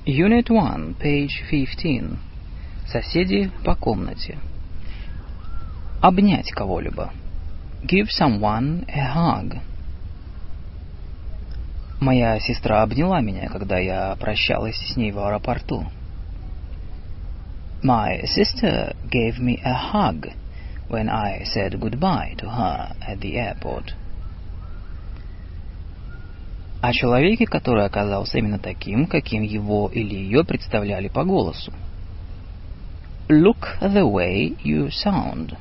Unit 1, page 15. Соседи по комнате. Обнять кого-либо. Give someone a hug. Моя сестра обняла меня, когда я прощалась с ней в аэропорту. My sister gave me a hug when I said goodbye to her at the airport. О человеке, который оказался именно таким, каким его или ее представляли по голосу. Look the way you sound.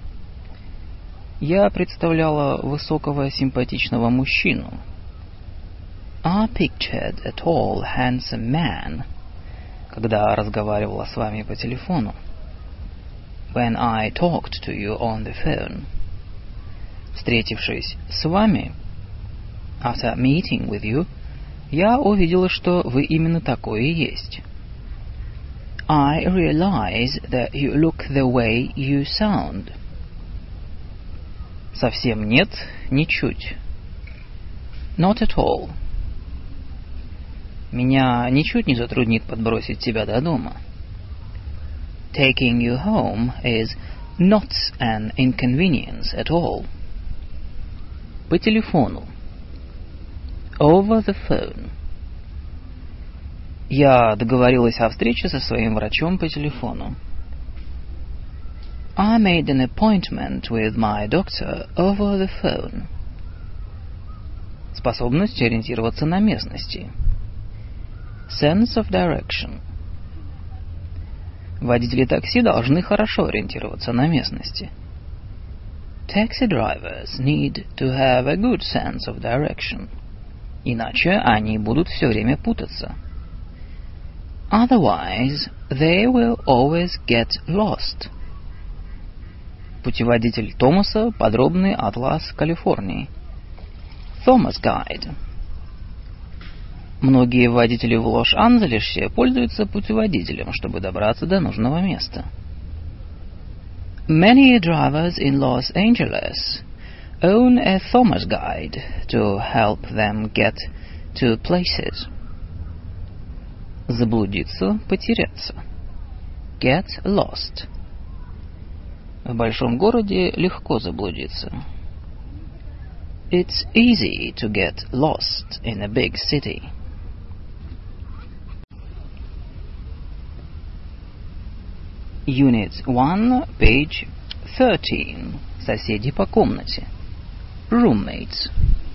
Я представляла высокого симпатичного мужчину. I pictured a tall, handsome man, когда разговаривала с вами по телефону. When I talked to you on the phone. Встретившись с вами, after meeting with you, я увидела, что вы именно такое и есть. I realize that you look the way you sound. Совсем нет, ничуть. Not at all. Меня ничуть не затруднит подбросить тебя до дома. Taking you home is not an inconvenience at all. По телефону. Over the phone. Я договорилась о встрече со своим врачом по телефону. I made an appointment with my doctor over the phone. Способность ориентироваться на местности. Sense of direction. Водители такси должны хорошо ориентироваться на местности. Taxi drivers need to have a good sense of direction. Иначе они будут все время путаться. Otherwise, they will always get lost. Путеводитель Томаса – подробный атлас Калифорнии. Thomas Guide. Многие водители в Лос-Анджелесе пользуются путеводителем, чтобы добраться до нужного места. Many drivers in Los Angeles own a Thomas Guide to help them get to places. Заблудиться, потеряться. Get lost. В большом городе легко заблудиться. It's easy to get lost in a big city. Unit 1, page 13. Соседи по комнате. Roommates.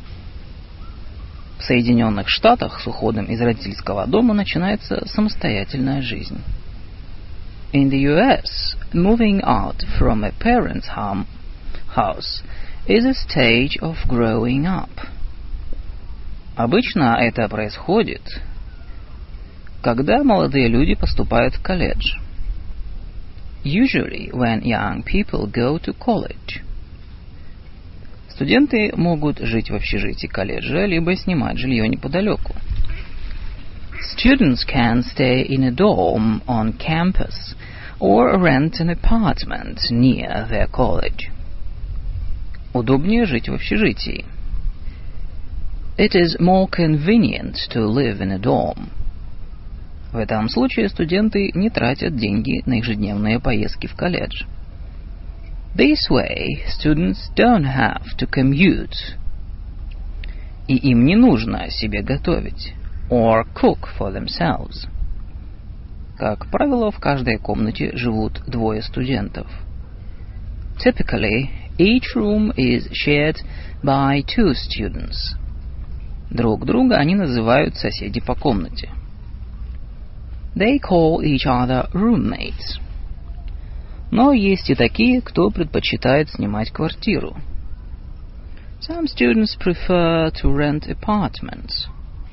В Соединенных Штатах с уходом из родительского дома начинается самостоятельная жизнь. In the US, moving out from a parent's house is a stage of growing up. Обычно это происходит, когда молодые люди поступают в колледж. Usually when young people go to college. Студенты могут жить в общежитии колледжа, либо снимать жилье неподалеку. Students can stay in a dorm on campus or rent an apartment near their college. Удобнее жить в общежитии. It is more convenient to live in a dorm. В этом случае студенты не тратят деньги на ежедневные поездки в колледж. This way, students don't have to commute. И им не нужно себе готовить. Or cook for themselves. Как правило, в каждой комнате живут двое студентов. Typically, each room is shared by two students. Друг друга они называют соседи по комнате. They call each other roommates. Но есть и такие, кто предпочитает снимать квартиру. Some students prefer to rent apartments.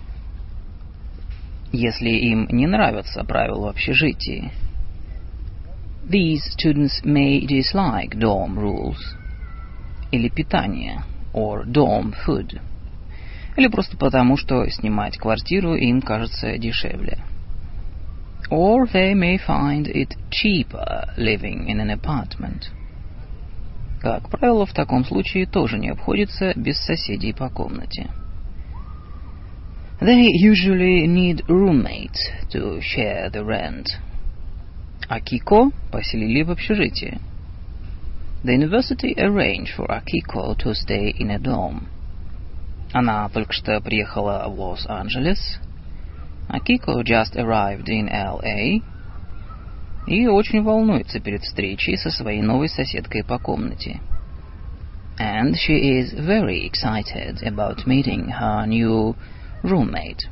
Если им не нравятся правила в общежитии. These students may dislike dorm rules. Или питание, or dorm food. Или просто потому, что снимать квартиру им кажется дешевле. Or they may find it cheaper living in an apartment. Как правило, в таком случае тоже не обходится без соседей по комнате. They usually need roommates to share the rent. Акико поселили в общежитии. The university arranged for Akiko to stay in a dorm. Она только что приехала в Лос-Анджелес. Akiko just arrived in LA. И очень волнуется перед встречей со своей новой соседкой по комнате. And she is very excited about meeting her new roommate.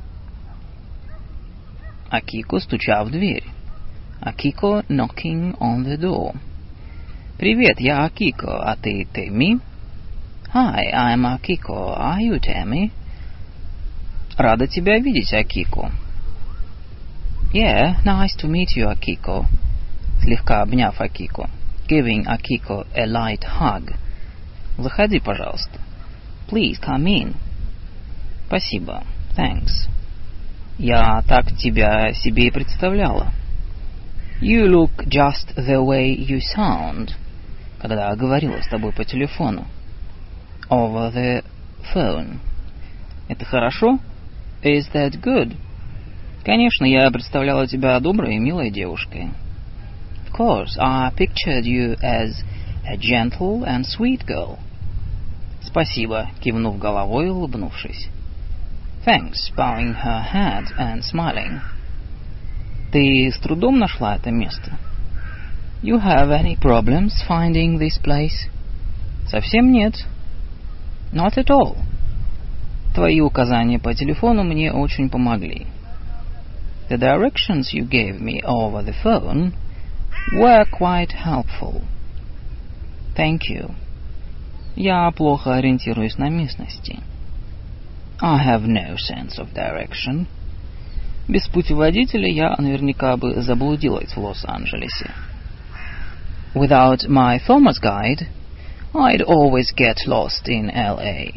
Акико, стуча в дверь. Akiko knocking on the door. Привет, я Акико, а ты Тэмми? Hi, I'm Akiko. Are you Tammy? Рада тебя видеть, Акико. Yeah, nice to meet you, Akiko. Слегка обняв Акико. Giving Akiko a light hug. Заходи, пожалуйста. Please come in. Спасибо. Thanks. Я так тебя себе и представляла. You look just the way you sound. Когда говорила с тобой по телефону. Over the phone. Это хорошо? Is that good? Конечно, я представляла тебя доброй и милой девушкой. Of course, I pictured you as a gentle and sweet girl. Спасибо, кивнув головой и улыбнувшись. Thanks, bowing her head and smiling. Ты с трудом нашла это место? You have any problems finding this place? Совсем нет. Not at all. Твои указания по телефону мне очень помогли. The directions you gave me over the phone were quite helpful. Thank you. Я плохо ориентируюсь на местности. I have no sense of direction. Без путеводителя я наверняка бы заблудилась в Лос-Анджелесе. Without my Thomas guide, I'd always get lost in LA.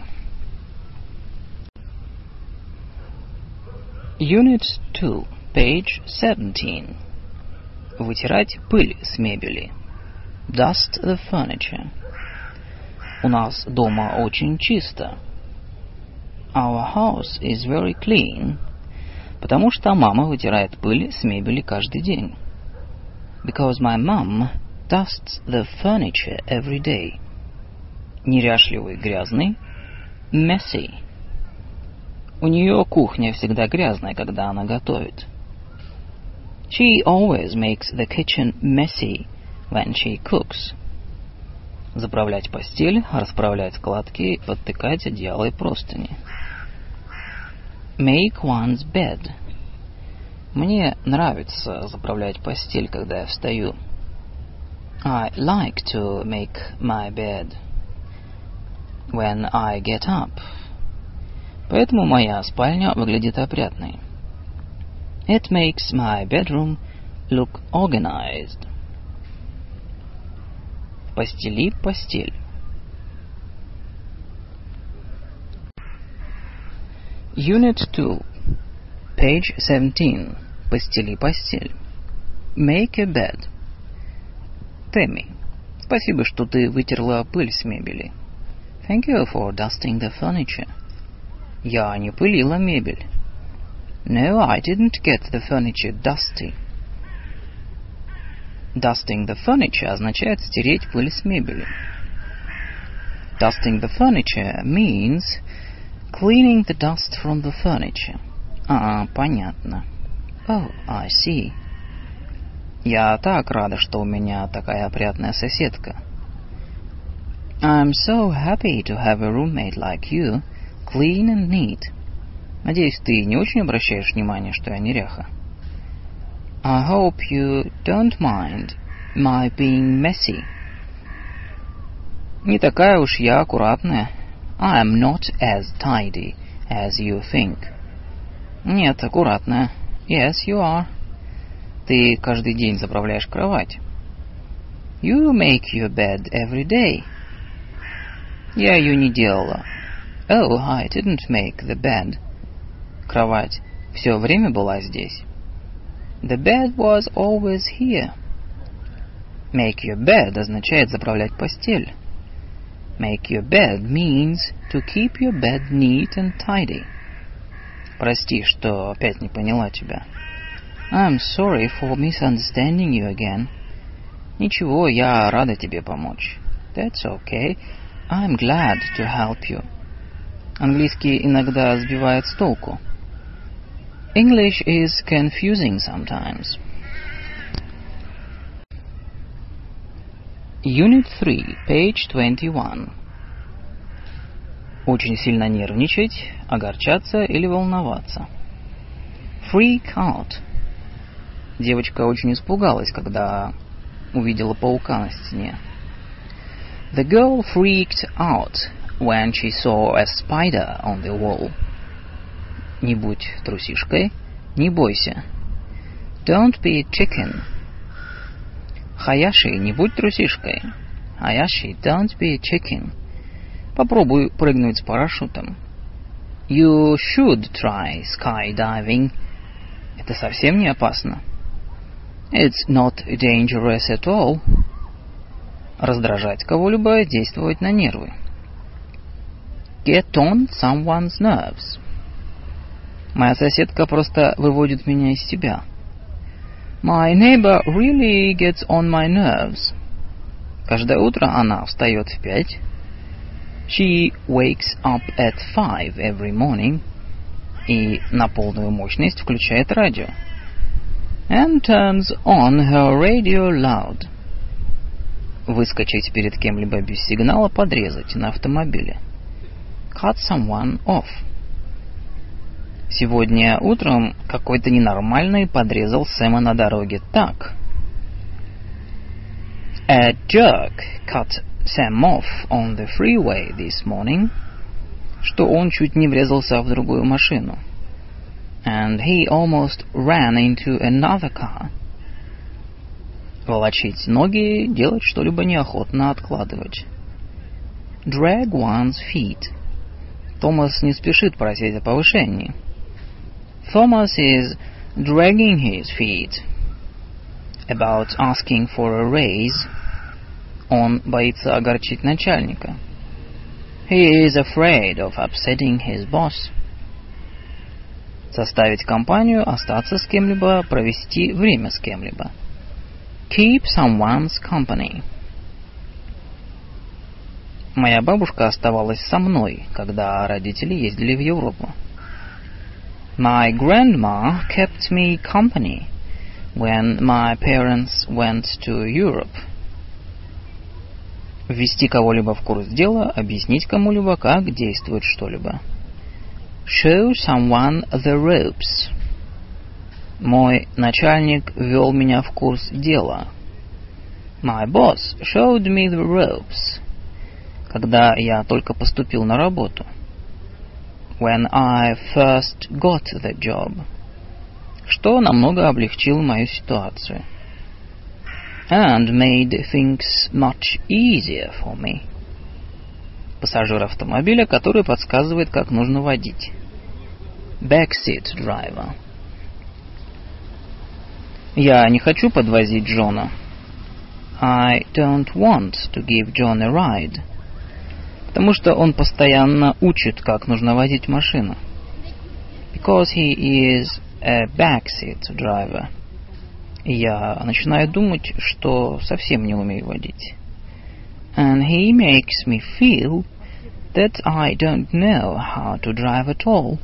Unit 2, page 17. Вытирать пыль с мебели. Dust the furniture. У нас дома очень чисто. Our house is very clean. Потому что мама вытирает пыль с мебели каждый день. Because my mom dusts the furniture every day. Неряшливый, грязный. Messy. У нее кухня всегда грязная, когда она готовит. She always makes the kitchen messy when she cooks. Заправлять постель, расправлять складки, подтыкать одеяло и простыни. Make one's bed. Мне нравится заправлять постель, когда я встаю. I like to make my bed when I get up. Поэтому моя спальня выглядит опрятной. It makes my bedroom look organized. Постели постель. Unit 2, page 17. Постели постель. Make a bed. Тэмми, спасибо, что ты вытерла пыль с мебели. Thank you for dusting the furniture. Я не пылила мебель. No, I didn't get the furniture dusty. Dusting the furniture означает стереть пыль с мебели. Dusting the furniture means cleaning the dust from the furniture. Понятно. Oh, I see. Я так рада, что у меня такая опрятная соседка. I'm so happy to have a roommate like you, clean and neat. Надеюсь, ты не очень обращаешь внимание, что я неряха. I hope you don't mind my being messy. Не такая уж я аккуратная. I am not as tidy as you think. Нет, аккуратная. Yes, you are. Ты каждый день заправляешь кровать. You make your bed every day. Я ее не делала. Oh, I didn't make the bed. Кровать все время была здесь. The bed was always here. Make your bed означает заправлять постель. Make your bed means to keep your bed neat and tidy. Прости, что опять не поняла тебя. I'm sorry for misunderstanding you again. Ничего, я рада тебе помочь. That's okay. I'm glad to help you. Английский иногда сбивает с толку. English is confusing sometimes. Unit 3, page 21. Очень сильно нервничать, огорчаться или волноваться. Freak out. Девочка очень испугалась, когда увидела паука на стене. The girl freaked out when she saw a spider on the wall. Не будь трусишкой, не бойся. Don't be a chicken. Хаяши, не будь трусишкой. Хаяши, don't be a chicken. Попробуй прыгнуть с парашютом. You should try skydiving. Это совсем не опасно. It's not dangerous at all. Раздражать кого-либо, действовать на нервы. Get on someone's nerves. Моя соседка просто выводит меня из себя. My neighbor really gets on my nerves. Каждое утро она встает в 5. She wakes up at 5 every morning. И на полную мощность включает радио. And turns on her radio loud. Выскочить перед кем-либо без сигнала, подрезать на автомобиле. Cut someone off. Сегодня утром какой-то ненормальный подрезал Сэма на дороге так. A jerk cut Sam off on the freeway this morning, что он чуть не врезался в другую машину. And he almost ran into another car. Волочить ноги, делать что-либо неохотно, откладывать. Drag one's feet. Томас не спешит просить о повышении. Thomas is dragging his feet about asking for a raise. Он боится огорчить начальника. He is afraid of upsetting his boss. Составить компанию, остаться с кем-либо, провести время с кем-либо. Keep someone's company. Моя бабушка оставалась со мной, когда родители ездили в Европу. My grandma kept me company when my parents went to Europe. Ввести кого-либо в курс дела, объяснить кому-либо, как действует что-либо. Show someone the ropes. Мой начальник ввел меня в курс дела. My boss showed me the ropes. Когда я только поступил на работу. When I first got the job. Что намного облегчило мою ситуацию. And made things much easier for me. Пассажир автомобиля, который подсказывает, как нужно водить. Backseat driver. Я не хочу подвозить Джона. I don't want to give John a ride. Потому что он постоянно учит, как нужно водить машину. Because he is a backseat driver. И я начинаю думать, что совсем не умею водить. And he makes me feel that I don't know how to drive at all.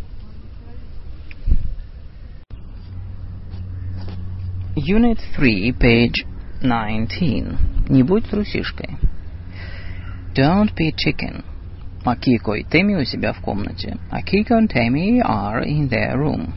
Unit 3, page 19. Не будь трусишкой. Don't be a chicken. Акико и Тэмми у себя в комнате. Акико and Tammy are in their room.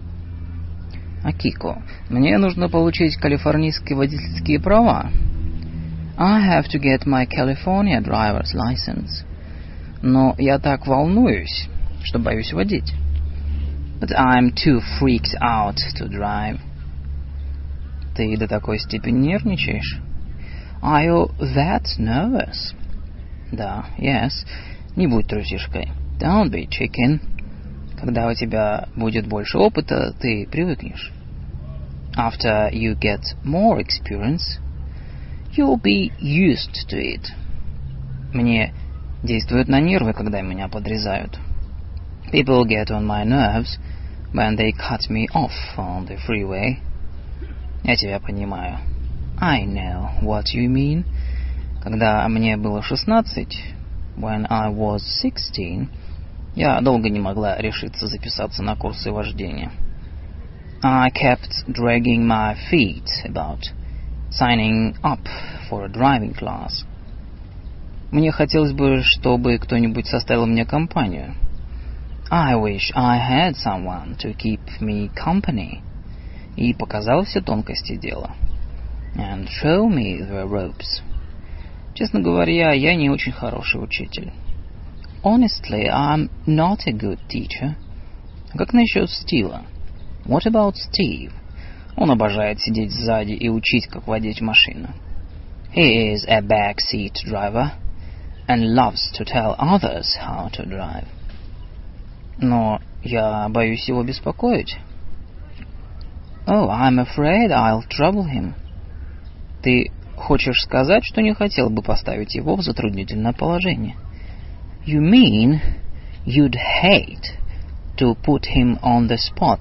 Акико, мне нужно получить калифорнийские водительские права. I have to get my California driver's license. Но я так волнуюсь, что боюсь водить. But I'm too freaked out to drive. Ты до такой степени нервничаешь? Are you that nervous? Да, yes. Не будь трусишкой. Don't be chicken. Когда у тебя будет больше опыта, ты привыкнешь. After you get more experience, you'll be used to it. Мне действует на нервы, когда меня подрезают. People get on my nerves when they cut me off on the freeway. Я тебя понимаю. I know what you mean. Когда мне было 16, when I was 16, я долго не могла решиться записаться на курсы вождения. I kept dragging my feet about signing up for a driving class. Мне хотелось бы, чтобы кто-нибудь составил мне компанию. I wish I had someone to keep me company. И показал все тонкости дела. And show me the ropes. Честно говоря, я не очень хороший учитель. Honestly, I'm not a good teacher. Как насчет Стива? What about Steve? Он обожает сидеть сзади и учить, как водить машину. He is a backseat driver and loves to tell others how to drive. Но я боюсь его беспокоить. Oh, I'm afraid I'll trouble him. Ты хочешь сказать, что не хотел бы поставить его в затруднительное положение? You mean you'd hate to put him on the spot?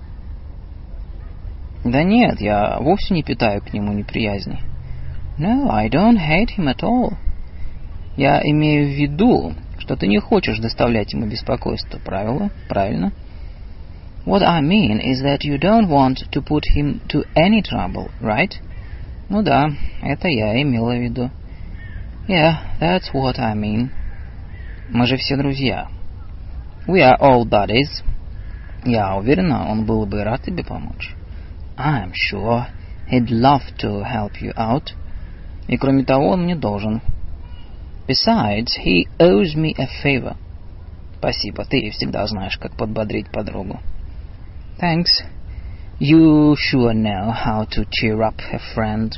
Да нет, я вовсе не питаю к нему неприязни. No, I don't hate him at all. Я имею в виду, что ты не хочешь доставлять ему беспокойство, правильно? What I mean is that you don't want to put him to any trouble, right? Ну да, это я имела в виду. Yeah, that's what I mean. Мы же все друзья. We are all buddies. Я уверена, он был бы рад тебе помочь. I'm sure he'd love to help you out. И кроме того, он мне должен. Besides, he owes me a favor. Спасибо, ты всегда знаешь, как подбодрить подругу. Thanks. You sure know how to cheer up a friend.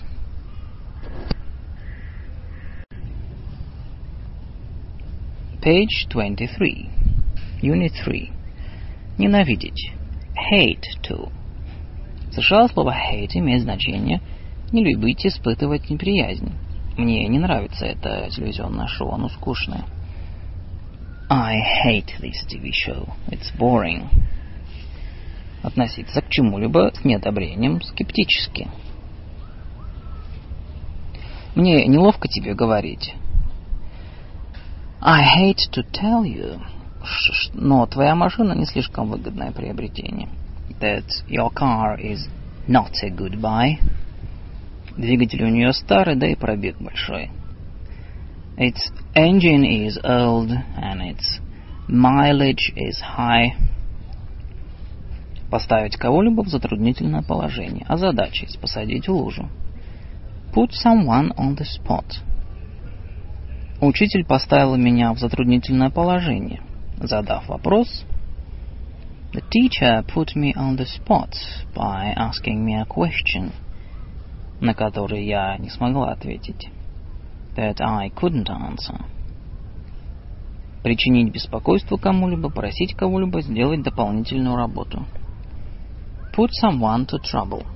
Page 23. Unit 3. Ненавидеть. Hate to. В США слово hate имеет значение не любить, испытывать неприязнь. Мне не нравится это телевизионное шоу, оно скучное. I hate this TV show. It's boring. Относиться к чему-либо с неодобрением, скептически. Мне неловко тебе говорить. I hate to tell you, но твоя машина не слишком выгодное приобретение. That your car is not a good buy. Двигатель у нее старый, да и пробег большой. Its engine is old and its mileage is high. Поставить кого-либо в затруднительное положение. Озадачить, посадить в лужу. Put someone on the spot. Учитель поставил меня в затруднительное положение, задав вопрос. The teacher put me on the spot by asking me a question, на который я не смогла ответить. That I couldn't answer. Причинить беспокойство кому-либо, просить кого-либо сделать дополнительную работу. Put someone to trouble.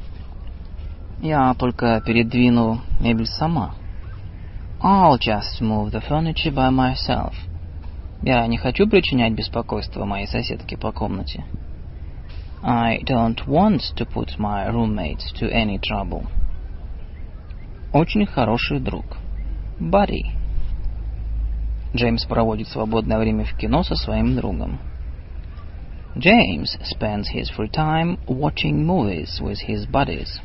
Я только передвину мебель сама. I'll just move the furniture by myself. Я не хочу причинять беспокойство моей соседке по комнате. I don't want to put my roommate to any trouble. Очень хороший друг. Buddy. Джеймс проводит свободное время в кино со своим другом. James spends his free time watching movies with his buddies.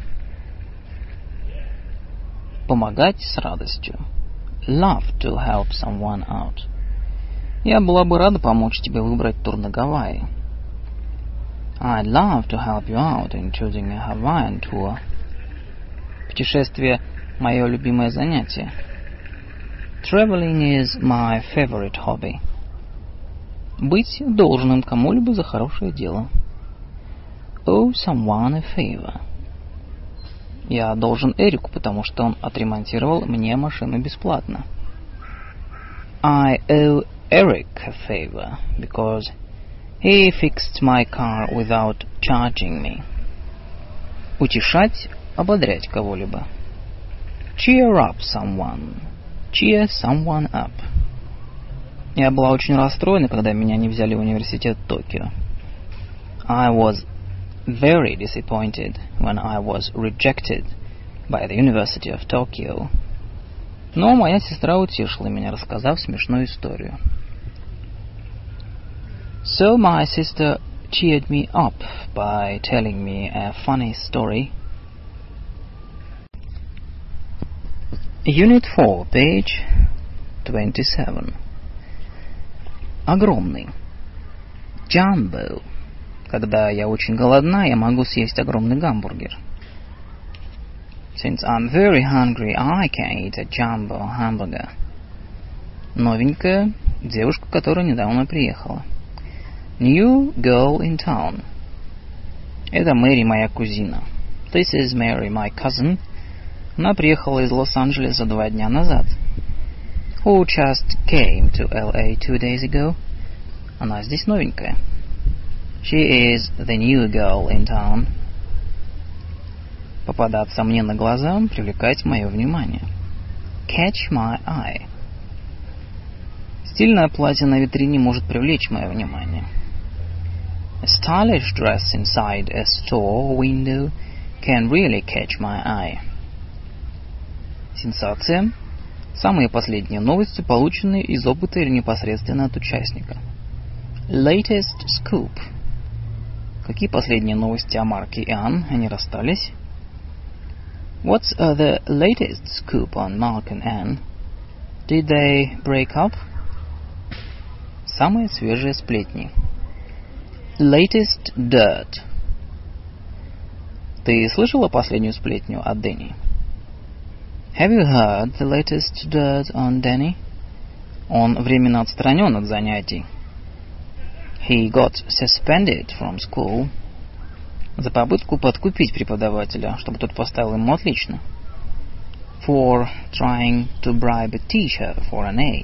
Помогать с радостью. Love to help someone out. Я была бы рада помочь тебе выбрать тур на Гавайи. I'd love to help you out in choosing a Hawaiian tour. Путешествие – мое любимое занятие. Traveling is my favorite hobby. Быть должным кому-либо за хорошее дело. Owe someone a favor. Я должен Эрику, потому что он отремонтировал мне машину бесплатно. I owe Eric a favor because he fixed my car without charging me. Утешать, ободрять кого-либо. Cheer up someone. Cheer someone up. Я была очень расстроена, когда меня не взяли в университет Токио. I was very disappointed when I was rejected by the University of Tokyo. Но моя сестра утешила меня, рассказав смешную историю. So my sister cheered me up by telling me a funny story. Unit 4, page 27. Огромный. Jumbo. Когда я очень голодна, я могу съесть огромный гамбургер. Since I'm very hungry, I can eat a jumbo hamburger. Новенькая. Девушка, которая недавно приехала. New girl in town. Это Мэри, моя кузина. This is Mary, my cousin. Она приехала из Лос-Анджелеса 2 дня назад. Who just came to LA 2 days ago. Она здесь новенькая. She is the new girl in town. Попадаться мне на глаза, привлекать мое внимание. Catch my eye. Стильное платье на витрине может привлечь мое внимание. A stylish dress inside a store window can really catch my eye. Сенсация. Самые последние новости, полученные из опыта или непосредственно от участника. Latest scoop. Какие последние новости о Марке и Анн? Они расстались? What's the latest scoop on Mark and Anne? Did they break up? Самые свежие сплетни. Latest dirt. Ты слышала последнюю сплетню от Дэнни? Have you heard the latest dirt on Danny? Он временно отстранен от занятий. He got suspended from school. За попытку подкупить преподавателя, чтобы тот поставил ему отлично. For trying to bribe a teacher for an A.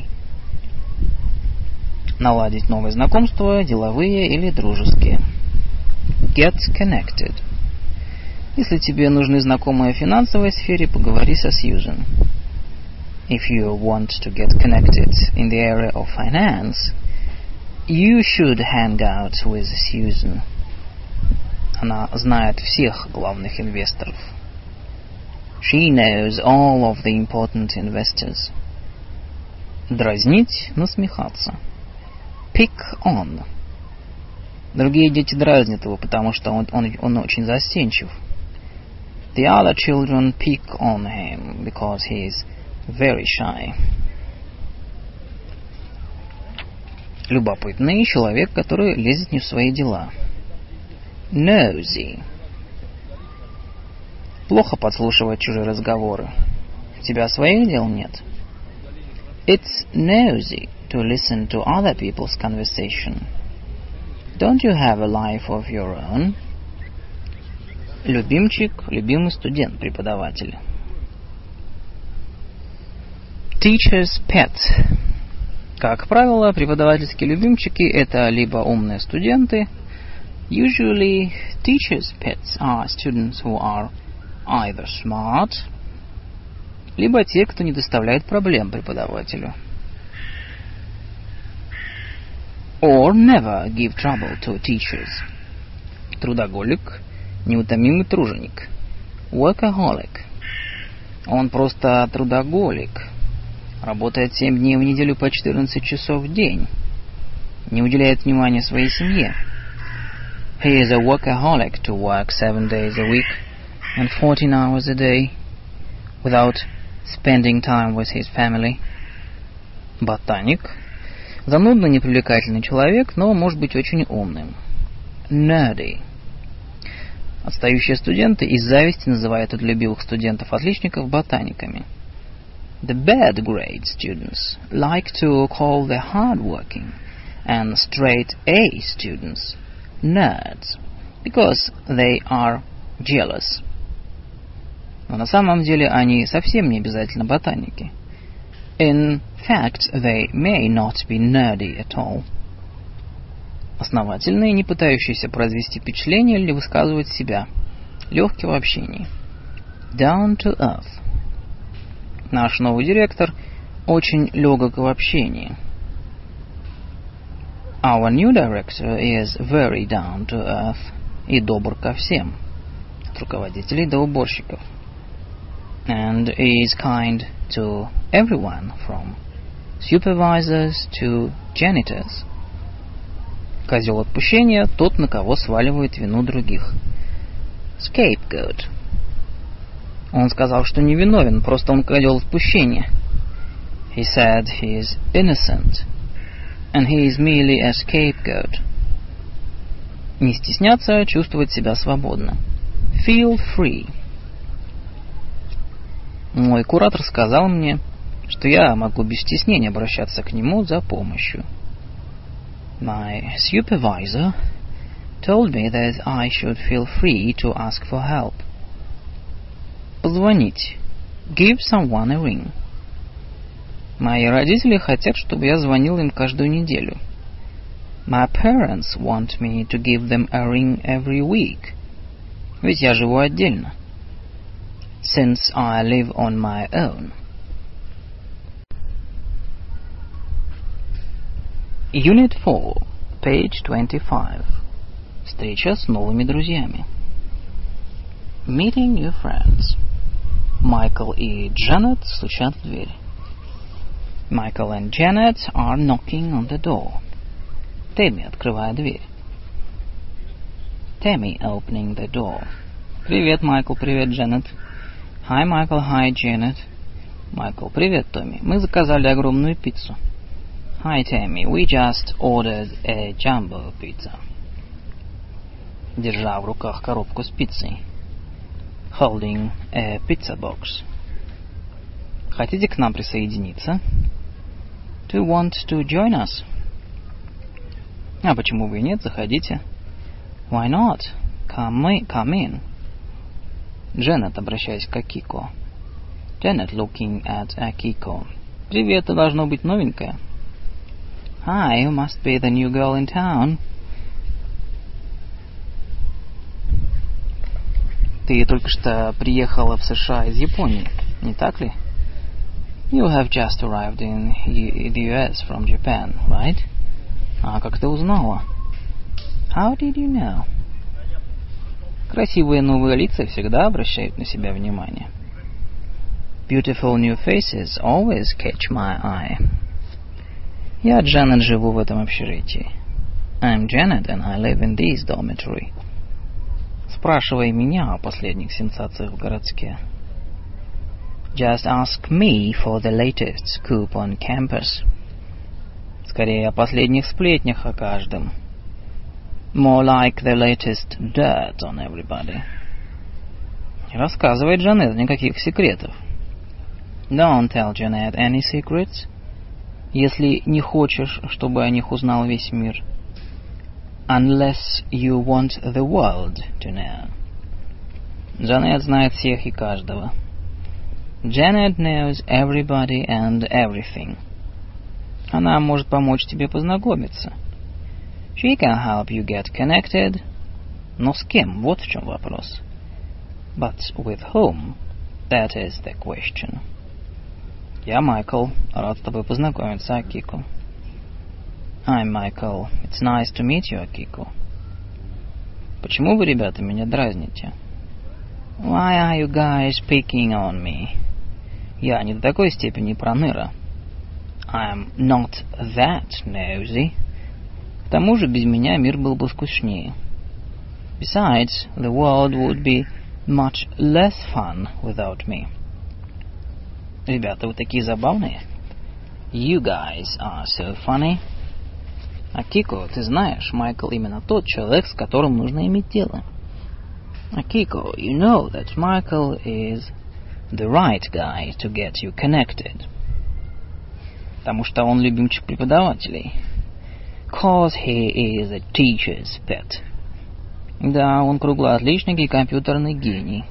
Наладить новые знакомства, деловые или дружеские. Get connected. Если тебе нужны знакомые в финансовой сфере, поговори со Сьюзен. If you want to get connected in the area of finance, you should hang out with Susan. Она знает всех главных инвесторов. She knows all of the important investors. Дразнить, насмехаться. Pick on. Другие дети дразнят его, потому что он очень застенчив. The other children pick on him because he is very shy. Любопытный человек, который лезет не в свои дела. Nosy. Плохо подслушивать чужие разговоры. У тебя своих дел нет? It's nosy to listen to other people's conversation. Don't you have a life of your own? Любимчик, любимый студент, преподаватель. Teacher's pet. Как правило, преподавательские любимчики – это либо умные студенты. Usually, teachers' pets are students who are either smart, либо те, кто не доставляет проблем преподавателю. Or never give trouble to teachers. Трудоголик, неутомимый труженик. Workaholic. Он просто трудоголик. Работает 7 дней в неделю по 14 часов в день. Не уделяет внимания своей семье. He is a workaholic to work 7 days a week and 14 hours a day without spending time with his family. Ботаник. Занудно непривлекательный человек, но может быть очень умным. Nerdy. Отстающие студенты из зависти называют трудолюбивых студентов-отличников ботаниками. The bad grade students like to call the hard-working and straight-A students nerds because they are jealous. Но на самом деле они совсем не обязательно ботаники. In fact, they may not be nerdy at all. Основательные, не пытающиеся произвести впечатление или высказывать себя. Легкий в общении. Down to earth. Наш новый директор очень легок в общении. Our new director is very down to earth и добр ко всем, от руководителей до уборщиков, and is kind to everyone from supervisors to janitors. Козел отпущения – тот, на кого сваливают вину других. Scapegoat. Он сказал, что не виновен, просто он козел отпущения. He said he is innocent, and he is merely a scapegoat. Не стесняться, чувствовать себя свободно. Feel free. Мой куратор сказал мне, что я могу без стеснения обращаться к нему за помощью. My supervisor told me that I should feel free to ask for help. Позвонить. Give someone a ring. Мои родители хотят, чтобы я звонил им каждую неделю. My parents want me to give them a ring every week. Ведь я живу отдельно. Since I live on my own. Unit 4, page 25. Встреча с новыми друзьями. Meeting new friends. Майкл и Джанет стучат в дверь. Michael and Janet are knocking on the door. Тэмми, открывая дверь. Tammy opening the door. Привет, Майкл, привет, Джанет. Hi, Michael, hi, Janet. Майкл, привет, Томми. Мы заказали огромную пиццу. Hi, Tammy, we just ordered a jumbo pizza. Держа в руках коробку с пиццей. Holding a pizza box. Хотите к нам присоединиться? Do you want to join us? А почему бы и нет? Заходите. Why not? Come in. Дженнет, обращаясь к Акико. Janet looking at Akiko. Привет, ты должно быть новенькая. Hi, you must be the new girl in town. Ты только что приехала в США из Японии, не так ли? You have just arrived in the US from Japan, right? А как ты узнала? How did you know? Красивые новые лица всегда обращают на себя внимание. Beautiful new faces always catch my eye. Я, Джанет, живу в этом общежитии. I'm Janet, and I live in this dormitory. Спрашивай меня о последних сенсациях в городке. Just ask me for the latest scoop on campus. Скорее о последних сплетнях о каждом. More like the latest dirt on everybody. Не рассказывай, Джанет, никаких секретов. Don't tell Janet any secrets. Если не хочешь, чтобы о них узнал весь мир. Unless you want the world to know. Джанет знает всех и каждого. Janet knows everybody and everything. Она может помочь тебе познакомиться. She can help you get connected. Но с кем? Вот в чем вопрос. But with whom? That is the question. Я Майкл. Рад с тобой познакомиться, Акико. I'm Michael. It's nice to meet you, Akiko. Почему вы, ребята, меня дразните? Why are you guys picking on me? Я не до такой степени проныра. I'm not that nosy. К тому же без меня мир был бы скучнее. Besides, the world would be much less fun without me. Ребята, вы такие забавные. You guys are so funny. Акико, ты знаешь, Майкл именно тот человек, с которым нужно иметь дело. Akiko, you know that Michael is the right guy to get you connected. Потому что он любимчик преподавателей. Cause he is a teacher's pet. Да, он круглоотличник и компьютерный гений.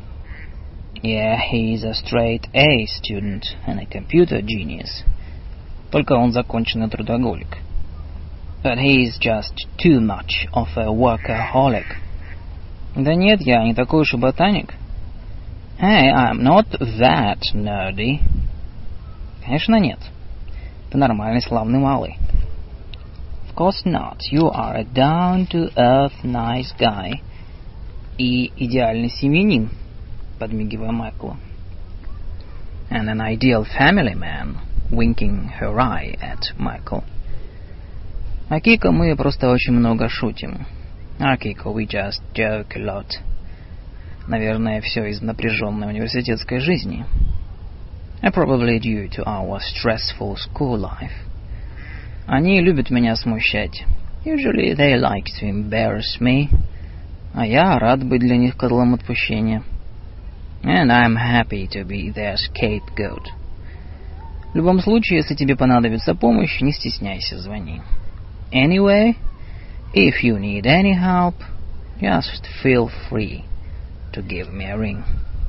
Yeah, he is a straight A student and a computer genius. Только он законченный трудоголик. But he is just too much of a workaholic. Да нет, я не такой уж и ботаник. Hey, I'm not that nerdy. Конечно, нет. Ты нормальный, славный малый. Of Of course not. You are a down-to-earth nice guy. И идеальный семьянин, подмигивая Майклу. And an ideal family man, winking her eye at Michael. А Кико мы просто очень много шутим. А Кико, we just joke a lot. Наверное, все из напряженной университетской жизни. Probably due to our stressful school life. Они любят меня смущать. Usually they like to embarrass me. А я рад быть для них козлом отпущения. And I'm happy to be their scapegoat. В любом случае, если тебе понадобится помощь, не стесняйся, звони. Anyway, if you need any help, just feel free to give me a ring.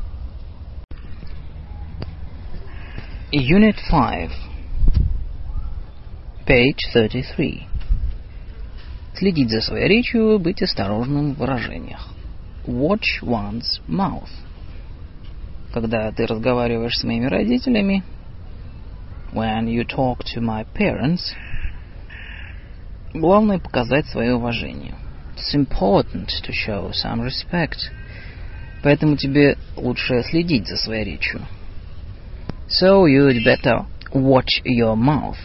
Unit 5, page 33. Следить за своей речью, быть осторожным в выражениях. Watch one's mouth. Когда ты разговариваешь с моими родителями, when you talk to my parents, главное показать свое уважение. It's important to show some respect. Поэтому тебе лучше следить за своей речью. So you'd better watch your mouth.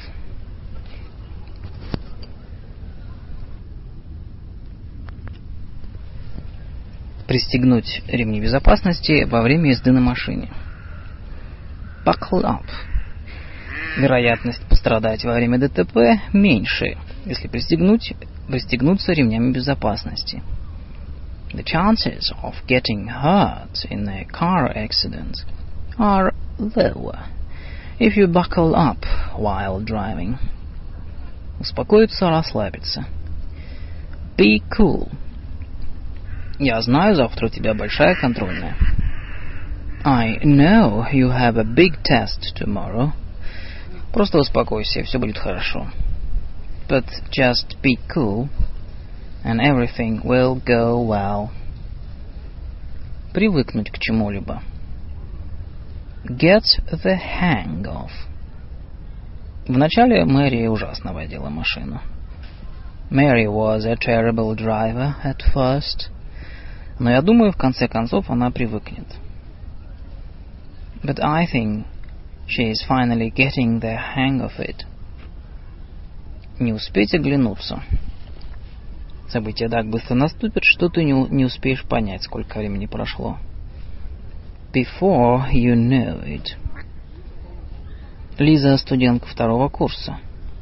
Пристегнуть ремни безопасности во время езды на машине. Buckle up. Вероятность пострадать во время ДТП меньше, если пристегнуться ремнями безопасности. The chances of getting hurt in a car accident are lower if you buckle up while driving. Успокоиться, расслабиться. Be cool. Я знаю, завтра у тебя большая контрольная. I know you have a big test tomorrow. Просто успокойся, все будет хорошо. But just be cool, and everything will go well. Привыкнуть к чему-либо. Get the hang of. Вначале Мэри ужасно водила машину. Mary was a terrible driver at first. Но я думаю, в конце концов она привыкнет. But I think she is finally getting the hang of it. Не успеть оглянуться. События так быстро наступят, что ты не успеешь понять, сколько времени прошло. Before you know it. Лиза студентка второго курса.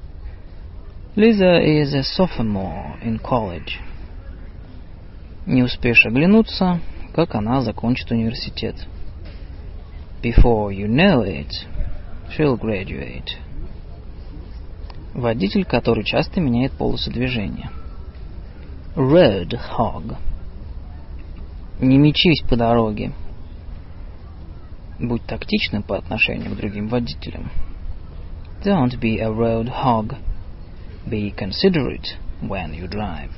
Lisa is a sophomore in college. Не успеешь оглянуться, как она закончит университет. Before you know it, she'll graduate. Водитель, который часто меняет полосу движения. Road hog. Не мечись по дороге. Будь тактичным по отношению к другим водителям. Don't be a road hog. Be considerate when you drive.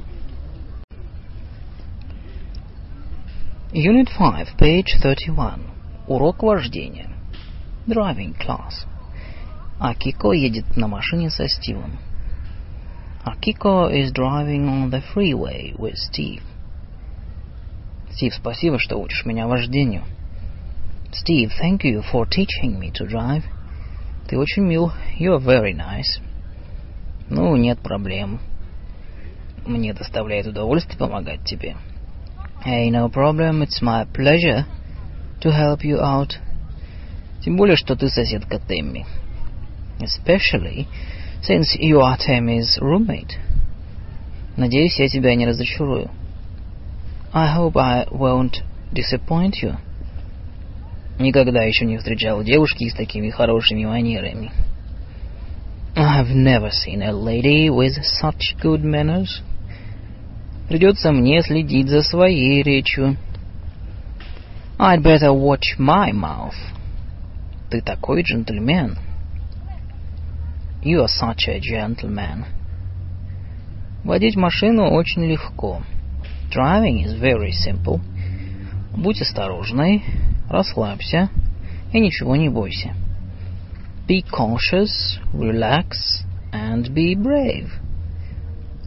Unit 5, page 31. Урок вождения. Driving class. Акико едет на машине со Стивом. Акико is driving on the freeway with Steve. Стив, спасибо, что учишь меня вождению. Steve, thank you for teaching me to drive. Ты очень мил. You're very nice. Ну, нет проблем. Мне доставляет удовольствие помогать тебе. Hey, no problem. It's my pleasure to help you out. Тем более, что ты соседка Тэмми. Especially since you are Tammy's roommate. Надеюсь, я тебя не разочарую. I hope I won't disappoint you. Никогда еще не встречал девушки с такими хорошими манерами. I've never seen a lady with such good manners. Придется мне следить за своей речью. I'd better watch my mouth. Ты такой джентльмен. You are such a gentleman. Водить машину очень легко. Driving is very simple. Будь осторожной, расслабься и ничего не бойся. Be cautious, relax, and be brave.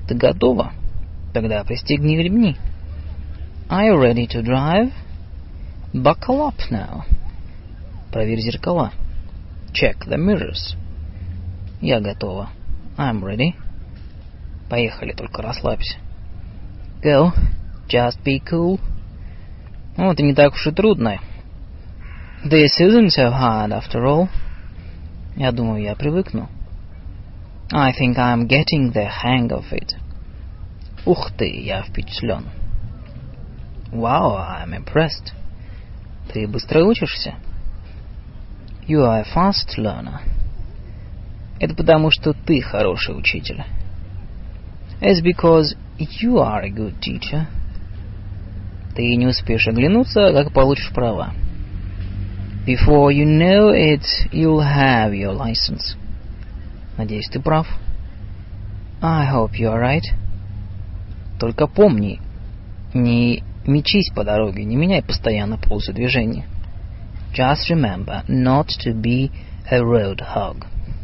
Ты готова? Тогда пристегни ремни. Are you ready to drive? Buckle up now. Проверь зеркала. Check the mirrors. Я готова. I'm ready. Поехали, только расслабься. Go. Just be cool. Ну, это не так уж и трудно. This isn't so hard after all. Я думаю, я привыкну. I think I'm getting the hang of it. Ух ты, я впечатлен. Wow, I'm impressed. Ты быстро учишься? You are a fast learner. Это потому, что ты хороший учитель. It's because you are a good teacher. Ты не успеешь оглянуться, как получишь права. Before you know it, you'll have your license. Надеюсь, ты прав. I hope you are right. Только помни, не мечись по дороге, не меняй постоянно полосу движения. Just remember not to be a road hog.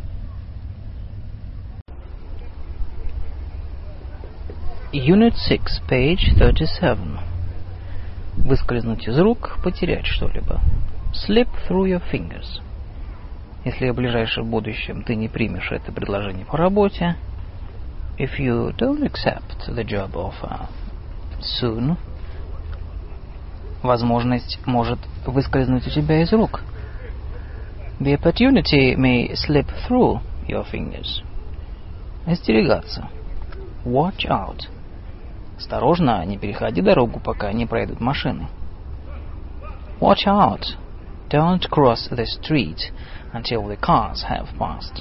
Unit 6, page 37. Выскользнуть из рук, потерять что-либо. Slip through your fingers. Если в ближайшем будущем ты не примешь это предложение по работе, if you don't accept the job offer soon, возможность может выскользнуть у тебя из рук. The opportunity may slip through your fingers. Остерегаться. Watch out. Осторожно, не переходи дорогу, пока не пройдут машины. Watch out. Don't cross the street until the cars have passed.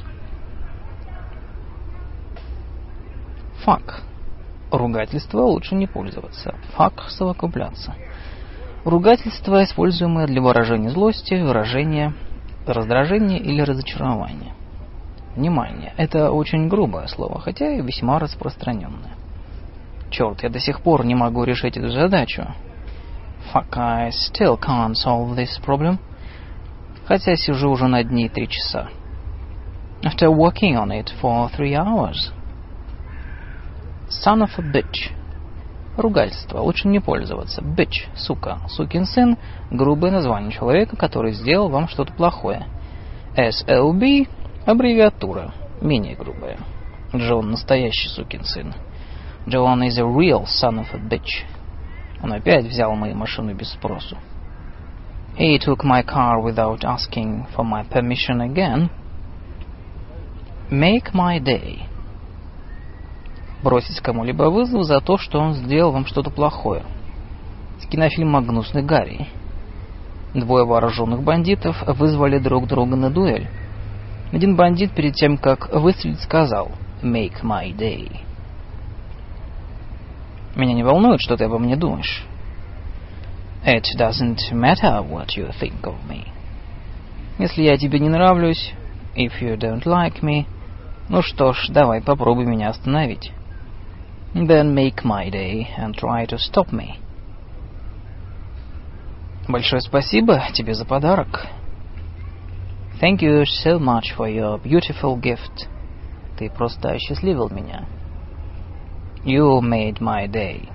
Fuck. Ругательство лучше не пользоваться. Fuck — совокупляться. Ругательство, используемое для выражения злости, выражения раздражения или разочарования. Внимание, это очень грубое слово, хотя и весьма распространенное. Черт, я до сих пор не могу решить эту задачу. Fuck, I still can't solve this problem. Хотя сижу уже над ней 3 часа. After working on it for 3 hours. Son of a bitch. Ругательство. Лучше не пользоваться. Bitch. Сука. Сукин сын. Грубое название человека, который сделал вам что-то плохое. SLB. Аббревиатура. Менее грубая. Джон настоящий сукин сын. John is a real son of a bitch. Он опять взял мою машину без спросу. He took my car without asking for my permission again. Make my day. Бросить кому-либо вызов за то, что он сделал вам что-то плохое. С кинофильма «Гнусный Гарри». 2 вооруженных бандитов вызвали друг друга на дуэль. Один бандит перед тем, как выстрелить, сказал «Make my day». Меня не волнует, что ты обо мне думаешь. It doesn't matter what you think of me. Если я тебе не нравлюсь, if you don't like me, ну что ж, давай попробуй меня остановить. Then make my day and try to stop me. Большое спасибо тебе за подарок. Thank you so much for your beautiful gift. Ты просто осчастливил меня. You made my day.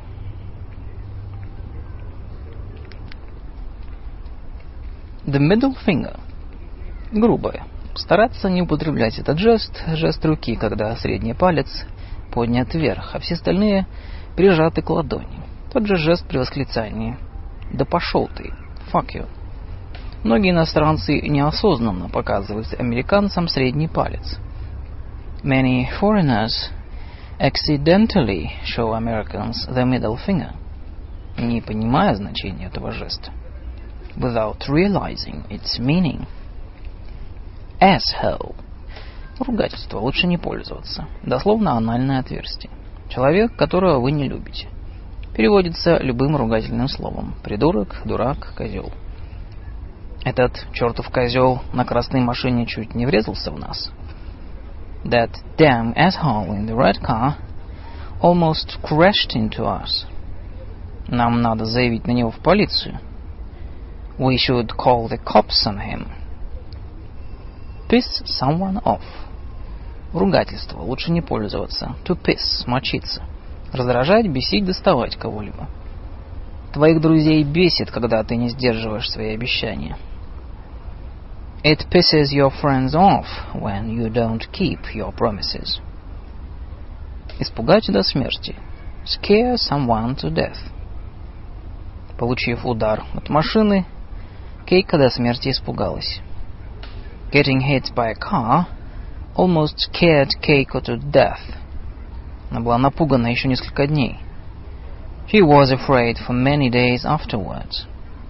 The middle finger. Грубое. Стараться не употреблять этот жест руки, когда средний палец поднят вверх, а все остальные прижаты к ладони. Тот же жест при восклицании «Да пошел ты! Fuck you!». Многие иностранцы неосознанно показывают американцам средний палец. Many foreigners accidentally show Americans the middle finger, не понимая значения этого жеста, without realizing its meaning. Asshole. Ругательство лучше не пользоваться. Дословно анальное отверстие. Человек, которого вы не любите. Переводится любым ругательным словом. Придурок, дурак, козел. Этот чертов козел на красной машине чуть не врезался в нас. That damn asshole in the red car almost crashed into us. Нам надо заявить на него в полицию. We should call the cops on him. Piss someone off. Ругательство. Лучше не пользоваться. To piss. Мочиться. Раздражать, бесить, доставать кого-либо. Твоих друзей бесит, когда ты не сдерживаешь свои обещания. It pisses your friends off when you don't keep your promises. Испугать до смерти. Scare someone to death. Получив удар от машины, Кейка до смерти испугалась. Getting hit by a car almost scared Keiko to death. Она была напугана еще несколько дней. She was afraid for many days afterwards.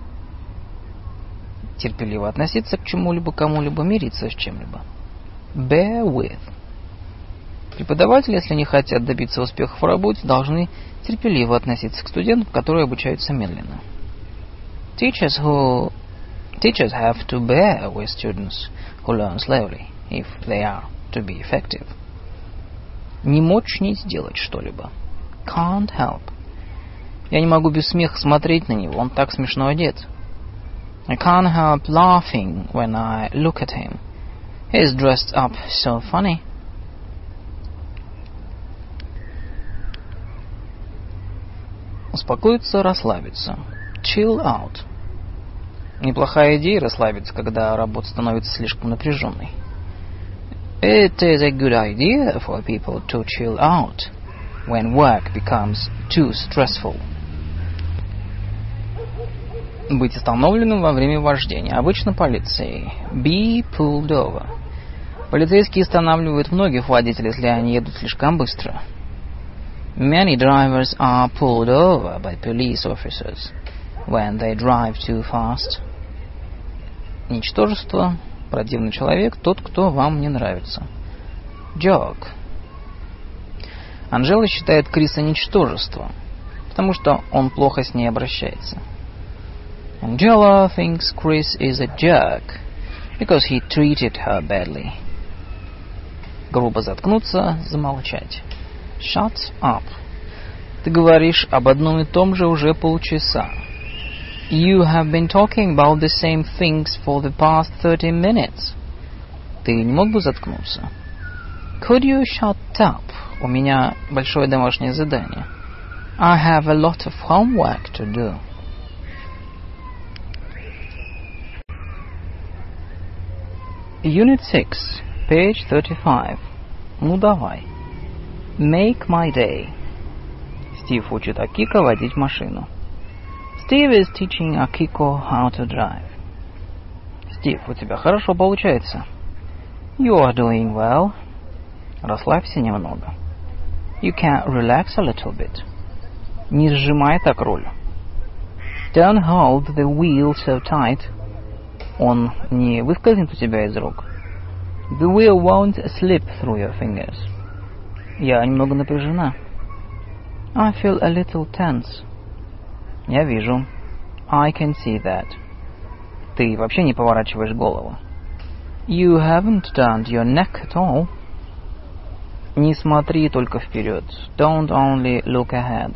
Терпеливо относиться к чему-либо, кому-либо, мириться с чем-либо. Bear with. Преподаватели, если не хотят добиться успехов в работе, должны терпеливо относиться к студентам, которые обучаются медленно. Teachers have to bear with students who learn slowly, if they are to be effective. Не мочь не сделать что-либо. Can't help. Я не могу без смеха смотреть на него, он так смешно одет. I can't help laughing when I look at him. He's dressed up so funny. Успокоиться, расслабиться. Chill out. Неплохая идея расслабиться, когда работа становится слишком напряженной. It is a good idea for people to chill out when work becomes too stressful. Быть остановленным во время вождения. Обычно полицией. Be pulled over. Полицейские останавливают многих водителей, если они едут слишком быстро. Many drivers are pulled over by police officers when they drive too fast. Ничтожество. Противный человек. Тот, кто вам не нравится. Joke. Анжела считает Криса ничтожеством, потому что он плохо с ней обращается. Angela thinks Chris is a jerk because he treated her badly. Грубо заткнуться, замолчать. Shut up. Ты говоришь об одном и том же уже полчаса. You have been talking about the same things for the past 30 minutes. Ты не мог бы заткнуться? Could you shut up? У меня большое домашнее задание. I have a lot of homework to do. Unit 6, page 35. Ну давай. Make my day. Стив учит Акико водить машину. Steve is teaching Akiko how to drive. Стив, у тебя хорошо получается. You are doing well. Расслабься немного. You can relax a little bit. Не сжимай так руль. Don't hold the wheel so tight. Он не выскользнет у тебя из рук. The wheel won't slip through your fingers. Я немного напряжена. I feel a little tense. Я вижу. I can see that. Ты вообще не поворачиваешь голову. You haven't turned your neck at all. Не смотри только вперед. Don't only look ahead.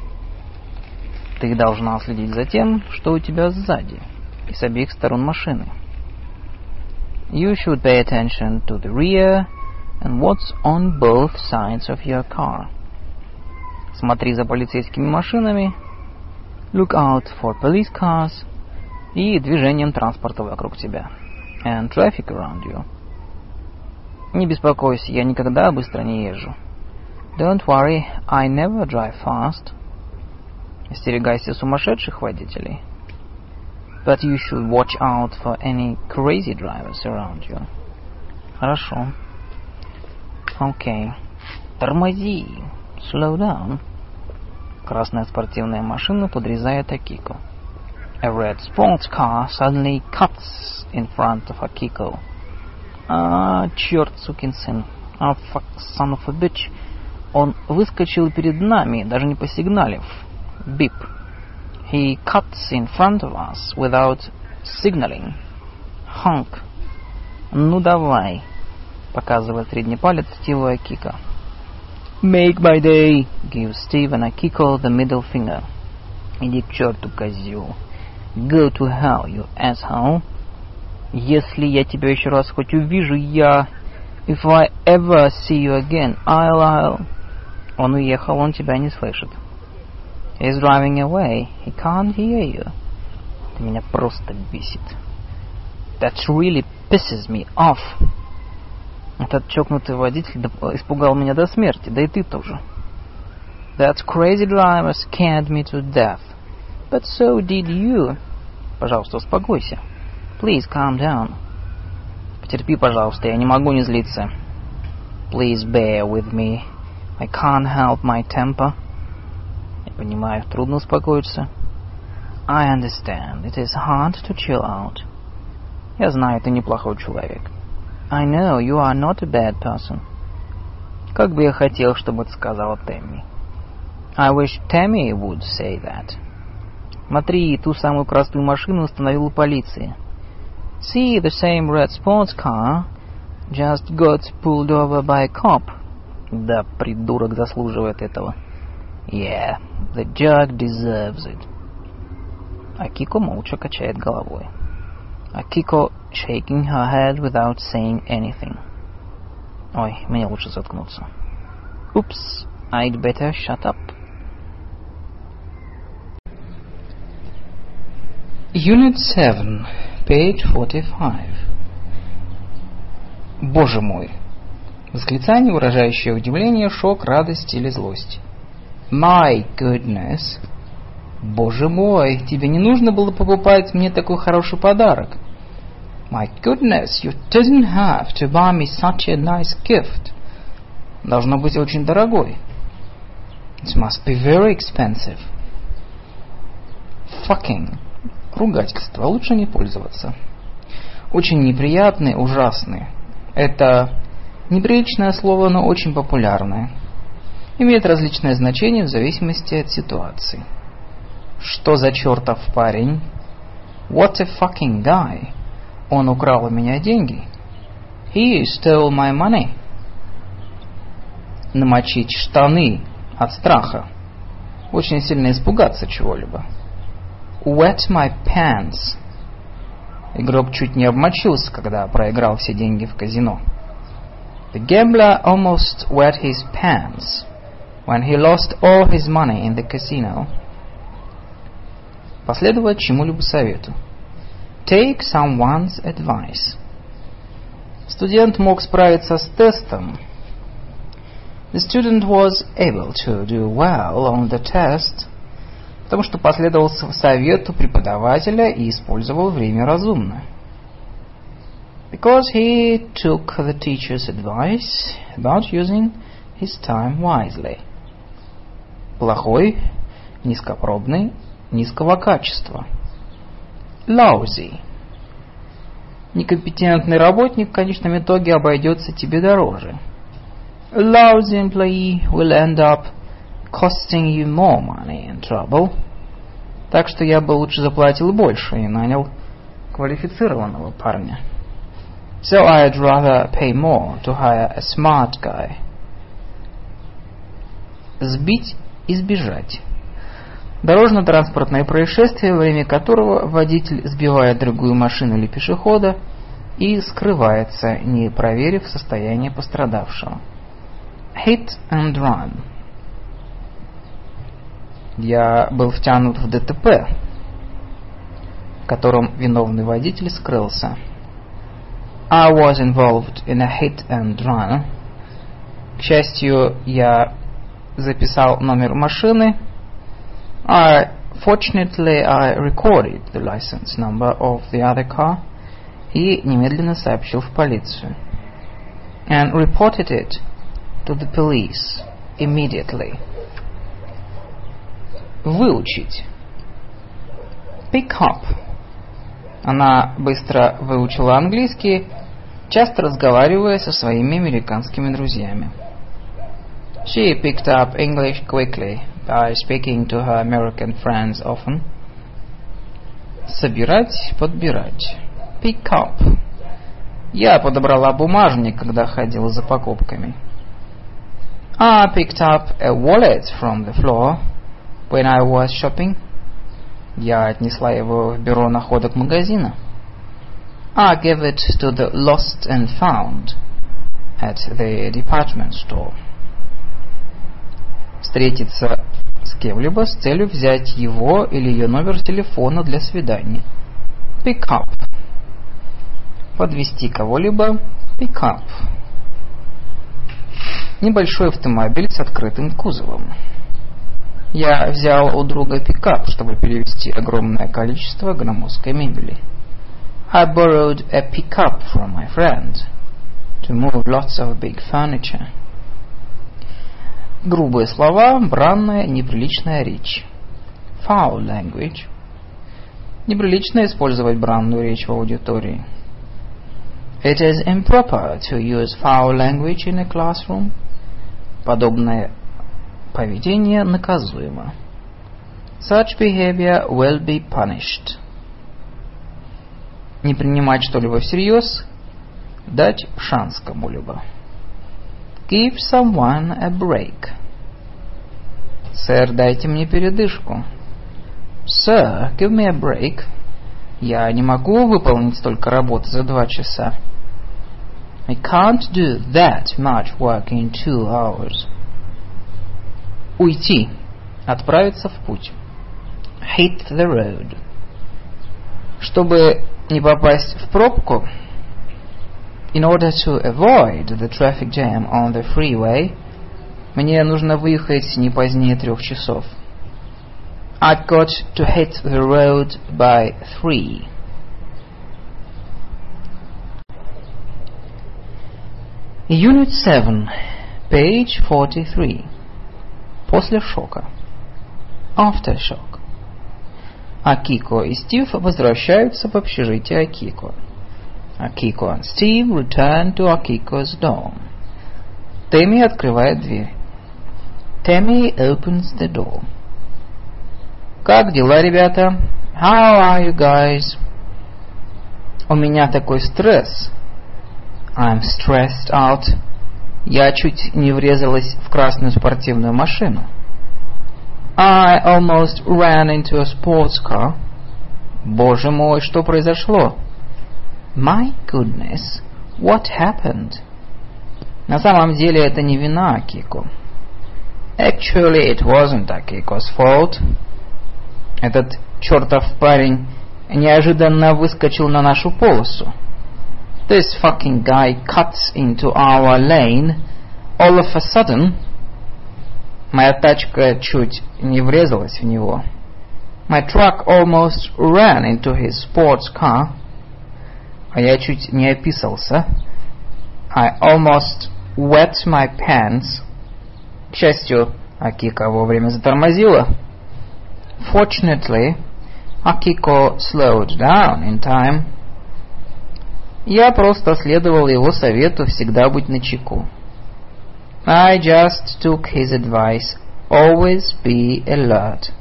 Ты должна следить за тем, что у тебя сзади и с обеих сторон машины. You should pay attention to the rear and what's on both sides of your car. Смотри за полицейскими машинами. Look out for police cars. И движением транспорта вокруг тебя. And traffic around you. Не беспокойся, я никогда быстро не езжу. Don't worry, I never drive fast. Остерегайся сумасшедших водителей. But you should watch out for any crazy drivers around you. Хорошо. Okay. Тормози. Slow down. Красная спортивная машина подрезает Акико. A red sports car suddenly cuts in front of Akiko. Черт, сукин сын. Fuck, son of a bitch. Он выскочил перед нами, даже не посигналив. Beep. He cuts in front of us without signaling. Honk. Ну давай. Показывает средний палец Стиву Акико. Make my day. Gives Steve and Akiko the middle finger. Иди к черту, козел. Go to hell, you asshole. Если я тебя еще раз хоть увижу, я... If I ever see you again, I'll... Он уехал, он тебя не слышит. He's driving away. He can't hear you. Ты меня просто бесит. That really pisses me off. Этот чокнутый водитель испугал меня до смерти, да и ты тоже. That crazy driver scared me to death. But so did you. Пожалуйста, успокойся. Please calm down. Потерпи, пожалуйста, я не могу не злиться. Please bear with me. I can't help my temper. Я понимаю, трудно успокоиться. I understand. It is hard to chill out. Я знаю, ты неплохой человек. I know you are not a bad person. Как бы я хотел, чтобы это сказала Тэмми. I wish Tammy would say that. Смотри, ту самую красную машину остановила полиция. See, the same red sports car just got pulled over by a cop. Да, придурок заслуживает этого. Yeah, the jerk deserves it. Акико молча качает головой. Акико shaking her head without saying anything. Ой, мне лучше заткнуться. Oops, I'd better shut up. Unit 7, page 45. Боже мой! Восклицание, выражающее удивление, шок, радость или злость. My goodness! Боже мой! Тебе не нужно было покупать мне такой хороший подарок. My goodness! You didn't have to buy me such a nice gift. Должно быть очень дорогой. It must be very expensive. Fucking. Ругательство. Лучше не пользоваться. Очень неприятный, ужасный. Это неприличное слово, но очень популярное. Имеет различное значение в зависимости от ситуации. Что за чертов парень? What a fucking guy. Он украл у меня деньги. He stole my money. Намочить штаны от страха. Очень сильно испугаться чего-либо. Wet my pants. Игрок чуть не обмочился, когда проиграл все деньги в казино. The gambler almost wet his pants when he lost all his money in the casino. Последовать чему-либо совету. Take someone's advice. Студент мог справиться с тестом. The student was able to do well on the test, потому что последовал совету преподавателя и использовал время разумно. Because he took the teacher's advice about using his time wisely. Плохой, низкопробный, низкого качества. Lousy. Некомпетентный работник в конечном итоге обойдется тебе дороже. A lousy employee will end up costing you more money and trouble. Так что я бы лучше заплатил больше и нанял квалифицированного парня. So I'd rather pay more to hire a smart guy. Сбить и сбежать. Дорожно-транспортное происшествие, во время которого водитель сбивает другую машину или пешехода и скрывается, не проверив состояние пострадавшего. Hit and run. Я был втянут в ДТП, в котором виновный водитель скрылся. I was involved in a hit and run. К счастью, я записал номер машины. Fortunately, I recorded the license number of the other car и немедленно сообщил в полицию. And reported it to the police immediately. Выучить. Pick up. Она быстро выучила английский, часто разговаривая со своими американскими друзьями. She picked up English quickly by speaking to her American friends often. Собирать, подбирать. Pick up. Я подобрала бумажник, когда ходила за покупками. I picked up a wallet from the floor when I was shopping. Я отнесла его в бюро находок магазина. I gave it to the lost and found at the department store. Встретиться с кем-либо с целью взять его или ее номер телефона для свидания. Pick up. Подвезти кого-либо. Pick up. Небольшой автомобиль с открытым кузовом. Я взял у друга пикап, чтобы перевезти огромное количество громоздкой мебели. I borrowed a pickup from my friend to move lots of big furniture. Грубые слова, бранная, неприличная речь. Foul language. Неприлично использовать бранную речь в аудитории. It is improper to use foul language in a classroom. Подобное поведение наказуемо. Such behavior will be punished. Не принимать что-либо всерьез. Дать шанс кому-либо. Give someone a break. Сэр, дайте мне передышку. Sir, give me a break. Я не могу выполнить столько работы за 2 часа. I can't do that much work in 2 hours. Уйти. Отправиться в путь. Hit the road. Чтобы не попасть в пробку, in order to avoid the traffic jam on the freeway, мне нужно выехать не позднее 3 часов. I've got to hit the road by 3. Unit 7, page 43. После шока. Aftershock. Акико и Стив возвращаются в общежитие Акико. Акико and Steve return to Akiko's dorm. Тэмми открывает дверь. Tammy opens the door. Как дела, ребята? How are you guys? У меня такой стресс. I'm stressed out. Я чуть не врезалась в красную спортивную машину. I almost ran into a sports car. Боже мой, что произошло? My goodness, what happened? На самом деле это не вина Акико. Actually, it wasn't Akiko's fault. Этот чертов парень неожиданно выскочил на нашу полосу. This fucking guy cuts into our lane all of a sudden. Моя тачка чуть не врезалась в него. My truck almost ran into his sports car. А я чуть не описался. I almost wet my pants. К счастью, Акико вовремя затормозила. Fortunately, Akiko slowed down in time. Я просто следовал его совету всегда быть начеку. I just took his advice, always be alert.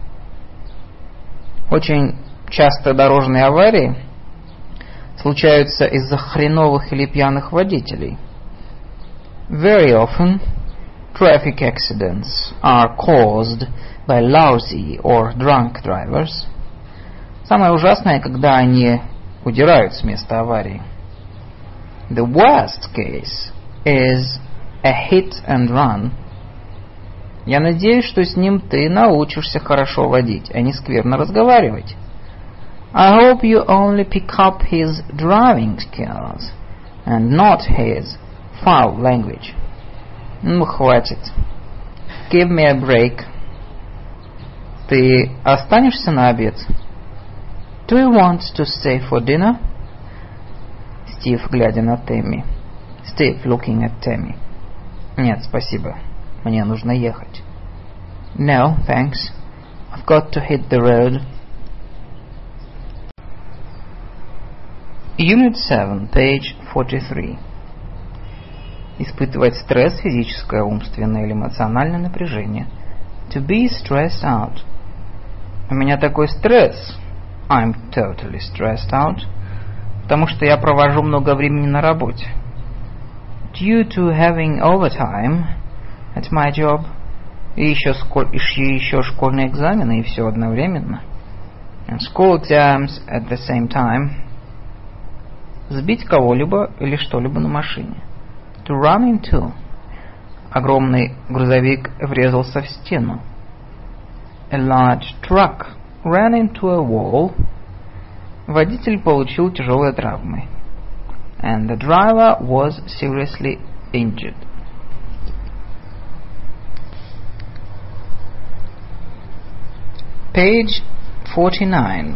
Очень часто дорожные аварии случаются из-за хреновых или пьяных водителей. Very often, traffic accidents are caused by lousy or drunk drivers. Самое ужасное, когда они удирают с места аварии. The worst case is a hit and run. Я надеюсь, что с ним ты научишься хорошо водить, а не скверно разговаривать. I hope you only pick up his driving skills and not his foul language. Ну, хватит. Give me a break. Ты останешься на обед? Do you want to stay for dinner? Стив, глядя на Тэмми. Steve, looking at Tammy. Нет, спасибо. Мне нужно ехать. No, thanks. I've got to hit the road. Unit 7, page 43. Испытывать стресс, физическое, умственное или эмоциональное напряжение. To be stressed out. У меня такой стресс. I'm totally stressed out. Потому что я провожу много времени на работе. Due to having overtime at my job. И еще школьные экзамены, и все одновременно. And school exams at the same time. Сбить кого-либо или что-либо на машине. to run into. Огромный грузовик врезался в стену. A large truck ran into a wall. Водитель получил тяжелые травмы. And the driver was seriously injured. Page 49.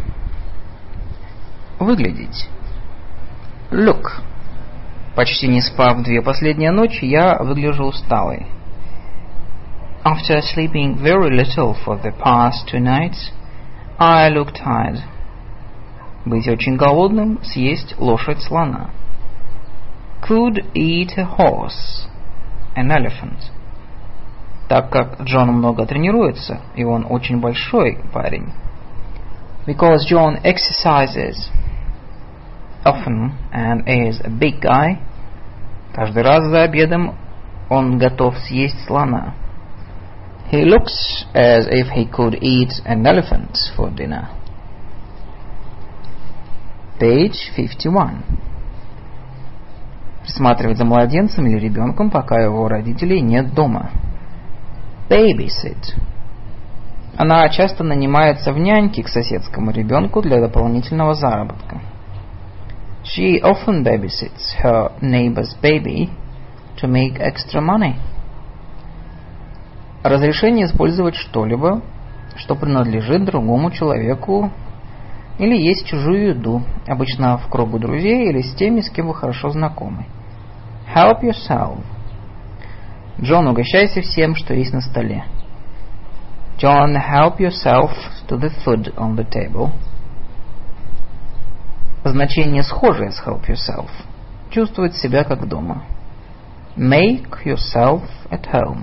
Выглядеть. Look. Почти не спав 2 последние ночи, я выгляжу усталой. After sleeping very little for the past 2 nights, I look tired. Быть очень голодным, съесть лошадь слона. Could eat a horse, an elephant. Так как Джон много тренируется, и он очень большой парень. Because John exercises often and is a big guy, каждый раз за обедом он готов съесть слона. He looks as if he could eat an elephant for dinner. Page 51. Присматривать за младенцем или ребенком, пока его родителей нет дома. Babysit. Она часто нанимается в няньки к соседскому ребенку для дополнительного заработка. She often babysits her neighbor's baby to make extra money. Разрешение использовать что-либо, что принадлежит другому человеку, или есть чужую еду, обычно в кругу друзей или с теми, с кем вы хорошо знакомы. Help yourself. Джон, угощайся всем, что есть на столе. John, help yourself to the food on the table. Значение схожее с help yourself. Чувствовать себя как дома. Make yourself at home.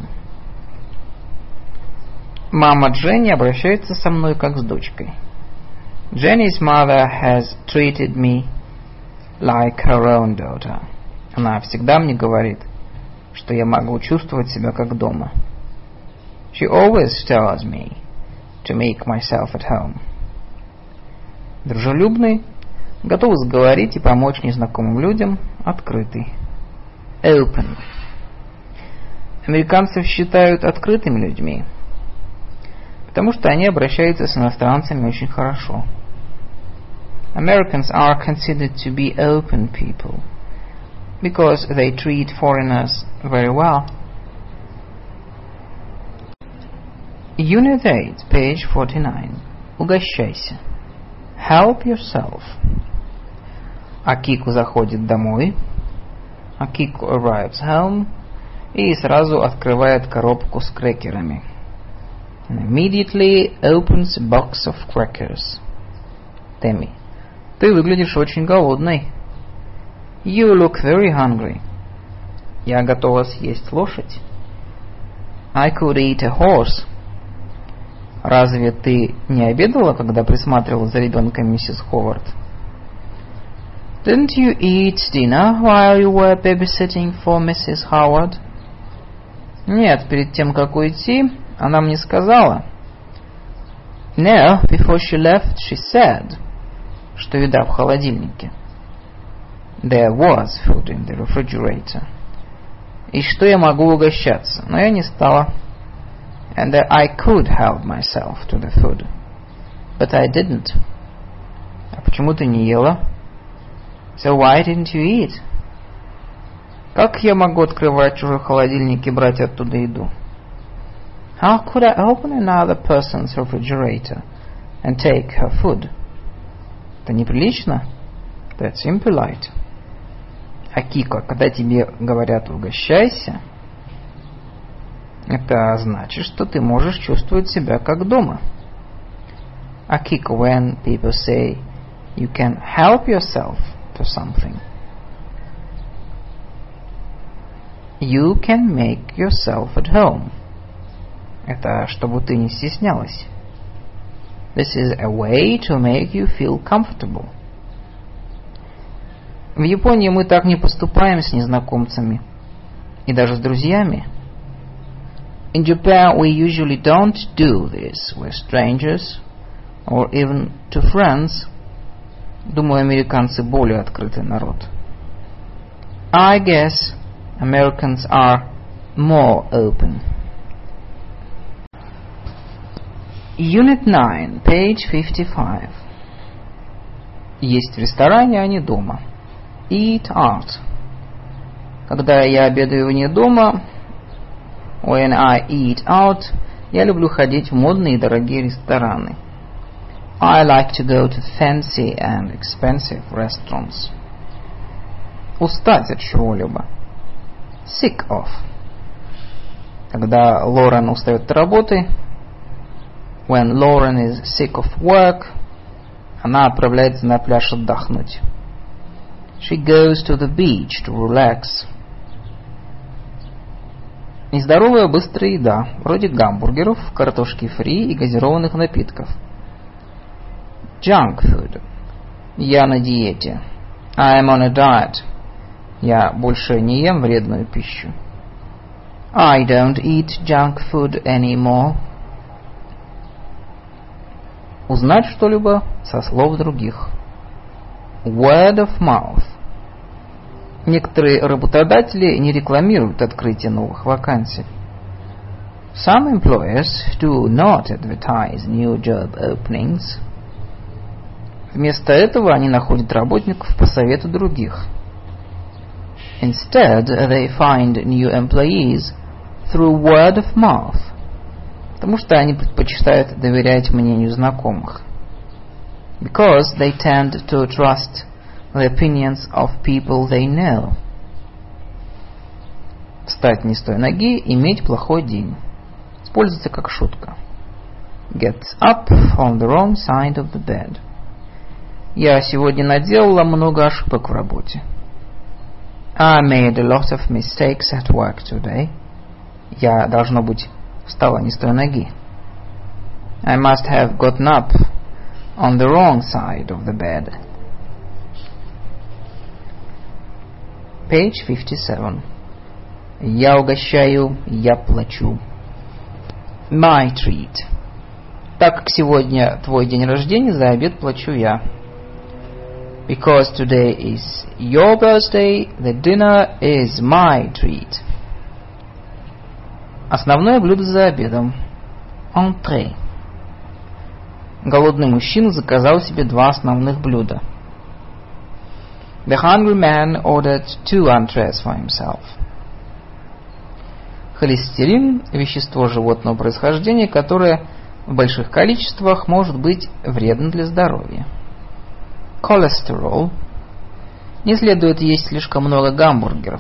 Мама Дженни обращается со мной как с дочкой. Jenny's mother has treated me like her own daughter. Она всегда мне говорит, что я могу чувствовать себя как дома. She always tells me to make myself at home. Дружелюбный, готов сговорить и помочь незнакомым людям, открытый. Open. Американцев считают открытыми людьми, потому что они обращаются с иностранцами очень хорошо. Americans are considered to be open people because they treat foreigners very well. Unit 8, page 49. Угощайся. Help yourself. Акико заходит домой. Акико arrives home и сразу открывает коробку с крекерами. And immediately opens a box of crackers. Тэмми, ты выглядишь очень голодной. You look very hungry. Я готова съесть лошадь. I could eat a horse. Разве ты не обедала, когда присматривала за ребенком миссис Ховард? Didn't you eat dinner while you were babysitting for Mrs. Howard? Нет, перед тем, как уйти, она мне сказала. No, before she left, she said, что еда в холодильнике. There was food in the refrigerator. И что я могу угощаться, но я не стала. And that I could help myself to the food. But I didn't. А почему ты не ела? So why didn't you eat? Как я могу открывать чужой холодильник и брать оттуда еду? How could I open another person's refrigerator and take her food? Это неприлично. That's impolite. Акико, когда тебе говорят «угощайся», это значит, что ты можешь чувствовать себя как дома. Акико, when people say you can help yourself to something, you can make yourself at home. Это чтобы ты не стеснялась. This is a way to make you feel comfortable. В Японии мы так не поступаем с незнакомцами и даже с друзьями. In Japan, we usually don't do this with strangers or even to friends. Думаю, американцы более открытый народ. I guess Americans are more open. Unit 9, page 55. Есть в ресторане, а не дома. Eat out. Когда я обедаю вне дома, when I eat out, я люблю ходить в модные и дорогие рестораны. I like to go to fancy and expensive restaurants. Устать от чего-либо. Sick of. Когда Лорен устает от работы, when Lauren is sick of work, она отправляется на пляж отдохнуть. She goes to the beach to relax. Нездоровая быстрая еда, вроде гамбургеров, картошки фри и газированных напитков. Junk food. Я на диете. I am on a diet. Я больше не ем вредную пищу. I don't eat junk food anymore. Узнать что-либо со слов других. Word of mouth. Некоторые работодатели не рекламируют открытие новых вакансий. Some employers do not advertise new job openings. Вместо этого они находят работников по совету других. Instead, they find new employees through word of mouth. Потому что они предпочитают доверять мнению знакомых. Because they tend to trust the opinions of people they know. Встать не с той ноги, иметь плохой день. Используется как шутка. Get up on the wrong side of the bed. Я сегодня наделала много ошибок в работе. I made a lot of mistakes at work today. Я, должно быть, встала не с той ноги. I must have gotten up on the wrong side of the bed. Page 57. Я угощаю, я плачу. My treat. Так как сегодня твой день рождения, за обед плачу я. Because today is your birthday, the dinner is my treat. Основное блюдо за обедом. Entrée. Голодный мужчина заказал себе 2 основных блюда. The hungry man ordered 2 entrees for himself. Холестерин – вещество животного происхождения, которое в больших количествах может быть вредно для здоровья. Cholesterol. Не следует есть слишком много гамбургеров.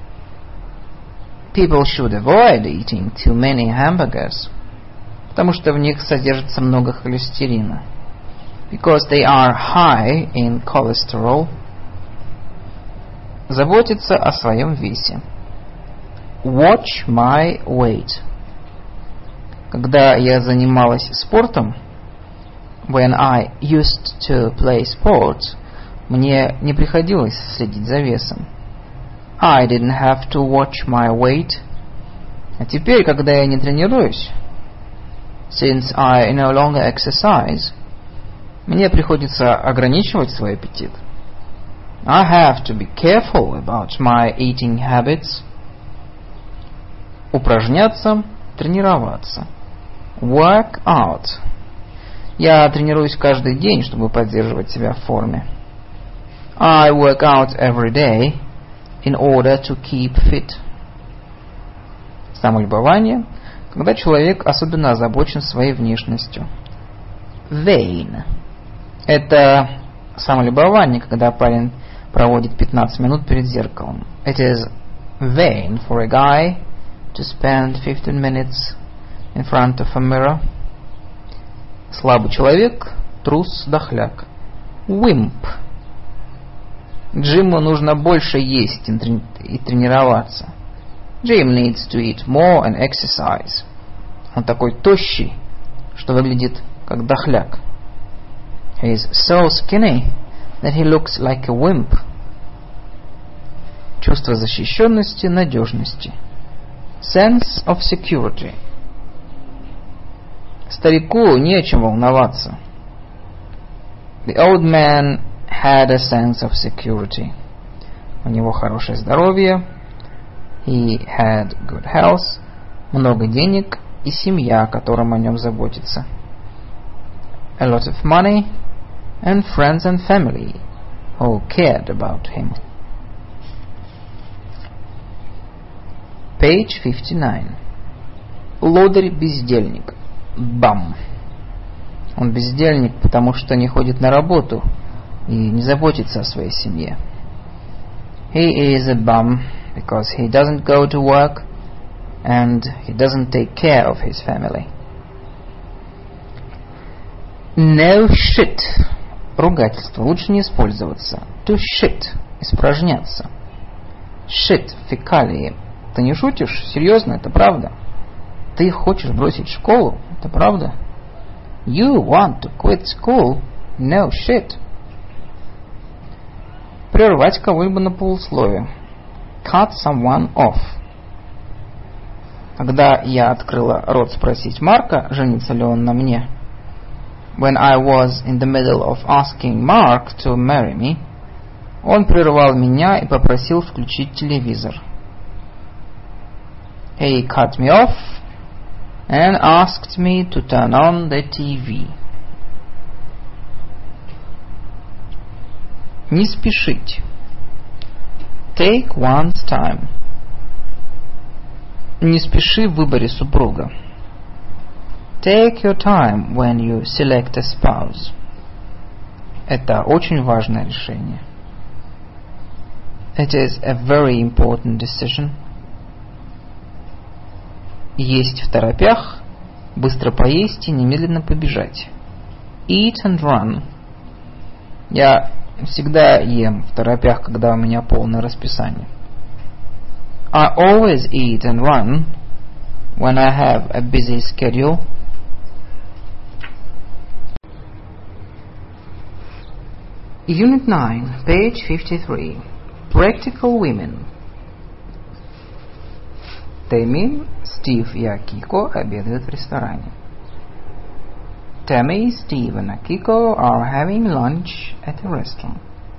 People should avoid eating too many hamburgers. Потому что в них содержится много холестерина. Because they are high in cholesterol. Заботиться о своем весе. Watch my weight. Когда я занималась спортом, when I used to play sports, мне не приходилось следить за весом. I didn't have to watch my weight. А теперь, когда я не тренируюсь, since I no longer exercise, мне приходится ограничивать свой аппетит. I have to be careful about my eating habits. Упражняться, тренироваться. Work out. Я тренируюсь каждый день, чтобы поддерживать себя в форме. I work out every day in order to keep fit. Самолюбование, когда человек особенно озабочен своей внешностью. Vain. Это самолюбование, когда парень проводит 15 минут перед зеркалом. It is vain for a guy to spend 15 minutes in front of a mirror. Слабый человек, трус, дохляк. Wimp. Джиму нужно больше есть и тренироваться. Jim needs to eat more and exercise. Он такой тощий, что выглядит как дохляк. He is so skinny that he looks like a wimp. Чувство защищенности, надежности. Sense of security. Старику не о чем волноваться. The old man had a sense of security. У него хорошее здоровье. He had good health, много денег и семья, которым о нем заботится. A lot of money and friends and family who cared about him. Page 59. Лодырь-бездельник. Bum. Он бездельник, потому что не ходит на работу и не заботится о своей семье. He is a bum because he doesn't go to work and he doesn't take care of his family. No shit. Ругательство. Лучше не использоваться. To shit. Испражняться. Shit. Фекалии. Ты не шутишь? Серьезно? Это правда? Ты хочешь бросить школу? Это правда? You want to quit school? No shit. Прервать кого-либо на полусловие. Cut someone off. Когда я открыла рот спросить Марка, женится ли он на мне, when I was in the middle of asking Mark to marry me, он прервал меня и попросил включить телевизор. He cut me off and asked me to turn on the TV. Не спешить. Take one's time. Не спеши в выборе супруга. Take your time when you select a spouse. Это очень важное решение. It is a very important decision. Есть в торопях, быстро поесть и немедленно побежать. Eat and run. Я всегда ем в торопях, когда у меня полное расписание. I always eat and run when I have a busy schedule. Unit 9, page 53. Practical women. Тэмми, Стив и Акико обедают в ресторане. Tammy, Steve and Akiko are having lunch at a restaurant.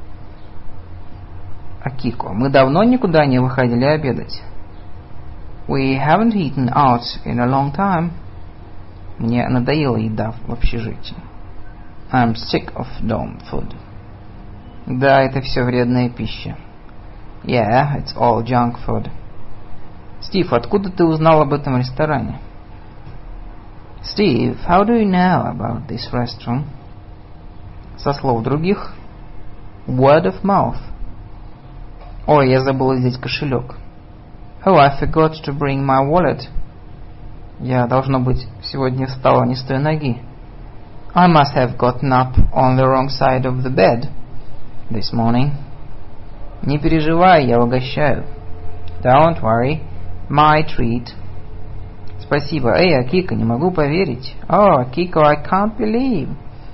Акико, мы давно никуда не выходили обедать. We haven't eaten out in a long time. Мне надоела еда в общежитии. I'm sick of dorm food. Да, это все вредная пища. Yeah, it's all junk food. Стив, откуда ты узнал об этом ресторане? Steve, how do you know about this restaurant? Со слов других. Word of mouth. Ой, я забыла взять кошелек. Oh, I forgot to bring my wallet. Я, должно быть, сегодня встала не с той ноги. I must have gotten up on the wrong side of the bed this morning. Не переживай, я угощаю. Don't worry, my treat. Спасибо. Эй, Акико, не могу поверить. Oh, Акико, I can't believe.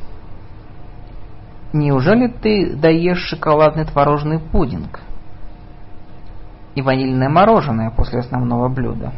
Неужели ты доешь шоколадный творожный пудинг и ванильное мороженое после основного блюда?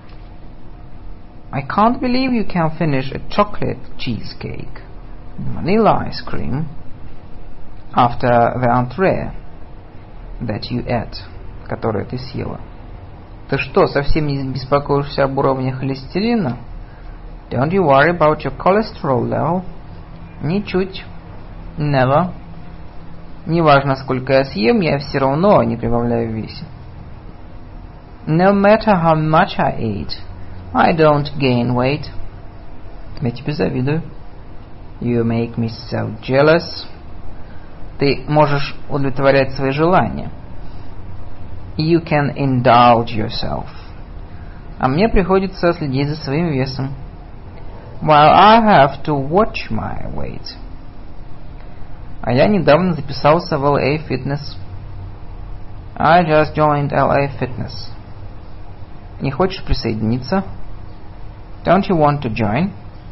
I can't believe you can finish a chocolate cheesecake and vanilla ice cream after the entree that you ate, которое ты съела. Ты что, совсем не беспокоишься об уровне холестерина? Don't you worry about your cholesterol level? Ничуть. Never. Неважно, сколько я съем, я все равно не прибавляю в весе. No matter how much I eat, I don't gain weight. Я тебе завидую. You make me so jealous. Ты можешь удовлетворять свои желания. You can indulge yourself. А мне приходится следить за своим весом. While I have to watch my weight. А я недавно записался в LA Fitness. I just joined LA Fitness. Не хочешь присоединиться? Don't you want to join?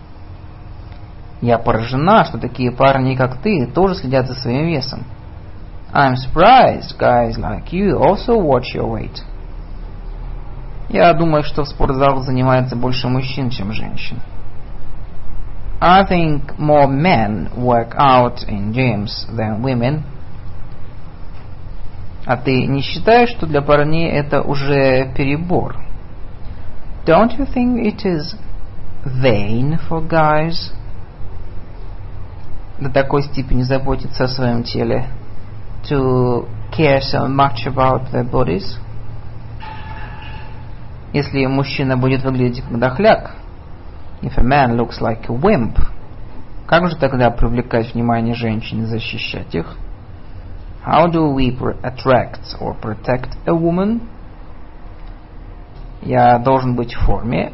Я поражена, что такие парни, как ты, тоже следят за своим весом. I'm surprised guys like you also watch your weight. Я думаю, что в спортзалах занимается больше мужчин, чем женщин. I think more men work out in gyms than women. А ты не считаешь, что для парней это уже перебор? Don't you think it is vain for guys до такой степени заботиться о своем теле? To care so much about their bodies? Если мужчина будет выглядеть как дохляк, if a man looks like a wimp, как же тогда привлекать внимание женщин и защищать их? How do we attract or protect a woman? Я должен быть в форме.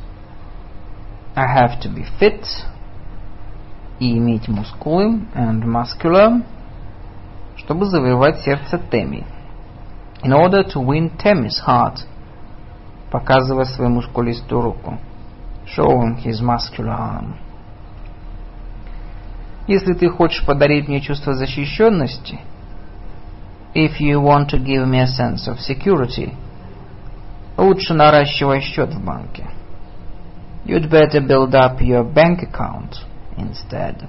I have to be fit. И иметь мускулы. And muscular. Чтобы завоевать сердце Тэмми. In order to win Tammy's heart. Показывая свою мускулистую руку. Showing his muscular arm. Если ты хочешь подарить мне чувство защищенности, if you want to give me a sense of security, лучше наращивай счет в банке. You'd better build up your bank account instead.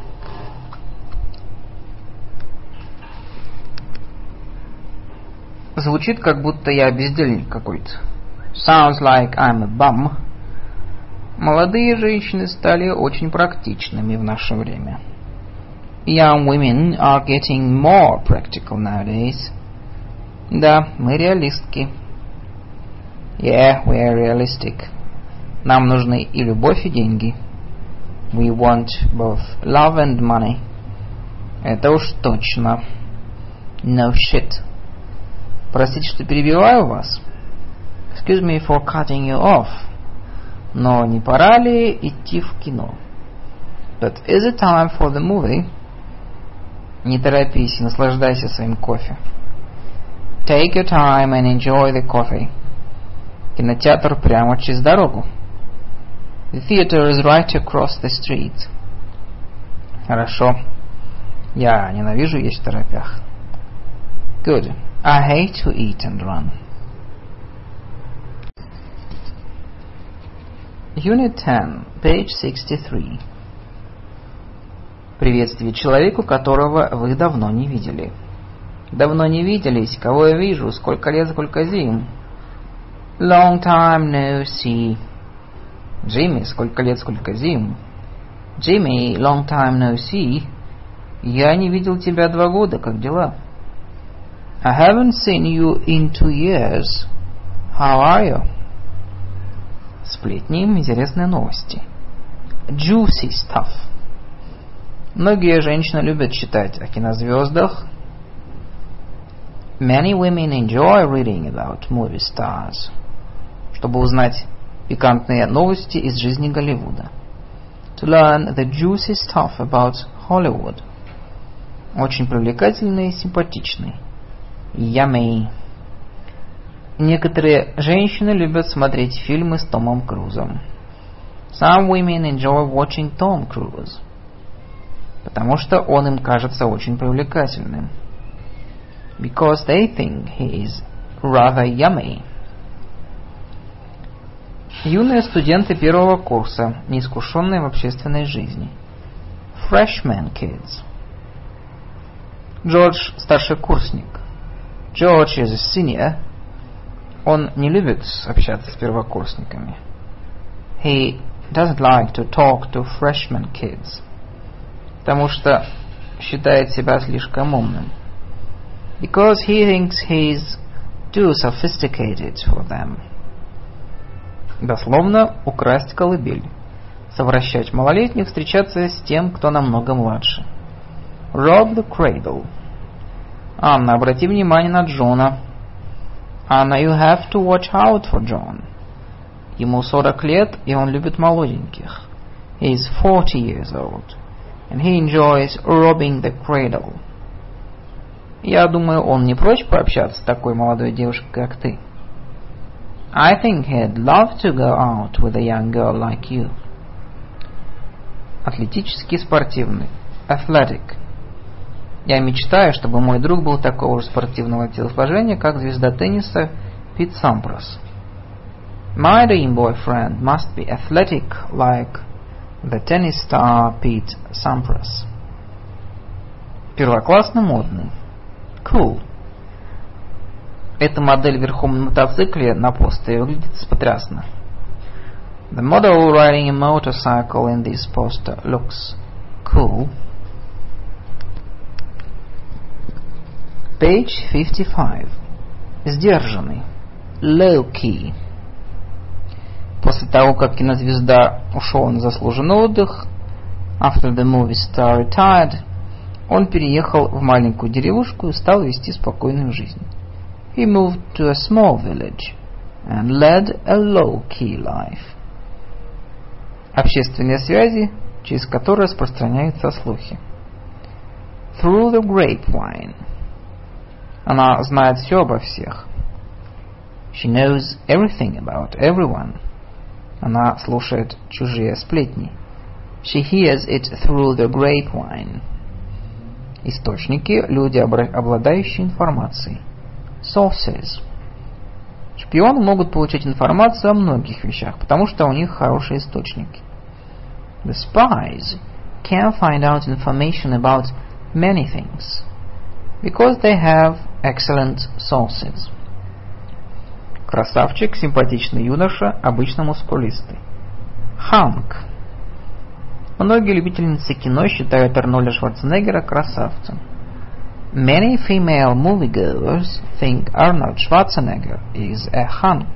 Звучит, как будто я бездельник какой-то. Sounds like I'm a bum. Молодые женщины стали очень практичными в наше время. Young women are getting more practical nowadays. Да, мы реалистки. Yeah, we are realistic. Нам нужны и любовь, и деньги. We want both love and money. Это уж точно. No shit. Простите, что перебиваю вас. Excuse me for cutting you off. Но не пора ли идти в кино? But is it time for the movie? Не торопись, наслаждайся своим кофе. Take your time and enjoy the coffee. Кинотеатр прямо через дорогу. The theater is right across the street. Хорошо. Я ненавижу есть в торопях. Good. I hate to eat and run. Unit 10, page 63. Приветствие человеку, которого вы давно не видели. Давно не виделись, кого я вижу, сколько лет, сколько зим. Long time no see. Джимми, сколько лет, сколько зим. Jimmy, long time no see. Я не видел тебя 2 года, как дела? I haven't seen you in 2 years. How are you? Сплетни, интересные новости. Juicy stuff. Многие женщины любят читать о кинозвездах. Many women enjoy reading about movie stars. Чтобы узнать пикантные новости из жизни Голливуда. To learn the juicy stuff about Hollywood. Очень привлекательный и симпатичный. Yummy. Некоторые женщины любят смотреть фильмы с Томом Крузом. Some women enjoy watching Tom Cruise. Потому что он им кажется очень привлекательным. Because they think he is rather yummy. Юные студенты первого курса, неискушенные в общественной жизни. Freshman kids. Джордж старшекурсник. George is a senior. Он не любит общаться с первокурсниками. He doesn't like to talk to freshman kids. Потому что считает себя слишком умным. Because he thinks he's too sophisticated for them. Дословно, украсть колыбель. Совращать малолетних, встречаться с тем, кто намного младше. Rob the cradle. Анна, обрати внимание на Джона. Anna, you have to watch out for John. Ему 40 лет, и он любит молоденьких. He is 40 years old, and he enjoys robbing the cradle. Я думаю, он не прочь пообщаться с такой молодой девушкой, как ты. I think he'd love to go out with a young girl like you. Атлетический, спортивный. Athletic. Я мечтаю, чтобы мой друг был такого же спортивного телосложения, как звезда тенниса Пит Сампрос. My dream boyfriend must be athletic like the tennis star Pete Sampras. Первоклассно модный. Cool. Эта модель верхом на мотоцикле на постере выглядит потрясно. The model riding a motorcycle in this poster looks cool. Page 55. Сдержанный. Low-key. После того, как кинозвезда ушел на заслуженный отдых, after the movie star retired, он переехал в маленькую деревушку и стал вести спокойную жизнь. He moved to a small village and led a low-key life. Общественные связи, через которые распространяются слухи. Through the grapevine. Она знает все обо всех. She knows everything about everyone. Она слушает чужие сплетни. She hears it through the grapevine. Источники – люди, обладающие информацией. Sources. Шпионы могут получать информацию о многих вещах, потому что у них хорошие источники. The spies can find out information about many things, because they have excellent sources. Красавчик, симпатичный юноша, обычно мускулистый. Hunk. Многие любительницы кино считают Арнольда Шварценеггера красавцем. Many female moviegoers think Arnold Schwarzenegger is a hunk.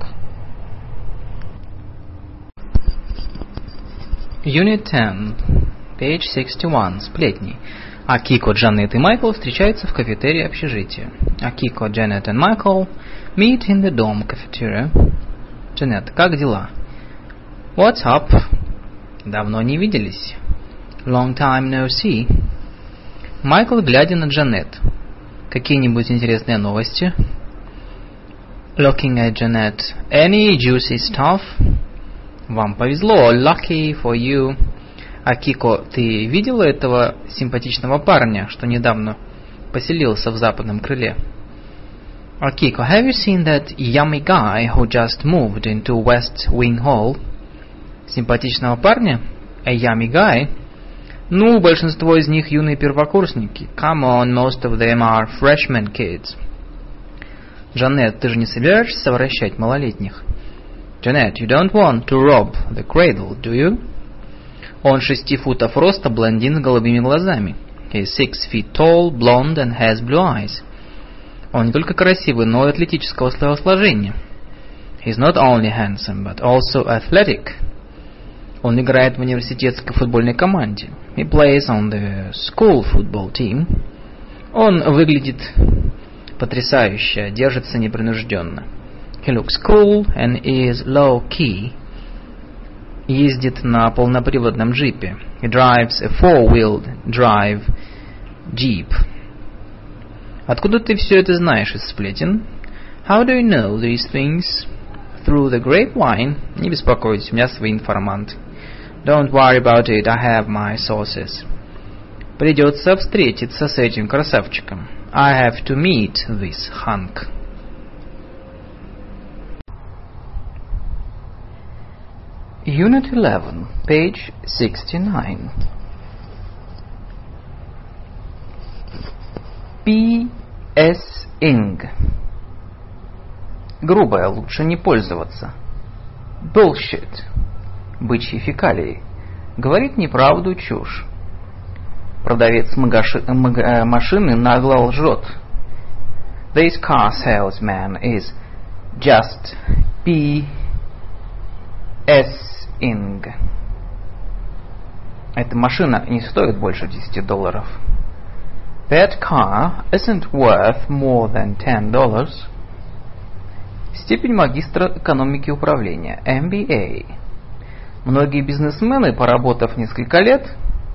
Unit 10, page 61. Сплетни. Акико, Джанет и Майкл встречаются в кафетерии общежития. Акико, Janet and Michael meet in the dorm cafeteria. Джанет, как дела? What's up? Давно не виделись. Long time no see. Майкл, глядя на Джанет. Какие-нибудь интересные новости? Looking at Janet. Any juicy stuff? Вам повезло. Lucky for you. Акико, ты видела этого симпатичного парня, что недавно поселился в западном крыле? Акико, have you seen that yummy guy who just moved into West Wing Hall? Симпатичного парня? A yummy guy? Ну, большинство из них юные первокурсники. Come on, most of them are freshman kids. Джанет, ты же не собираешься совращать малолетних? Janet, you don't want to rob the cradle, do you? Он 6 футов роста, блондин с голубыми глазами. He is 6 feet tall, blonde and has blue eyes. Он не только красивый, но и атлетического телосложения. He is not only handsome, but also athletic. Он играет в университетской футбольной команде. He plays on the school football team. Он выглядит потрясающе, держится непринужденно. He looks cool and is low-key. Ездит на полноприводном джипе. He drives a four-wheeled drive jeep. Откуда ты все это знаешь из сплетен? How do you know these things? Through the grapevine. Не беспокойтесь, у меня свои информанты. Don't worry about it, I have my sources. Придется встретиться с этим красавчиком. I have to meet this hunk. Unit 11, page 69. P.S.ing. Грубое, лучше не пользоваться. Bullshit. Бычьи фекалии. Говорит неправду, чушь. Продавец машины нагло лжет. This car salesman is just P.S.ing. Эта машина не стоит больше $10. That car isn't worth more than $10. Степень магистра экономики и управления. MBA. Многие бизнесмены, поработав несколько лет,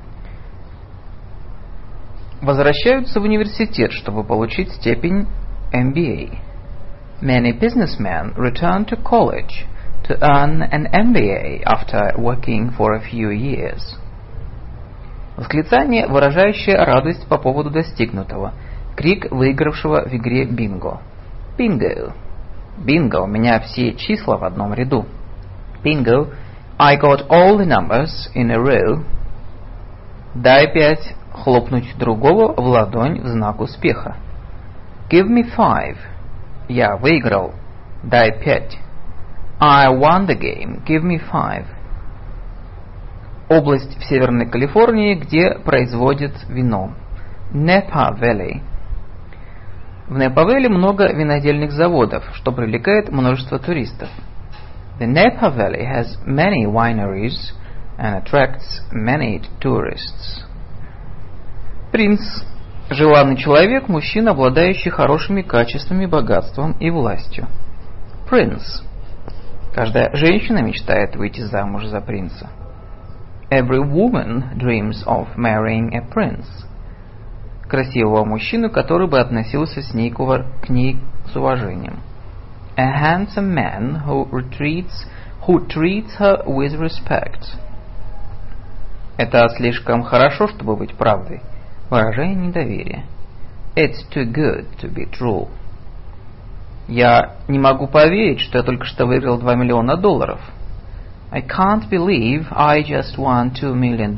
возвращаются в университет, чтобы получить степень MBA. Many businessmen return to college to earn an MBA after working for a few years. Восклицание, выражающее радость по поводу достигнутого. Крик выигравшего в игре бинго. Bingo. Bingo, у меня все числа в одном ряду. Bingo, I got all the numbers in a row. Дай 5, хлопнуть другого в ладонь в знак успеха. Give me 5, Я выиграл. Дай 5. I won the game. Give me 5. Область в Северной Калифорнии, где производят вино. Napa Valley. В Непа-Вэлли много винодельных заводов, что привлекает множество туристов. The Napa Valley has many wineries and attracts many tourists. Принц – желанный человек, мужчина, обладающий хорошими качествами, богатством и властью. Prince. Каждая женщина мечтает выйти замуж за принца. Every woman dreams of marrying a prince. Красивого мужчину, который бы относился к ней с уважением. A handsome man who treats her with respect. Это слишком хорошо, чтобы быть правдой. Выражение недоверия. It's too good to be true. Я не могу поверить, что я только что выиграл $2 миллиона. I can't believe I just won $2 million.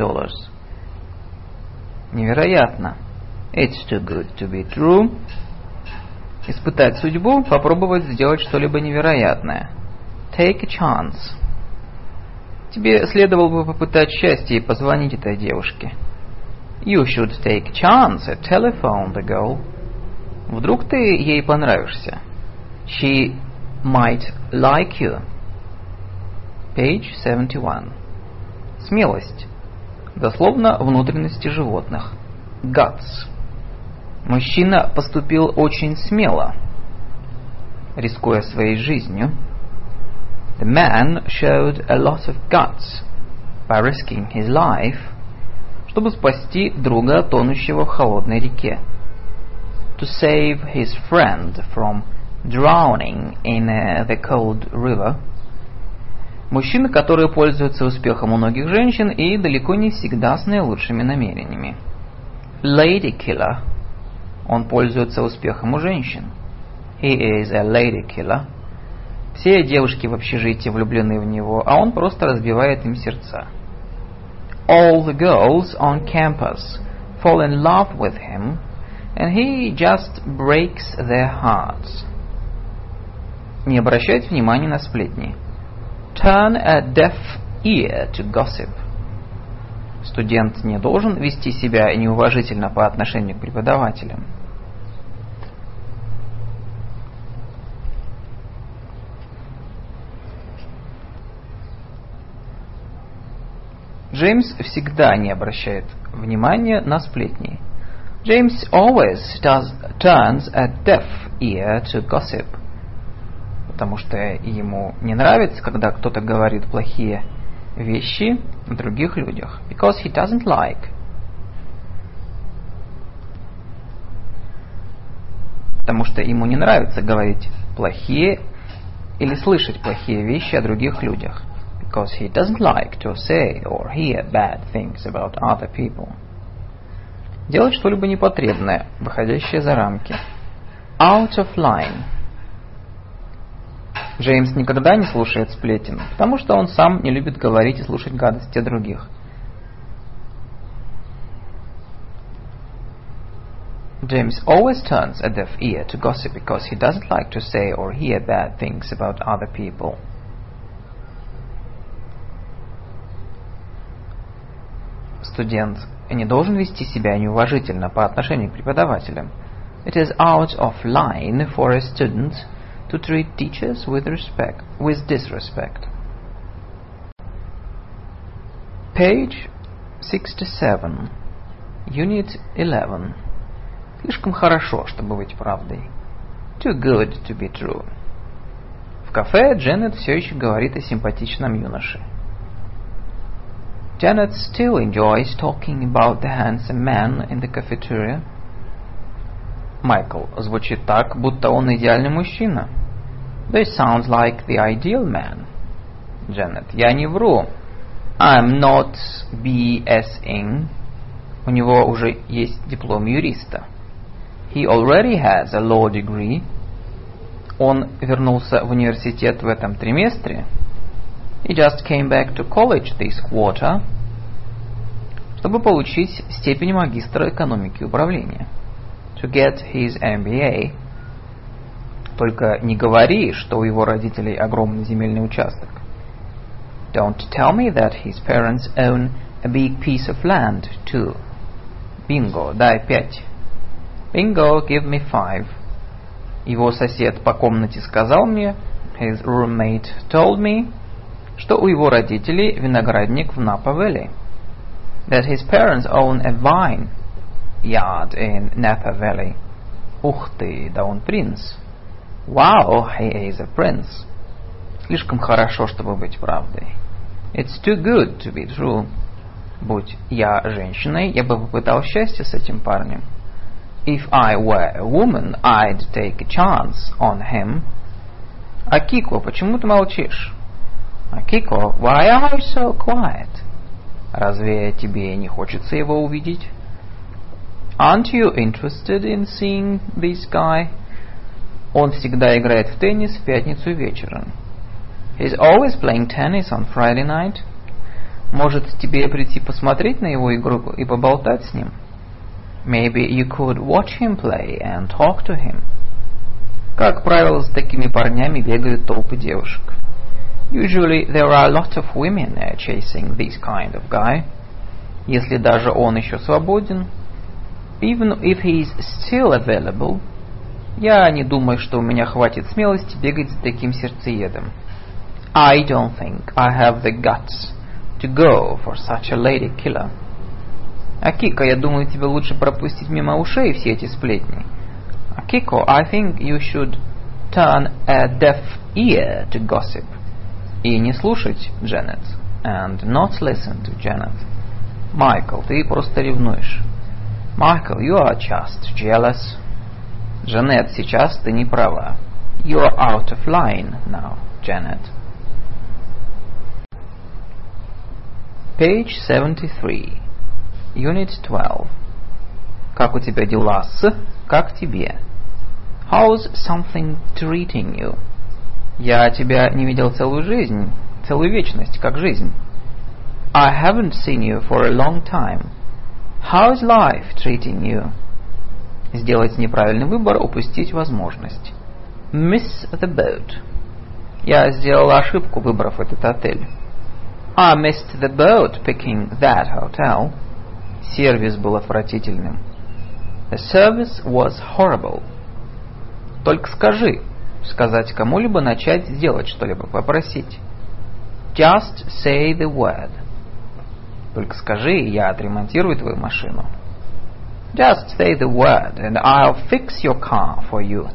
Невероятно. It's too good to be true. Испытать судьбу, попробовать сделать что-либо невероятное. Take a chance. Тебе следовало бы попытать счастье и позвонить этой девушке. You should take a chance and telephone the girl. Вдруг ты ей понравишься. She might like you. Page 71. Смелость. Дословно внутренности животных. Guts. Мужчина поступил очень смело, рискуя своей жизнью. The man showed a lot of guts by risking his life, чтобы спасти друга, тонущего в холодной реке. To save his friend from drowning in the cold river. Мужчина, который пользуется успехом у многих женщин и далеко не всегда с наилучшими намерениями. Lady killer. Он пользуется успехом у женщин. He is a lady killer. Все девушки в общежитии влюблены в него, а он просто разбивает им сердца. All the girls on campus fall in love with him, and he just breaks their hearts. Не обращать внимания на сплетни. Turn a deaf ear to gossip. Студент не должен вести себя неуважительно по отношению к преподавателям. Джеймс всегда не обращает внимания на сплетни. James always turns a deaf ear to gossip. Потому что ему не нравится, когда кто-то говорит плохие вещи о других людях. Because he doesn't like. Потому что ему не нравится говорить плохие или слышать плохие вещи о других людях. Because he doesn't like to say or hear bad things about other people. Делать что-либо непотребное, выходящее за рамки. Out of line. Джеймс никогда не слушает сплетен, потому что он сам не любит говорить и слушать гадости о других. James always turns a deaf ear to gossip because he doesn't like to say or hear bad things about other people. Студент не должен вести себя неуважительно по отношению к преподавателям. It is out of line for a student to treat teachers with disrespect. Page 67. Unit 11. Слишком хорошо, чтобы быть правдой. Too good to be true. В кафе Дженнет все еще говорит о симпатичном юноше. Janet still enjoys talking about the handsome man in the cafeteria. Майкл звучит так, будто он идеальный мужчина. This sounds like the ideal man. Janet, я не вру. I'm not BSing. У него уже есть диплом юриста. He already has a law degree. Он вернулся в университет в этом триместре. He just came back to college this quarter, чтобы получить степень магистра экономики и управления. To get his MBA. Только не говори, что у его родителей огромный земельный участок. Don't tell me that his parents own a big piece of land, too. Bingo, дай 5. Bingo, give me 5. Его сосед по комнате сказал мне, his roommate told me, что у его родителей виноградник в Napa-Valley. That his parents own a vine yard in Napa Valley. Ух ты, да он принц. Wow, he is a prince. Слишком хорошо, чтобы быть правдой. It's too good to be true. Будь я женщиной, я бы попытал счастье с этим парнем. If I were a woman, I'd take a chance on him. Акико, почему ты молчишь? Akiko, why are you so quiet? Разве тебе не хочется его увидеть? Aren't you interested in seeing this guy? Он всегда играет в теннис в пятницу вечером. He's always playing tennis on Friday night. Может, тебе прийти посмотреть на его игру и поболтать с ним? Maybe you could watch him play and talk to him. Как правило, с такими парнями бегают толпы девушек. Usually there are a lot of women chasing this kind of guy. Если даже он еще свободен. Even if he's still available. Я не думаю, что у меня хватит смелости бегать за таким сердцеедом. I don't think I have the guts to go for such a lady killer. Акико, я думаю, тебе лучше пропустить мимо ушей все эти сплетни. Akiko, I think you should turn a deaf ear to gossip. И не слушать Дженнет. And not listen to Janet. Майкл, ты просто ревнуешь. Michael, you are just jealous. Дженнет, сейчас ты не права. You're out of line now, Janet. Page 73. Unit 12. Как у тебя дела с... Как тебе? How's something treating you? Я тебя не видел целую жизнь, целую вечность, как жизнь. I haven't seen you for a long time. How's life treating you? Сделать неправильный выбор, упустить возможность. Miss the boat. Я сделал ошибку, выбрав этот отель. I missed the boat picking that hotel. Сервис был отвратительным. The service was horrible. Только скажи, сказать кому-либо, начать сделать что-либо, попросить. Just say the word. Только скажи, я отремонтирую твою машину. Just say the word, and I'll fix your car for you.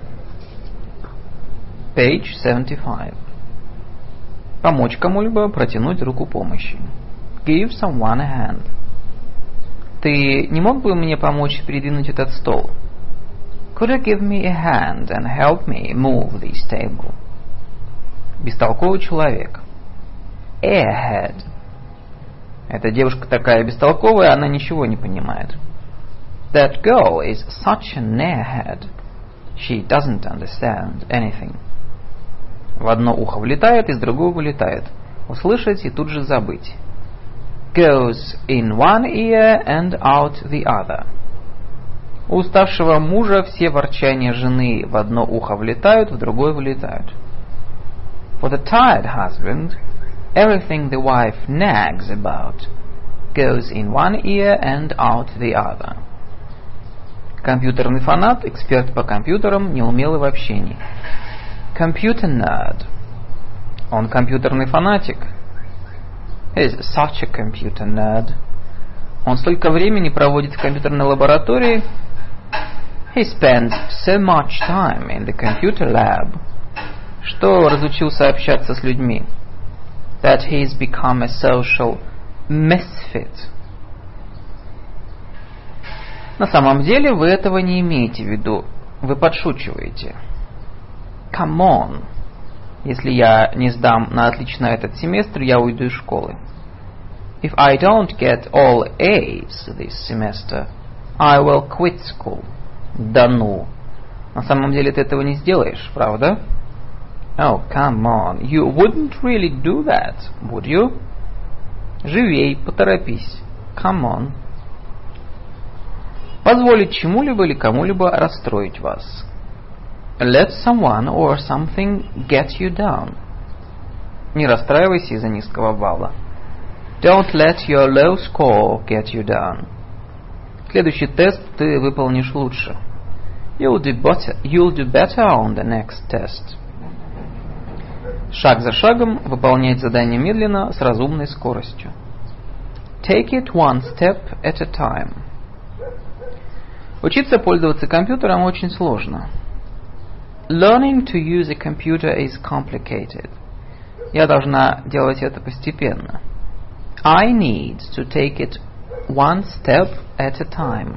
Page 75. Помочь кому-либо, протянуть руку помощи. Give someone a hand. Ты не мог бы мне помочь передвинуть этот стол? Could you give me a hand and help me move this table? Бестолковый человек. Airhead. Эта девушка такая бестолковая, она ничего не понимает. That girl is such an airhead. She doesn't understand anything. В одно ухо влетает, из другого вылетает. Услышать и тут же забыть. Goes in one ear and out the other. У уставшего мужа все ворчания жены в одно ухо влетают, в другое вылетают. For the tired husband, everything the wife nags about goes in one ear and out the other. Компьютерный фанат, эксперт по компьютерам, неумелый в общении. Computer nerd. Он компьютерный фанатик. He's such a computer nerd. Он столько времени проводит в компьютерной лаборатории. He spends so much time in the computer lab. Что разучился общаться с людьми. That he's become a social misfit. На самом деле вы этого не имеете в виду. Вы подшучиваете. Come on. Если я не сдам на отлично этот семестр, я уйду из школы. If I don't get all A's this semester, I will quit school. Да ну. На самом деле ты этого не сделаешь, правда? Oh, come on. You wouldn't really do that, would you? Живей, поторопись. Come on. Позволить чему-либо или кому-либо расстроить вас. let someone or something get you down. Не расстраивайся из-за низкого балла. Don't let your low score get you down. Следующий тест ты выполнишь лучше. You'll do better on the next test. Шаг за шагом выполнять задание медленно с разумной скоростью. Take it one step at a time. Учиться пользоваться компьютером очень сложно. Learning to use a computer is complicated. Я должна делать это постепенно. I need to take it one step at a time.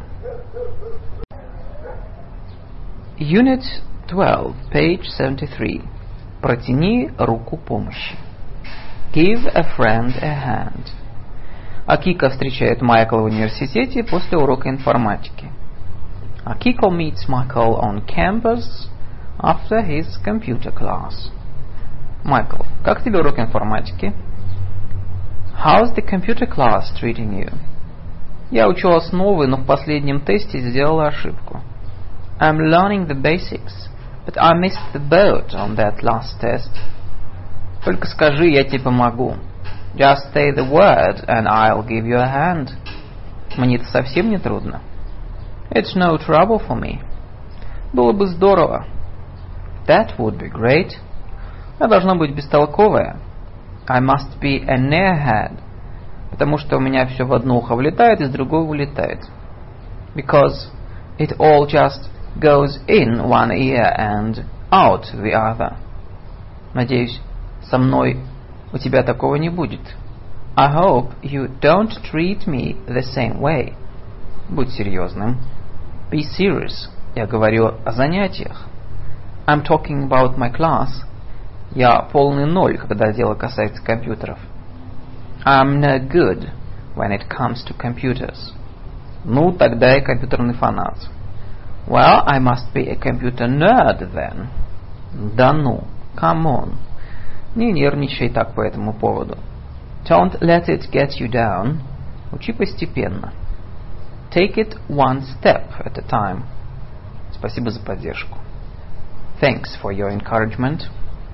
Unit 12, page 73. Протяни руку помощи. Give a friend a hand. Акика встречает Майкла в университете после урока информатики. Akiko meets Michael on campus after his computer class. Майкл, как тебе урок информатики? How's the computer class treating you? Я учу основы, но в последнем тесте сделала ошибку. I'm learning the basics, but I missed the boat on that last test. Только скажи, я тебе помогу. Just say the word, and I'll give you a hand. Мне это совсем не трудно. It's no trouble for me. Было бы здорово. That would be great. Я должна быть бестолковая. I must be a nearhead. Потому что у меня все в одно ухо влетает, из другого вылетает. Because it all just goes in one ear and out the other. Надеюсь, со мной у тебя такого не будет. I hope you don't treat me the same way. Будь серьезным. Be serious. Я говорю о занятиях. I'm talking about my class. Я полный ноль, когда дело касается компьютеров. I'm no good when it comes to computers. Ну, тогда я компьютерный фанат. Well, I must be a computer nerd then. Да ну, come on. Не нервничай так по этому поводу. Don't let it get you down. Учи постепенно. Take it one step at a time. Спасибо за поддержку. Thanks for your encouragement.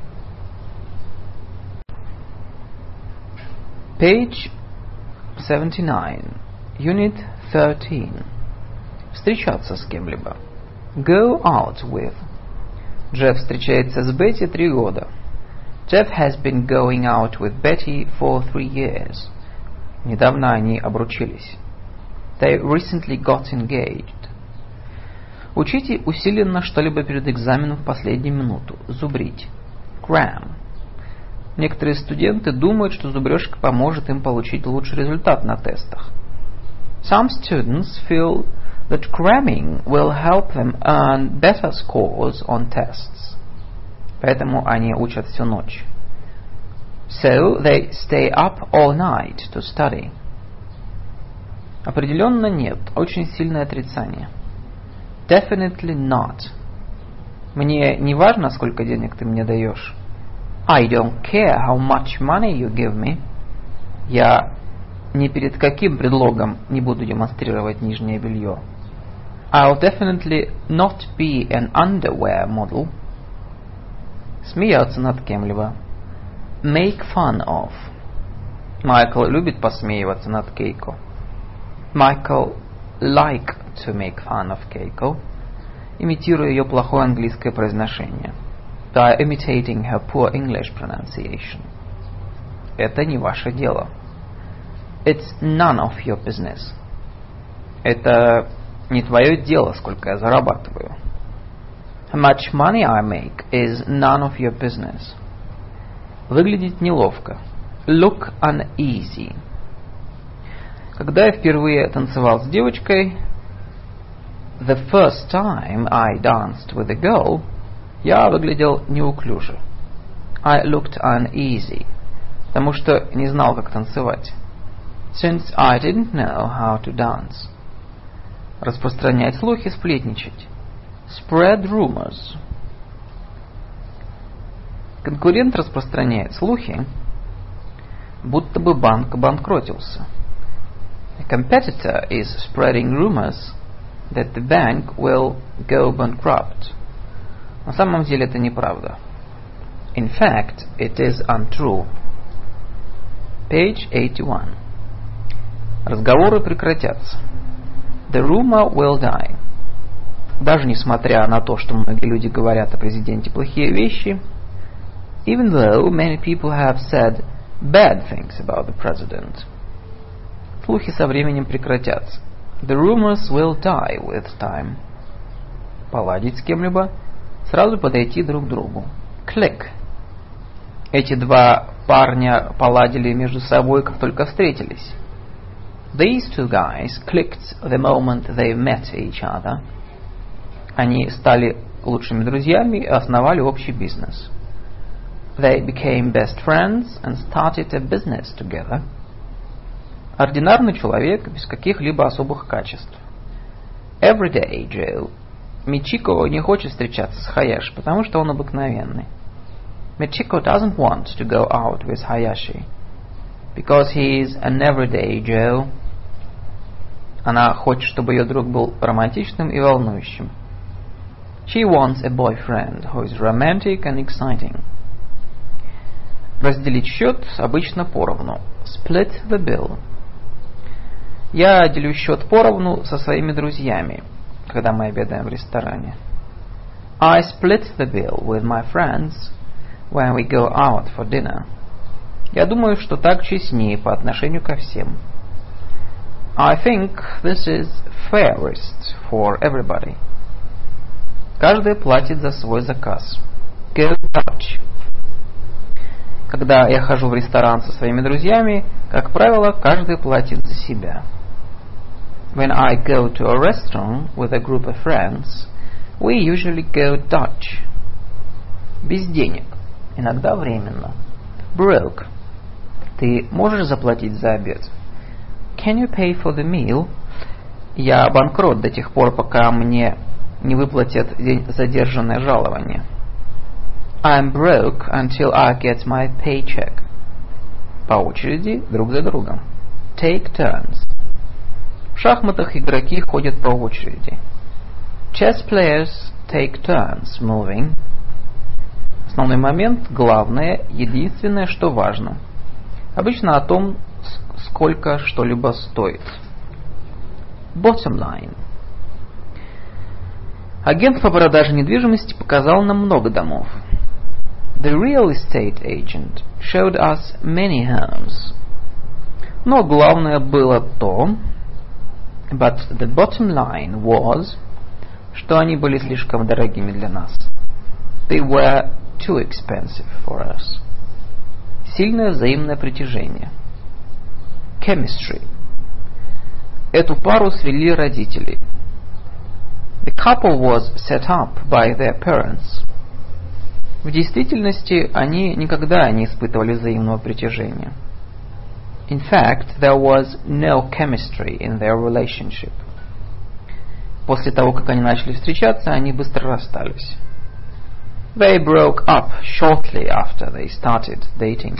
Page 79. Unit 13. Встречаться с кем-либо. Go out with. Джефф встречается с Бетти 3 года. Jeff has been going out with Betty for 3 years. Недавно они обручились. They recently got engaged. Учите усиленно что-либо перед экзаменом в последнюю минуту. Зубрить. Cram. Некоторые студенты думают, что зубрежка поможет им получить лучший результат на тестах. Some students feel that cramming will help them earn better scores on tests. Поэтому они учат всю ночь. So they stay up all night to study. Определенно нет. Очень сильное отрицание. Definitely not. Мне не важно, сколько денег ты мне даешь. I don't care how much money you give me. Я ни перед каким предлогом не буду демонстрировать нижнее белье. I'll definitely not be an underwear model. Смеяться над кем-либо. Make fun of. Майкл любит посмеиваться над Кейко. Michael like to make fun of Keiko, имитируя ее плохое английское произношение. By imitating her poor English pronunciation. Это не ваше дело. It's none of your business. Это не твое дело, сколько я зарабатываю. How much money I make is none of your business. Выглядеть неловко. Look uneasy. Когда я впервые танцевал с девочкой, the first time I danced with a girl, я выглядел неуклюже. I looked uneasy, потому что не знал, как танцевать. Since I didn't know how to dance. Распространять слухи, сплетничать. Spread rumors. Конкурент распространяет слухи, будто бы банк банкротился. A competitor is spreading rumors that the bank will go bankrupt. На самом деле это неправда. In fact, it is untrue. Page 81. Разговоры прекратятся. The rumor will die. Даже несмотря на то, что многие люди говорят о президенте плохие вещи, even though many people have said bad things about the president, слухи со временем прекратятся. The rumors will die with time. Поладить с кем-либо, сразу подойти друг к другу. Click. Эти два парня поладили между собой, как только встретились. These two guys clicked the moment they met each other. Они стали лучшими друзьями и основали общий бизнес. They became best friends and started a business together. Ординарный человек без каких-либо особых качеств. Everyday Joe. Мичико не хочет встречаться с Хаяши, потому что он обыкновенный. Michiko doesn't want to go out with Hayashi because he is an everyday Joe. Она хочет, чтобы ее друг был романтичным и волнующим. She wants a boyfriend who is romantic and exciting. Разделить счет обычно поровну. Split the bill. Я делю счет поровну со своими друзьями, когда мы обедаем в ресторане. I split the bill with my friends when we go out for dinner. Я думаю, что так честнее по отношению ко всем. I think this is fairest for everybody. Каждый платит за свой заказ. Go Dutch. Когда я хожу в ресторан со своими друзьями, как правило, каждый платит за себя. When I go to a restaurant with a group of friends, we usually go Dutch. Без денег. Иногда временно. Broke. Ты можешь заплатить за обед? Can you pay for the meal? Я банкрот до тех пор, пока мне не выплатят задержанное жалование. I'm broke until I get my paycheck. По очереди, друг за другом. Take turns. В шахматах игроки ходят по очереди. Chess players take turns moving. Основной момент, главное, единственное, что важно. Обычно о том, сколько что-либо стоит. Bottom line. Агент по продаже недвижимости показал нам много домов. The real estate agent showed us many homes. Но главное было то, but the bottom line was, что они были слишком дорогими для нас. They were too expensive for us. Сильное взаимное притяжение. Chemistry. Эту пару свели родители. The couple was set up by their parents. В действительности они никогда не испытывали взаимного притяжения. In fact, there was no chemistry in their relationship. После того, как они начали встречаться, они быстро расстались. They broke up shortly after they started dating.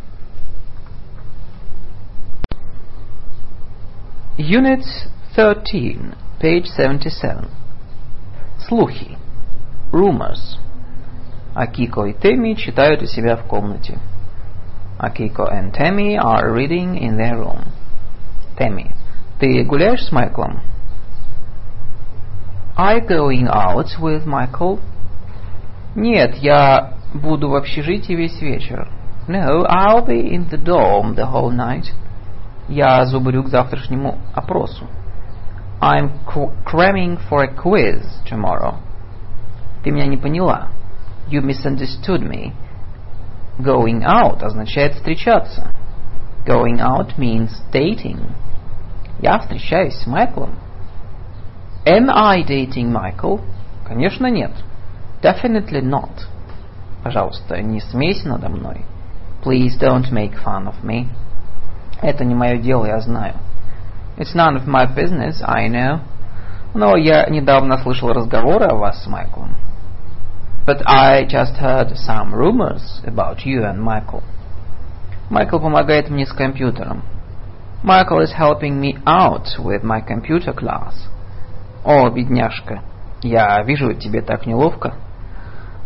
Unit 13, page 77. Слухи. Rumors. Акико и Теми читают у себя в комнате. Акико and Temi are reading in their room. Temi. Ты гуляешь с Майклом? Are you going out with Michael? Нет, я буду в общежитии весь вечер. No, I'll be in the dorm the whole night. Я зубрю к завтрашнему опросу. I'm cramming for a quiz tomorrow. Ты меня не поняла. You misunderstood me. Going out означает встречаться. Going out means dating. Я встречаюсь с Майклом. Am I dating Michael? Конечно, нет. Definitely not. Пожалуйста, не смейся надо мной. Please don't make fun of me. Это не мое дело, я знаю. It's none of my business, I know. Но я недавно слышал разговоры о вас с Майклом. But I just heard some rumors about you and Michael. Майкл помогает мне с компьютером. Michael is helping me out with my computer class. О, бедняжка, я вижу, тебе так неловко.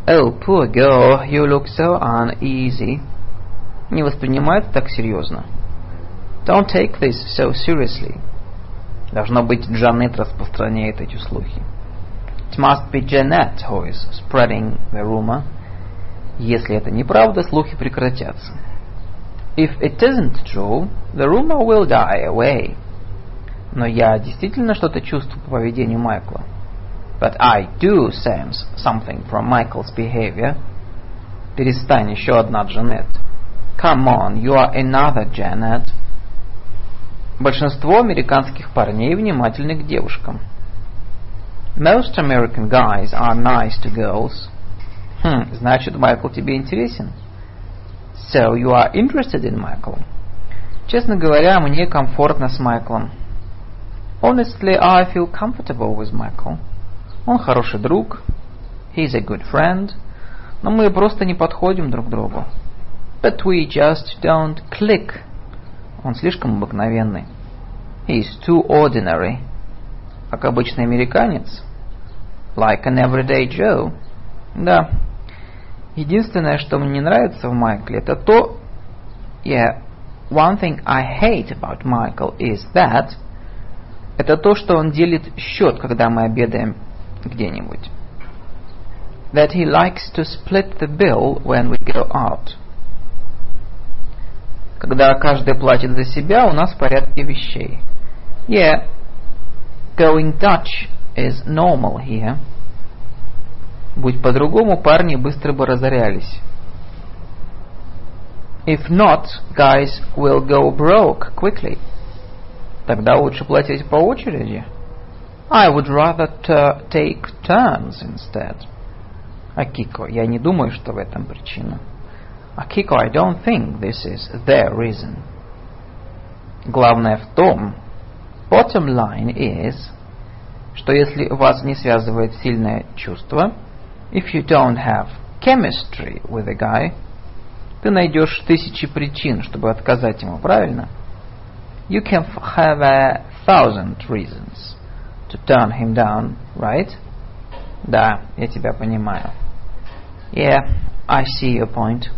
Oh, poor girl, you look so uneasy. Не воспринимай это так серьезно. Don't take this so seriously. Должно быть, Джанет распространяет эти слухи. It must be Janet who is spreading the rumor. Если это неправда, слухи прекратятся. If it isn't true, the rumor will die away. Но я действительно что-то чувствую по поведению Майкла. But I do sense something from Michael's behavior. Перестань, еще одна Джанет. Come on, you are another Janet. Большинство американских парней внимательны к девушкам. Most American guys are nice to girls. Значит, Майкл тебе интересен? So you are interested in Michael? Честно говоря, мне комфортно с Майклом. Honestly, I feel comfortable with Michael. Он хороший друг. He's a good friend. Но мы просто не подходим друг к другу. But we just don't click. Он слишком обыкновенный. He's too ordinary. Как обычный американец. Like an everyday Joe. Да. Единственное, что мне не нравится в Майкле, это то... Yeah, one thing I hate about Michael is that... Это то, что он делит счет, когда мы обедаем где-нибудь. That he likes to split the bill when we go out. Когда каждый платит за себя, у нас в порядке вещей. Yeah, going Dutch is normal here. Будь по-другому, парни быстро бы разорялись. If not, guys will go broke quickly. Тогда лучше платить по очереди. I would rather take turns instead. Акико, я не думаю, что в этом причина. Akiko, I don't think this is their reason. Главное в том, bottom line is, что если вас не связывает сильное чувство, if you don't have chemistry with a guy, ты найдешь тысячи причин, чтобы отказать ему, правильно? You can have 1,000 reasons to turn him down, right? Да, я тебя понимаю. Yeah, I see your point.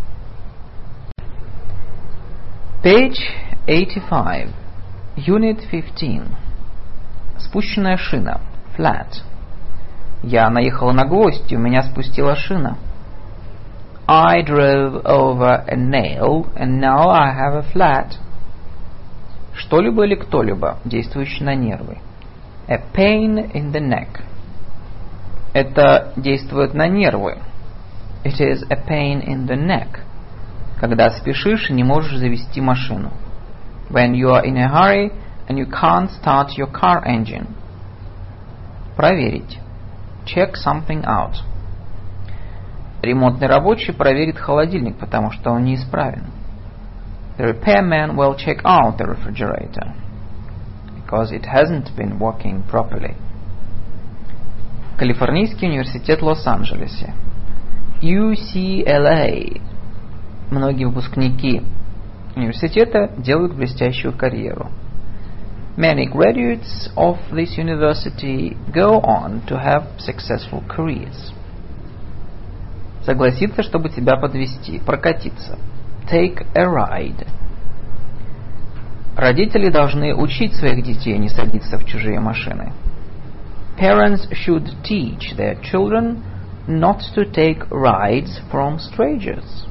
Page 85, Unit 15. Спущенная шина, flat. Я наехала на гвоздь, и у меня спустила шина. I drove over a nail, and now I have a flat. Что-либо или кто-либо, действующий на нервы. A pain in the neck. Это действует на нервы. It is a pain in the neck. Когда спешишь и не можешь завести машину. When you are in a hurry and you can't start your car engine. Проверить. Check something out. Ремонтный рабочий проверит холодильник, потому что он неисправен. The repairman will check out the refrigerator because it hasn't been working properly. Калифорнийский университет в Лос-Анджелесе. UCLA. Многие выпускники университета делают блестящую карьеру. Many graduates of this university go on to have successful careers. Согласиться, чтобы тебя подвезти, прокатиться. Take a ride. Родители должны учить своих детей не садиться в чужие машины. Parents should teach their children not to take rides from strangers.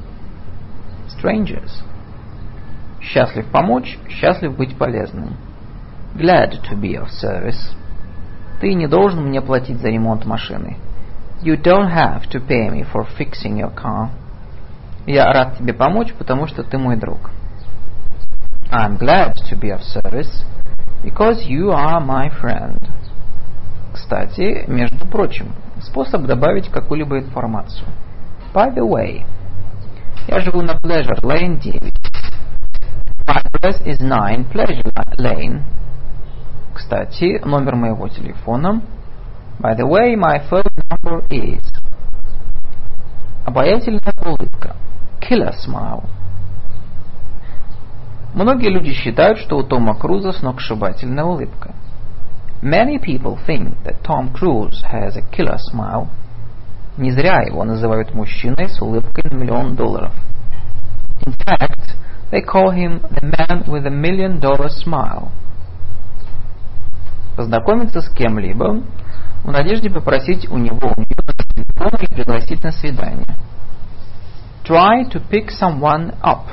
Счастлив помочь, счастлив быть полезным. Glad to be of service. Ты не должен мне платить за ремонт машины. You don't have to pay me for fixing your car. Я рад тебе помочь, потому что ты мой друг. I'm glad to be of service because you are my friend. Кстати, между прочим, способ добавить какую-либо информацию. By the way, я живу на Pleasure Lane 9. My address is 9 Pleasure Lane. Кстати, номер моего телефона. By the way, my phone number is. Обаятельная улыбка. Killer smile. Многие люди считают, что у Тома Круза сногсшибательная улыбка. Many people think that Tom Cruise has a killer smile. Не зря его называют мужчиной с улыбкой на $1 million. In fact, they call him the man with $1 million smile. Познакомиться с кем-либо в надежде попросить у него телефон и пригласить на свидание. Try to pick someone up.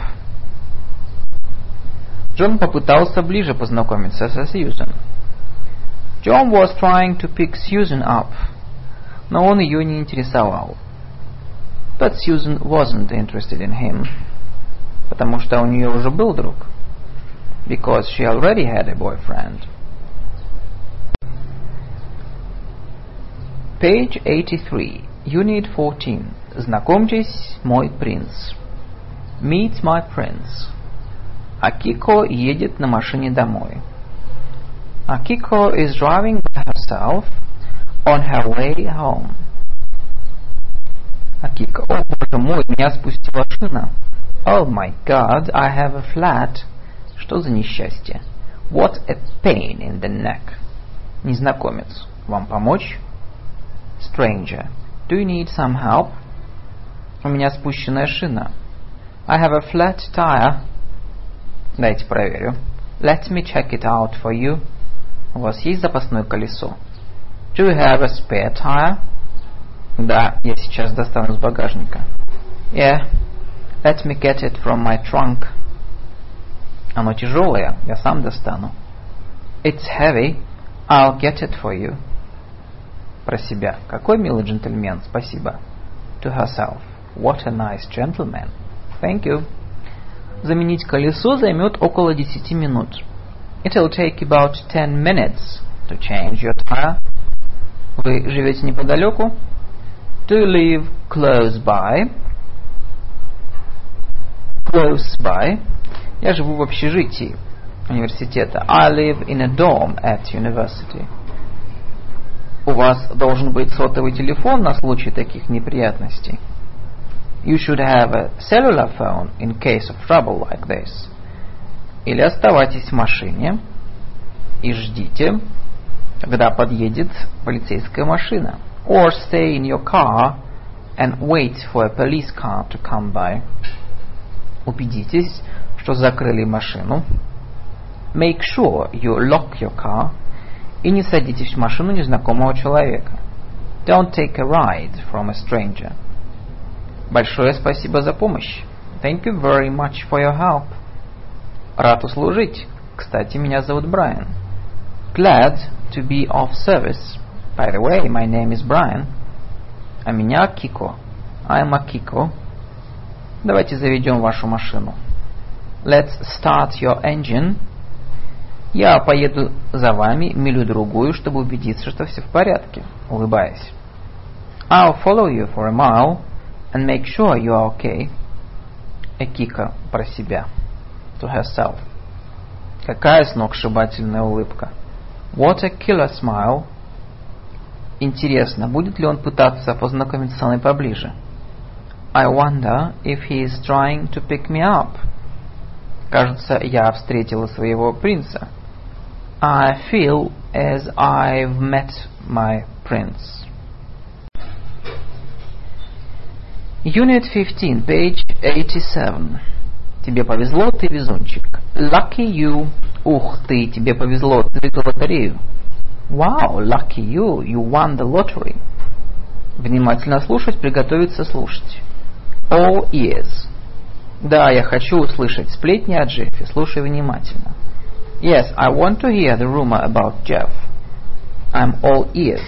Джон попытался ближе познакомиться со Сьюзен. John was trying to pick Susan up, но он ее не интересовал. But Susan wasn't interested in him, потому что у нее уже был друг. Because she already had a boyfriend. Page 83, Unit 14. Знакомьтесь, мой принц. Meet my prince. Акико едет на машине домой. Akiko is driving by herself on her way home. Акико, о боже мой, меня спустила шина. Oh my God, I have a flat. Что за несчастье? What a pain in the neck. Незнакомец, вам помочь? Stranger, do you need some help? У меня спущенная шина. I have a flat tire. Дайте проверю. Let me check it out for you. У вас есть запасное колесо? Do you have a spare tire? Да, я сейчас достану из багажника. Yeah, let me get it from my trunk. Оно тяжелое, я сам достану. It's heavy, I'll get it for you. Про себя. Какой милый джентльмен, спасибо. To herself. What a nice gentleman. Thank you. Заменить колесо займет около 10 минут. It'll take about 10 minutes to change your tire. Вы живете неподалеку? Do you live close by? Close by. Я живу в общежитии университета. I live in a dorm at university. У вас должен быть сотовый телефон на случай таких неприятностей. You should have a cellular phone in case of trouble like this. Или оставайтесь в машине и ждите, когда подъедет полицейская машина. Or stay in your car and wait for a police car to come by. Убедитесь, что закрыли машину. Make sure you lock your car. И не садитесь в машину незнакомого человека. Don't take a ride from a stranger. Большое спасибо за помощь. Thank you very much for your help. Рад услужить. Кстати, меня зовут Брайан. Glad to be of service. By the way, my name is Brian. А меня Акико. I'm Akiko. Давайте заведем вашу машину. Let's start your engine. Я поеду за вами милю-другую, чтобы убедиться, что все в порядке. Улыбаясь. I'll follow you for a mile and make sure you are okay. Акика про себя. To herself. Какая сногсшибательная улыбка. What a killer smile. Интересно, будет ли он пытаться познакомиться со мной поближе? I wonder if he is trying to pick me up. Кажется, я встретила своего принца. I feel as I've met my prince. Unit 15, page 87. Тебе повезло, ты везунчик. Lucky you. Ух ты, тебе повезло, ты выиграл лотерею. Wow, lucky you, you won the lottery. Внимательно слушать, приготовиться слушать. All ears. Да, я хочу услышать сплетни о Джеффе. Слушай внимательно. Yes, I want to hear the rumor about Jeff. I'm all ears.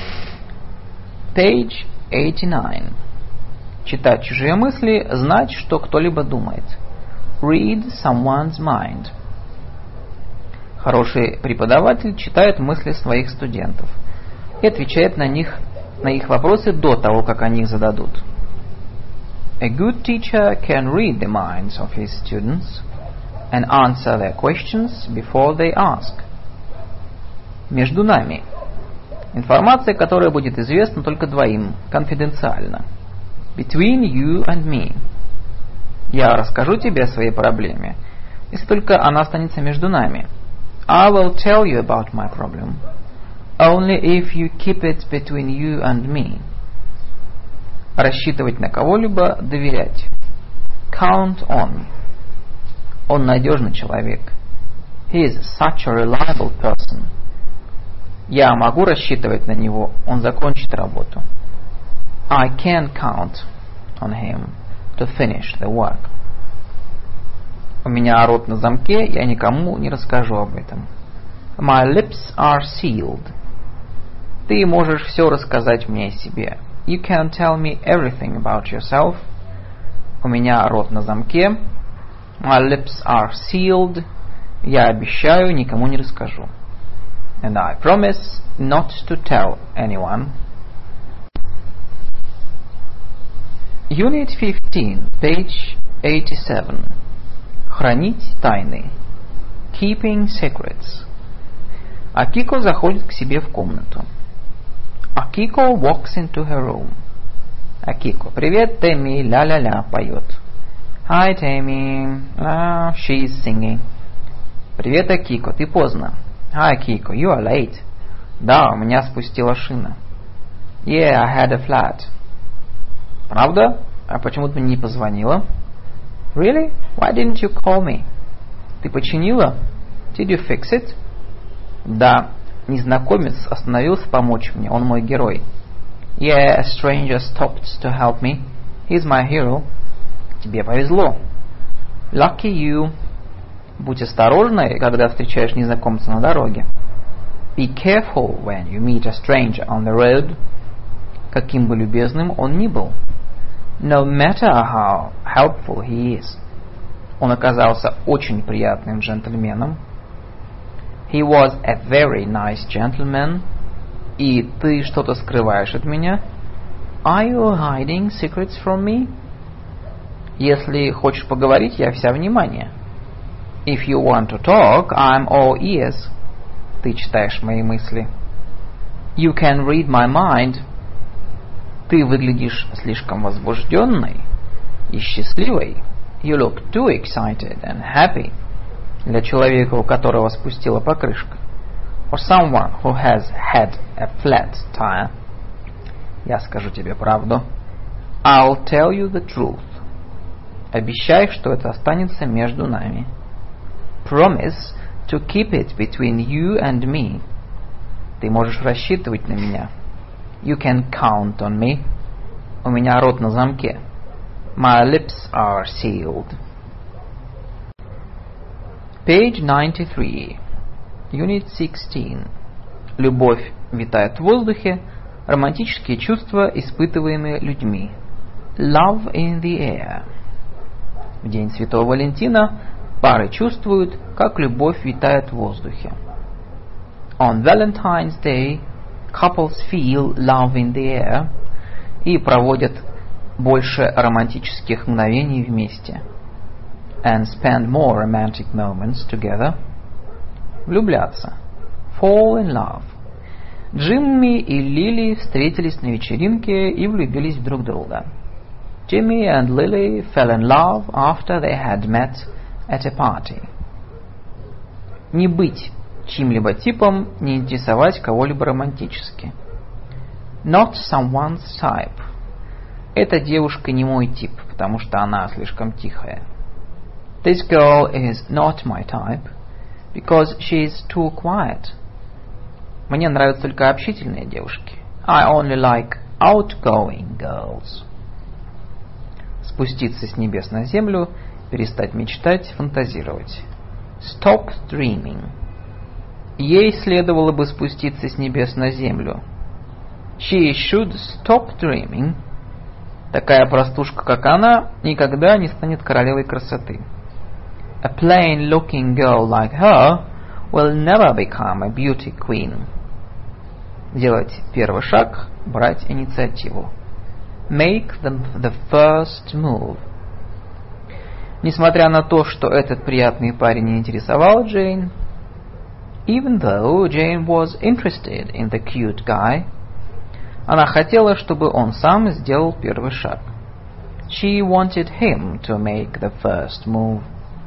Page 89. Читать чужие мысли, знать, что кто-либо думает. Read someone's mind. Хороший преподаватель читает мысли своих студентов и отвечает на их вопросы до того, как они их зададут. A good teacher can read the minds of his students and answer their questions before they ask. Между нами. Информация, которая будет известна только двоим, конфиденциально. Between you and me. Я расскажу тебе о своей проблеме, если только она останется между нами. I will tell you about my problem, only if you keep it between you and me. Рассчитывать на кого-либо, доверять. Count on. Он надежный человек. He is such a reliable person. Я могу рассчитывать на него, он закончит работу. I can count on him to finish the work. У меня рот на замке, я никому не расскажу об этом. My lips are sealed. Ты можешь все рассказать мне о себе. You can tell me everything about yourself. У меня рот на замке. My lips are sealed. Я обещаю, никому не расскажу. And I promise not to tell anyone. Unit 15, page 87. Хранить тайны. Keeping secrets. Акико заходит к себе в комнату. Акико walks into her room. Акико, привет, Тэмми, ля-ля-ля, поет. Hi, Tammy. She's singing. Привет, Акико, ты поздно. Hi, Акико, you are late. Да, у меня спустила шина. Yeah, I had a flat. Правда? А почему ты мне не позвонила? Really? Why didn't you call me? Ты починила? Did you fix it? Да, незнакомец остановился помочь мне, он мой герой. Yeah, a stranger stopped to help me. He's my hero. Тебе повезло. Lucky you. Будь осторожна, когда встречаешь незнакомца на дороге. Be careful when you meet a stranger on the road. Каким бы любезным он ни был. No matter how helpful he is. Он оказался очень приятным джентльменом. He was a very nice gentleman. И ты что-то скрываешь от меня? Are you hiding secrets from me? Если хочешь поговорить, я вся внимание. If you want to talk, I'm all ears. Ты читаешь мои мысли. You can read my mind. Ты выглядишь слишком возбужденной и счастливой. You look too excited and happy. Для человека, у которого спустила покрышка. For someone who has had a flat tire. Я скажу тебе правду. I'll tell you the truth. Обещай, что это останется между нами. Promise to keep it between you and me. Ты можешь рассчитывать на меня. You can count on me. У меня рот на замке. My lips are sealed. Page 93. Unit 16. Любовь витает в воздухе. Романтические чувства, испытываемые людьми. Love in the air. В день Святого Валентина пары чувствуют, как любовь витает в воздухе. On Valentine's Day, couples feel love in the air и проводят больше романтических мгновений вместе. And spend more romantic moments together. Влюбляться. Fall in love. Джимми и Лили встретились на вечеринке и влюбились в друг друга. Jimmy and Lily fell in love after they had met at a party. Не быть чьим-либо типом, не интересовать кого-либо романтически. Not someone's type. Эта девушка не мой тип, потому что она слишком тихая. This girl is not my type, because she is too quiet. Мне нравятся только общительные девушки. I only like outgoing girls. Спуститься с небес на землю, перестать мечтать, фантазировать. Stop dreaming. Ей следовало бы спуститься с небес на землю. She should stop dreaming. Такая простушка, как она, никогда не станет королевой красоты. A plain-looking girl like her will never become a beauty queen. Делать первый шаг, брать инициативу. Make the first move. Несмотря на то, что этот приятный парень не интересовал Джейн, even though Jane was interested in the cute guy, она хотела, чтобы он сам сделал первый шаг. She wanted him to make the first move.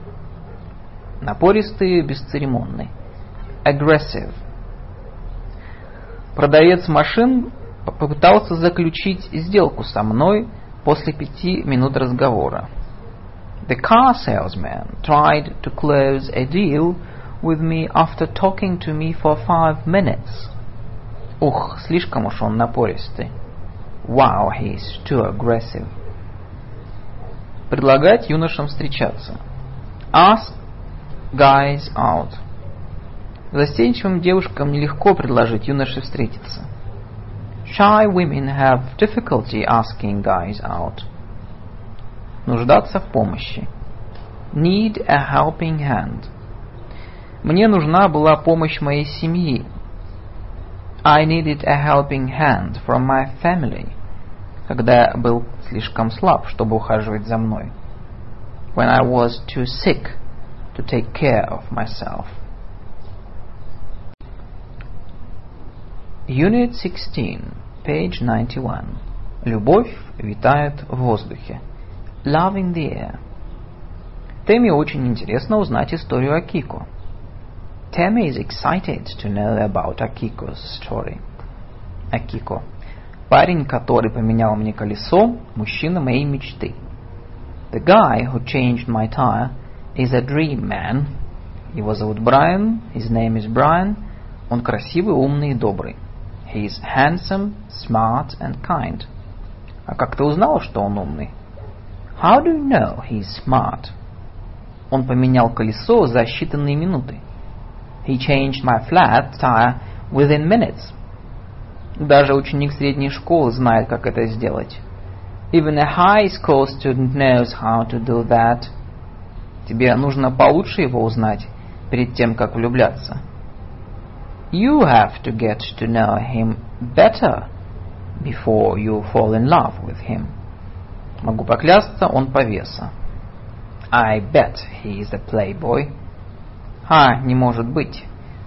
Напористый, бесцеремонный. Aggressive. Продавец машин попытался заключить сделку со мной после 5 минут разговора. The car salesman tried to close a deal with me after talking to me for 5 minutes. Ух, слишком уж он напористый. Wow, he's too aggressive. Предлагать юношам встречаться. Ask guys out. Застенчивым девушкам нелегко предложить юноше встретиться. Shy women have difficulty asking guys out. Нуждаться в помощи. Need a helping hand. Мне нужна была помощь моей семьи. I needed a helping hand from my family. Когда я был слишком слаб, чтобы ухаживать за мной. When I was too sick to take care of myself. Unit 16, page 91. Любовь витает в воздухе. Love in the air. Тэмми очень интересно узнать историю Акико. Tammy is excited to know about Akiko's story. Акико. Парень, который поменял мне колесо, мужчина моей мечты. The guy who changed my tire is a dream man. Его зовут Брайан. His name is Brian. Он красивый, умный и добрый. He is handsome, smart and kind. А как ты узнал, что он умный? How do you know he's smart? Он поменял колесо за считанные минуты. He changed my flat tire within minutes. Даже ученик средней школы знает, как это сделать. Even a high school student knows how to do that. Тебе нужно получше его узнать перед тем, как влюбляться. You have to get to know him better before you fall in love with him. Могу поклясться, он повеса. I bet he is a playboy. Не может быть.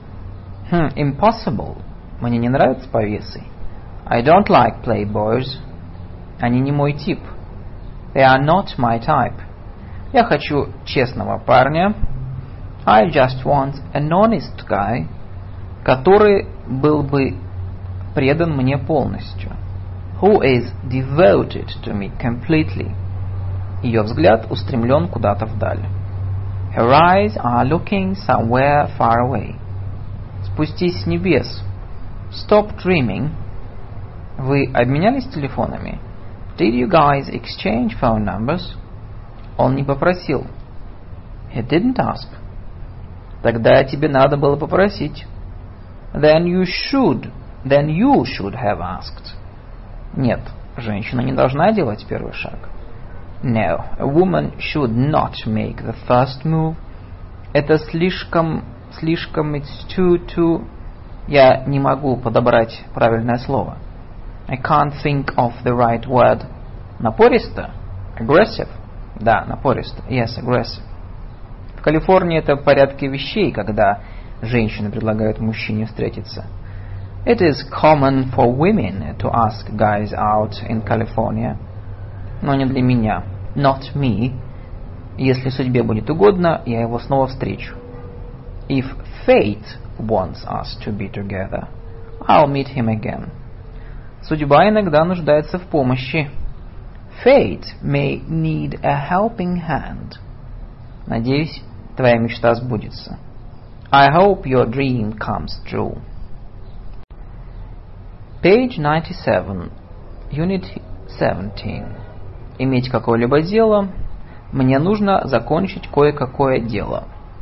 Impossible. Мне не нравятся повесы. I don't like playboys. Они не мой тип. They are not my type. Я хочу честного парня. I just want an honest guy. Который был бы предан мне полностью. Who is devoted to me completely. Ее взгляд устремлен куда-то вдаль. Her eyes are looking somewhere far away. Спустись с небес. Stop dreaming. Вы обменялись телефонами? Did you guys exchange phone numbers? Он не попросил. He didn't ask. Тогда тебе надо было попросить. Then you should have asked. Нет, женщина не должна делать первый шаг. No, a woman should not make the first move. Это слишком, it's too... Я не могу подобрать правильное слово. I can't think of the right word. Напористо? Aggressive? Да, напористо. Yes, aggressive. В Калифорнии это в порядке вещей, когда женщины предлагают мужчине встретиться. It is common for women to ask guys out in California. Но не для меня. Not me. Если судьбе будет угодно, я его снова встречу. If fate wants us to be together, I'll meet him again. Судьба иногда нуждается в помощи. Fate may need a helping hand. Надеюсь, твоя мечта сбудется. I hope your dream comes true. Page 97, Unit 17. Иметь какое-либо дело. Мне нужно закончить кое-какое дело.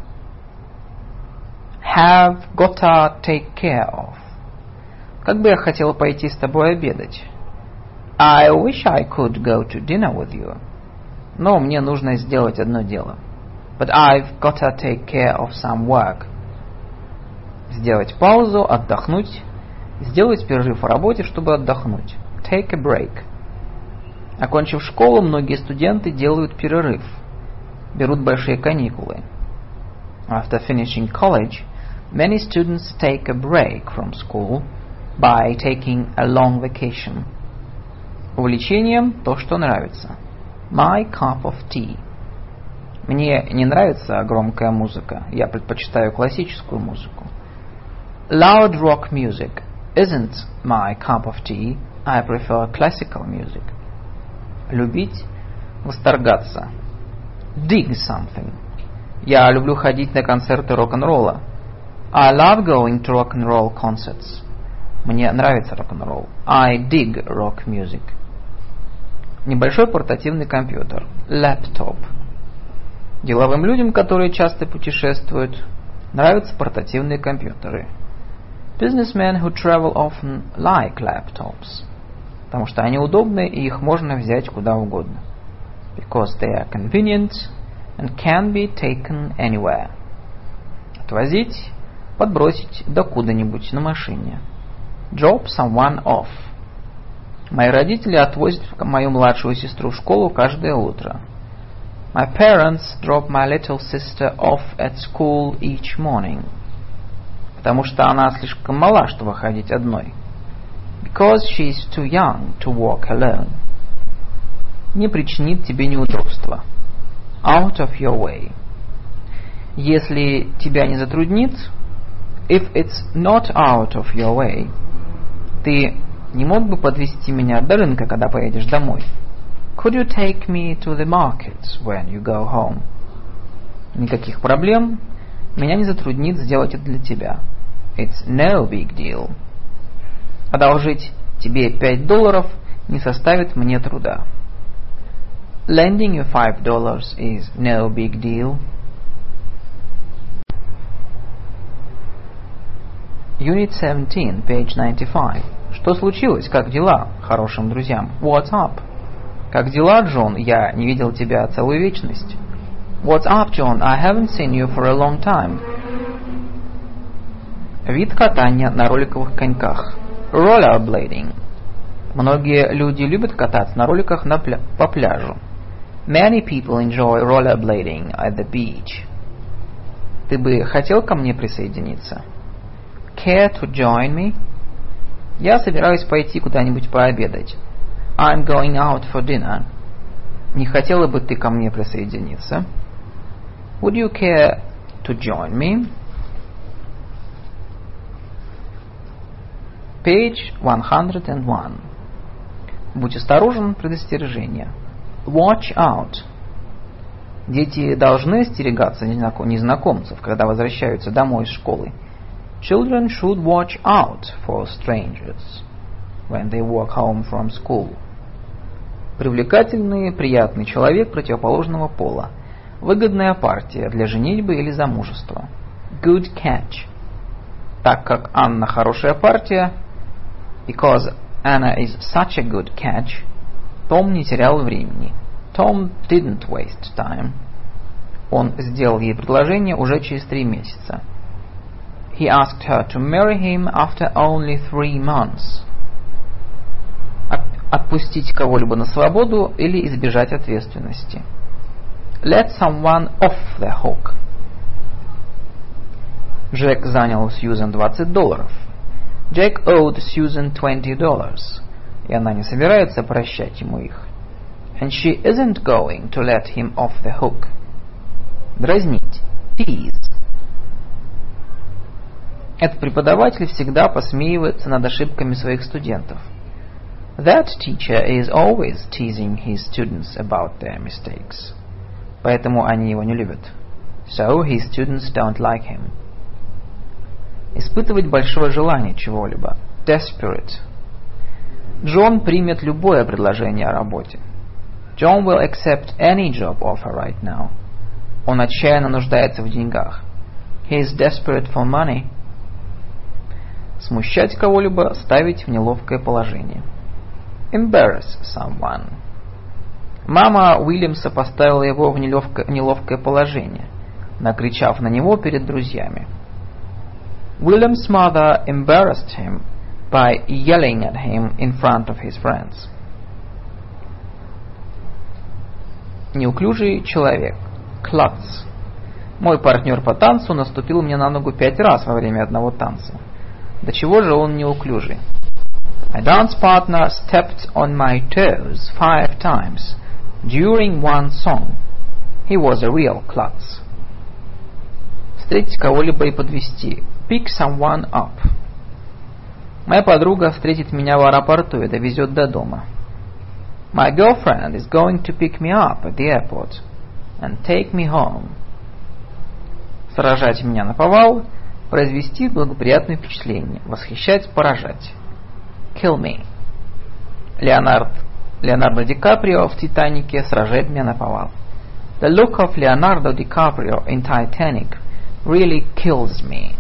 Have gotta take care of. Как бы я хотел пойти с тобой обедать. I wish I could go to dinner with you. Но мне нужно сделать одно дело. But I've gotta take care of some work. Сделать паузу, отдохнуть. Сделать перерыв в работе, чтобы отдохнуть. Take a break. Окончив школу, многие студенты делают перерыв. Берут большие каникулы. After finishing college, many students take a break from school by taking a long vacation. Увлечением то, что нравится. My cup of tea. Мне не нравится громкая музыка. Я предпочитаю классическую музыку. Loud rock music. isn't my cup of tea. I prefer classical music. Любить, восторгаться. Dig something. Я люблю ходить на концерты рок-н-ролла. I love going to rock and roll concerts. Мне нравится рок-н-ролл. I dig rock music. Небольшой портативный компьютер. Laptop. Деловым людям, которые часто путешествуют, нравятся портативные компьютеры. Businessmen who travel often like laptops. Потому что они удобны и их можно взять куда угодно. Because they are convenient and can be taken anywhere. Отвозить, подбросить докуда-нибудь на машине. Drop someone off. Мои родители отвозят мою младшую сестру в школу каждое утро. My parents drop my little sister off at school each morning. Потому что она слишком мала, чтобы ходить одной. Because she's too young to walk alone. Не причинит тебе неудобства. Out of your way. Если тебя не затруднит, if it's not out of your way, ты не мог бы подвезти меня до рынка, когда поедешь домой? Could you take me to the market when you go home? Никаких проблем. Меня не затруднит сделать это для тебя. It's no big deal. Одолжить тебе $5 не составит мне труда. Lending you $5 is no big deal. Unit 17, page 95. Что случилось? Как дела? Хорошим друзьям. What's up? Как дела, Джон? Я не видел тебя целую вечность. What's up, John? I haven't seen you for a long time. Вид катания на роликовых коньках. Rollerblading. Многие люди любят кататься на роликах по пляжу. Many people enjoy rollerblading at the beach. Ты бы хотел ко мне присоединиться? Care to join me? Я собираюсь пойти куда-нибудь пообедать. I'm going out for dinner. Не хотела бы ты ко мне присоединиться? Would you care to join me? Page 101. Будь осторожен, предостережение. Watch out. Дети должны остерегаться незнакомцев, когда возвращаются домой из школы. Children should watch out for strangers when they walk home from school. Привлекательный, приятный человек противоположного пола. Выгодная партия для женитьбы или замужества. Good catch. Так как Анна хорошая партия, because Anna is such a good catch, Том не терял времени. Tom didn't waste time. Он сделал ей предложение уже через 3 месяца. He asked her to marry him after only 3 months. Отпустить кого-либо на свободу или избежать ответственности. Let someone off the hook. Джек занял у Сьюзен $20. Jack owed Susan $20, и она не собирается прощать ему их. And she isn't going to let him off the hook. Дразнить. Tease. Этот преподаватель всегда посмеивается над ошибками своих студентов. That teacher is always teasing his students about their mistakes. Поэтому они его не любят. So his students don't like him. Испытывать большое желание чего-либо. Desperate. Джон примет любое предложение о работе. John will accept any job offer right now. Он отчаянно нуждается в деньгах. He is desperate for money. Смущать кого-либо, ставить в неловкое положение. Embarrass someone. Мама Уильямса поставила его в неловкое положение, накричав на него перед друзьями. William's mother embarrassed him by yelling at him in front of his friends. Неуклюжий человек. Klutz. Мой партнер по танцу наступил мне на ногу 5 раз во время одного танца. До чего же он неуклюжий? My dance partner stepped on my toes 5 times during one song. He was a real klutz. Встретить кого-либо и подвезти. Pick someone up. Моя подруга встретит меня в аэропорту и довезет до дома. My girlfriend is going to pick me up at the airport and take me home. Сражать меня наповал, произвести благоприятное впечатление, восхищать, поражать. Kill me. Леонардо Ди Каприо в «Титанике» сражает меня наповал. The look of Leonardo DiCaprio in Titanic really kills me.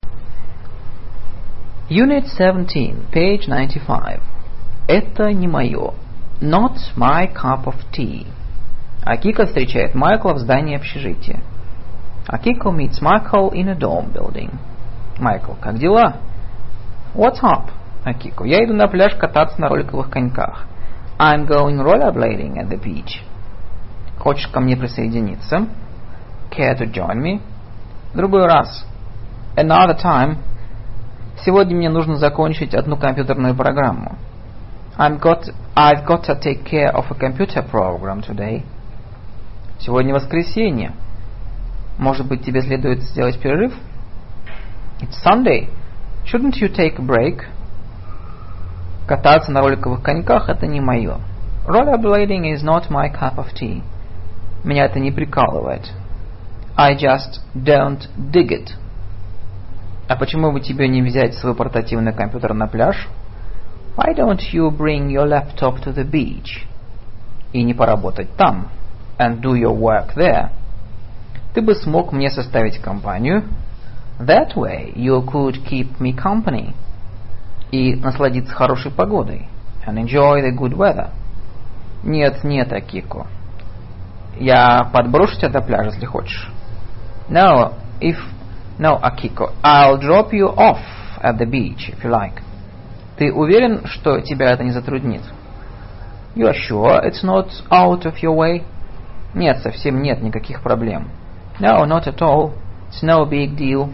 Unit 17, page 95. Это не мое. Not my cup of tea. Акико встречает Майкла в здании общежития. Акико meets Michael in a dorm building. Майкл, как дела? What's up? Акико, я иду на пляж кататься на роликовых коньках. I'm going rollerblading at the beach. Хочешь ко мне присоединиться? Care to join me? Другой раз. Another time. Сегодня мне нужно закончить одну компьютерную программу. I've got to take care of a computer program today. Сегодня воскресенье. Может быть, тебе следует сделать перерыв? It's Sunday. Shouldn't you take a break? Кататься на роликовых коньках – это не мое. Rollerblading is not my cup of tea. Меня это не прикалывает. I just don't dig it. А почему бы тебе не взять свой портативный компьютер на пляж? Why don't you bring your laptop to the beach? И не поработать там. And do your work there. Ты бы смог мне составить компанию. That way you could keep me company. И насладиться хорошей погодой. And enjoy the good weather. Нет, Акико. Я подброшу тебя до пляжа, если хочешь. No, Акико. I'll drop you off at the beach, if you like. Ты уверен, что тебя это не затруднит? You are sure it's not out of your way? Нет, совсем нет никаких проблем. No, not at all. It's no big deal.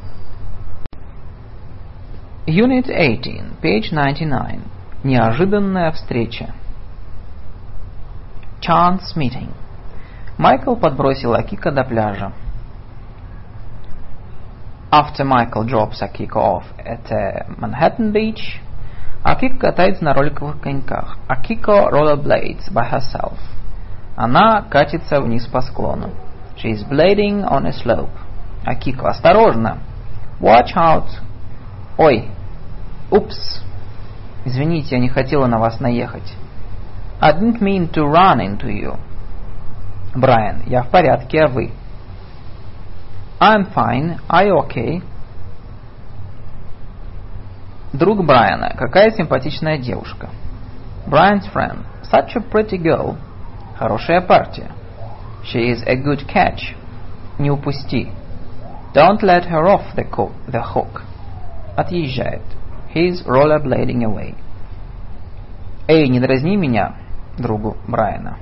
Unit 18, page 99. Неожиданная встреча. Chance meeting. Майкл подбросил Акико до пляжа. After Michael drops Akiko off at Manhattan Beach, Akiko катается на роликовых коньках. Akiko rollerblades by herself. Она катится вниз по склону. She is blading on a slope. Акико, осторожно. Watch out. Ой. Упс. Извините, я не хотела на вас наехать. I didn't mean to run into you. Брайан, я в порядке, а вы? I'm fine. Are you okay? Друг Брайана. Какая симпатичная девушка. Brian's friend. Such a pretty girl. Хорошая партия. She is a good catch. Не упусти. Don't let her off the hook. Отъезжает. He's rollerblading away. Эй, не дразни меня, другу Брайана.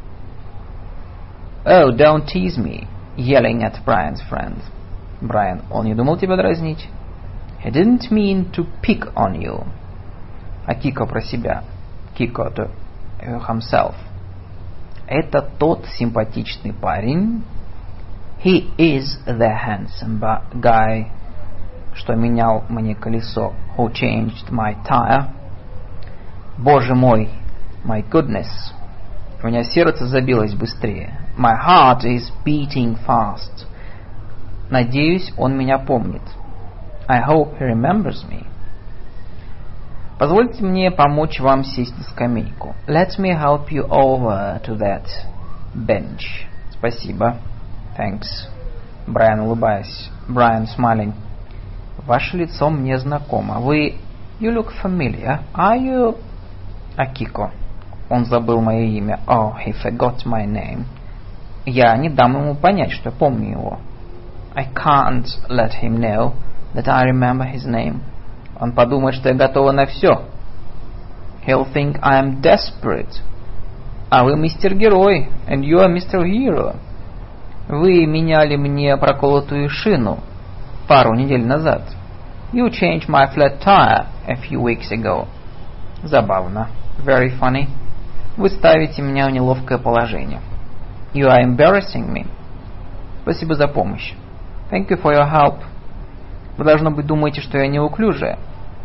Oh, don't tease me. Yelling at Brian's friend. Brian, он не думал тебя дразнить. He didn't mean to pick on you. А Кико про себя. Кико to himself. Это тот симпатичный парень. He is the handsome guy, что менял мне колесо. Who changed my tire. Боже мой, my goodness. У меня сердце забилось быстрее. My heart is beating fast. Надеюсь, он меня помнит. I hope he remembers me. Позвольте мне помочь вам сесть на скамейку. Let me help you over to that bench. Спасибо. Thanks. Брайан, улыбаясь. Brian, smiling. Ваше лицо мне знакомо. Вы... You look familiar. Are you... Акико. Он забыл мое имя. Oh, he forgot my name. Я не дам ему понять, что помню его. I can't let him know that I remember his name. Он подумает, что я готова на все. He'll think I am desperate. А вы мистер Герой, and you are Mr. Hero. Вы меняли мне проколотую шину пару недель назад. You changed my flat tire a few weeks ago. Забавно. Very funny. Вы ставите меня в неловкое положение. You are embarrassing me. Спасибо за помощь. Thank you for your help. Вы, должно быть, думаете, что я неуклюжая.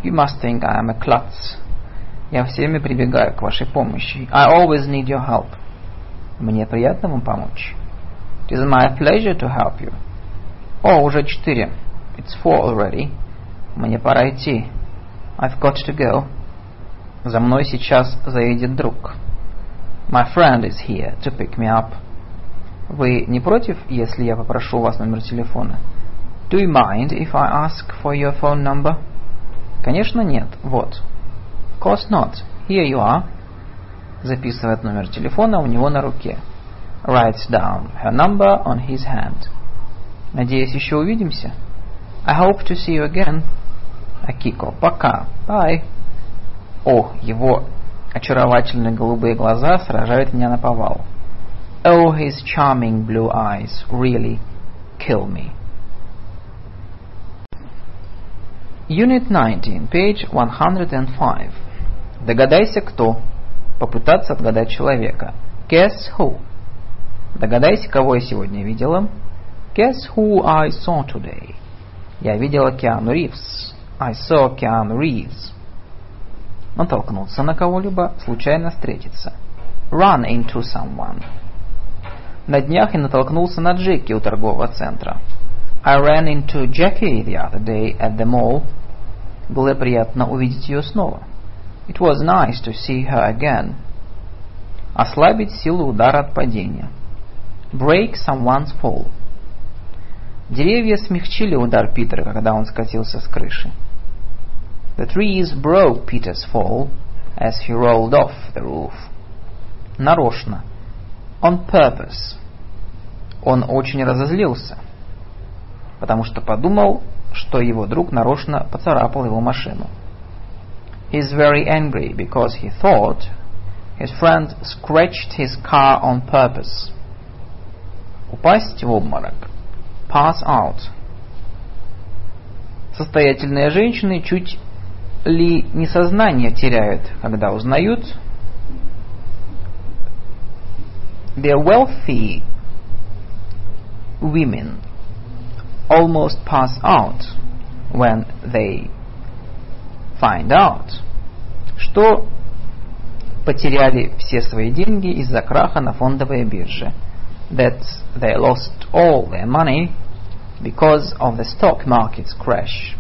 You must think I am a klutz. Я все время прибегаю к вашей помощи. I always need your help. Мне приятно вам помочь. It is my pleasure to help you. О, уже 4. It's 4 already. Мне пора идти. I've got to go. За мной сейчас заедет друг. My friend is here to pick me up. Вы не против, если я попрошу у вас номер телефона? Do you mind if I ask for your phone number? Конечно, нет. Вот. Of course not. Here you are. Записывает номер телефона у него на руке. Writes down her number on his hand. Надеюсь, еще увидимся. I hope to see you again. Акико, пока. Bye. О, его очаровательные голубые глаза сражают меня наповал. Oh, his charming blue eyes really kill me. Unit 19, page 105. Догадайся, кто. Попытаться отгадать человека. Guess who. Догадайся, кого я сегодня видела. Guess who I saw today. Я видела Киану Ривз. I saw Keanu Reeves. Натолкнуться на кого-либо, случайно встретиться. Run into someone. На днях я натолкнулся на Джеки у торгового центра. I ran into Jackie the other day at the mall. Было приятно увидеть ее снова. It was nice to see her again. Ослабить силу удара от падения. Break someone's fall. Деревья смягчили удар Питера, когда он скатился с крыши. The trees broke Peter's fall as he rolled off the roof. Нарочно. On purpose. Он очень разозлился, потому что подумал, что его друг нарочно поцарапал его машину. He's very angry because he thought his friend scratched his car on purpose. Упасть в обморок. Pass out. Состоятельные женщины чуть ли не сознание теряют, когда узнают. The wealthy women almost pass out when they find out, что потеряли все свои деньги из-за краха на фондовой бирже. That they lost all their money because of the stock market's crash.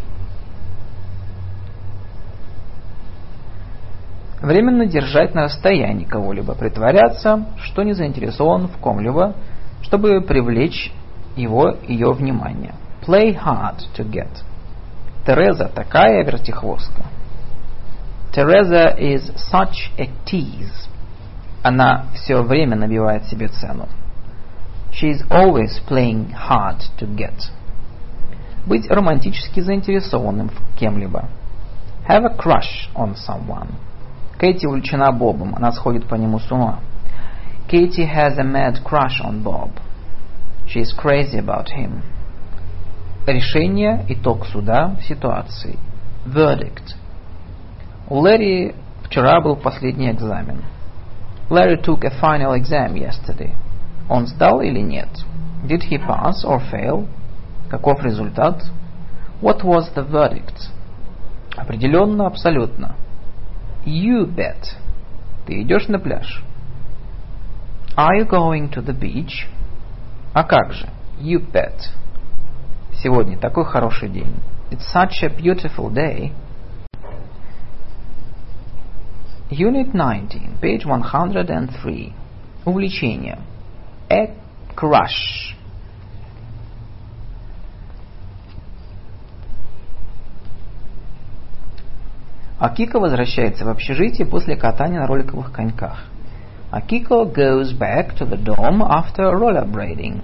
Временно держать на расстоянии кого-либо, притворяться, что не заинтересован в ком-либо, чтобы привлечь ее внимание. Play hard to get. Тереза такая вертихвостка. Teresa is such a tease. Она все время набивает себе цену. She is always playing hard to get. Быть романтически заинтересованным в кем-либо. Have a crush on someone. Кэти увлечена Бобом, она сходит по нему с ума. Katie has a mad crush on Bob. She is crazy about him. Решение, итог суда, ситуации. Verdict. У Лэри вчера был последний экзамен. Larry took a final exam yesterday. Он сдал или нет? Did he pass or fail? Каков результат? What was the verdict? Определенно, абсолютно. You bet. Ты идешь на пляж? Are you going to the beach? А как же? You bet. Сегодня такой хороший день. It's such a beautiful day. Unit 19, page 103. Увлечение. A crush. Акико возвращается в общежитие после катания на роликовых коньках. Akiko goes back to the dorm after rollerblading.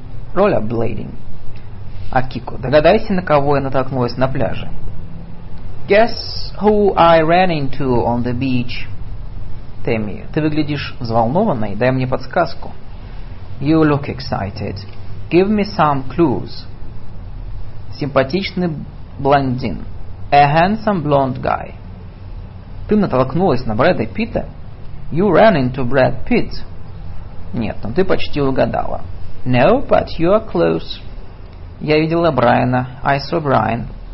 Акико, догадайся, на кого я натолкнулась на пляже. Guess who I ran into on the beach. Тэмми, ты выглядишь взволнованной, дай мне подсказку. You look excited. Give me some clues. Симпатичный блондин. A handsome blonde guy. Ты натолкнулась на Брэда Питта? You ran into Brad Pitt. Нет, но ты почти угадала. No, but you are close. Я видела Брайана. I saw Brian.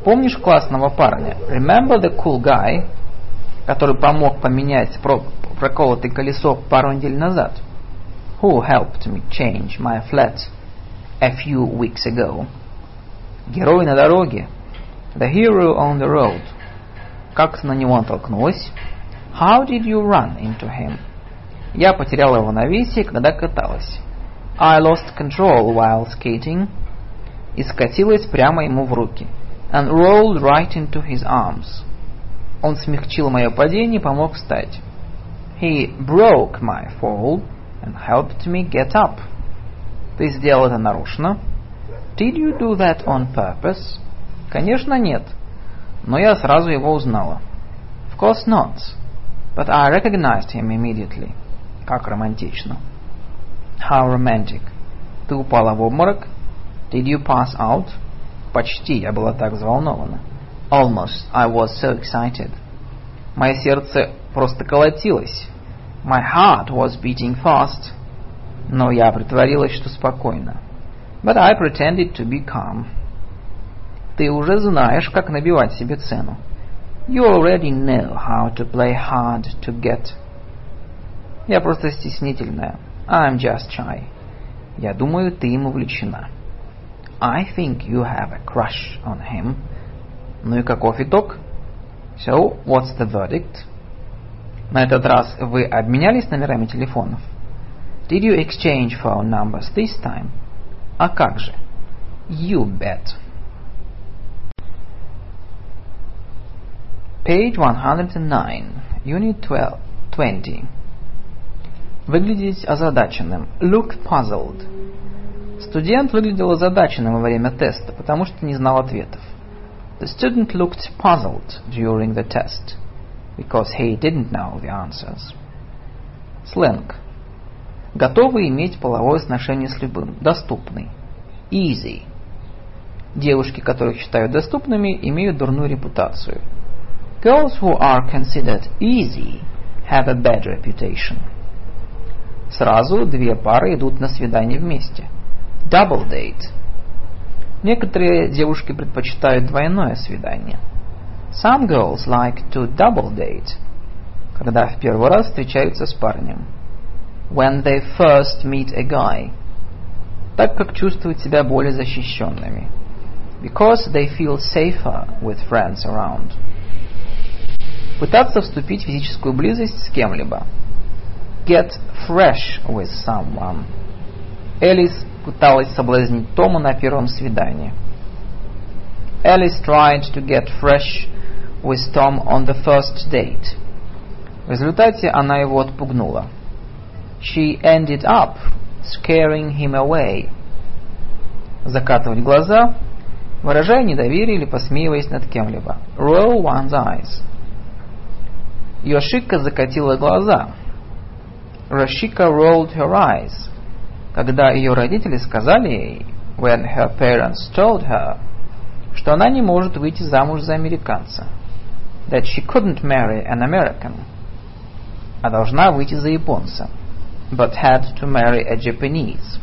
Помнишь классного парня? Remember the cool guy, который помог поменять проколотое колесо пару недель назад? Who helped me change my flat a few weeks ago? Герой на дороге. The hero on the road. Как ты на него натолкнулась? How did you run into him? Я потеряла равновесие, когда каталась. I lost control while skating. И скатилась прямо ему в руки. And rolled right into his arms. Он смягчил мое падение и помог встать. He broke my fall and helped me get up. Ты сделал это нарочно? Did you do that on purpose? Конечно, нет. Но я сразу его узнала. Of course not. But I recognized him immediately. Как романтично. How romantic. Ты упала в обморок? Did you pass out? Почти, я была так взволнована. Almost, I was so excited. Мое сердце просто колотилось. My heart was beating fast. Но я притворилась, что спокойно. But I pretended to be calm. Ты уже знаешь, как набивать себе цену. You already know how to play hard to get. Я просто стеснительная. I'm just shy. Я думаю, ты им увлечена. I think you have a crush on him. Ну и каков итог? So, what's the verdict? На этот раз вы обменялись номерами телефонов? Did you exchange phone numbers this time? А как же? You bet. Page 109, Unit 20. Выглядеть озадаченным. Look puzzled. Студент выглядел озадаченным во время теста, потому что не знал ответов. The student looked puzzled during the test, because he didn't know the answers. Сленг. Готовы иметь половое сношение с любым. Доступный. Easy. Девушки, которых считают доступными, имеют дурную репутацию. Girls who are considered easy have a bad reputation. Сразу две пары идут на свидание вместе. Double date. Некоторые девушки предпочитают двойное свидание. Some girls like to double date. Когда в первый раз встречаются с парнем. When they first meet a guy. Так как чувствуют себя более защищенными. Because they feel safer with friends around. Пытаться вступить в физическую близость с кем-либо. Get fresh with someone. Элис пыталась соблазнить Тома на первом свидании. Alice tried to get fresh with Tom on the first date. В результате она его отпугнула. She ended up scaring him away. Закатывать глаза, выражая недоверие или посмеиваясь над кем-либо. Roll one's eyes. Йошика закатила глаза. Yoshika rolled her eyes. Когда ее родители сказали ей, when her parents told her, что она не может выйти замуж за американца, that she couldn't marry an American, а должна выйти за японца, but had to marry a Japanese.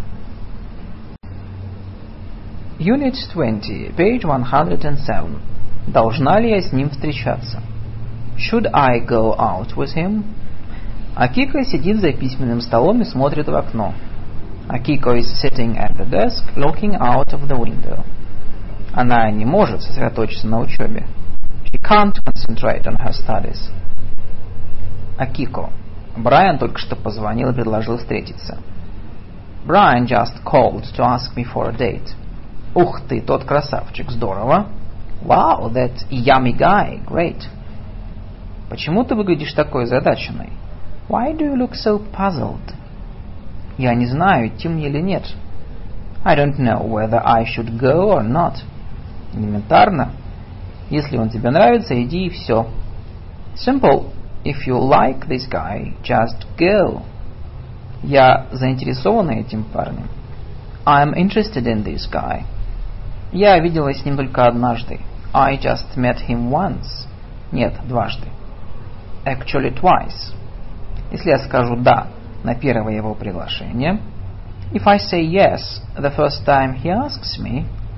Unit 20, page 107. Должна ли я с ним встречаться? Should I go out with him? Акико сидит за письменным столом и смотрит в окно. Akiko is sitting at the desk, looking out of the window. Она не может сосредоточиться на учебе. She can't concentrate on her studies. Акико. Брайан только что позвонил и предложил встретиться. Brian just called to ask me for a date. Ух ты, тот красавчик, здорово. Wow, that yummy guy, great. Почему ты выглядишь такой озадаченной? Why do you look so puzzled? Я не знаю, идти мне или нет. I don't know whether I should go or not. Элементарно. Если он тебе нравится, иди и все. Simple. If you like this guy, just go. Я заинтересована этим парнем. I'm interested in this guy. Я виделась с ним только однажды. I just met him once. Нет, дважды. Actually twice. Если я скажу «да» на первое его приглашение, if I say yes the first time he asks me,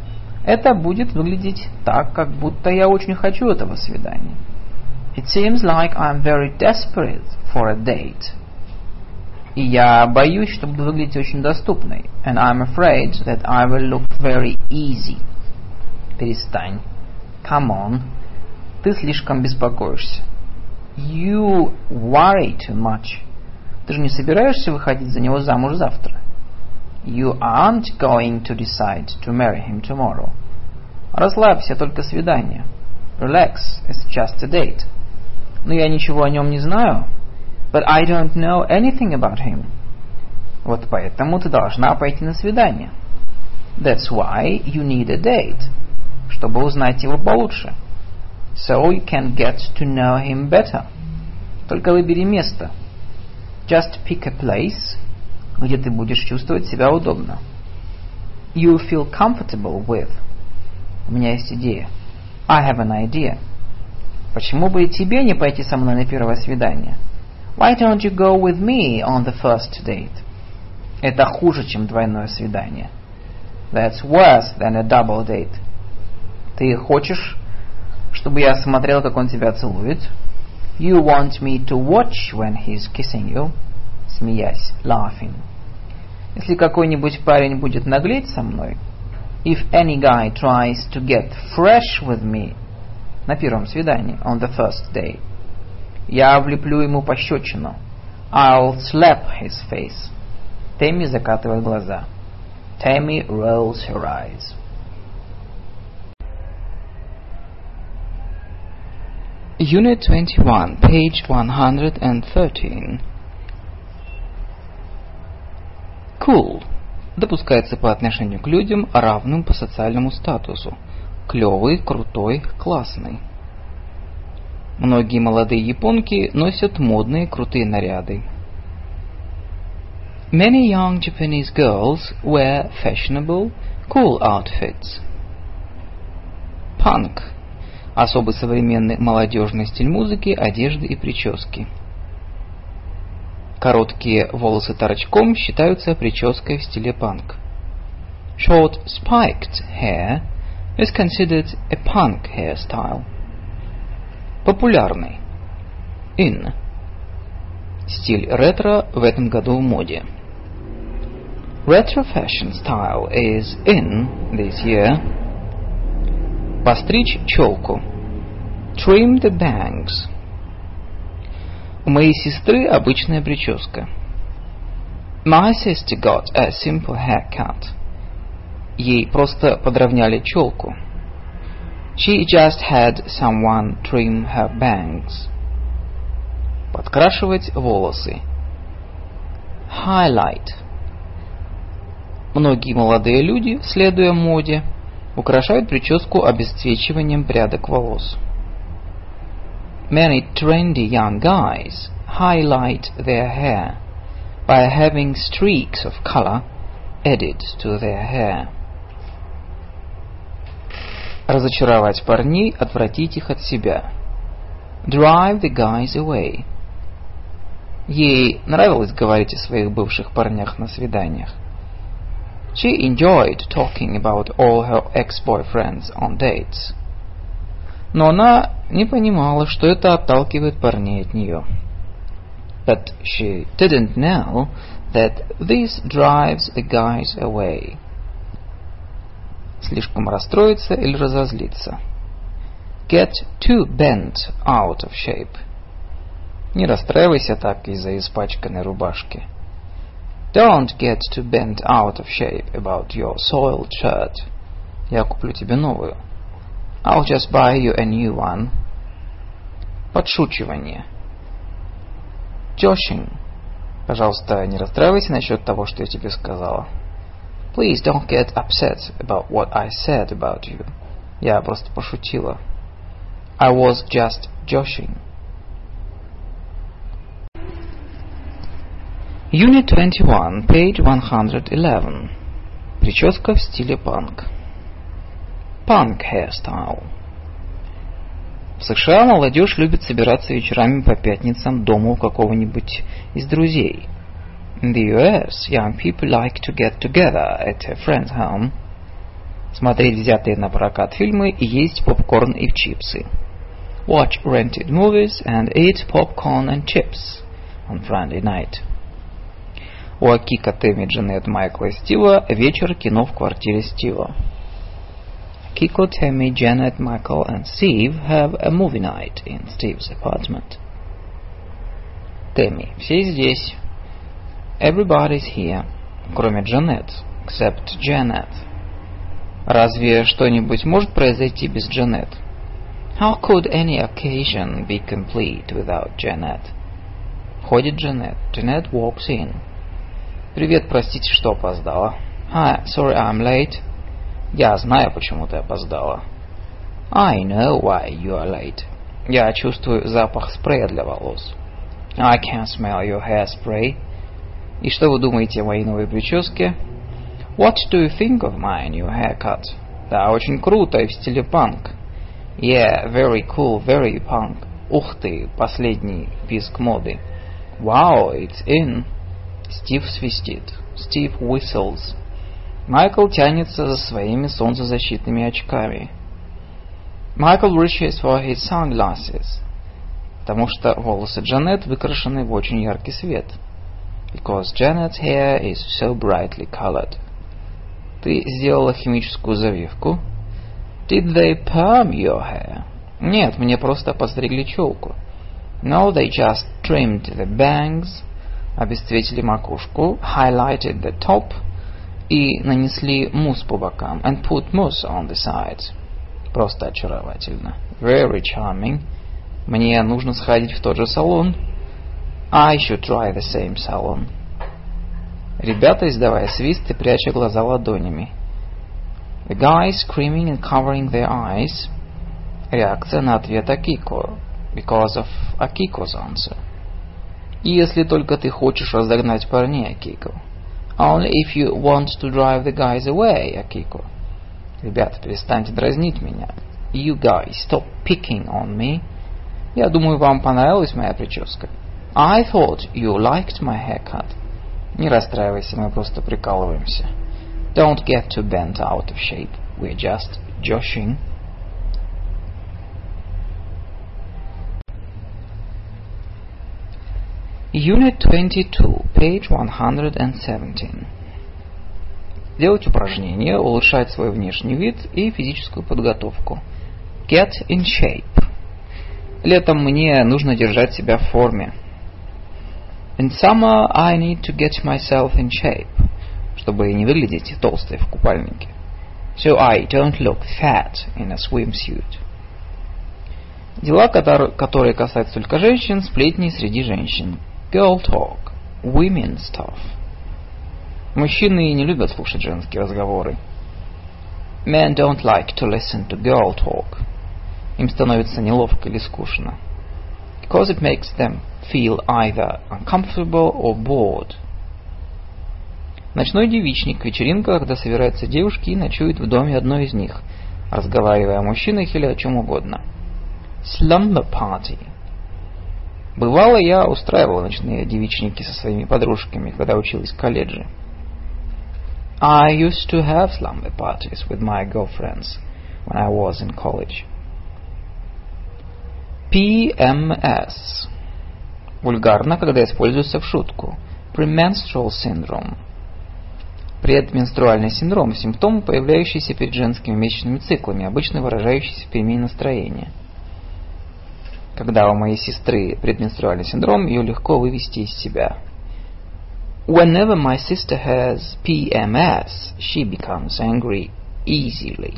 Это будет выглядеть так, как будто я очень хочу этого свидания. It seems like I'm very desperate for a date. И я боюсь, что буду выглядеть очень доступной. And I'm afraid that I will look very easy. Перестань. Come on. Ты слишком беспокоишься. You worry too much. Ты же не собираешься выходить за него замуж завтра. You aren't going to decide to marry him tomorrow. Расслабься, только свидание. Relax, it's just a date. Но я ничего о нем не знаю. But I don't know anything about him. Вот поэтому ты должна пойти на свидание. That's why you need a date. Чтобы узнать его получше. So you can get to know him better. Только выбери место. Just pick a place, где ты будешь чувствовать себя удобно. You feel comfortable with. У меня есть идея. I have an idea. Почему бы и тебе не пойти со мной на первое свидание? Why don't you go with me on the first date? Это хуже, чем двойное свидание. That's worse than a double date. Ты хочешь, чтобы я смотрел, как он тебя целует? You want me to watch when he's kissing you? Смеясь, laughing. Если какой-нибудь парень будет наглеть со мной, if any guy tries to get fresh with me, на первом свидании, on the first day, я влеплю ему пощечину. I'll slap his face. Тэмми закатывает глаза. Tammy rolls her eyes. Unit 21, page 113. Cool допускается по отношению к людям, равным по социальному статусу. Клевый, крутой, классный. Многие молодые японки носят модные крутые наряды. Many young Japanese girls wear fashionable, cool outfits. Панк – особый современный молодежный стиль музыки, одежды и прически. Короткие волосы торчком считаются прической в стиле панк. Short spiked hair is considered a punk hairstyle. Популярный. In. Стиль ретро в этом году в моде. Retro fashion style is in this year. Постричь челку. Trim the bangs. У моей сестры обычная прическа. My sister got a simple haircut. Ей просто подровняли челку. She just had someone trim her bangs. Подкрашивать волосы. Highlight. Многие молодые люди, следуя моде, украшают прическу обесцвечиванием прядок волос. Many trendy young guys highlight their hair by having streaks of color added to their hair. Разочаровать парней, отвратить их от себя. Drive the guys away. Ей нравилось говорить о своих бывших парнях на свиданиях. She enjoyed talking about all her ex-boyfriends on dates. Но она не понимала, что это отталкивает парней от нее. But she didn't know that this drives the guys away. Слишком расстроиться или разозлиться. Get too bent out of shape. Не расстраивайся так из-за испачканной рубашки. Don't get too bent out of shape about your soiled shirt. Я куплю тебе новую. I'll just buy you a new one. Подшучивание. Joshing. Пожалуйста, не расстраивайся насчет того, что я тебе сказала. Please don't get upset about what I said about you. Я просто пошутила. I was just joshing. Unit 21, page 111. Прическа в стиле панк. Punk hairstyle. В США молодежь любит собираться вечерами по пятницам дома у какого-нибудь из друзей. In the US, young people like to get together at a friend's home. смотреть взятые на прокат фильмы и есть попкорн и чипсы. Watch rented movies and eat popcorn and chips on Friday night. У Акика, Тэмми, Джанет, Майкла и Стива вечер кино в квартире Стива. Akiko, Tammy, Janet, Michael and Steve have a movie night in Steve's apartment. Тэмми, все здесь. Everybody's here, кроме Джанет, except Janet. Разве что-нибудь может произойти без Джанет? How could any occasion be complete without Janet? Входит Джанет. Janet walks in. Привет, простите, что опоздала. Hi, sorry I'm late. Я знаю, почему ты опоздала. I know why you are late. Я чувствую запах спрея для волос. I can smell your hairspray. И что вы думаете о моей новой прическе? What do you think of my new haircut? Да, очень круто и в стиле панк. Yeah, very cool, very punk. Ух ты, последний писк моды. Wow, it's in. Стив свистит. Steve whistles. Майкл тянется за своими солнцезащитными очками. Michael reaches for his sunglasses. Потому что волосы Джанет выкрашены в очень яркий свет. Because Janet's hair is so brightly colored. Ты сделала химическую завивку? Did they perm your hair? Нет, мне просто постригли челку. No, they just trimmed the bangs, обесцветили макушку, highlighted the top и нанесли мусс по бокам, and put mousse on the sides. Просто очаровательно. Very charming. Мне нужно сходить в тот же салон. I should try the same salon. Ребята, издавая свист и пряча глаза ладонями. The guys screaming and covering their eyes. Реакция на ответ Акико. Because of Akiko's answer. И если только ты хочешь разогнать парней, Акико. Only if you want to drive the guys away, Акико. Ребята, перестаньте дразнить меня. You guys, stop picking on me. Я думаю, вам понравилась моя прическа. I thought you liked my haircut. Не расстраивайся, мы просто прикалываемся. Don't get too bent out of shape. We're just joshing. Unit 22, page 117. Делать упражнения, улучшать свой внешний вид и физическую подготовку. Get in shape. Летом мне нужно держать себя в форме. In summer I need to get myself in shape. Чтобы не выглядеть толстой в купальнике. So I don't look fat in a swimsuit. Дела, которые касаются только женщин, сплетни среди женщин. Girl talk. Women stuff. Мужчины не любят слушать женские разговоры. Men don't like to listen to girl talk. Им становится неловко или скучно. Because it makes them feel either uncomfortable or bored. Ночной девичник – вечеринка, когда собираются девушки и ночуют в доме одной из них, разговаривая о мужчинах или о чем угодно. Slumber party. Бывало, я устраивал ночные девичники со своими подружками, когда училась в колледже. I used to have slumber parties with my girlfriends when I was in college. PMS. Вульгарно, когда используется в шутку. Premenstrual syndrome. Предменструальный синдром – симптом, появляющийся перед женскими месячными циклами, обычно выражающийся в перемене настроения. Когда у моей сестры предменструальный синдром, ее легко вывести из себя. Whenever my sister has PMS, she becomes angry easily.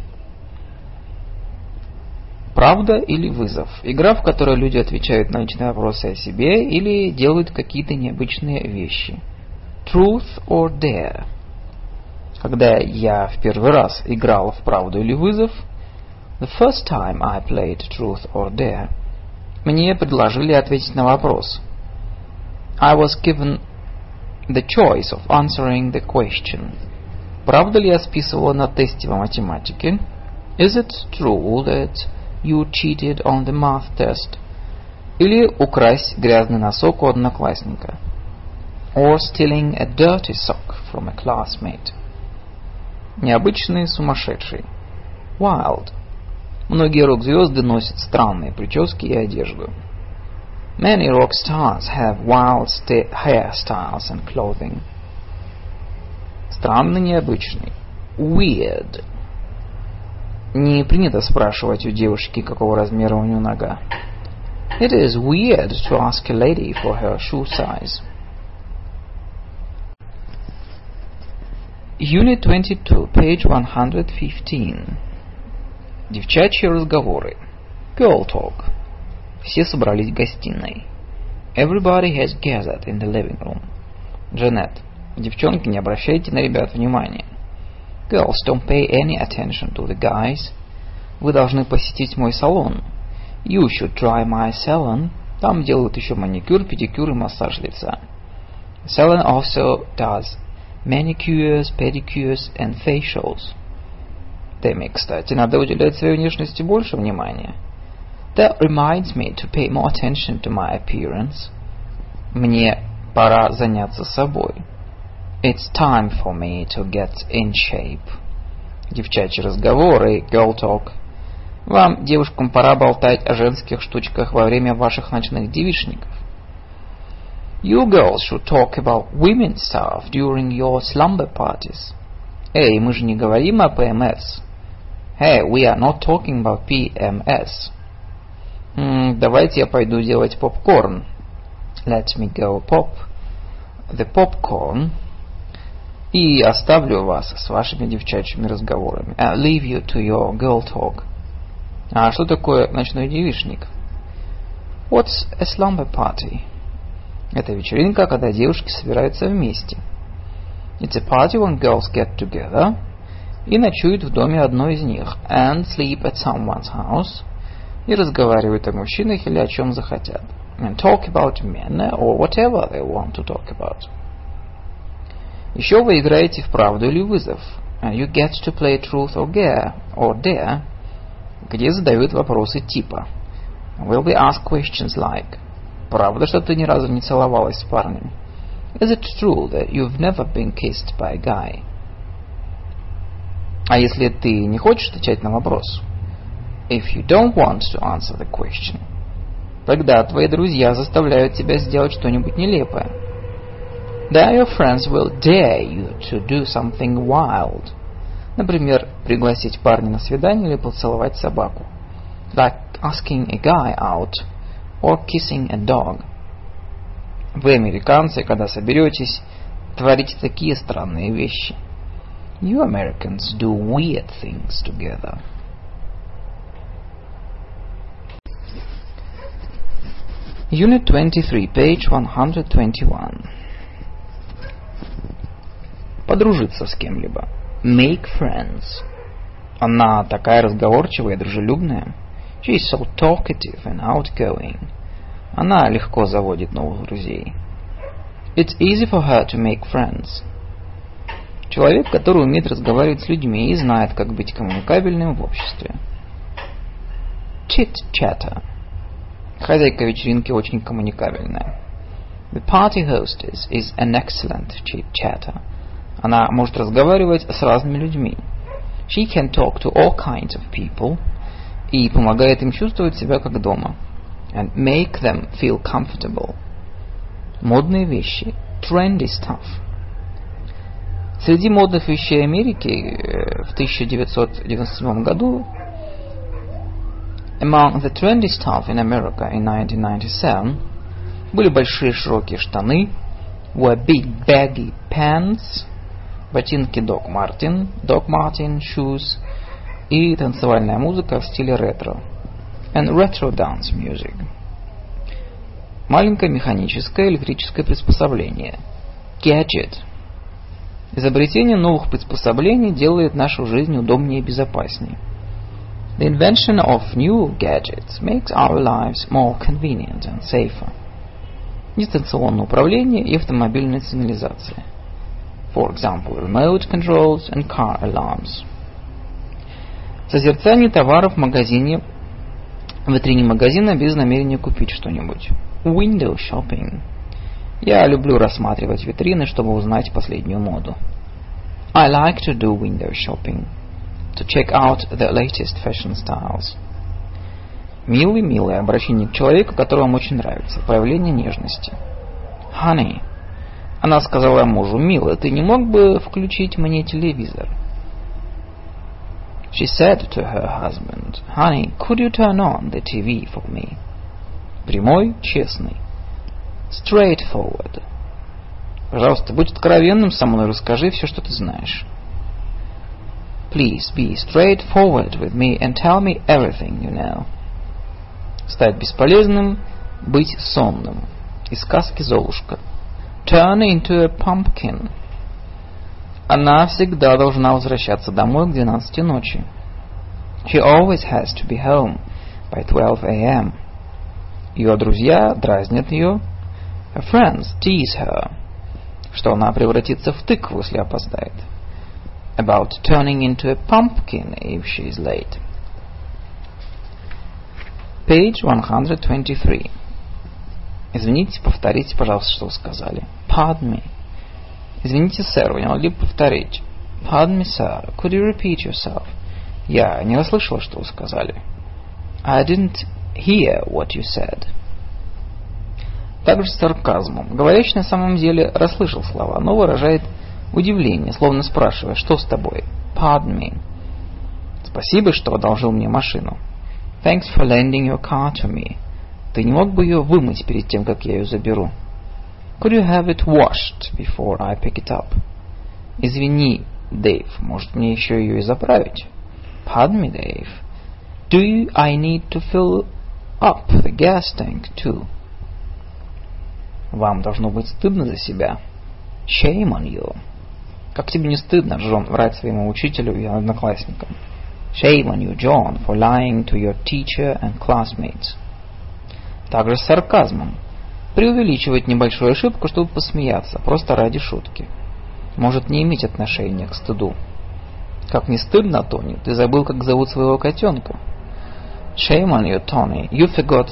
Правда или вызов? Игра, в которой люди отвечают на личные вопросы о себе или делают какие-то необычные вещи. Truth or dare? Когда я в первый раз играл в правду или вызов, the first time I played truth or dare, мне предложили ответить на вопрос. I was given the choice of answering the question. Правда ли я списывала на тесте по математике? Is it true that you cheated on the math test? Или украсть грязный носок у одноклассника? Or stealing a dirty sock from a classmate? Необычный, сумасшедший. Wild. Многие рок-звезды носят странные прически и одежду. Many rock stars have wild hairstyles and clothing. Странный, необычный. Weird. Не принято спрашивать у девушки, какого размера у нее нога. It is weird to ask a lady for her shoe size. Unit 22, page 115. Девчачьи разговоры. Girl talk. Все собрались в гостиной. Everybody has gathered in the living room. Джанет. Девчонки, не обращайте на ребят внимания. Girls, don't pay any attention to the guys. Вы должны посетить мой салон. You should try my salon. Там делают еще маникюр, педикюр и массаж лица. Salon also does manicures, pedicures and facials. Тэмми, кстати, надо уделять своей внешности больше внимания. That reminds me to pay more attention to my appearance. Мне пора заняться собой. It's time for me to get in shape. Девчачьи разговоры, girl talk. Вам, девушкам, пора болтать о женских штучках во время ваших ночных девичников. You girls should talk about women's stuff during your slumber parties. Эй, мы же не говорим о PMS. Hey, we are not talking about PMS. Давайте я пойду делать попкорн. Let me go pop the popcorn. И оставлю вас с вашими девчачьими разговорами. I'll leave you to your girl talk. А что такое ночной девичник? What's a slumber party? Это вечеринка, когда девушки собираются вместе. It's a party when girls get together и ночуют в доме одной из них. And sleep at someone's house. И разговаривают о мужчинах или о чем захотят. And talk about men or whatever they want to talk about. Еще вы играете в правду или вызов. You get to play truth or dare, где задают вопросы типа Will we ask questions like правда, что ты ни разу не целовалась с парнем? Is it true that you've never been kissed by a guy? А если ты не хочешь отвечать на вопрос? If you don't want to answer the question, тогда твои друзья заставляют тебя сделать что-нибудь нелепое. Then your friends will dare you to do something wild. Например, пригласить парня на свидание или поцеловать собаку. Like asking a guy out or kissing a dog. Вы, американцы, когда соберетесь, творите такие странные вещи. You Americans do weird things together. Unit 23, page 121. Подружиться с кем-либо. Make friends. Она такая разговорчивая и дружелюбная. She is so talkative and outgoing. Она легко заводит новых друзей. It's easy for her to make friends. Человек, который умеет разговаривать с людьми и знает, как быть коммуникабельным в обществе. Chit-chatter. Хозяйка вечеринки очень коммуникабельная. The party hostess is an excellent chit-chatter. Она может разговаривать с разными людьми. She can talk to all kinds of people и помогает им чувствовать себя как дома. And make them feel comfortable. Модные вещи. Trendy stuff. Среди модных вещей Америки в 1997 году Among the trendy stuff in America in 1997 были большие широкие штаны, were big baggy pants, ботинки Doc Martin shoes и танцевальная музыка в стиле ретро. And retro dance music. Маленькое механическое электрическое приспособление. Gadget. Изобретение новых приспособлений делает нашу жизнь удобнее и безопаснее. The invention of new gadgets makes our lives more convenient and safer. Дистанционное управление и автомобильная сигнализация. For example, remote controls and car alarms. Созерцание товаров в магазине, в витрине магазина без намерения купить что-нибудь. Window shopping. Я люблю рассматривать витрины, чтобы узнать последнюю моду. I like to do window shopping, to check out the latest fashion styles. Милый, милое обращение к человеку, которого вам очень нравится, проявление нежности. Honey. Она сказала мужу: милый, ты не мог бы включить мне телевизор? She said to her husband, honey, could you turn on the TV for me? Прямой, честный. Straightforward. Пожалуйста, будь откровенным со мной, расскажи все, что ты знаешь. Please be straightforward with me and tell me everything you know. Стать бесполезным, быть сонным. Из сказки «Золушка». Turn into a pumpkin. Она всегда должна возвращаться домой к 12 ночи. She always has to be home by 12 a.m. Ее друзья дразнят ее. Her friends tease her. Что она превратится в тыкву, если опоздает. About turning into a pumpkin if she is late. Page 123. Извините, повторите, пожалуйста, что вы сказали. Pardon me. Извините, сэр, вы не могли бы повторить? Pardon me, sir. Could you repeat yourself? Я не расслышала, что вы сказали. I didn't hear what you said. Также с сарказмом. Говорящий на самом деле расслышал слова, но выражает удивление, словно спрашивая: что с тобой? Pardon me. Спасибо, что одолжил мне машину. Thanks for lending your car to me. Ты не мог бы ее вымыть перед тем, как я ее заберу? Could you have it washed before I pick it up? Извини, Дэйв, может мне еще ее и заправить? Pardon me, Dave. Do I need to fill up the gas tank too? Вам должно быть стыдно за себя. Shame on you. Как тебе не стыдно, Джон, врать своему учителю и одноклассникам? Shame on you, John, for lying to your teacher and classmates. Также с сарказмом. Преувеличивать небольшую ошибку, чтобы посмеяться, просто ради шутки. Может не иметь отношения к стыду. Как не стыдно, Тони, ты забыл, как зовут своего котенка. Shame on you, Tony. You forgot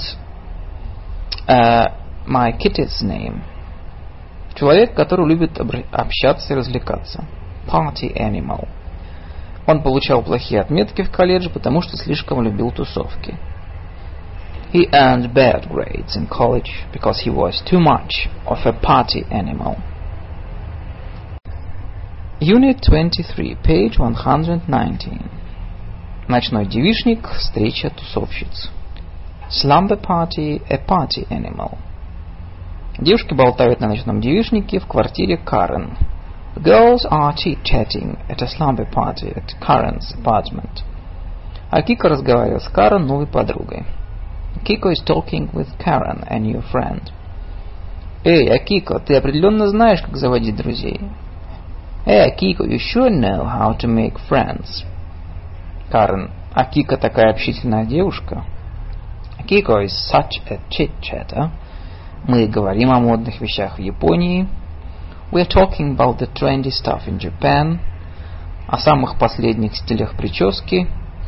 my kitty's name. Человек, который любит общаться и развлекаться. Party animal. Он получал плохие отметки в колледже, потому что слишком любил тусовки. He earned bad grades in college because he was too much of a party animal. Unit 23, page 119. Ночной девичник, встреча тусовщиц. Slumber party, a party animal. Девушки болтают на ночном девичнике в квартире Карен. The girls are chit-chatting at a slumber party at Karen's apartment. А Кика разговаривает с Карен, новой подругой. Kiko is talking with Karen, a new friend. Эй, Акико, ты определенно знаешь, как заводить друзей. Эй, Акико, you sure know how to make friends. Карен, Акика такая общительная девушка. Akiko is such a chit-chatter. Мы говорим о модных вещах в Японии. We are talking about the trendy stuff in Japan. О самых последних стилях прически.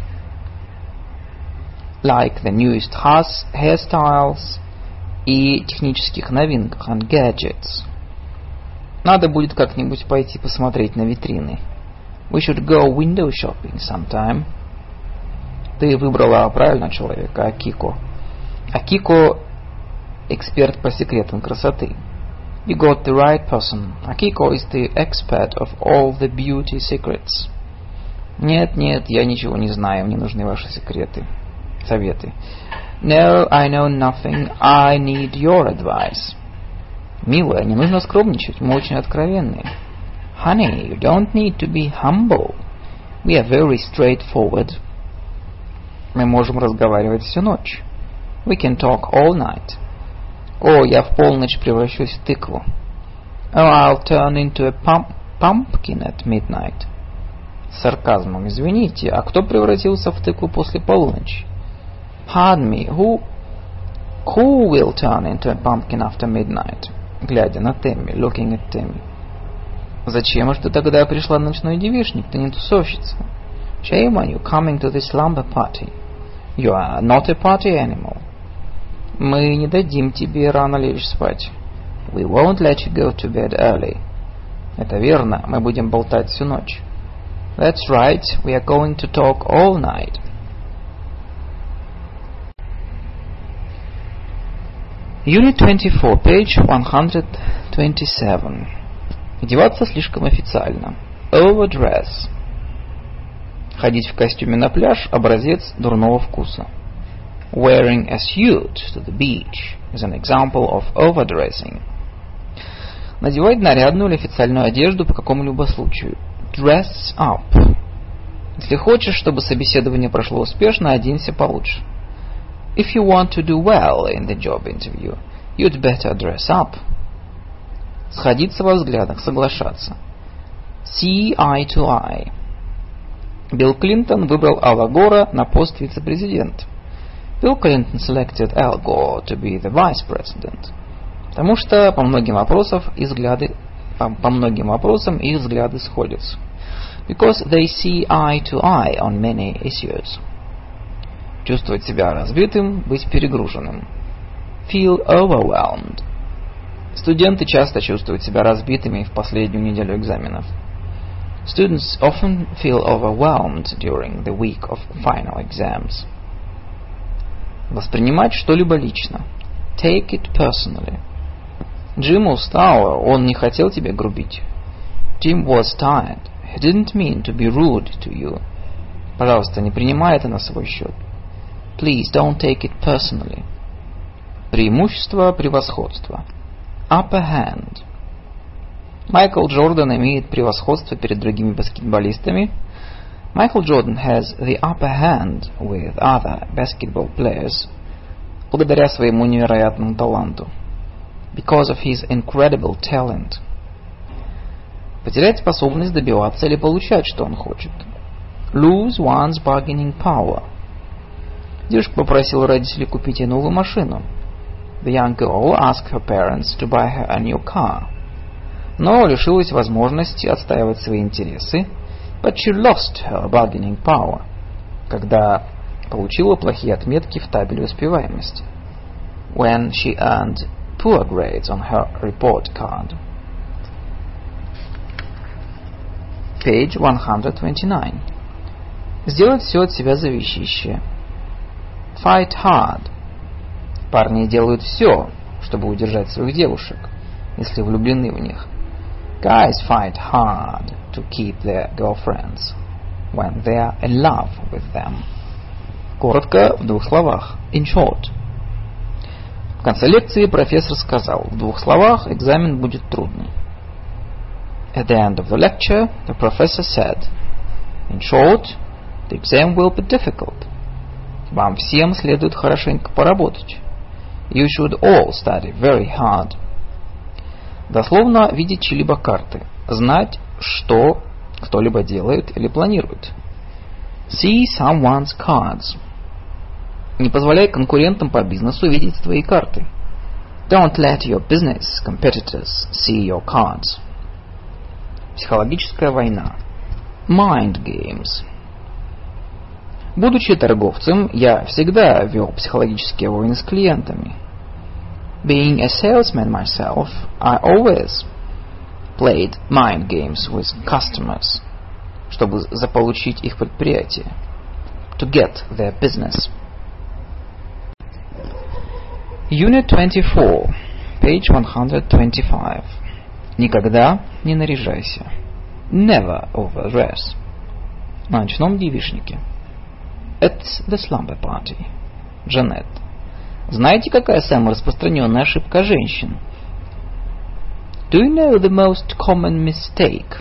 Like the newest hairstyles. И технических новинках and gadgets. Надо будет как-нибудь пойти посмотреть на витрины. We should go window shopping sometime. Ты выбрала правильного человека, Акико. Акико – эксперт по секретам красоты. You got the right person. Akiko is the expert of all the beauty secrets. Нет, нет, я ничего не знаю, мне нужны ваши советы. No, I know nothing. I need your advice. Милая, не нужно скромничать, мы очень откровенные. Honey, you don't need to be humble. We are very straightforward. Мы можем разговаривать всю ночь. We can talk all night. О, я в полночь превращусь в тыкву. Oh, I'll turn into a pumpkin at midnight. С сарказмом. Извините, а кто превратился в тыкву после полуночи? Pardon me, who will turn into a pumpkin after midnight? Глядя на Тэмми, looking at Тэмми. Зачем же ты тогда пришла на ночной девичник? Ты не тусовщица. Shame on you coming to this slumber party. You are not a party animal. Мы не дадим тебе рано лечь спать. We won't let you go to bed early. Это верно, мы будем болтать всю ночь. That's right, we are going to talk all night. Unit 24, page 127. Одеваться слишком официально. Overdress. Ходить в костюме на пляж – образец дурного вкуса. Wearing a suit to the beach is an example of overdressing. Надевать нарядную или официальную одежду по какому-либо случаю. Dress up. Если хочешь, чтобы собеседование прошло успешно, оденься получше. If you want to do well in the job interview, you'd better dress up. Сходиться во взглядах, соглашаться. See eye to eye. Билл Клинтон выбрал Алла Гора на пост вице-президента. Bill Clinton selected Al Gore to be the vice president. Потому что по многим вопросам их взгляды сходятся. Because they see eye to eye on many issues. Чувствовать себя разбитым, быть перегруженным. Feel overwhelmed. Студенты часто чувствуют себя разбитыми в последнюю неделю экзаменов. Students often feel overwhelmed during the week of final exams. Воспринимать что-либо лично. Take it personally. Джим устал, он не хотел тебе грубить. Jim was tired. He didn't mean to be rude to you. Пожалуйста, не принимай это на свой счет. Please don't take it personally. Преимущество, превосходство. Upper hand. Майкл Джордан имеет превосходство перед другими баскетболистами. Michael Jordan has the upper hand with other basketball players благодаря своему невероятному таланту. Because of his incredible talent. Потерять способность добиваться или получать, что он хочет. Lose one's bargaining power. Девушка попросила родителей купить ей новую машину. The young girl asked her parents to buy her a new car. Но лишилась возможности отстаивать свои интересы. But she lost her bargaining power, когда получила плохие отметки в табеле успеваемости. When she earned poor grades on her report card. Page 129. Сделать все от себя зависящее. Fight hard. Парни делают все, чтобы удержать своих девушек, если влюблены в них. Guys fight hard to keep their girlfriends when they are in love with them. Коротко, в двух словах. In short. В конце лекции профессор сказал, в двух словах экзамен будет трудный. At the end of the lecture, the professor said, in short, the exam will be difficult. Вам всем следует хорошенько поработать. You should all study very hard. Дословно видеть чьи-либо карты. Знать, что кто-либо делает или планирует. See someone's cards. Не позволяй конкурентам по бизнесу видеть твои карты. Don't let your business competitors see your cards. Психологическая война. Mind games. Будучи торговцем, я всегда вел психологические войны с клиентами. Being a salesman myself, I always played mind games with customers, чтобы заполучить их предприятие. To get their business. Unit 24, page 125. Никогда не наряжайся. Never overdress. На ночном девичнике. At the slumber party. Джанет. Знаете, какая самая распространенная ошибка женщин? Do you know the most common mistake,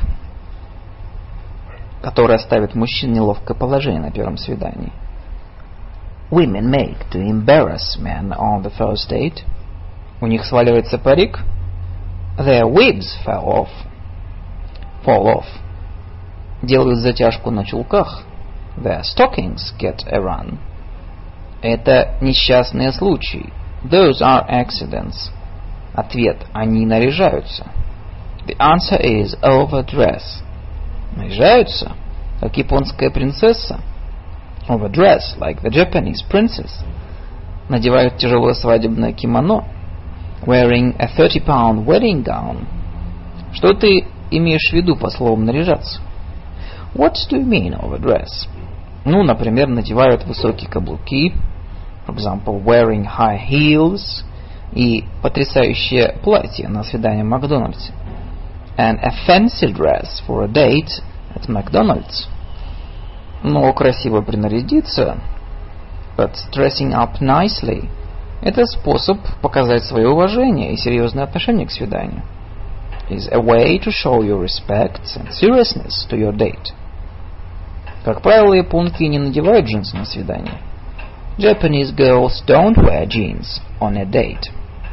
которая ставит мужчин в неловкое положение на первом свидании? Women make to embarrass men on the first date. У них сваливается парик. Their wigs fall off. Делают затяжку на чулках. Their stockings get a run. Это несчастные случаи. Those are accidents. Ответ. Они наряжаются. The answer is overdress. Наряжаются, как японская принцесса. Overdress, like the Japanese princess. Надевают тяжелое свадебное кимоно. Wearing a 30-pound wedding gown. Что ты имеешь в виду по словам наряжаться? What do you mean of a dress? Ну, например, надевают высокие каблуки, for example, wearing high heels, и потрясающее платье на свидание в Макдональдсе. and a fancy dress for a date at McDonald's. Но красиво принарядиться, but dressing up nicely, это способ показать свое уважение и серьезное отношение к свиданию. is a way to show your respect and seriousness to your date. Как правило, японки не надевают джинсы на свидание. Japanese girls don't wear jeans on a date.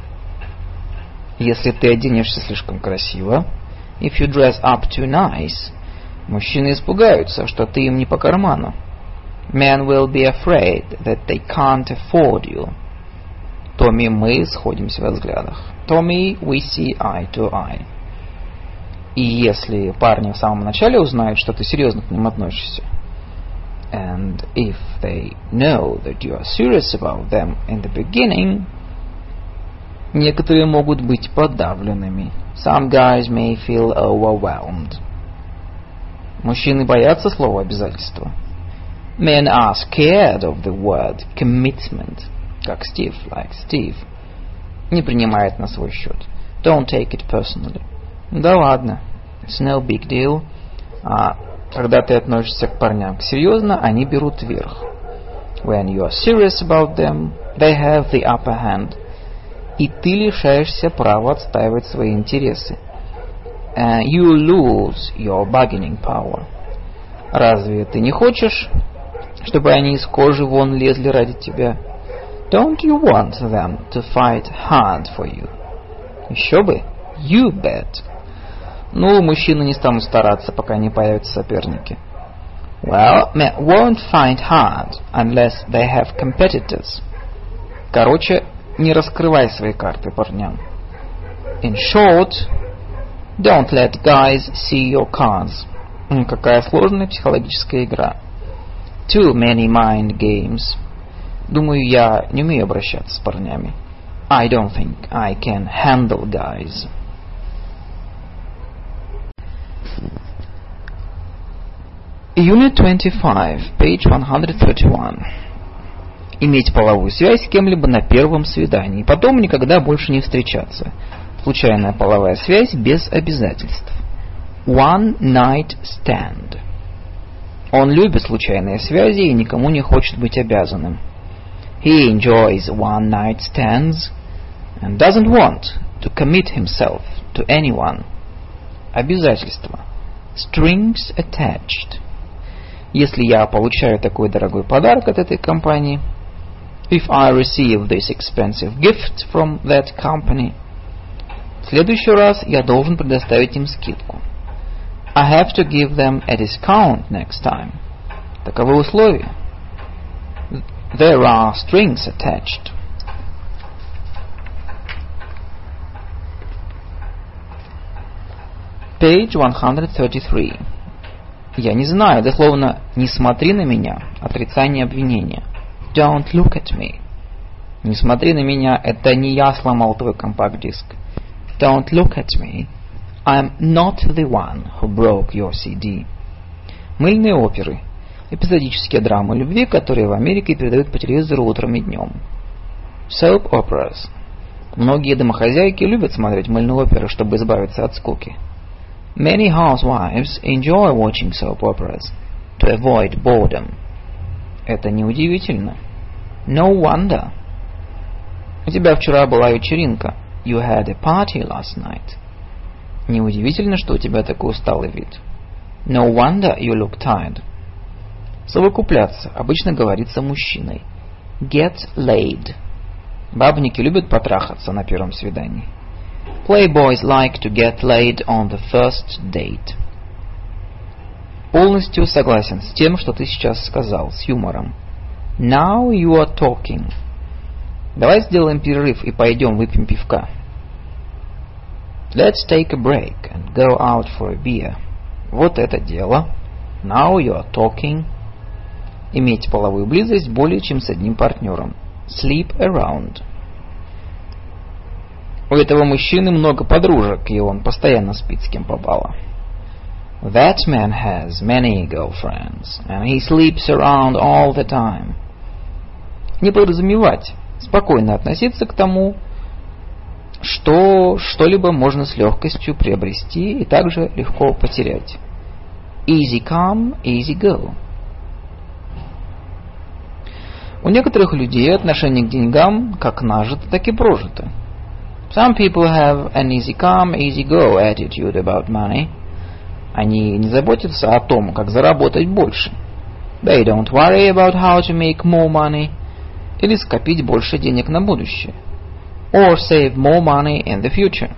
Если ты оденешься слишком красиво, if you dress up too nice, мужчины испугаются, что ты им не по карману. Men will be afraid that they can't afford you. Томми, мы сходимся во взглядах. Tommy, we see eye to eye. И если парни в самом начале узнают, что ты серьезно к ним относишься, and if they know that you are serious about them in the beginning, некоторые могут быть подавленными. Some guys may feel overwhelmed. Мужчины боятся слова обязательства. Men are scared of the word commitment. Как Стив, like Steve. Не принимает на свой счет. Don't take it personally. Да ладно. It's no big deal. А когда ты относишься к парням серьезно, они берут верх. When you are serious about them, they have the upper hand. И ты лишаешься права отстаивать свои интересы. You lose your bargaining power. Разве ты не хочешь, чтобы они из кожи вон лезли ради тебя? Don't you want them to fight hard for you? Еще бы. You bet. Ну, мужчины не станут стараться, пока не появятся соперники. Well, men won't fight hard unless they have competitors. Короче, не раскрывай свои карты парням. In short, don't let guys see your cards. Какая сложная психологическая игра. Too many mind games. Думаю, я не умею обращаться с парнями. I don't think I can handle guys. Unit 25, page 131. Иметь половую связь с кем-либо на первом свидании, потом никогда больше не встречаться. Случайная половая связь без обязательств. One night stand. Он любит случайные связи и никому не хочет быть обязанным. He enjoys one night stands and doesn't want to commit himself to anyone. Обязательства. Strings attached. Если я получаю такой дорогой подарок от этой компании, if I receive this expensive gift from that company, в следующий раз я должен предоставить им скидку. I have to give them a discount next time. Таковы условия. There are strings attached. Page 133. Я не знаю, дословно «не смотри на меня», отрицание обвинения. Don't look at me. Не смотри на меня, это не я сломал твой компакт-диск. Don't look at me. I'm not the one who broke your CD. Мыльные оперы. Эпизодические драмы любви, которые в Америке передают по телевизору утром и днем. Soap operas. Многие домохозяйки любят смотреть мыльные оперы, чтобы избавиться от скуки. Many housewives enjoy watching soap operas to avoid boredom. Это неудивительно. No wonder. У тебя вчера была вечеринка. You had a party last night. Неудивительно, что у тебя такой усталый вид. No wonder you look tired. Совокупляться обычно говорится мужчиной. Get laid. Бабники любят потрахаться на первом свидании. Playboys like to get laid on the first date. Полностью согласен с тем, что ты сейчас сказал, с юмором. Now you are talking. Давай сделаем перерыв и пойдем выпьем пивка. Let's take a break and go out for a beer. Вот это дело. Now you are talking. Иметь половую близость более чем с одним партнером. Sleep around. У этого мужчины много подружек, и он постоянно спит с кем попало. That man has many girlfriends, and he sleeps around all the time. Не подразумевать, спокойно относиться к тому, что что-либо можно с легкостью приобрести и также легко потерять. Easy come, easy go. У некоторых людей отношение к деньгам как нажито, так и прожито. Some people have an easy come, easy go attitude about money. Они не заботятся о том, как заработать больше. They don't worry about how to make more money. Или скопить больше денег на будущее. Or save more money in the future.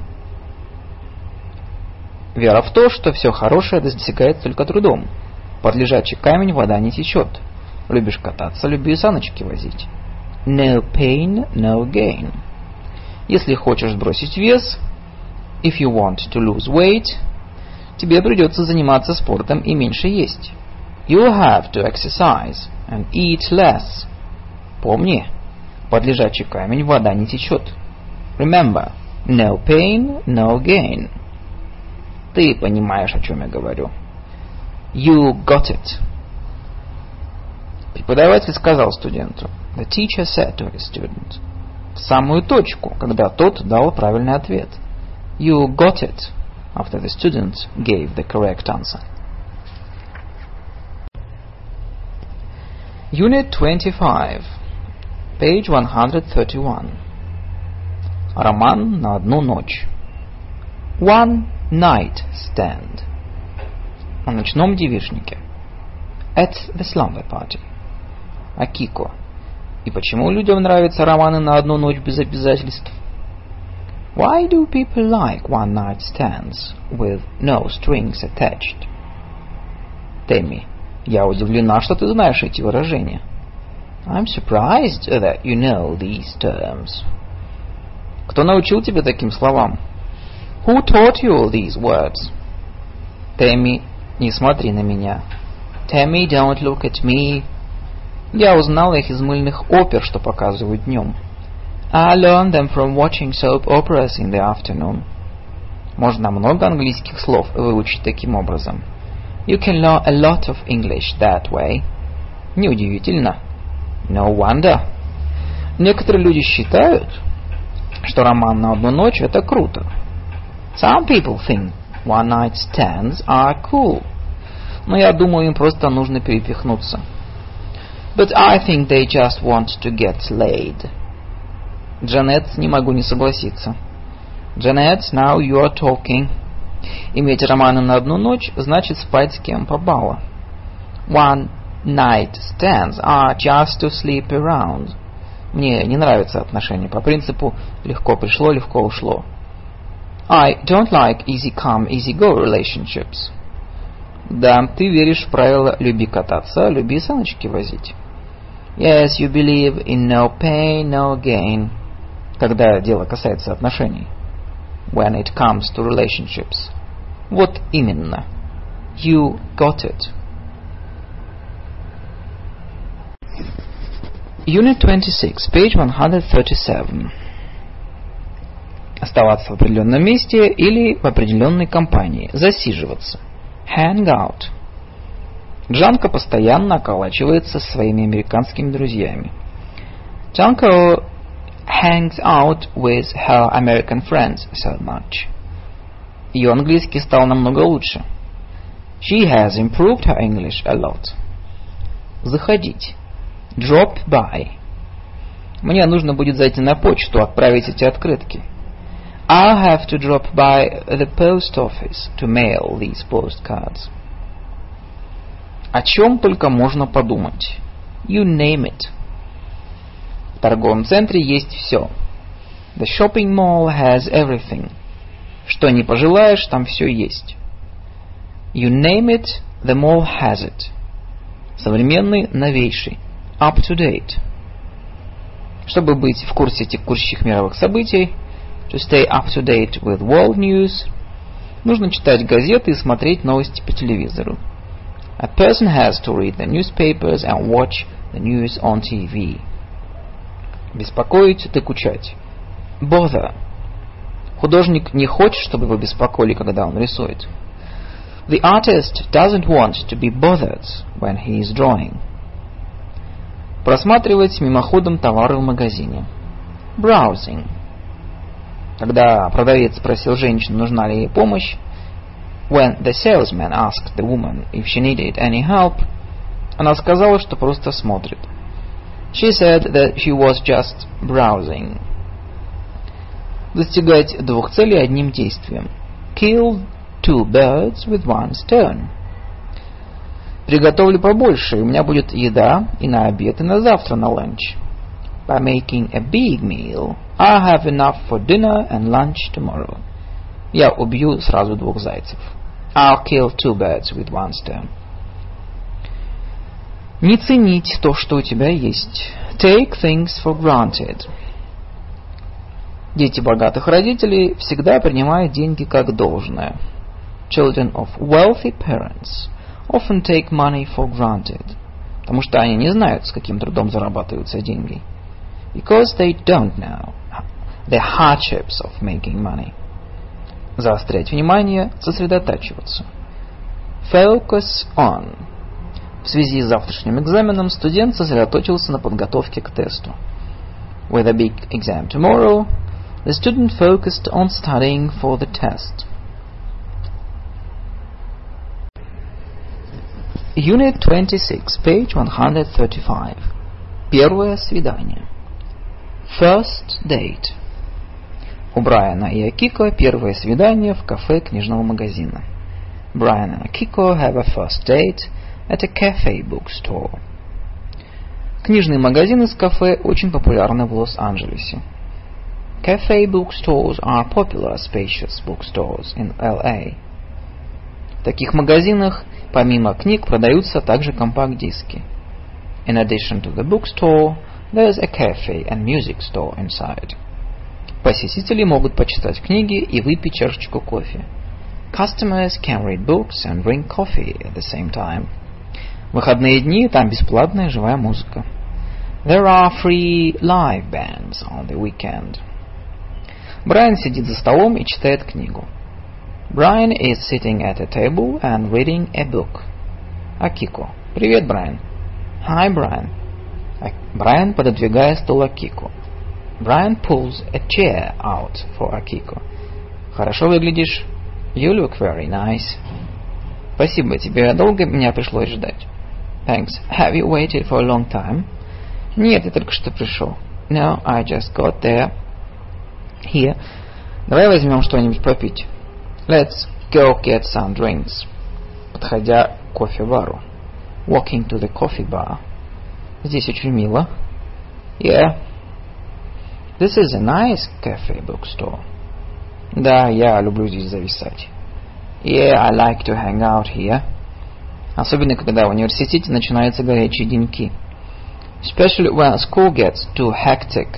Вера в то, что все хорошее достигается только трудом. Под лежачий камень вода не течет. Любишь кататься, люби саночки возить. No pain, no gain. Если хочешь сбросить вес, if you want to lose weight, тебе придется заниматься спортом и меньше есть. You'll have to exercise and eat less. Помни, под лежачий камень вода не течет. Remember, no pain, no gain. Ты понимаешь, о чем я говорю. You got it. Преподаватель сказал студенту. The teacher said to his student. В самую точку, когда тот дал правильный ответ. You got it. After the student gave the correct answer. Unit 25. Page 131. Роман на одну ночь. One night stand. О ночном девичнике. At the slumber party. О Кико. И почему людям нравятся романы на одну ночь без обязательств? Why do people like one night stands with no strings attached? Тэмми, я удивлена, что ты знаешь эти выражения. I'm surprised that you know these terms. Кто научил тебя таким словам? Who taught you all these words? Тэмми, не смотри на меня. Tammy, don't look at me. Я узнала их из мыльных опер, что показывают днем. I learned them from watching soap operas in the afternoon. Можно много английских слов выучить таким образом. You can learn a lot of English that way. Неудивительно. No wonder. Некоторые люди считают, что роман на одну ночь — это круто. Some people think one night stands are cool. Но я думаю, им просто нужно перепихнуться. But I think they just want to get laid. Джанет, не могу не согласиться. Janet, now you are talking. Иметь романы на одну ночь значит спать с кем попало. One night stands are just to sleep around. Мне не нравятся отношения по принципу «легко пришло, легко ушло». I don't like easy come, easy go relationships. Да, ты веришь в правило «люби кататься, люби саночки возить». Yes, you believe in no pain, no gain. Когда дело касается отношений. When it comes to relationships. Вот именно. You got it. Unit 26, page 137. Оставаться в определенном месте или в определенной компании. Засиживаться. Hang out. Джанка постоянно околачивается со своими американскими друзьями. Janko hangs out with her American friends so much. Ее английский стал намного лучше. She has improved her English a lot. Заходить. Drop by. Мне нужно будет зайти на почту, отправить эти открытки. I'll have to drop by the post office to mail these postcards. О чем только можно подумать. You name it. В торговом центре есть все. The shopping mall has everything. Что не пожелаешь, там все есть. You name it, the mall has it. Современный, новейший. Up to date. Чтобы быть в курсе текущих мировых событий, to stay up to date with world news, нужно читать газеты и смотреть новости по телевизору. A person has to read the newspapers and watch the news on TV. Беспокоить, докучать. Bother. Художник не хочет, чтобы его беспокоили, когда он рисует. The artist doesn't want to be bothered when he is drawing. Просматривать мимоходом товары в магазине. Browsing. Когда продавец спросил женщину, нужна ли ей помощь, when the salesman asked the woman if she needed any help, она сказала, что просто смотрит. She said that she was just browsing. Достигать двух целей одним действием. Kill two birds with one stone. Приготовлю побольше, и у меня будет еда и на обед, и на завтра на ланч. By making a big meal, I have enough for dinner and lunch tomorrow. Я убью сразу двух зайцев. I'll kill two birds with one stone. Не ценить то, что у тебя есть. Take things for granted. Дети богатых родителей всегда принимают деньги как должное. Children of wealthy parents often take money for granted. Потому что они не знают, с каким трудом зарабатываются деньги. Because they don't know the hardships of making money. Заострять внимание, сосредотачиваться. Focus on. В связи с завтрашним экзаменом студент сосредоточился на подготовке к тесту. With a big exam tomorrow, the student focused on studying for the test. Unit 26, page 135. Первое свидание. First date. У Брайана и Акико первое свидание в кафе книжного магазина. Brian and Akiko have a first date at a cafe bookstore. Книжные магазины с кафе очень популярны в Лос-Анджелесе. Cafe bookstores are popular spacious bookstores in LA. В таких магазинах помимо книг продаются также компакт-диски. In addition to the bookstore, there's a cafe and music store inside. Посетители могут почитать книги и выпить чашечку кофе. Customers can read books and drink coffee at the same time. В выходные дни там бесплатная живая музыка. There are free live bands on the weekend. Брайан сидит за столом и читает книгу. Brian is sitting at a table and reading a book. Акико. Привет, Брайан. Hi, Brian. Брайан пододвигает стул Акико. Brian pulls a chair out for Akiko. Хорошо выглядишь. You look very nice. Спасибо. Тебе долго меня пришлось ждать? Thanks. Have you waited for a long time? Нет, я только что пришел. No, I just got there. Here. Давай возьмем что-нибудь попить. Let's go get some drinks. Подходя к кофе-бару. Walking to the coffee bar. Здесь очень мило. Yeah. This is a nice cafe bookstore. Да, я люблю здесь зависать. Yeah, I like to hang out here. Особенно, когда в университете начинаются горячие деньки. Especially when school gets too hectic.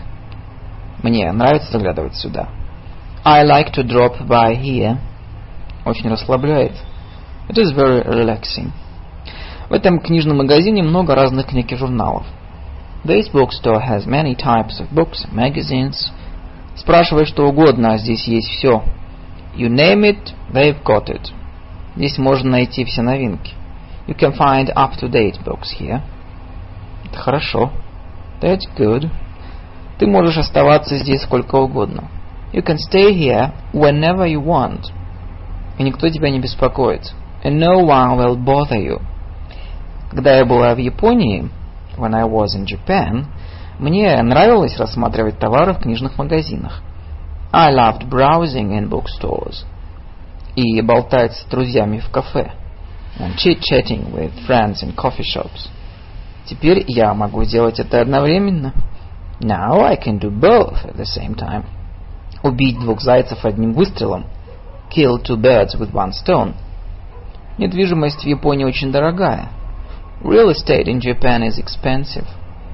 Мне нравится заглядывать сюда. I like to drop by here. Очень расслабляет. It is very relaxing. В этом книжном магазине много разных книг и журналов. This bookstore has many types of books and magazines. Спрашивай что угодно, а здесь есть все. You name it, they've got it. Здесь можно найти все новинки. You can find up-to-date books here. Это хорошо. That's good. Ты можешь оставаться здесь сколько угодно. You can stay here whenever you want. И никто тебя не беспокоит. And no one will bother you. Когда я была в Японии, when I was in Japan, мне нравилось рассматривать товары в книжных магазинах. I loved browsing in bookstores. И болтать с друзьями в кафе. And chit-chatting with friends in coffee shops. Теперь я могу сделать это одновременно. Now I can do both at the same time. Убить двух зайцев одним выстрелом. Kill two birds with one stone. Недвижимость в Японии очень дорогая. Real estate in Japan is expensive.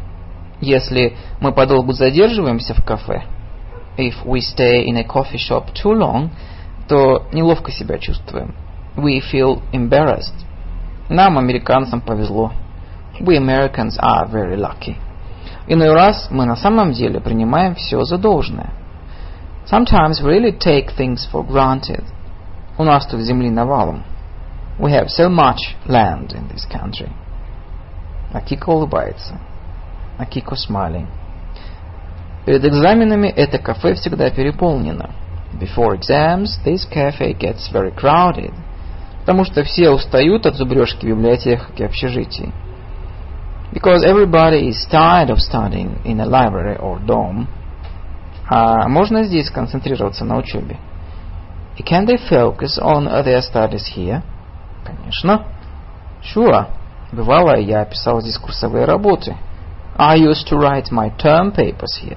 Если мы подолгу задерживаемся в кафе, if we stay in a coffee shop too long, то неловко себя чувствуем. We feel embarrassed. Нам, американцам, повезло. We Americans are very lucky. Иной раз мы на самом деле принимаем все за должное. Sometimes we really take things for granted. У нас тут земли навалом. We have so much land in this country. Акико улыбается. Акико smiling. Перед экзаменами это кафе всегда переполнено. Before exams, this cafe gets very crowded. Потому что все устают от зубрежки в библиотеках и общежитий. Because everybody is tired of studying in a library or dorm. А можно здесь концентрироваться на учебе? Can they focus on their studies here? Конечно. Sure. Бывало, я писал здесь курсовые работы. I used to write my term papers here.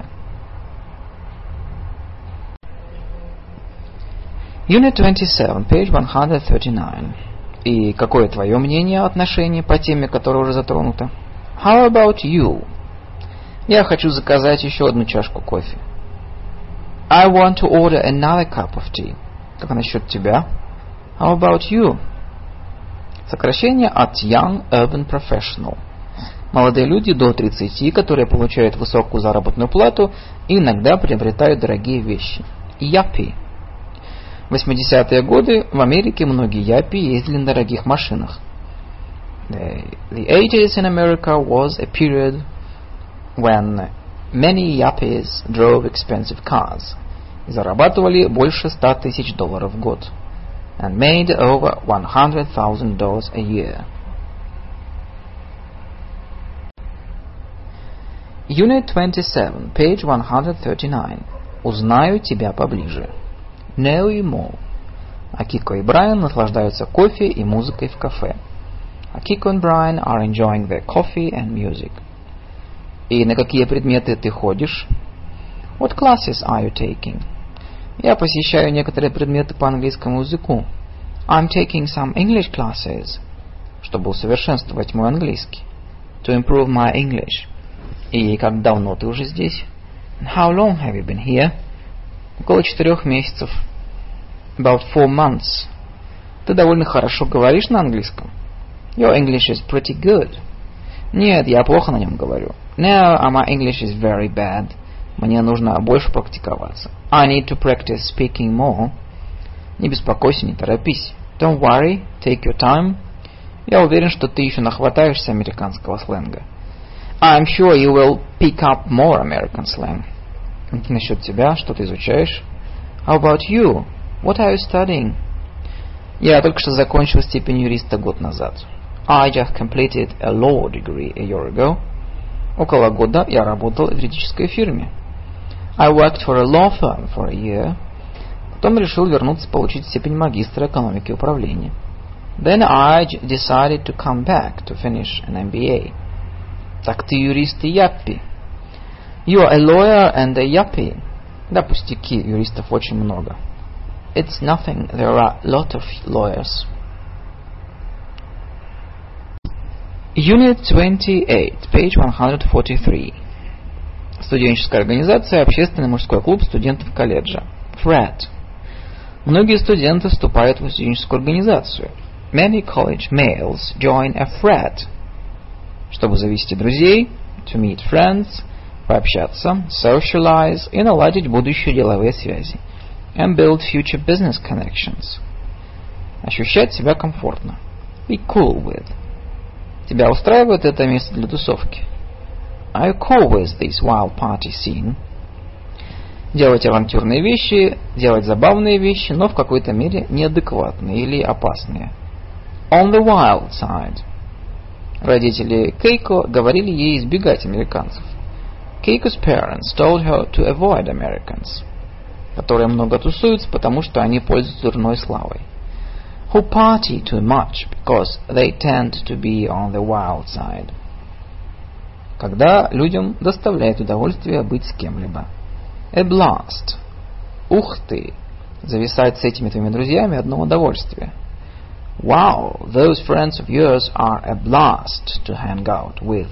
Unit 27, page 139. И какое твое мнение о отношении по теме, которая уже затронута? How about you? Я хочу заказать еще одну чашку кофе. I want to order another cup of tea. Как насчет тебя? How about you? Сокращение от Young Urban Professional. Молодые люди до 30, которые получают высокую заработную плату и иногда приобретают дорогие вещи. Yuppie. В 80-е годы в Америке многие япи ездили на дорогих машинах. The 80s in America was a period when many yuppies drove expensive cars и зарабатывали больше $100 тысяч в год and made over $100,000 a year. Unit 27, page 139. Узнаю тебя поближе. Know you more. Акико и Брайан наслаждаются кофе и музыкой в кафе. Akiko and Brian are enjoying their coffee and music. И на какие предметы ты ходишь? What classes are you taking? Я посещаю некоторые предметы по английскому языку. I'm taking some English classes. Чтобы усовершенствовать мой английский. To improve my English. И как давно ты уже здесь? And how long have you been here? Около 4 месяцев. About 4 months. Ты довольно хорошо говоришь на английском. Your English is pretty good. Нет, я плохо на нем говорю. No, my English is very bad. Мне нужно больше практиковаться. I need to practice speaking more. Не беспокойся, не торопись. Don't worry, take your time. Я уверен, что ты еще нахватаешься американского сленга. I'm sure you will pick up more American slang. Насчет тебя, что ты изучаешь? How about you? What are you studying? Я только что закончил степень юриста год назад. I just completed a law degree a year ago. Около года я работал в юридической фирме. I worked for a law firm for a year. Потом решил вернуться получить степень магистра экономики и управления. Then I decided to come back to finish an MBA. Так ты юрист и яппи. You are a lawyer and a yuppie. Да, пустяки, юристов очень много. It's nothing, there are a lot of lawyers. Unit 28, page 143. Студенческая организация, общественный мужской клуб студентов колледжа. Frat. Многие студенты вступают в студенческую организацию. Many college males join a frat. Чтобы завести друзей, to meet friends, пообщаться, socialize и наладить будущие деловые связи. And build future business connections. Ощущать себя комфортно. Be cool with. Тебя устраивает это место для тусовки? Are you cool with this wild party scene? Делать авантюрные вещи, делать забавные вещи, но в какой-то мере неадекватные или опасные. On the wild side. Родители Кейко говорили ей избегать американцев. Keiko's parents told her to avoid Americans, которые много тусуются, потому что они пользуются дурной славой. Who party too much because they tend to be on the wild side. Когда людям доставляет удовольствие быть с кем-либо. A blast. Ух ты! Зависать с этими твоими друзьями одно удовольствие. Wow, those friends of yours are a blast to hang out with.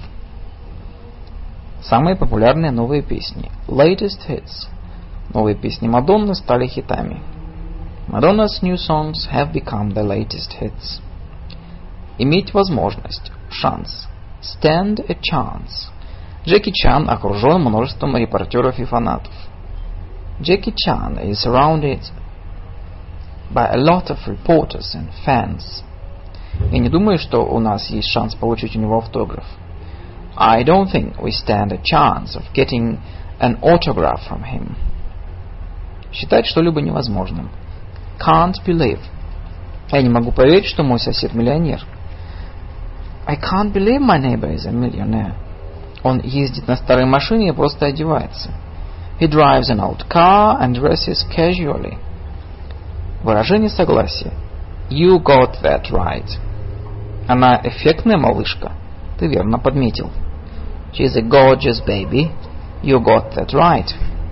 Самые популярные новые песни. Latest hits. Новые песни Мадонны стали хитами. Madonna's new songs have become the latest hits. Иметь возможность. Шанс. Stand a chance. Джеки Чан окружен множеством репортеров и фанатов. Jackie Chan is surrounded by a lot of reporters and fans. Я не думаю, что у нас есть шанс получить у него автограф. I don't think we stand a chance of getting an autograph from him. Считать что-либо невозможным. Can't believe. Я не могу поверить, что мой сосед миллионер. I can't believe my neighbor is a millionaire. Он ездит на старой машине и просто одевается. He drives an old car and dresses casually. Выражение согласия. You got that right. Она эффектная малышка. Ты верно подметил. She's a gorgeous baby. You got that right.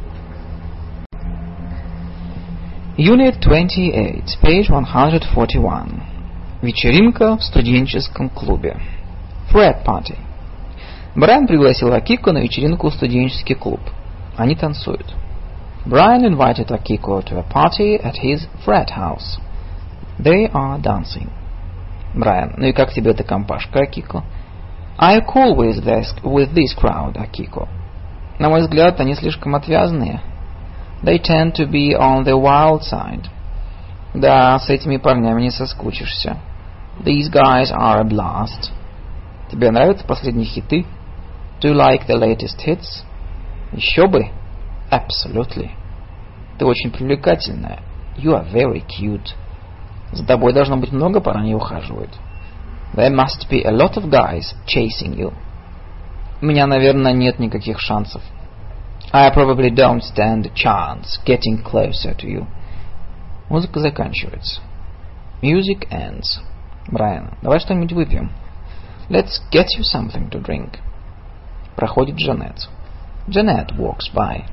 Unit 28, page 141. Вечеринка в студенческом клубе. Frat party. Брайан пригласил Акико на вечеринку в студенческий клуб. Они танцуют. Brian invited Akiko to a party at his frat house. They are dancing. Брайан, ну и как тебе эта компашка, Акико? I cool with this crowd, Akiko. На мой взгляд, они слишком отвязные. They tend to be on the wild side. Да, с этими парнями не соскучишься. These guys are a blast. Тебе нравятся последние хиты? Do you like the latest hits? Еще бы. Absolutely. Ты очень привлекательная. You are very cute. За тобой должно быть много парней ухаживают. There must be a lot of guys chasing you. У меня, наверное, нет никаких шансов. I probably don't stand a chance getting closer to you. Музыка заканчивается. Music ends. Брайан, давай что-нибудь выпьем. Let's get you something to drink. Проходит Джанет. Janet walks by.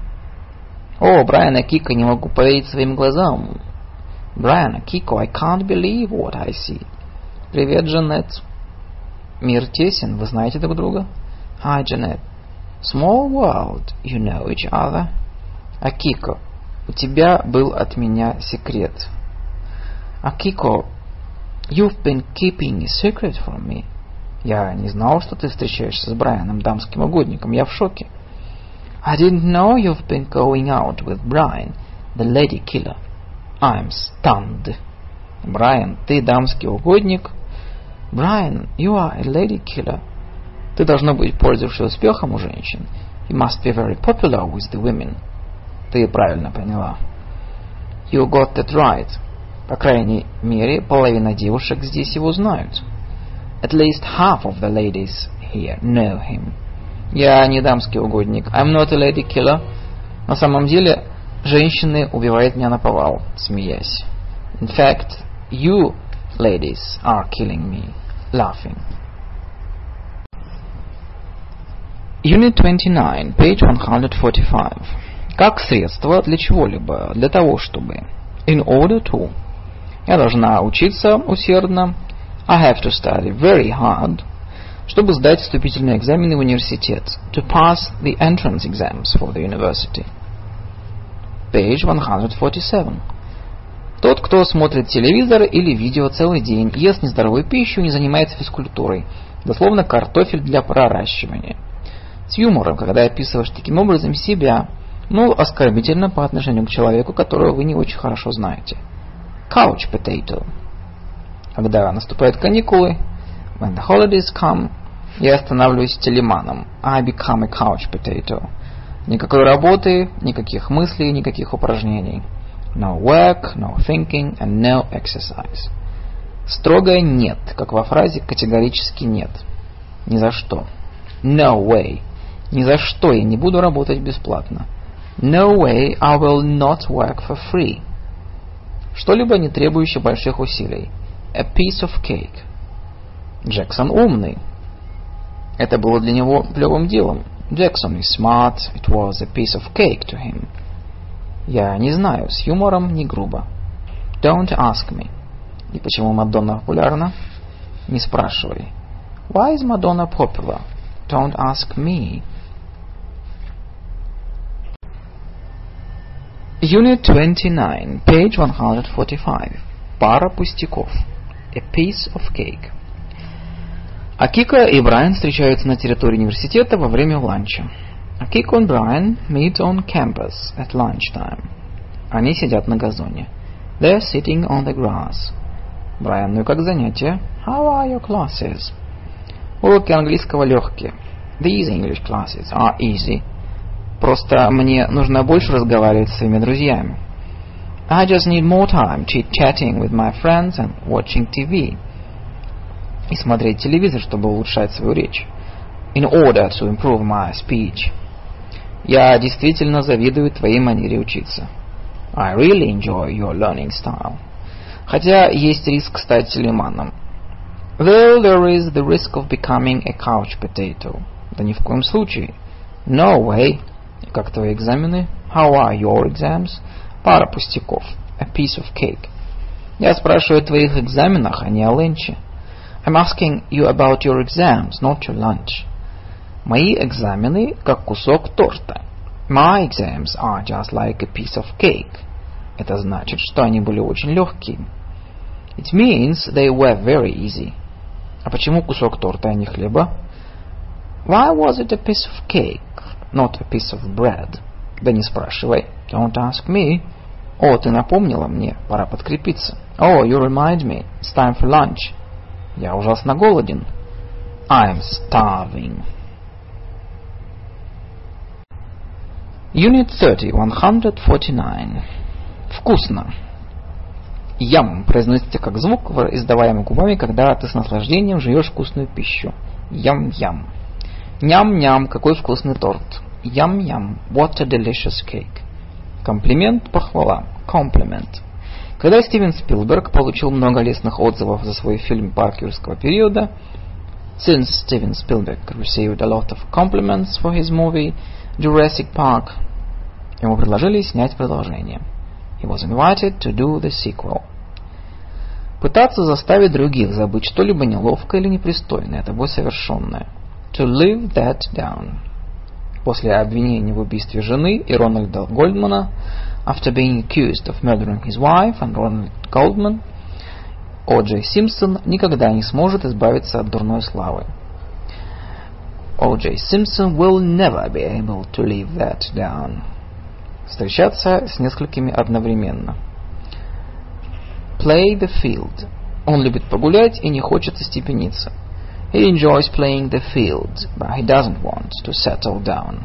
О, Брайан, Акико, не могу поверить своим глазам. Брайан, Акико, I can't believe what I see. Привет, Джанет. Мир тесен, вы знаете друг друга? Hi, Janet. Small world, you know each other. Акико, у тебя был от меня секрет. Акико, you've been keeping a secret from me. Я не знал, что ты встречаешься с Брайаном, дамским угодником. Я в шоке. I didn't know you've been going out with Brian, the lady killer. I'm stunned. Брайан, ты дамский угодник? Brian, you are a lady killer. Ты, должно быть, пользуешься успехом у женщин. You must be very popular with the women. Ты правильно поняла. You got that right. По крайней мере, половина девушек здесь его знают. At least half of the ladies here know him. Я не дамский угодник. I'm not a lady killer. На самом деле, женщины убивают меня наповал, смеясь. In fact, you ladies are killing me, laughing. Unit 29, page 145. Как средство для чего-либо, для того, чтобы. In order to. Я должна учиться усердно. I have to study very hard. Чтобы сдать вступительные экзамены в университет. To pass the entrance exams for the university. Page 147. Тот, кто смотрит телевизор или видео целый день, ест нездоровую пищу, не занимается физкультурой. Дословно картофель для проращивания. С юмором, когда описываешь таким образом себя, но оскорбительно по отношению к человеку, которого вы не очень хорошо знаете. Couch potato. Когда наступают каникулы, when the holidays come, я становлюсь телеманом. I become a couch potato. Никакой работы, никаких мыслей, никаких упражнений. No work, no thinking and no exercise. Строгое нет, как во фразе категорически нет. Ни за что. No way. Ни за что я не буду работать бесплатно. No way I will not work for free. Что-либо, не требующее больших усилий. A piece of cake. Джексон умный. Это было для него плевым делом. Jackson is smart. It was a piece of cake to him. Я не знаю, с юмором, не грубо. Don't ask me. И почему Мадонна популярна? Не спрашивай. Why is Madonna popular? Don't ask me. Unit 29, page 145. Пара пустяков. A piece of cake. Акико и Брайан встречаются на территории университета во время ланча. Kiko and Brian meet on campus at lunchtime. Они сидят на газоне. They're sitting on the grass. Брайан, ну и как занятия? How are your classes? Уроки английского легкие. These English classes are easy. Просто мне нужно больше разговаривать с своими друзьями. I just need more time chit-chatting with my friends and watching TV. И смотреть телевизор, чтобы улучшать свою речь. In order to improve my speech. Я действительно завидую твоей манере учиться. I really enjoy your learning style. Хотя есть риск стать телеманом. Though there is the risk of becoming a couch potato. Да ни в коем случае. No way. Как твои экзамены? How are your exams? Пара пустяков. A piece of cake. Я спрашиваю о твоих экзаменах, а не о ленче. I'm asking you about your exams, not your lunch. Мои экзамены как кусок торта. My exams are just like a piece of cake. Это значит, что они были очень легкие. It means they were very easy. А почему кусок торта, а не хлеба? Why was it a piece of cake, not a piece of bread? Да не спрашивай. Don't ask me. О, ты напомнила мне, пора подкрепиться. Oh, you remind me. It's time for lunch. Я ужасно голоден. I'm starving. Unit 30, 149. Вкусно. Ям произносится как звук, издаваемый губами, когда ты с наслаждением жуешь вкусную пищу. Ям-ям. Ням-ням, какой вкусный торт. Ям-ям, what a delicious cake. Комплимент, похвала. Compliment. Когда Стивен Спилберг получил много лестных отзывов за свой фильм «Парк юрского периода», since Steven Spielberg received a lot of compliments for his movie Jurassic Park, ему предложили снять продолжение. He was invited to do the sequel. Пытаться заставить других забыть что-либо неловкое или непристойное, тобой совершенное. To live that down. После обвинения в убийстве жены и Рональда Голдмана, after being accused of murdering his wife and Ronald Goldman, О. Джей Симпсон никогда не сможет избавиться от дурной славы. О. Джей Симпсон will never be able to live that down. Встречаться с несколькими одновременно. Play the field. Он любит погулять и не хочет остепениться. He enjoys playing the field, but he doesn't want to settle down.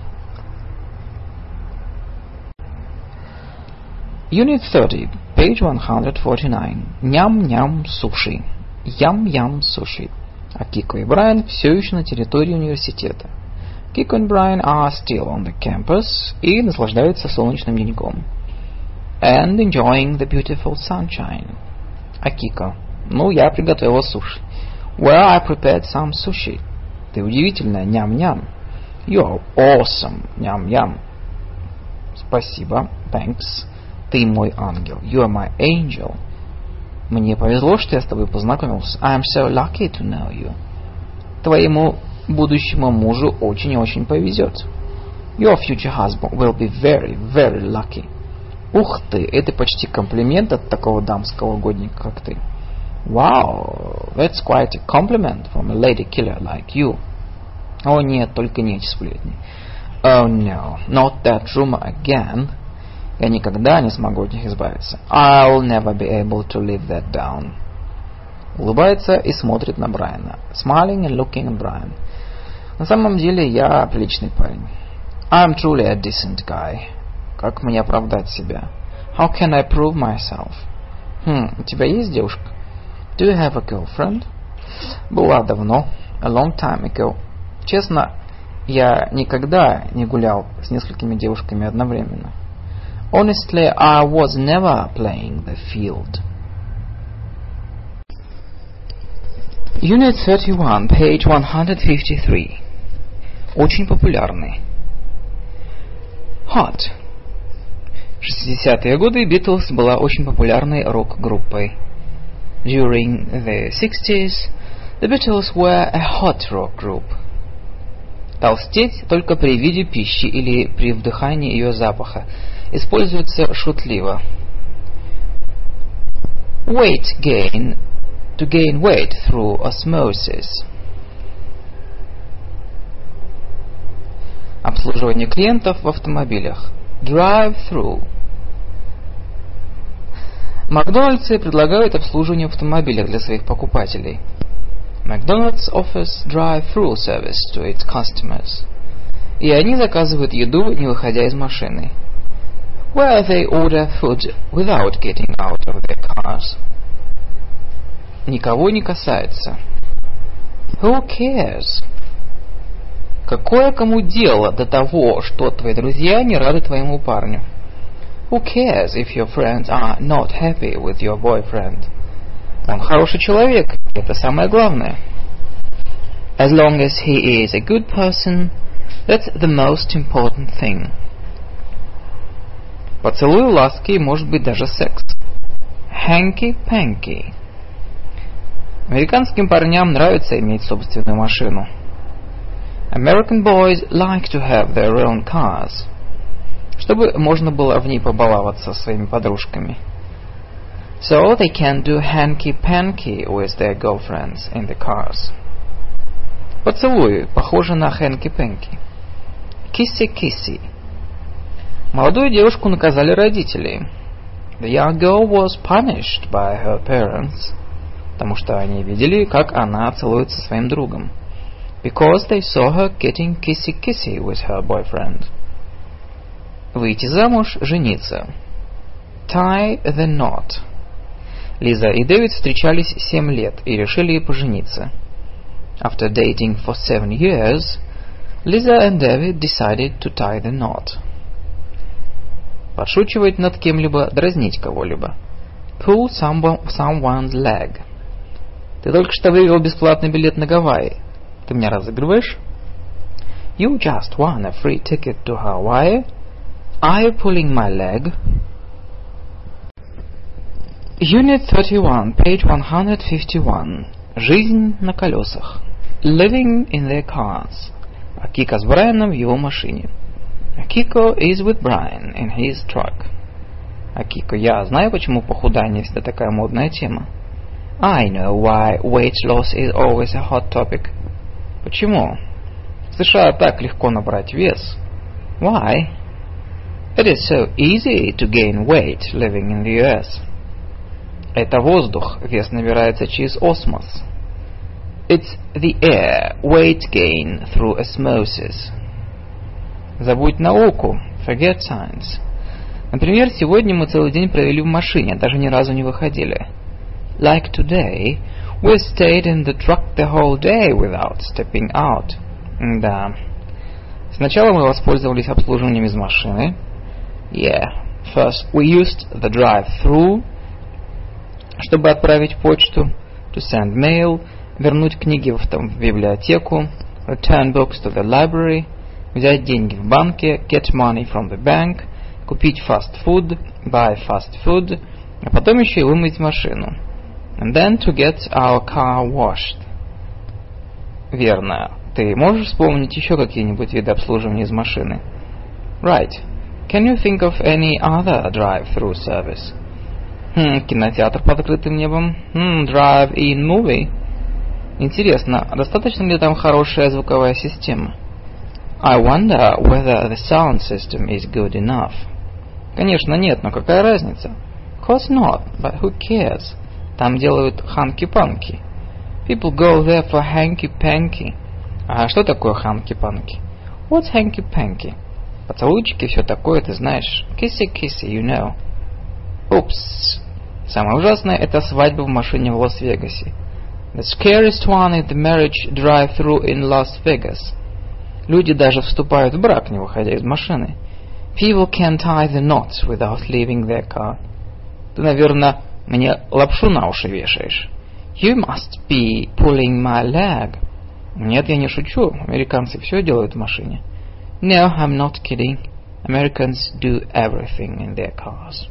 Unit 30, page 149. Ням-ням суши. Ям-ям суши. А Кико и Брайан все еще на территории университета. Kiko and Brian are still on the campus и наслаждаются солнечным деньком. And enjoying the beautiful sunshine. А Кико. Ну, я приготовила суши. Well, I prepared some sushi. Ты удивительная, ням-ням. You're awesome, ням-ням. Спасибо, thanks. Ты мой ангел. You are my angel. Мне повезло, что я с тобой познакомился. I'm so lucky to know you. Твоему будущему мужу очень и очень повезет. Your future husband will be very, very lucky. Ух ты, это почти комплимент от такого дамского угодника, как ты. Wow, that's quite a compliment from a lady killer like you. О нет, только не эти сплетни. Oh no, not that rumor again. Я никогда не смогу от них избавиться. I'll never be able to live that down. Улыбается и смотрит на Брайана. Smiling and looking at Brian. На самом деле я приличный парень. I'm truly a decent guy. Как мне оправдать себя? How can I prove myself? У тебя есть девушка? Do you have a girlfriend? Была давно. A long time ago. Честно, я никогда не гулял с несколькими девушками одновременно. Honestly, I was never playing the field. Unit 31, page 153. Очень популярный. Hot. В 60-е годы Beatles была очень популярной рок-группой. During the 60s, the Beatles were a hot rock group. Толстеть только при виде пищи или при вдыхании ее запаха используется шутливо. Weight gain, to gain weight through osmosis. обслуживание клиентов в автомобилях. Drive-through. Макдональдсы предлагают обслуживание в автомобилях для своих покупателей. McDonald's offers drive-through service to its customers. И они заказывают еду, не выходя из машины. Where they order food without getting out of their cars. Никого не касается. Who cares? Какое кому дело до того, что твои друзья не рады твоему парню? Who cares if your friends are not happy with your boyfriend? Он хороший человек, это самое главное. As long as he is a good person, that's the most important thing. Поцелуй, ласки и может быть даже секс. Hanky-panky. Американским парням нравится иметь собственную машину. American boys like to have their own cars. Чтобы можно было в ней побаловаться своими подружками. So they can do hanky-panky with their girlfriends in the cars. Поцелуй похоже на hanky-panky. Kissy-kissy. Молодую девушку наказали родители. The young girl was punished by her parents. Потому что они видели, как она целуется со своим другом. Because they saw her getting kissy-kissy with her boyfriend. Выйти замуж, жениться. Tie the knot. Лиза и Дэвид встречались 7 лет и решили пожениться. After dating for 7 years, Lisa and David decided to tie the knot. Подшучивать над кем-либо, дразнить кого-либо. Pull someone's leg. Ты только что выиграл бесплатный билет на Гавайи. Ты меня разыгрываешь? You just won a free ticket to Hawaii. Are you pulling my leg? Unit 31, page 151. Жизнь на колесах. Living in their cars. Акика с Брайаном в его машине. Akiko is with Brian in his truck. Акико, я знаю, почему похудание всегда такая модная тема. I know why weight loss is always a hot topic. Почему? В США так легко набрать вес. Why? It is so easy to gain weight living in the US. Это воздух, вес набирается через осмос. It's the air, weight gain through osmosis. Забудь науку, forget science. Например, сегодня мы целый день провели в машине, даже ни разу не выходили. Like today, we stayed in the truck the whole day without stepping out. Да. Сначала мы воспользовались обслуживанием из машины. Yeah. First, we used the drive-through, чтобы отправить почту, to send mail, вернуть книги в библиотеку, return books to the library, взять деньги в банке, get money from the bank, купить fast food, buy fast food, а потом еще и вымыть машину. And then to get our car washed. Верно. Ты можешь вспомнить еще какие-нибудь виды обслуживания из машины? Right. Can you think of any other drive-through service? Кинотеатр под открытым небом. Drive-in movie. Интересно, достаточно ли там хорошая звуковая система? I wonder whether the sound system is good enough. Конечно, нет, но какая разница? Of course not, but who cares? Там делают ханки-панки. People go there for hanky-panky. А что такое ханки-панки? What's hanky-panky? Поцелуйчики, все такое, ты знаешь. Kissy-kissy, you know. Упс. Самое ужасное — это свадьба в машине в Лас-Вегасе. The scariest one is the marriage drive-through in Las Vegas. Люди даже вступают в брак, не выходя из машины. People can tie the knots without leaving their car. Ты, наверное, мне лапшу на уши вешаешь. You must be pulling my leg. Нет, я не шучу. Американцы все делают в машине. No, I'm not kidding. Americans do everything in their cars.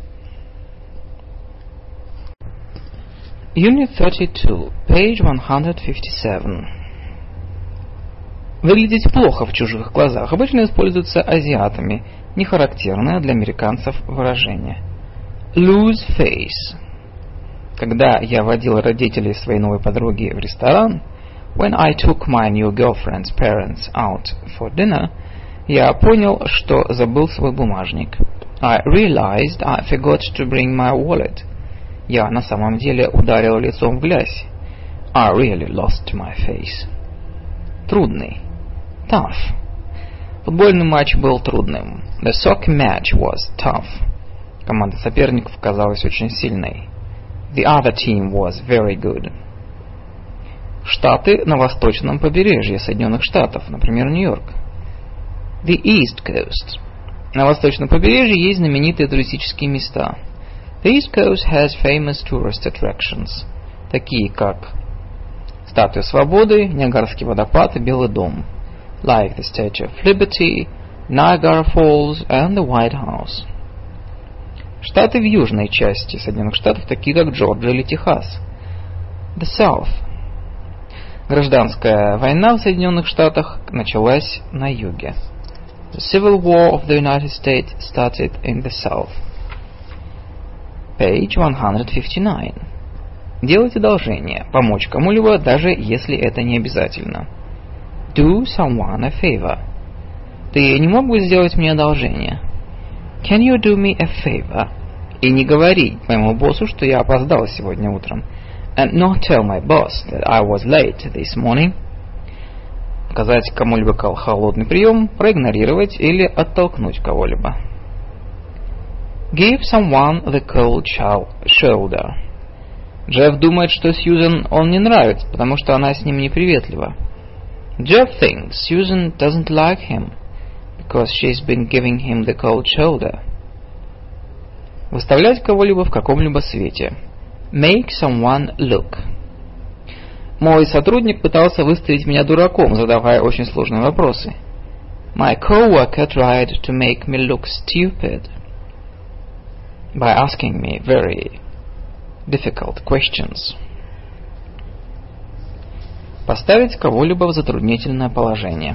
Unit 32, page 157. Выглядеть плохо в чужих глазах обычно используется азиатами, не характерное для американцев выражение. Lose face. Когда я водил родителей своей новой подруги в ресторан, when I took my new girlfriend's parents out for dinner, Я понял, что забыл свой бумажник. I realized I forgot to bring my wallet. Я на самом деле ударил лицом в грязь. I really lost my face. Трудный. Tough. Футбольный матч был трудным. The soccer match was tough. Команда соперников казалась очень сильной. The other team was very good. Штаты на восточном побережье Соединенных Штатов, например, Нью-Йорк. The East Coast. На восточном побережье есть знаменитые туристические места. The East Coast has famous tourist attractions, такие как Статуя Свободы, Ниагарский водопад и Белый дом, like the Statue of Liberty, Niagara Falls and the White House. Штаты в южной части Соединенных Штатов, такие как Джорджия или Техас. The South. Гражданская война в Соединенных Штатах началась на юге. The Civil War of the United States started in the South. Page 159. Делать одолжение, помочь кому-либо, даже если это не обязательно. Do someone a favor. Ты не мог бы сделать мне одолжение? Can you do me a favor? И не говори моему боссу, что я опоздал сегодня утром. And not tell my boss that I was late this morning. Оказать кому-либо холодный прием, проигнорировать или оттолкнуть кого-либо. Give someone the cold shoulder. Джефф думает, что Сьюзен он не нравится, потому что она с ним неприветлива. Jeff thinks Susan doesn't like him because she's been giving him the cold shoulder. Выставлять кого-либо в каком-либо свете. Make someone look. Мой сотрудник пытался выставить меня дураком, задавая очень сложные вопросы. My coworker tried to make me look stupid by asking me very difficult questions. Поставить кого-либо в затруднительное положение.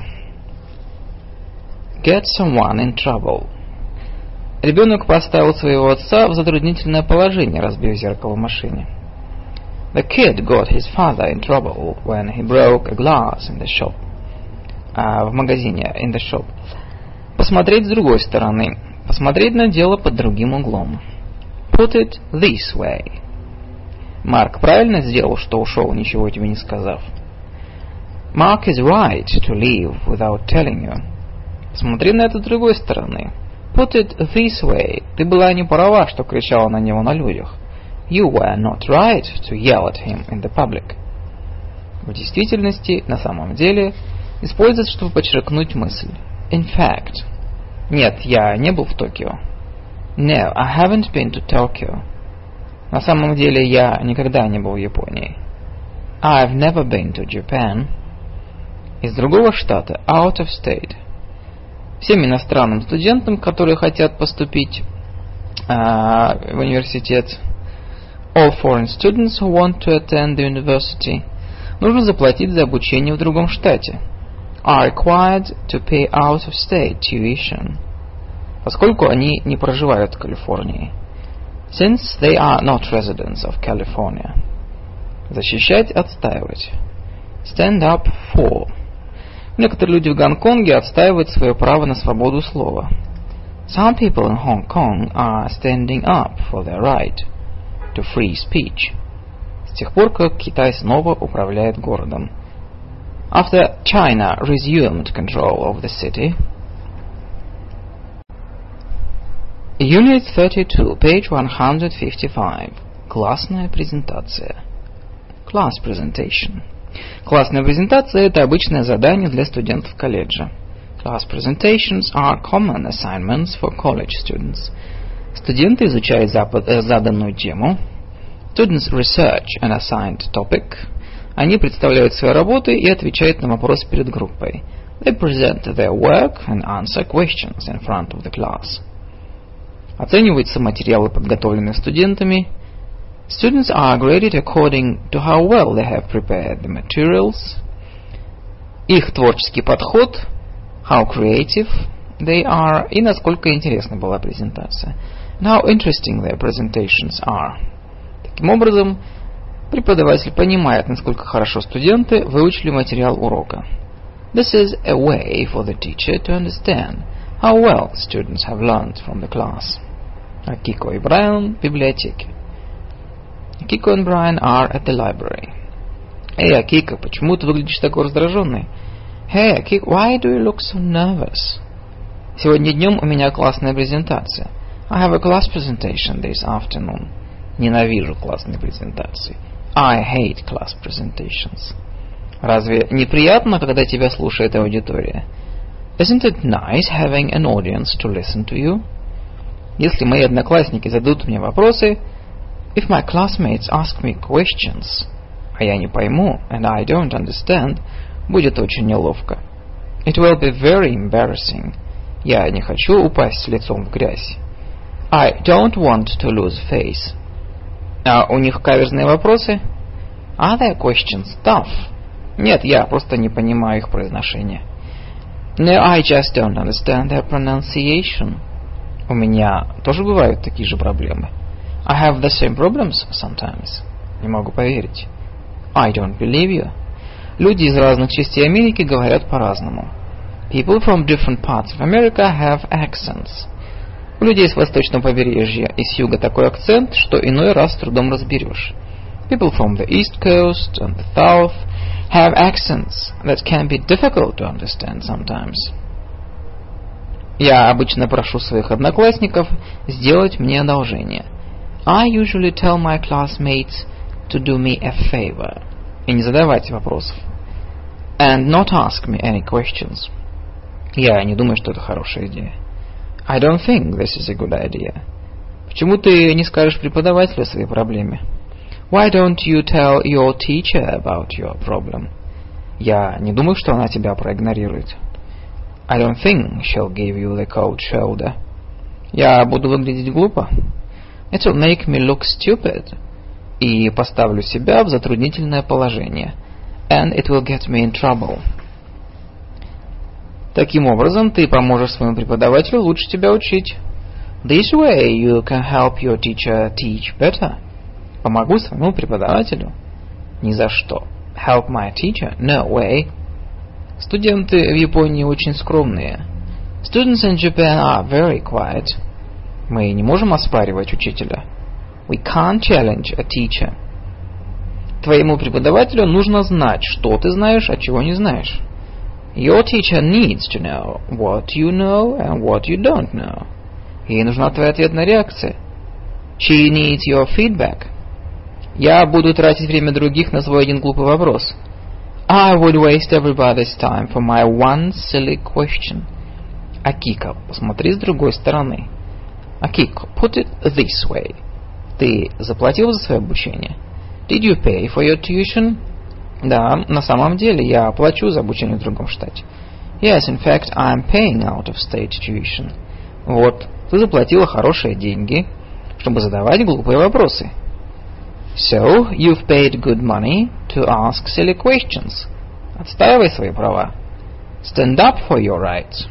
Get someone in trouble. Ребенок поставил своего отца в затруднительное положение, разбив зеркало в машине. The kid got his father in trouble when he broke a glass in the shop. В магазине, in the shop. Посмотреть с другой стороны. Посмотреть на дело под другим углом. Put it this way. Марк правильно сделал, что ушел, ничего тебе не сказав. Mark is right to leave without telling you. Посмотри на это с другой стороны. Put it this way. Ты была не права, что кричала на него на людях. You were not right to yell at him in the public. В действительности, на самом деле, используется, чтобы подчеркнуть мысль. In fact. Нет, я не был в Токио. No, I haven't been to Tokyo. На самом деле, я никогда не был в Японии. I've never been to Japan. Из другого штата, out of state. Всем иностранным студентам, которые хотят поступить в университет, all foreign students who want to attend the university, нужно заплатить за обучение в другом штате. Are required to pay out of state tuition. Поскольку они не проживают в Калифорнии. Since they are not residents of California. Защищать, отстаивать. Stand up for. Некоторые люди в Гонконге отстаивают свое право на свободу слова. Some people in Hong Kong are standing up for their right to free speech. С тех пор, как Китай снова управляет городом. After China resumed control of the city. Unit 32, page 155. Классная презентация. Class presentation. Классная презентация – это обычное задание для студентов колледжа. Class presentations are common assignments for college students. Студенты изучают заданную тему. Students research an assigned topic. Они представляют свои работы и отвечают на вопросы перед группой. They present their work and answer questions in front of the class. Оцениваются материалы, подготовленные студентами. Students are graded according to how well they have prepared the materials. Их творческий подход, how creative they are, и насколько интересна была презентация. And how interesting their presentations are. Таким образом, преподаватель понимает, насколько хорошо студенты выучили материал урока. This is a way for the teacher to understand how well the students have learned from the class. Akiko и Брайан в библиотеке. Akiko and Brian are at the library. Эй, Акико, почему ты выглядишь такой раздраженный? Hey, Akiko, why do you look so nervous? Сегодня днем у меня классная презентация. I have a class presentation this afternoon. Ненавижу классные презентации. I hate class presentations. Разве неприятно, когда тебя слушает аудитория? Isn't it nice having an audience to listen to you? Если мои одноклассники зададут мне вопросы, if my classmates ask me questions, а я не пойму, and I don't understand, будет очень неловко. It will be very embarrassing. Я не хочу упасть лицом в грязь. I don't want to lose face. А у них каверзные вопросы? Are their questions tough? Нет, я просто не понимаю их произношения. No, I just don't understand their pronunciation. У меня тоже бывают такие же проблемы. I have the same problems sometimes. Не могу поверить. I don't believe you. Люди из разных частей Америки говорят по-разному. People from different parts of America have accents. У людей с восточного побережья и с юга такой акцент, что иной раз с трудом разберешь. People from the East Coast and the South have accents that can be difficult to understand sometimes. Я обычно прошу своих одноклассников сделать мне одолжение. I usually tell my classmates to do me a favor. И не задавать вопросов. And not ask me any questions. Я не думаю, что это хорошая идея. I don't think this is a good idea. Почему ты не скажешь преподавателю о своей проблеме? Why don't you tell your teacher about your problem? Я не думаю, что она тебя проигнорирует. I don't think she'll give you the cold shoulder. Я буду выглядеть глупо. It will make me look stupid. И поставлю себя в затруднительное положение. And it will get me in trouble. Таким образом, ты поможешь своему преподавателю лучше тебя учить. This way you can help your teacher teach better. Помогу своему преподавателю? Ни за что. Help my teacher? No way. Студенты в Японии очень скромные. Students in Japan are very quiet. Мы не можем оспаривать учителя. We can't challenge a teacher. Твоему преподавателю нужно знать, что ты знаешь, а чего не знаешь. Your teacher needs to know what you know and what you don't know. Ей нужна твоя ответная реакция. She needs your feedback. Я буду тратить время других на свой один глупый вопрос. I would waste everybody's time for my one silly question. Акико, посмотри с другой стороны. Акико, put it this way. Ты заплатил за свое обучение? Did you pay for your tuition? Да, на самом деле я плачу за обучение в другом штате. Yes, in fact, I'm paying out of state tuition. Вот, ты заплатила хорошие деньги, чтобы задавать глупые вопросы. So, you've paid good money to ask silly questions. Отстаивай свои права. Stand up for your rights.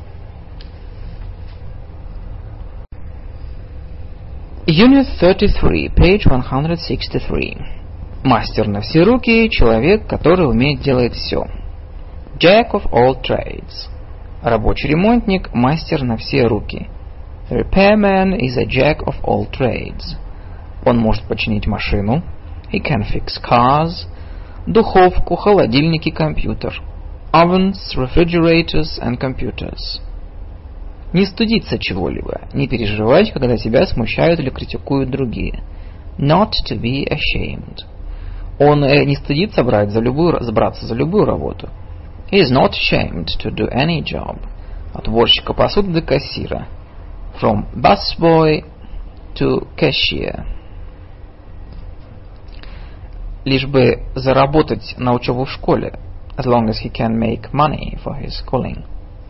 Unit 33, page 163. Мастер на все руки – человек, который умеет делать все. Jack of all trades. Рабочий ремонтник – мастер на все руки. Repairman is a jack of all trades. Он может починить машину. He can fix cars. Духовку, холодильники, компьютер. Ovens, refrigerators and computers. Не стыдиться чего-либо, не переживать, когда тебя смущают или критикуют другие. Not to be ashamed. Он не стыдится браться за любую работу. He is not ashamed to do any job. От уборщика посуды до кассира. From busboy to cashier. Лишь бы заработать на учебу в школе. As long as he can make money for his schooling.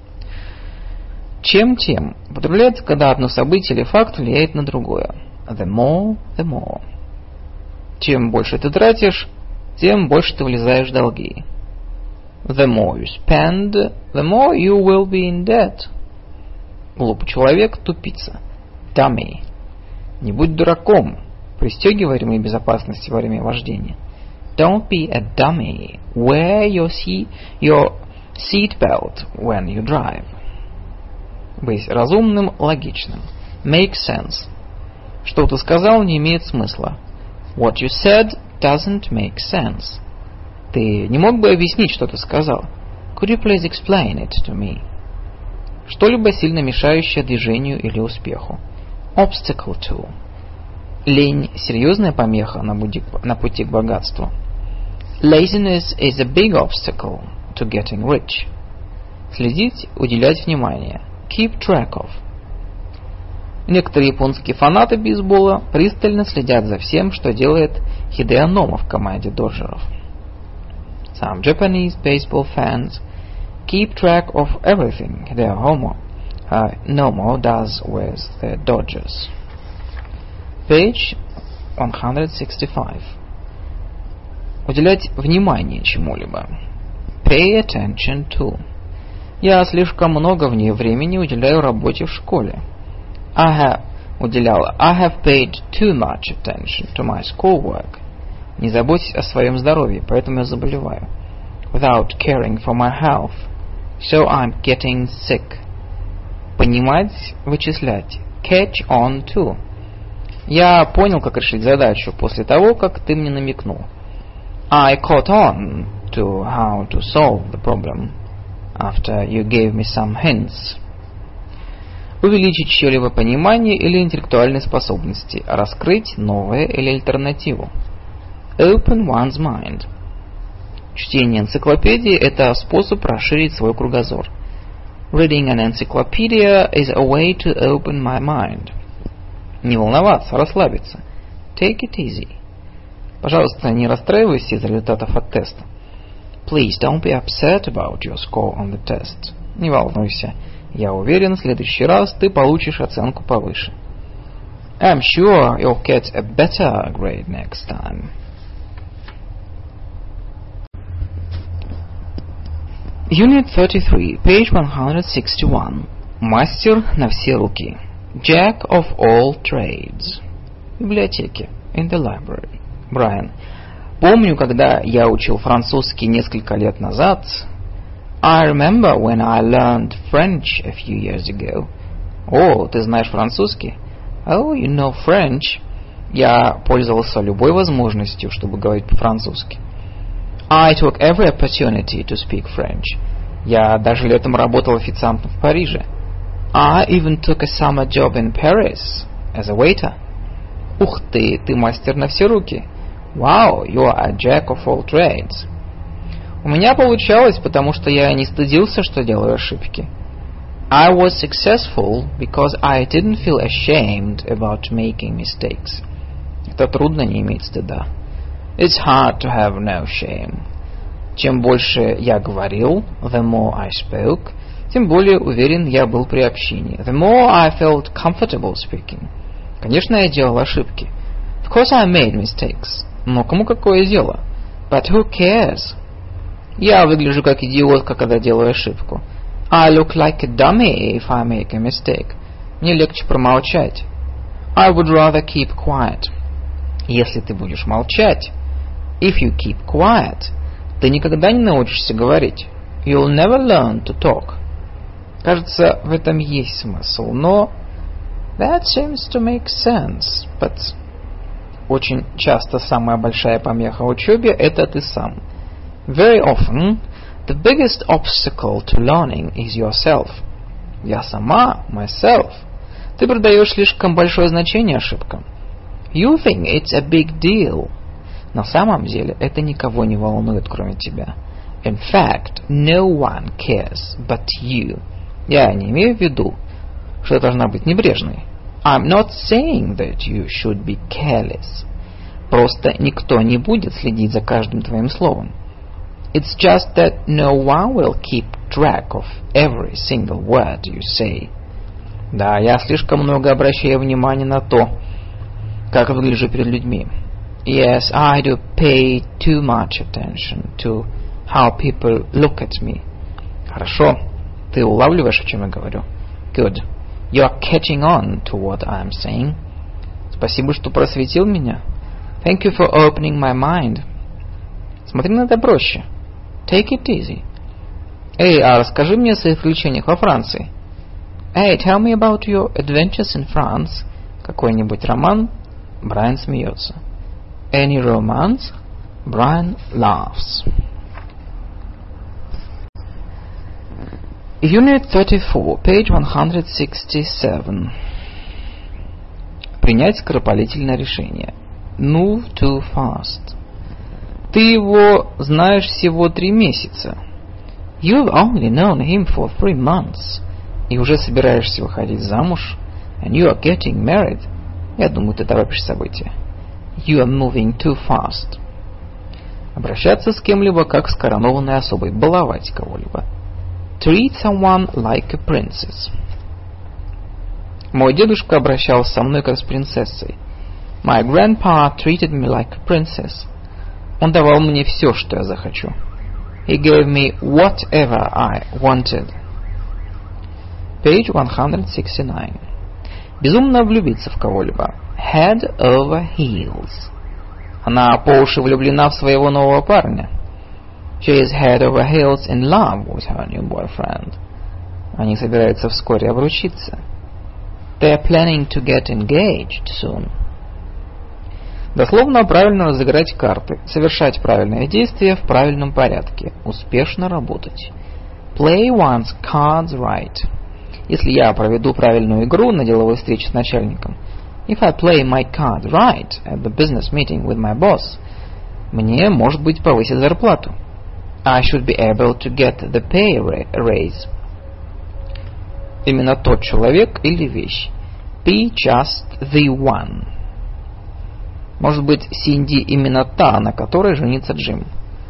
Чем-тем употребляется, когда одно событие или факт влияет на другое. The more, the more. Чем больше ты тратишь, тем больше ты влезаешь в долги. The more you spend, the more you will be in debt. Глупый человек – тупица. Dummy. Не будь дураком. Пристегивай ремни безопасности во время вождения. Don't be a dummy. Wear your Seat belt when you drive. Быть разумным, логичным. Make sense. Что ты сказал, не имеет смысла. What you said doesn't make sense. Ты не мог бы объяснить, что ты сказал? Could you please explain it to me? Что-либо сильно мешающее движению или успеху. Obstacle to. Лень – серьезная помеха на пути к богатству. Laziness is a big obstacle to getting rich. Следить, уделять внимание. Keep track of. Некоторые японские фанаты бейсбола пристально следят за всем, что делает Хидео Нома в команде Доджеров. Some Japanese baseball fans keep track of everything Hideo Nomo does with the Dodgers. Page 165. Уделять внимание чему-либо. Pay attention to. Я слишком много времени уделяю работе в школе. I have paid too much attention to my schoolwork. Не заботьтесь о своем здоровье, поэтому я заболеваю. Without caring for my health, so I'm getting sick. Понимать, вычислять. Catch on to. Я понял, как решить задачу после того, как ты мне намекнул. I caught on to how to solve the problem after you gave me some hints. Увеличить чье-либо понимание или интеллектуальные способности. Раскрыть новое или альтернативу. Open one's mind. Чтение энциклопедии – это способ расширить свой кругозор. Reading an encyclopedia is a way to open my mind. Не волноваться, расслабиться. Take it easy. Пожалуйста, не расстраивайся из-за результатов от теста. Please don't be upset about your score on the test. Не волнуйся. Я уверен, в следующий раз ты получишь оценку повыше. I'm sure you'll get a better grade next time. Unit 33, page 161. Мастер на все руки. Jack of all trades. В библиотеке. In the library. Брайан. Помню, когда я учил французский несколько лет назад. I remember when I learned French a few years ago. О, ты знаешь французский? Oh, you know French. Я пользовался любой возможностью, чтобы говорить по-французски. I took every opportunity to speak French. Я даже летом работал официантом в Париже. I even took a summer job in Paris as a waiter. Ух ты мастер на все руки. Wow, you are a jack of all trades. У меня получалось, потому что я не стыдился, что делаю ошибки. I was successful because I didn't feel ashamed about making mistakes. Это трудно не иметь стыда. It's hard to have no shame. Чем больше я говорил, the more I spoke, тем более уверен я был при общении. The more I felt comfortable speaking. Конечно, я делал ошибки. Of course I made mistakes. Но кому какое дело? But who cares? Я выгляжу как идиотка, когда делаю ошибку. I look like a dummy if I make a mistake. Мне легче промолчать. I would rather keep quiet. Если ты будешь молчать, if you keep quiet, ты никогда не научишься говорить. You'll never learn to talk. Кажется, в этом есть смысл, но that seems to make sense, but очень часто самая большая помеха в учебе – это ты сам. Very often, the biggest obstacle to learning is yourself. Я сама, myself. Ты придаешь слишком большое значение ошибкам. You think it's a big deal. На самом деле, это никого не волнует, кроме тебя. In fact, no one cares but you. Я не имею в виду, что ты должна быть небрежной. I'm not saying that you should be careless. Просто никто не будет следить за каждым твоим словом. It's just that no one will keep track of every single word you say. Да, я слишком много обращаю внимания на то, как выгляжу перед людьми. Yes, I do pay too much attention to how people look at me. Хорошо, ты улавливаешь, о чем я говорю? Good. You are catching on to what I am saying. Спасибо, что просветил меня. Thank you for opening my mind. Смотри на это проще. Take it easy. Эй, а расскажи мне о своих приключениях во Франции. Hey, tell me about your adventures in France. Какой-нибудь роман? Брайан смеется. Any romance? Brian laughs. Unit 34, page 167. Принять скоропалительное решение. Move too fast. Ты его знаешь всего 3 месяца. You've only known him for 3 months. И уже собираешься выходить замуж. And you are getting married. Я думаю, ты торопишь события. You are moving too fast. Обращаться с кем-либо как с коронованной особой. Баловать кого-либо. Treat someone like a princess. Мой дедушка обращался со мной как с принцессой. My grandpa treated me like a princess. Он давал мне все, что я захочу. He gave me whatever I wanted. Page 169. Безумно влюбиться в кого-либо. Head over heels. Она по уши влюблена в своего нового парня. She is head over heels in love with her new boyfriend. Они собираются вскоре обручиться. They are planning to get engaged soon. Дословно правильно разыграть карты, совершать правильные действия в правильном порядке, успешно работать. Play one's cards right. Если я проведу правильную игру на деловой встрече с начальником, if I play my card right at the business meeting with my boss, мне, может быть, повысить зарплату. I should be able to get the pay raise. Именно тот человек или вещь. Be just the one. Может быть, Синди именно та, на которой женится Джим.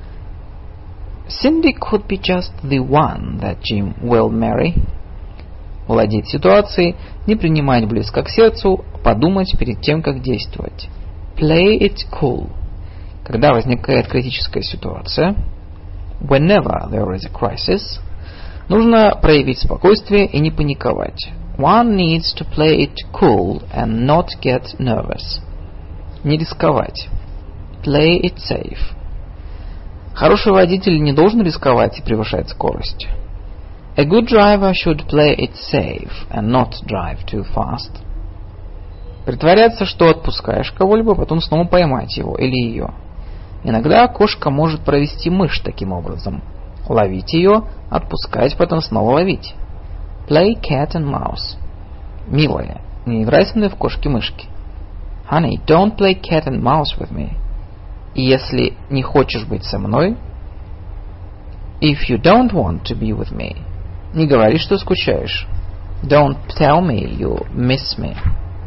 Cindy could be just the one that Jim will marry. Владеть ситуацией, не принимать близко к сердцу, подумать перед тем, как действовать. Play it cool. Когда возникает критическая ситуация, whenever there is a crisis, нужно проявить спокойствие и не паниковать. One needs to play it cool and not get nervous. Не рисковать. Play it safe. Хороший водитель не должен рисковать и превышать скорость. A good driver should play it safe and not drive too fast. Притворяться, что отпускаешь кого-либо, потом снова поймать его или ее. Иногда кошка может провести мышь таким образом. Ловить ее, отпускать, потом снова ловить. Play cat and mouse. Милая, не играй со мной в кошки-мышки. Honey, don't play cat and mouse with me. И если не хочешь быть со мной, if you don't want to be with me, не говори, что скучаешь. Don't tell me you miss me.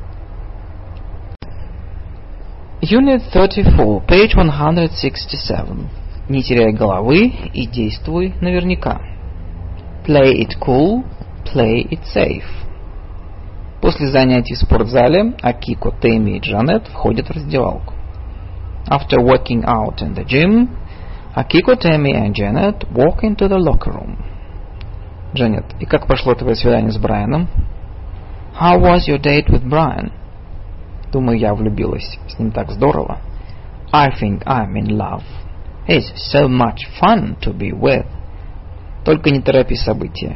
Unit 34, page 167. Не теряй головы и действуй наверняка. Play it cool, play it safe. После занятий в спортзале Акико, Тэмми и Джанет входят в раздевалку. After working out in the gym, Akiko, Tammy and Janet walk into the locker room. Джанет, и как прошло твое свидание с Брайаном? How was your date with Brian? Думаю, я влюбилась. С ним так здорово. I think I'm in love. He's so much fun to be with. Только не торопи события.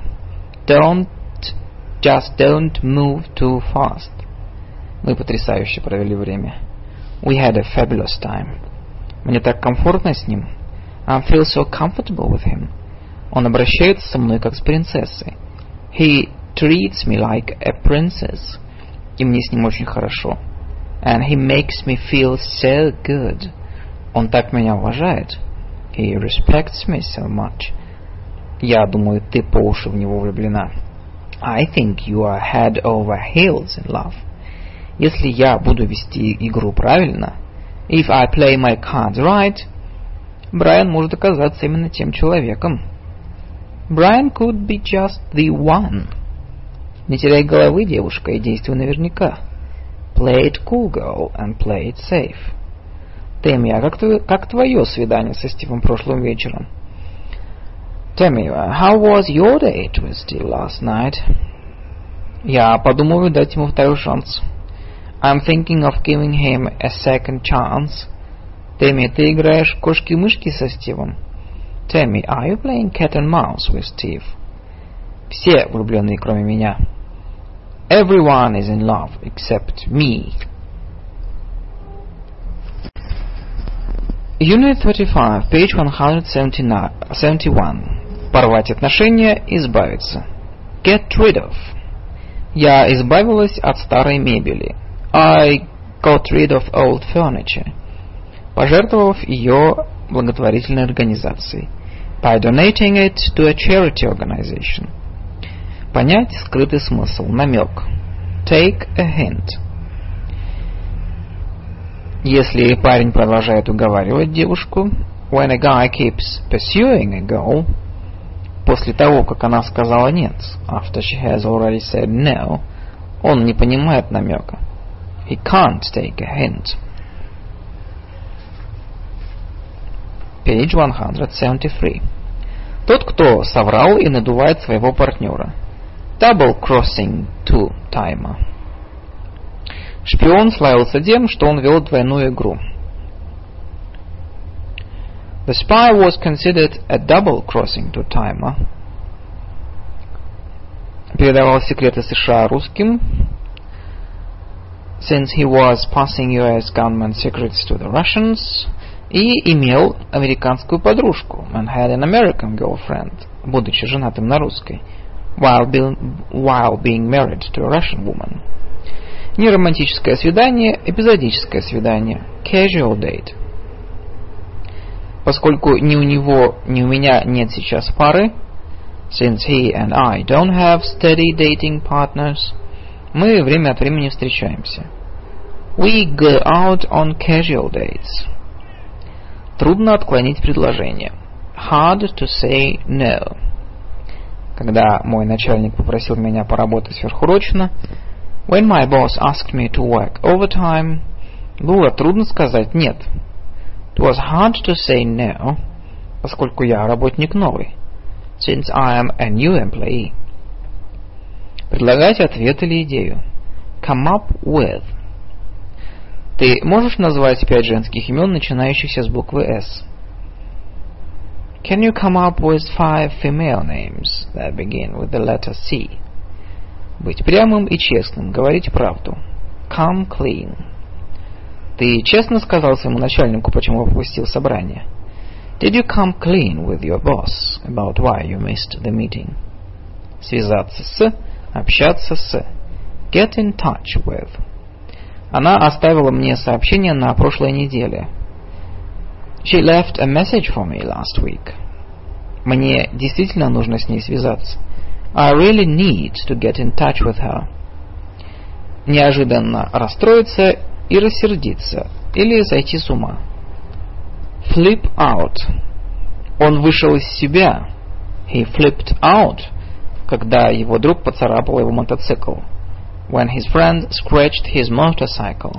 Just don't move too fast. Мы потрясающе провели время. We had a fabulous time. Мне так комфортно с ним. I feel so comfortable with him. Он обращается со мной как с принцессой. He treats me like a princess. И мне с ним очень хорошо. And he makes me feel so good. Он так меня уважает. He respects me so much. Я думаю, ты по уши в него влюблена. I think you are head over heels in love. Если я буду вести игру правильно, if I play my cards right, Брайан может оказаться именно тем человеком. Brian could be just the one. Не теряй головы, девушка, и действуй наверняка. Play it cool, girl, and play it safe. Тэмми, а как твое свидание со Стивом прошлым вечером? Tammy, how was your date with Steve last night? Я подумываю дать ему второй шанс. I'm thinking of giving him a second chance. Тэмми, ты играешь в кошки-мышки со Стивом? Tammy, are you playing cat and mouse with Steve? Все влюблены, кроме меня. Everyone is in love except me. Unit 35, page 171. Порвать отношения, избавиться. Get rid of. Я избавилась от старой мебели. I got rid of old furniture. Пожертвовав ее благотворительной организации. By donating it to a charity organization. Понять скрытый смысл, намек. Take a hint. Если парень продолжает уговаривать девушку, when a guy keeps pursuing a girl, после того, как она сказала нет, after she has already said no, он не понимает намека. He can't take a hint. Page 173. Тот, кто соврал и надувает своего партнера. Double-crossing two-timer. Шпион славился тем, что он вел двойную игру. The spy was considered a double-crossing two-timer. Передавал секреты США русским. Since he was passing US government secrets to the Russians. И имел американскую подружку. And had an American girlfriend, будучи женатым на русской. While being married to a Russian woman. Не романтическое свидание, эпизодическое свидание. Casual date. Поскольку ни у него, ни у меня нет сейчас пары, since he and I don't have steady dating partners, мы время от времени встречаемся. We go out on casual dates. Трудно отклонить предложение. Hard to say no. Когда мой начальник попросил меня поработать сверхурочно, when my boss asked me to work overtime, было трудно сказать нет. It was hard to say no, поскольку я работник новый, since I am a new employee. Предлагать ответ или идею. Come up with. Ты можешь назвать 5 женских имен, начинающихся с буквы S? Can you come up with 5 female names that begin with the letter C? Быть прямым и честным, говорить правду. Come clean. Ты честно сказал своему начальнику, почему пропустил собрание? Did you come clean with your boss about why you missed the meeting? Связаться с, общаться с. Get in touch with. Она оставила мне сообщение на прошлой неделе. She left a message for me last week. Мне действительно нужно с ней связаться. I really need to get in touch with her. Неожиданно расстроиться и рассердиться, или сойти с ума. Flip out. Он вышел из себя. He flipped out, когда его друг поцарапал его мотоцикл. When his friend scratched his motorcycle.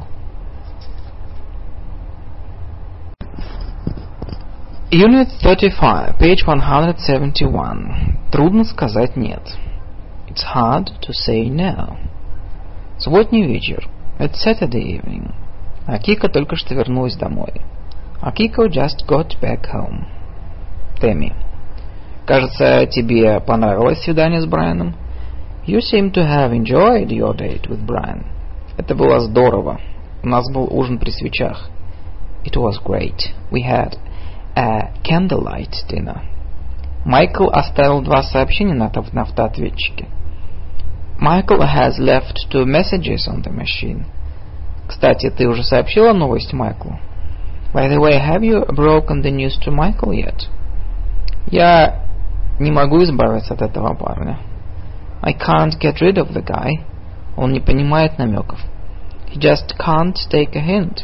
Unit 35, page 171. Трудно сказать нет. It's hard to say no. Субботний вечер. It's Saturday evening. Акика только что вернулась домой. Акико just got back home. Тэмми. Кажется, тебе понравилось свидание с Брайаном? You seem to have enjoyed your date with Brian. Это было здорово. У нас был ужин при свечах. It was great. We had a candlelight dinner. Майкл оставил 2 сообщения на автоответчике. Michael has left 2 messages on the machine. Кстати, ты уже сообщила новость Майклу? By the way, have you broken the news to Michael yet? Я не могу избавиться от этого парня. I can't get rid of the guy. Он не понимает намеков. He just can't take a hint.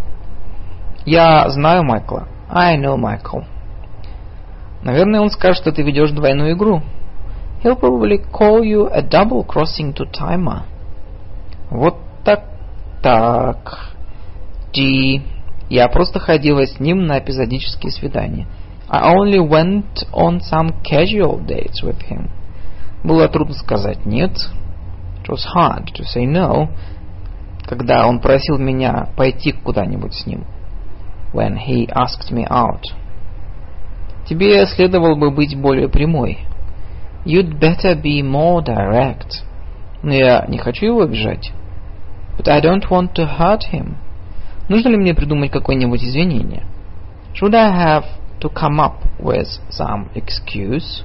Я знаю Майкла. I know Michael. Наверное, он скажет, что ты ведешь двойную игру. He'll probably call you a double-crossing two-timer. Вот так. G. Я просто ходила с ним на эпизодические свидания. I only went on some casual dates with him. Было трудно сказать нет. It was hard to say no. Когда он просил меня пойти куда-нибудь с ним. When he asked me out. Тебе следовало бы быть более прямой. You'd better be more direct. Но я не хочу его обижать. But I don't want to hurt him. Нужно ли мне придумать какое-нибудь извинение? Should I have to come up with some excuse?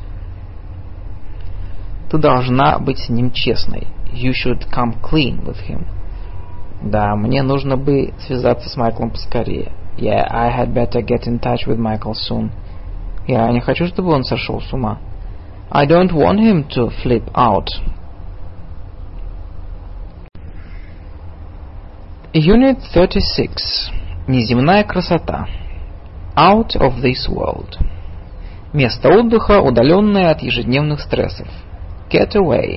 Ты должна быть с ним честной. You should come clean with him. Да, мне нужно бы связаться с Майклом поскорее. Yeah, I had better get in touch with Michael soon. Я не хочу, чтобы он сошел с ума. I don't want him to flip out. Unit 36. Неземная красота. Out of this world. Место отдыха, удаленное от ежедневных стрессов. Get away.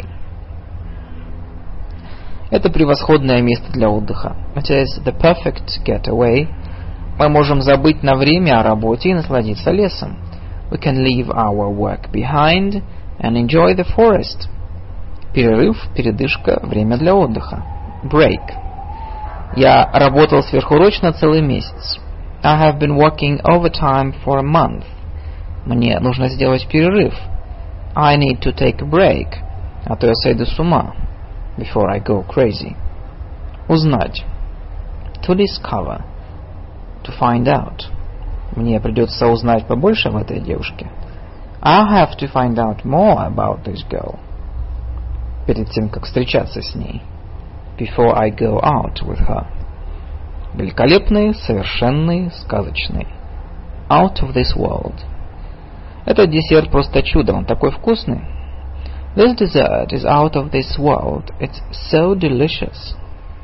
Это превосходное место для отдыха. It is the perfect getaway. Мы можем забыть на время о работе и насладиться лесом. We can leave our work behind and enjoy the forest. Перерыв, передышка, время для отдыха. Break. Я работал сверхурочно целый месяц. I have been working overtime for a month. Мне нужно сделать перерыв. I need to take a break. А то я сойду с ума. Before I go crazy. Узнать. To discover. To find out. Мне придется узнать побольше об этой девушке. I'll have to find out more about this girl. Перед тем, как встречаться с ней. Before I go out with her. Великолепный, совершенный, сказочный. Out of this world. Этот десерт просто чудо, он такой вкусный. This dessert is out of this world. It's so delicious.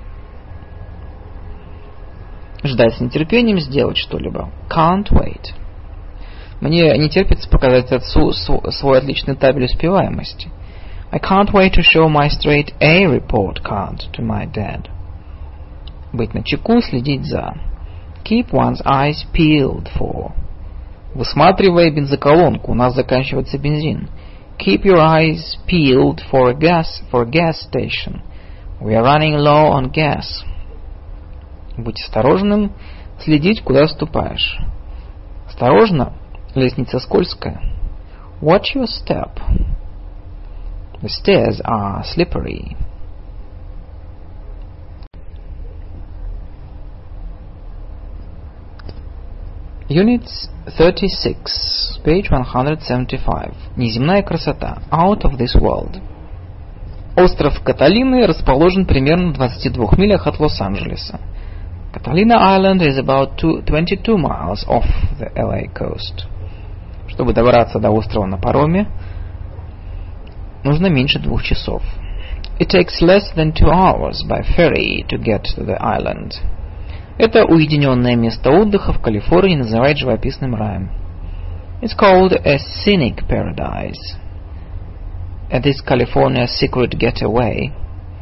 Ждать с нетерпением сделать что-либо. Can't wait. Мне не терпится показать отцу свой отличный табель успеваемости. I can't wait to show my straight A report card to my dad. Быть начеку, следить за. Keep one's eyes peeled for. Высматривая бензоколонку, у нас заканчивается бензин. Keep your eyes peeled for a gas station. We are running low on gas. Будь осторожным, следить, куда ступаешь. Осторожно, лестница скользкая. Watch your step. The stairs are slippery. Unit 36, page 175. Неземная красота. Out of this world. Остров Каталины расположен примерно в 22 милях от Лос-Анджелеса. Catalina Island is about 22 miles off the LA coast. Чтобы добраться до острова на пароме, нужно меньше 2 часов. It takes less than 2 hours by ferry to get to the island. Это уединенное место отдыха в Калифорнии называют живописным раем. It's called a scenic paradise. It is California's secret getaway.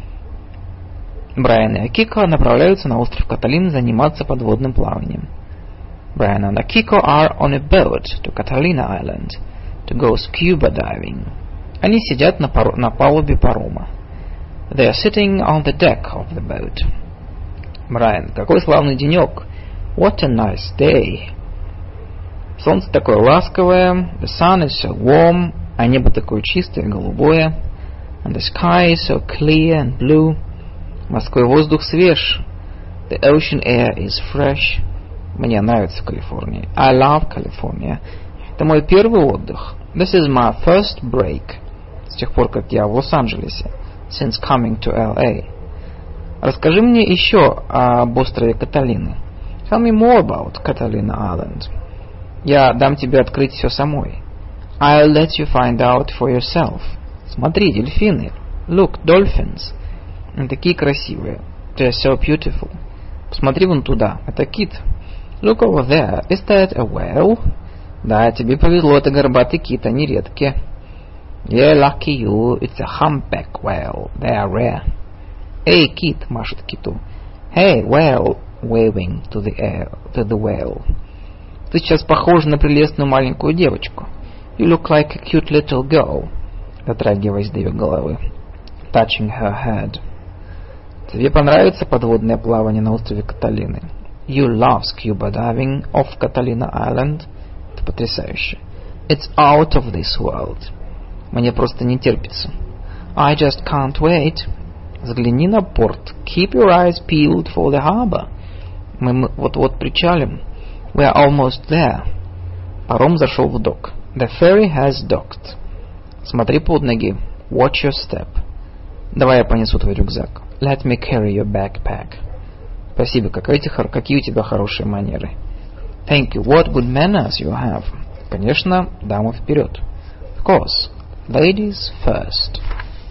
Брайан и Акико направляются на остров Каталина заниматься подводным плаванием. Brian and Akiko are on a boat to Catalina Island to go scuba diving. Они сидят на палубе парома. They are sitting on the deck of the boat. Брайан, какой славный денек. What a nice day. Солнце такое ласковое. The sun is so warm. А небо такое чистое, голубое. And the sky is so clear and blue. Морской воздух свеж. The ocean air is fresh. Мне нравится Калифорния. I love California. Это мой первый отдых. This is my first break. С тех пор, как я в Лос-Анджелесе. Since coming to LA. Расскажи мне еще об острове Каталины. Tell me more about Catalina Island. Я дам тебе открыть все самой. I'll let you find out for yourself. Смотри, дельфины. Look, dolphins. Они такие красивые. They're so beautiful. Посмотри вон туда. Это кит. Look over there. Is that a whale? Да, тебе повезло. Это горбатый кит. Они редкие. Yeah, lucky you. It's a humpback whale. They are rare. Эй, кит, машет киту. Hey, whale, waving to the whale. Ты сейчас похожа на прелестную маленькую девочку. You look like a cute little girl. Дотрагиваясь до ее головы. Touching her head. Тебе понравится подводное плавание на острове Каталины. You love scuba diving off Catalina Island. Это потрясающе. It's out of this world. Мне просто не терпится. I just can't wait. Взгляни на порт. Keep your eyes peeled for the harbor. Мы вот-вот причалим. We are almost there. Паром зашел в док. The ferry has docked. Смотри под ноги. Watch your step. Давай я понесу твой рюкзак. Let me carry your backpack. Спасибо, какие у тебя хорошие манеры. Thank you, what good manners you have. Конечно, дамы вперед. Of course, ladies first.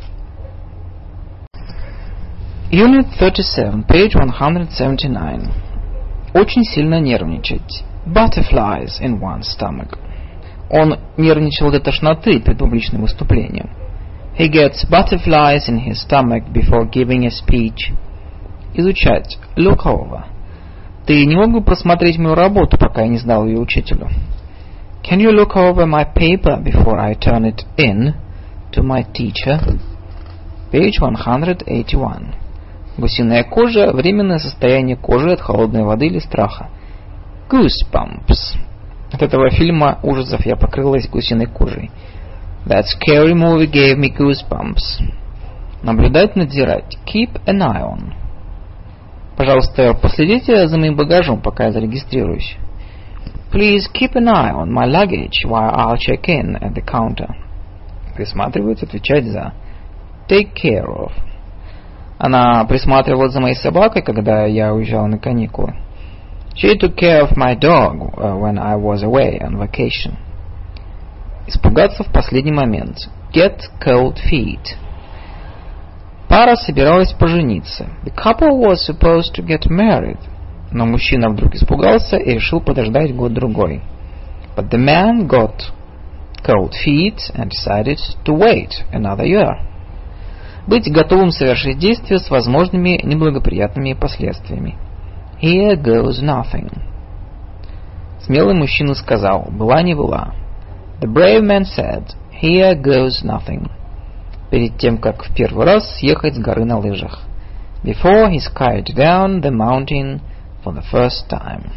Unit 37, page 179. Очень сильно нервничать. Butterflies in one's stomach. Он нервничал до тошноты перед публичным выступлением. He gets butterflies in his stomach before giving a speech. Изучать. Look over. Ты не мог бы просмотреть мою работу, пока я не сдал ее учителю? Can you look over my paper before I turn it in to my teacher? Page 181. Гусиная кожа – временное состояние кожи от холодной воды или страха. Goosebumps. От этого фильма ужасов я покрылась гусиной кожей. That scary movie gave me goosebumps. Наблюдать, надзирать. Keep an eye on. Пожалуйста, последите за моим багажом, пока я зарегистрируюсь. Please keep an eye on my luggage while I'll check in at the counter. Присматривать, отвечать за. Take care of. Она присматривала за моей собакой, когда я уезжал на каникулы. She took care of my dog when I was away on vacation. Испугаться в последний момент. Get cold feet. Пара собиралась пожениться. The couple was supposed to get married. Но мужчина вдруг испугался и решил подождать год-другой. But the man got cold feet and decided to wait another year. Быть готовым совершить действие с возможными неблагоприятными последствиями. Here goes nothing. Смелый мужчина сказал, была не была. The brave man said, here goes nothing. Перед тем, как в первый раз съехать с горы на лыжах. Before he skied down the mountain for the first time.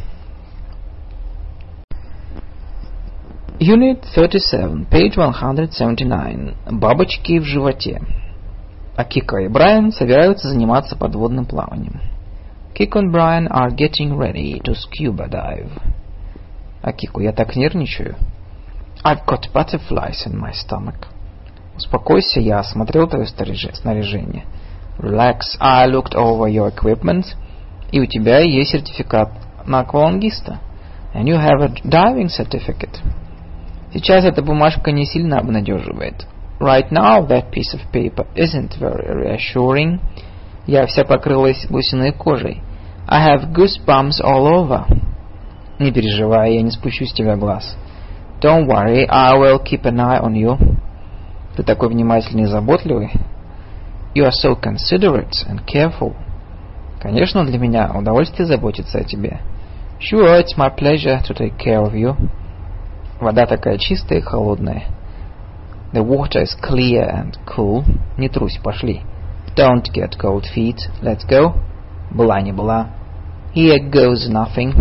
Unit 37, page 179. Бабочки в животе. А Кика и Брайан собираются заниматься подводным плаванием. Kiko and Brian are getting ready to scuba dive. А Кику, я так нервничаю. I've got butterflies in my stomach. Успокойся, я осмотрел твое снаряжение. Relax, I looked over your equipment. И у тебя есть сертификат на аквалангиста. And you have a diving certificate. Сейчас эта бумажка не сильно обнадеживает. Right now that piece of paper isn't very reassuring. Я вся покрылась гусиной кожей. I have goosebumps all over. Не переживай, я не спущу с тебя глаз. Don't worry, I will keep an eye on you. Ты такой внимательный и заботливый. You are so considerate and careful. Конечно, для меня удовольствие заботиться о тебе. Sure, it's my pleasure to take care of you. Вода такая чистая и холодная. The water is clear and cool. Не трусь, пошли. Don't get cold feet. Let's go. Была не была. Here goes nothing.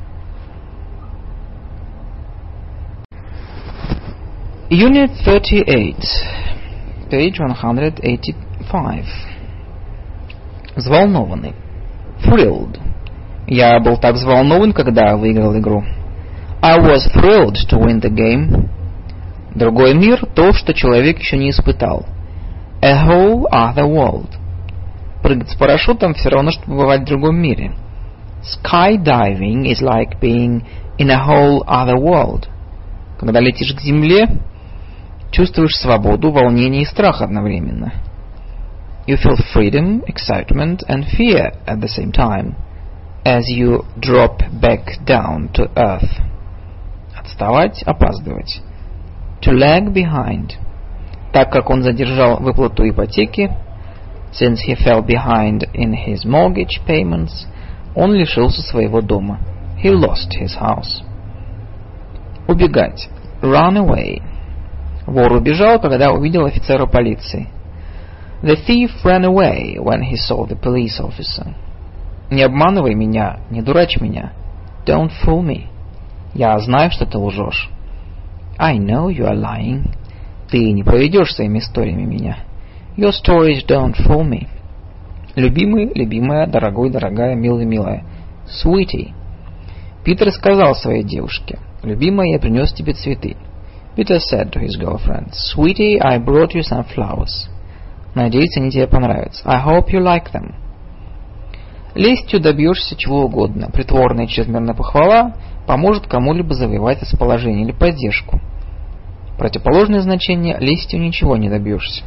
Unit 38, page 185. Взволнованный. Thrilled. Я был так взволнован, когда выиграл игру. I was thrilled to win the game. Другой мир – то, что человек еще не испытал. A whole other world. Прыгать с парашютом все равно, что побывать в другом мире. Skydiving is like being in a whole other world. Когда летишь к земле, чувствуешь свободу, волнение и страх одновременно. You feel freedom, excitement and fear at the same time as you drop back down to earth. Отставать, опаздывать. To lag behind. Так как он задержал выплату ипотеки, since he fell behind in his mortgage payments, он лишился своего дома. He lost his house. Убегать. Run away. Вор убежал, когда увидел офицера полиции. The thief ran away when he saw the police officer. Не обманывай меня, не дурачь меня. Don't fool me. Я знаю, что ты лжешь. I know you are lying. Ты не проведешь своими историями меня. Your stories don't fool me. Любимый, любимая, дорогой, дорогая, милый, милая. Sweetie. Питер сказал своей девушке: любимая, я принес тебе цветы. Peter said to his girlfriend, Sweetie, I brought you some flowers. Надеюсь, они тебе понравятся. I hope you like them. Лестью добьешься чего угодно. Притворная чрезмерная похвала поможет кому-либо завоевать расположение или поддержку. Противоположное значение: лестью ничего не добьешься.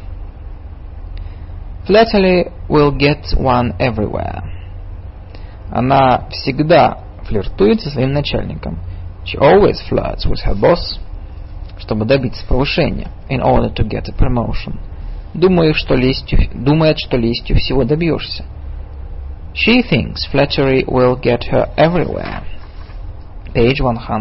Flattery will get one everywhere. Она всегда флиртует со своим начальником. She always flirts with her boss. Чтобы добиться повышения. In order to get a promotion. Думает, что лестью всего добьешься. She thinks flattery will get her everywhere. Page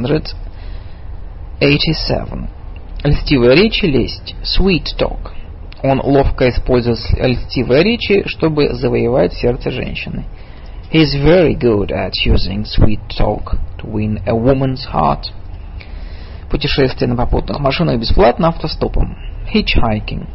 187. Льстивая речь и лесть. Sweet talk. Он ловко использует льстивые речи, чтобы завоевать сердце женщины. He is very good at using sweet talk to win a woman's heart. Путешествие на попутных машинах бесплатно автостопом. Hitchhiking.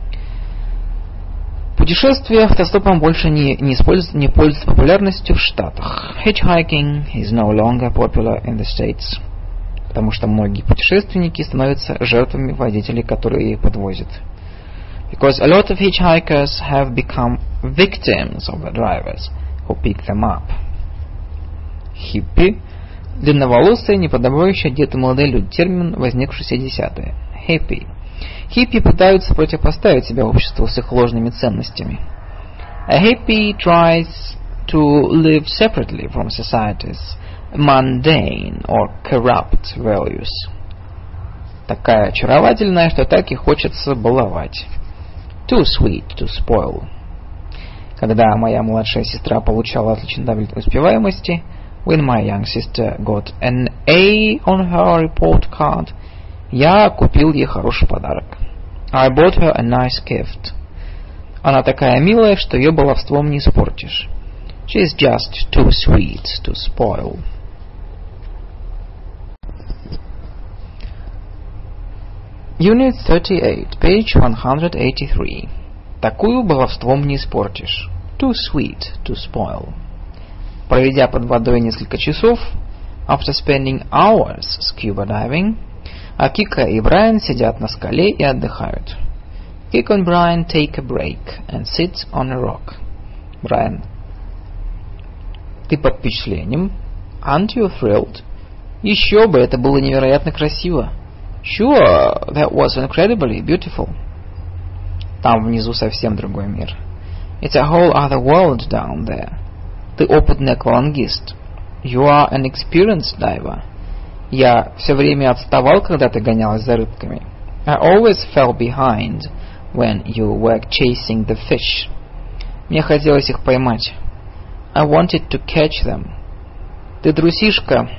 Путешествие автостопом больше не пользуется популярностью в Штатах. Hitchhiking is no longer popular in the States. Потому что многие путешественники становятся жертвами водителей, которые их подвозят. Because a lot of hitchhikers have become victims of the drivers who pick them up. Хиппи – длинноволосые, неподобающие одетые молодые люди. Термин, возникший в 60-е. Hippie. Хиппи пытаются противопоставить себя обществу с их ложными ценностями. A hippie tries to live separately from society's mundane or corrupt values. Такая очаровательная, что так и хочется баловать. Too sweet to spoil. Когда моя младшая сестра получала отличный таблицу успеваемости, when my young sister got an A on her report card, я купил ей хороший подарок. I bought her a nice gift. Она такая милая, что ее баловством не испортишь. She is just too sweet to spoil. Unit 38, page 183. Такую баловством не испортишь. Too sweet to spoil. Проведя под водой несколько часов, after spending hours scuba diving, Кика и Брайан сидят на скале и отдыхают. Kiko and Brian take a break and sit on a rock. Брайан: ты под впечатлением? Aren't you thrilled? Еще бы, это было невероятно красиво. Sure, that was incredibly beautiful. Там внизу совсем другой мир. It's a whole other world down there. Ты опытный аквалангист. You are an experienced diver. Я все время отставал, когда ты гонялась за рыбками. I always fell behind when you were chasing the fish. Мне хотелось их поймать. I wanted to catch them. Ты трусишка.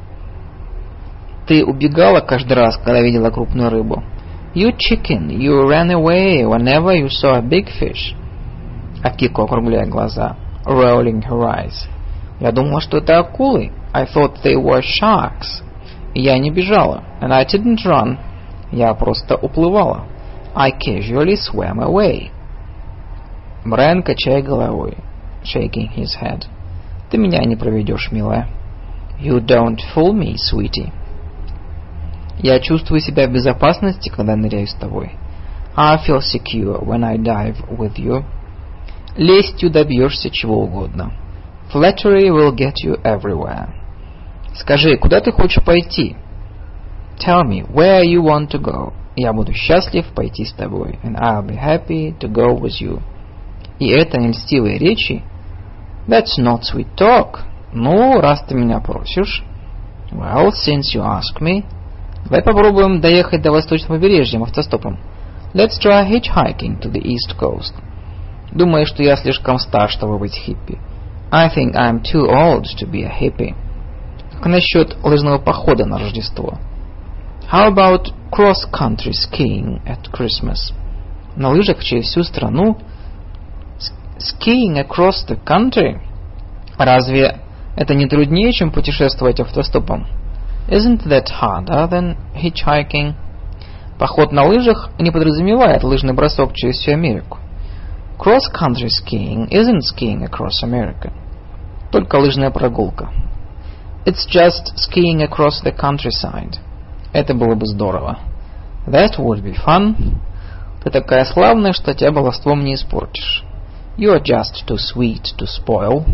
Ты убегала каждый раз, когда видела крупную рыбу. You chicken, you ran away whenever you saw a big fish. Кико, округляя глаза, rolling her eyes. Я думала, что это акулы. I thought they were sharks. Я не бежала. And I didn't run. Я просто уплывала. I casually swam away. Брайан, качая головой, shaking his head. Ты меня не проведешь, милая. You don't fool me, sweetie. Я чувствую себя в безопасности, когда ныряю с тобой. I feel secure when I dive with you. Лестью добьешься чего угодно. Flattery will get you everywhere. Скажи, куда ты хочешь пойти? Tell me, where you want to go. Я буду счастлив пойти с тобой. And I'll be happy to go with you. И это не льстивые речи? That's not sweet talk. Ну, раз ты меня просишь. Well, since you ask me. Давай попробуем доехать до восточного побережья автостопом. Let's try hitchhiking to the east coast. Думаю, что я слишком стар, чтобы быть хиппи. I think I'm too old to be a hippie. Как насчет лыжного похода на Рождество? How about cross-country skiing at Christmas? На лыжах через всю страну? Skiing across the country? Разве это не труднее, чем путешествовать автостопом? Isn't that harder than hitchhiking? Поход на лыжах не подразумевает лыжный бросок через всю Америку. Cross-country skiing isn't skiing across America. Только лыжная прогулка. It's just skiing across the countryside. Это было бы здорово. That would be fun. Ты такая славная, что тебя баловством не испортишь. You're just too sweet to spoil.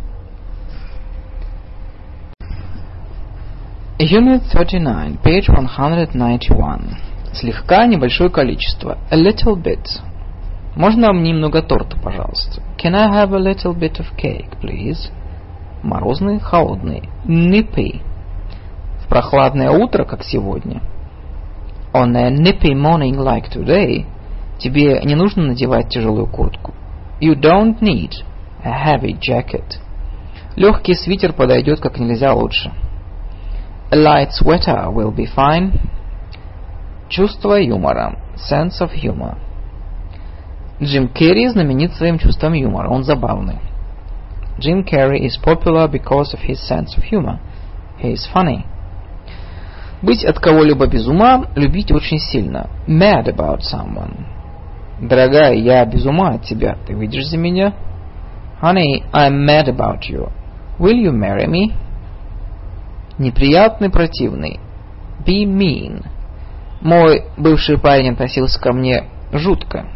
Unit 39, page 191. Слегка, небольшое количество. A little bit. Можно мне немного торта, пожалуйста? Can I have a little bit of cake, please? Морозный, холодный. Nippy. В прохладное утро, как сегодня. On a nippy morning like today, тебе не нужно надевать тяжелую куртку. You don't need a heavy jacket. Легкий свитер подойдет как нельзя лучше. A light sweater will be fine. Чувство юмора. Sense of humor. Джим Керри знаменит своим чувством юмора. Он забавный. Jim Carrey is popular because of his sense of humor. He is funny. Быть от кого-либо без ума, любить очень сильно. Mad about someone. Дорогая, я без ума от тебя. Ты выйдешь за меня? Honey, I'm mad about you. Will you marry me? Неприятный, противный. Be mean. Мой бывший парень относился ко мне жутко.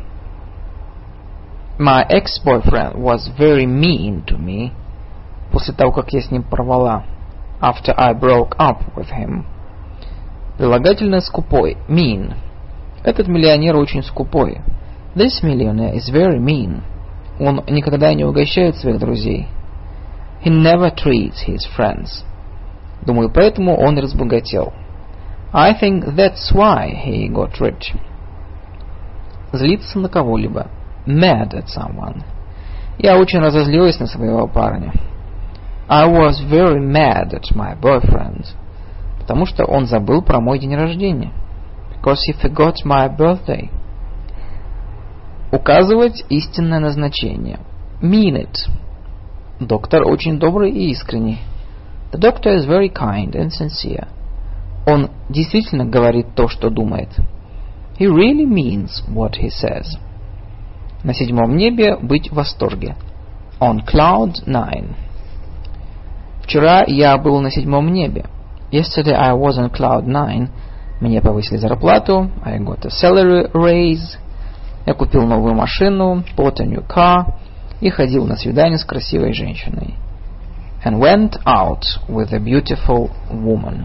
My ex-boyfriend was very mean to me. После того, как я с ним порвала. After I broke up with him. Прилагательное скупой. Mean. Этот миллионер очень скупой. This millionaire is very mean. Он никогда не угощает своих друзей. He never treats his friends. Думаю, поэтому он и разбогател. I think that's why he got rich. Злиться на кого-либо. Mad at someone. Я очень разозлилась на своего парня. I was very mad at my boyfriend. Потому что он забыл про мой день рождения. Because he forgot my birthday. Указывать истинное назначение. Mean it. Доктор очень добрый и искренний. The doctor is very kind and sincere. Он действительно говорит то, что думает. He really means what he says. На седьмом небе быть в восторге. On cloud 9. Вчера я был на седьмом небе. Yesterday I was on cloud 9. Мне повысили зарплату. I got a salary raise. Я купил новую машину. Bought a new car. И ходил на свидание с красивой женщиной. And went out with a beautiful woman.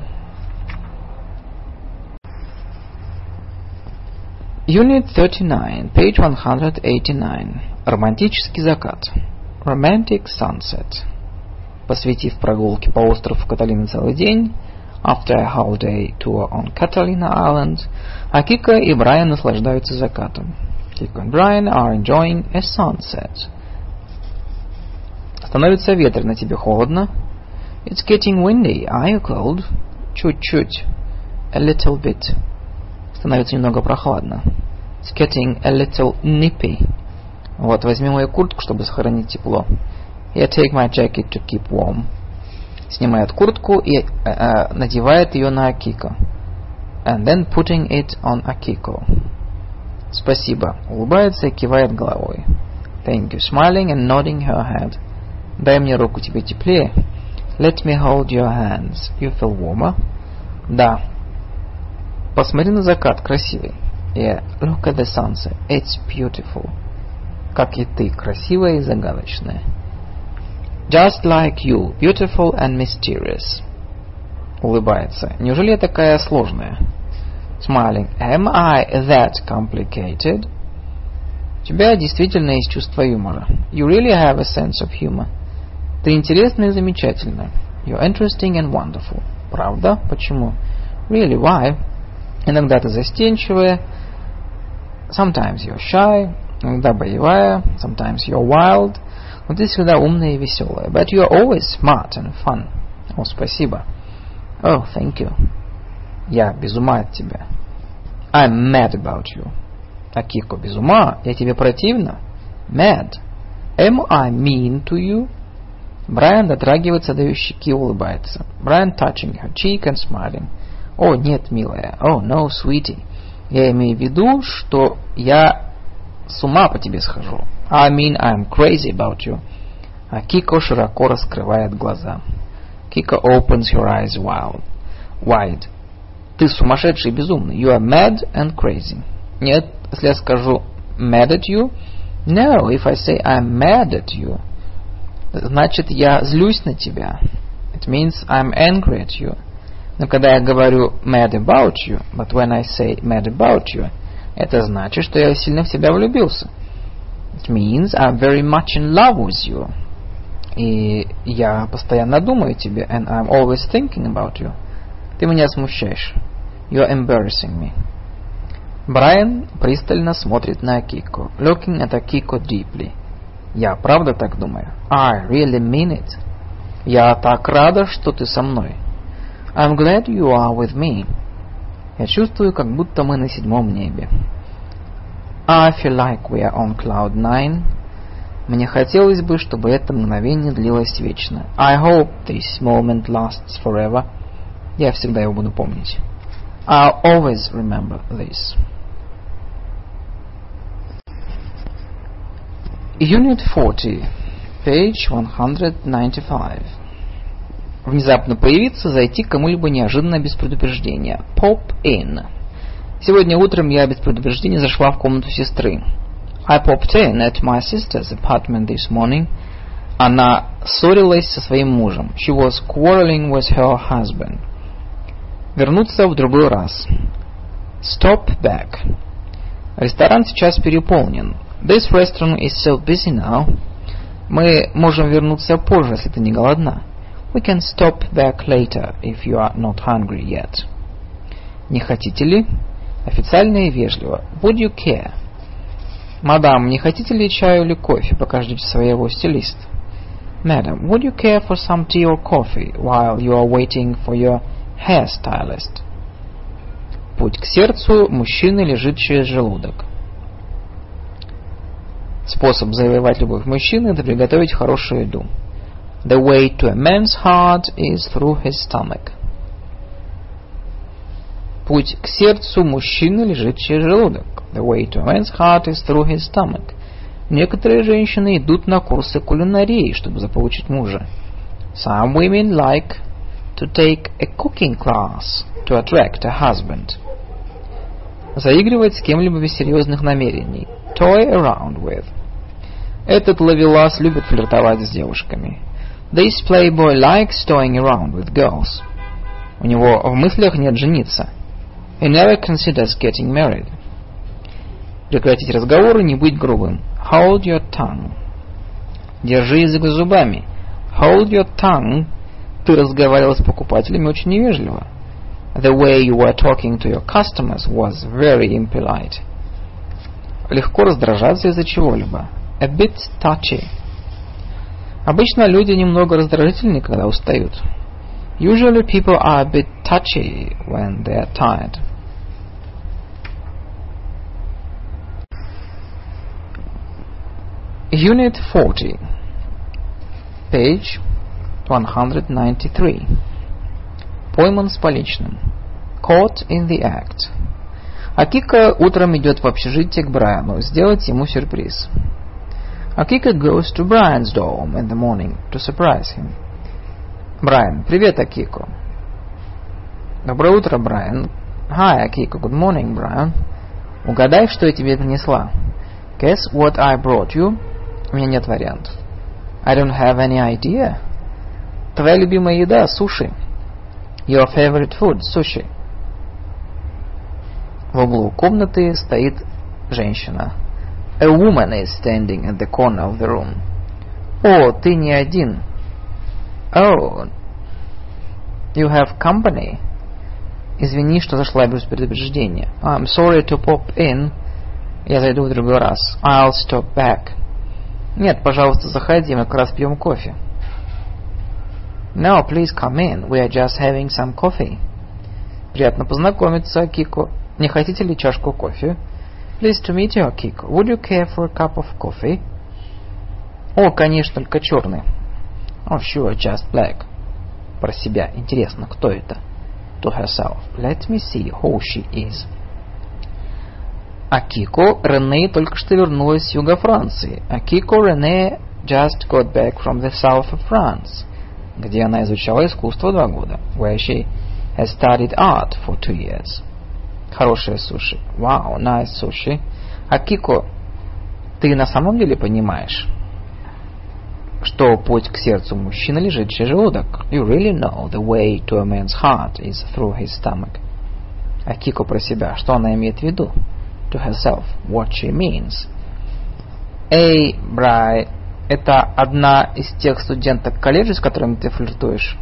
Unit 39, page 189. Романтический закат. Romantic sunset. Посвятив прогулке по острову Каталина целый день, after a holiday tour on Catalina Island, Акика и Брайан наслаждаются закатом. Kiko and Brian are enjoying a sunset. Становится ветрено, тебе холодно? It's getting windy. Are you cold? Чуть-чуть. A little bit. Становится немного прохладно. It's getting a little nippy. Вот, возьми мою куртку, чтобы сохранить тепло. Here, take my jacket to keep warm. Снимает куртку и надевает ее на Акико. And then putting it on Akiko. Спасибо. Улыбается и кивает головой. Thank you. Smiling and nodding her head. Дай мне руку, тебе теплее. Let me hold your hands. You feel warmer? Да. Посмотри на закат, красивый. Yeah, look at the sunset. It's beautiful. Как и ты, красивая и загадочная. Just like you, beautiful and mysterious. Улыбается. Неужели я такая сложная? Smiling. Am I that complicated? У тебя действительно есть чувство юмора. You really have a sense of humor. Ты интересная и замечательная. You're interesting and wonderful. Правда? Почему? Really, why? Иногда ты застенчивая. Sometimes you're shy. Иногда боевая. Sometimes you're wild. Но ты всегда умная и веселая. But you're always smart and fun. О, спасибо. Oh, thank you. Я без ума от тебя. I'm mad about you. Акико, без ума? Я тебе противна? Mad. Am I mean to you? Брайан дотрагивается до ее щеки и улыбается. Brian touching her cheek and smiling. О, нет, милая. Oh, no, sweetie. Я имею в виду, что я с ума по тебе схожу. I mean, I'm crazy about you. А Кико широко раскрывает глаза. Kiko opens her eyes wide. Ты сумасшедший и безумный. You are mad and crazy. Нет, если я скажу mad at you. No, if I say I'm mad at you. Значит, я злюсь на тебя. It means I'm angry at you. Но когда я говорю mad about you, but when I say mad about you, это значит, что я сильно в тебя влюбился. It means I'm very much in love with you. И я постоянно думаю о тебе, and I'm always thinking about you. Ты меня смущаешь. You're embarrassing me. Брайан пристально смотрит на Акико, looking at Akiko deeply. Я правда так думаю. I really mean it. Я так рада, что ты со мной. I'm glad you are with me. Я чувствую, как будто мы на 7-м небе. I feel like we are on cloud 9. Мне хотелось бы, чтобы это мгновение длилось вечно. I hope this moment lasts forever. Я всегда его буду помнить. I'll always remember this. Unit 40, page 195. Внезапно появиться, зайти к кому-либо неожиданно без предупреждения. Pop in. Сегодня утром я без предупреждения зашла в комнату сестры. I popped in at my sister's apartment this morning. Она ссорилась со своим мужем. She was quarreling with her husband. Вернуться в другой раз. Stop back. Ресторан сейчас переполнен. This restaurant is so busy now. Мы можем вернуться позже, если ты не голодна. We can stop back later if you are not hungry yet. Не хотите ли? Официально и вежливо. Would you care? Мадам, не хотите ли чаю или кофе, пока ждете своего стилиста? Madam, would you care for some tea or coffee while you are waiting for your hairstylist? Путь к сердцу мужчины лежит через желудок. Способ завоевать любовь мужчины – это приготовить хорошую еду. The way to a man's heart is through his stomach. Путь к сердцу мужчины лежит через желудок. The way to a man's heart is through his stomach. Некоторые женщины идут на курсы кулинарии, чтобы заполучить мужа. Some women like to take a cooking class to attract a husband. Заигрывать с кем-либо без серьезных намерений. Toy around with. Этот ловелас любит флиртовать с девушками. This playboy likes toying around with girls. У него в мыслях нет жениться. He never considers getting married. Прекратить разговор и не быть грубым. Hold your tongue. Держи язык за зубами. Hold your tongue. Ты разговаривал с покупателями очень невежливо. The way you were talking to your customers was very impolite. Легко раздражаться из-за чего-либо. A bit touchy. Обычно люди немного раздражительны, когда устают. Usually people are a bit touchy when they are tired. Unit 40, page 193. Пойман с поличным. Caught in the act. Акика утром идет в общежитие к Брайану сделать ему сюрприз. Akiko goes to Brian's dorm in the morning to surprise him. Brian, привет, Акико. Доброе утро, Брайан. Hi, Akiko. Good morning, Brian. Угадай, что я тебе принесла. Guess what I brought you? У меня нет вариантов. I don't have any idea. Твоя любимая еда – суши. Your favorite food – sushi. В углу комнаты стоит женщина. A woman is standing at the corner of the room. О, ты не один. Oh, you have company. Извини, что зашла без предупреждения. I'm sorry to pop in. Я зайду в другой раз. I'll stop back. Нет, пожалуйста, заходи, мы как раз пьем кофе. No, please come in. We are just having some coffee. Приятно познакомиться, Акико. Не хотите ли чашку кофе? Pleased to meet you, Akiko. Would you care for a cup of coffee? О, конечно, только черный. Oh, sure, just black. Про себя. Интересно, кто это? To herself. Let me see who she is. Акико Рене только что вернулась с юга Франции. Акико Рене just got back from the south of France, где она изучала искусство 2 года. Where she has studied art for 2 years. Хорошее суши. Wow, nice sushi. Акико, ты на самом деле понимаешь, что путь к сердцу мужчины лежит через желудок? You really know the way to a man's heart is through his stomach. Акико про себя. Что она имеет в виду? To herself. What she means. Эй, Брай, это одна из тех студенток колледжа, с которыми ты флиртуешь?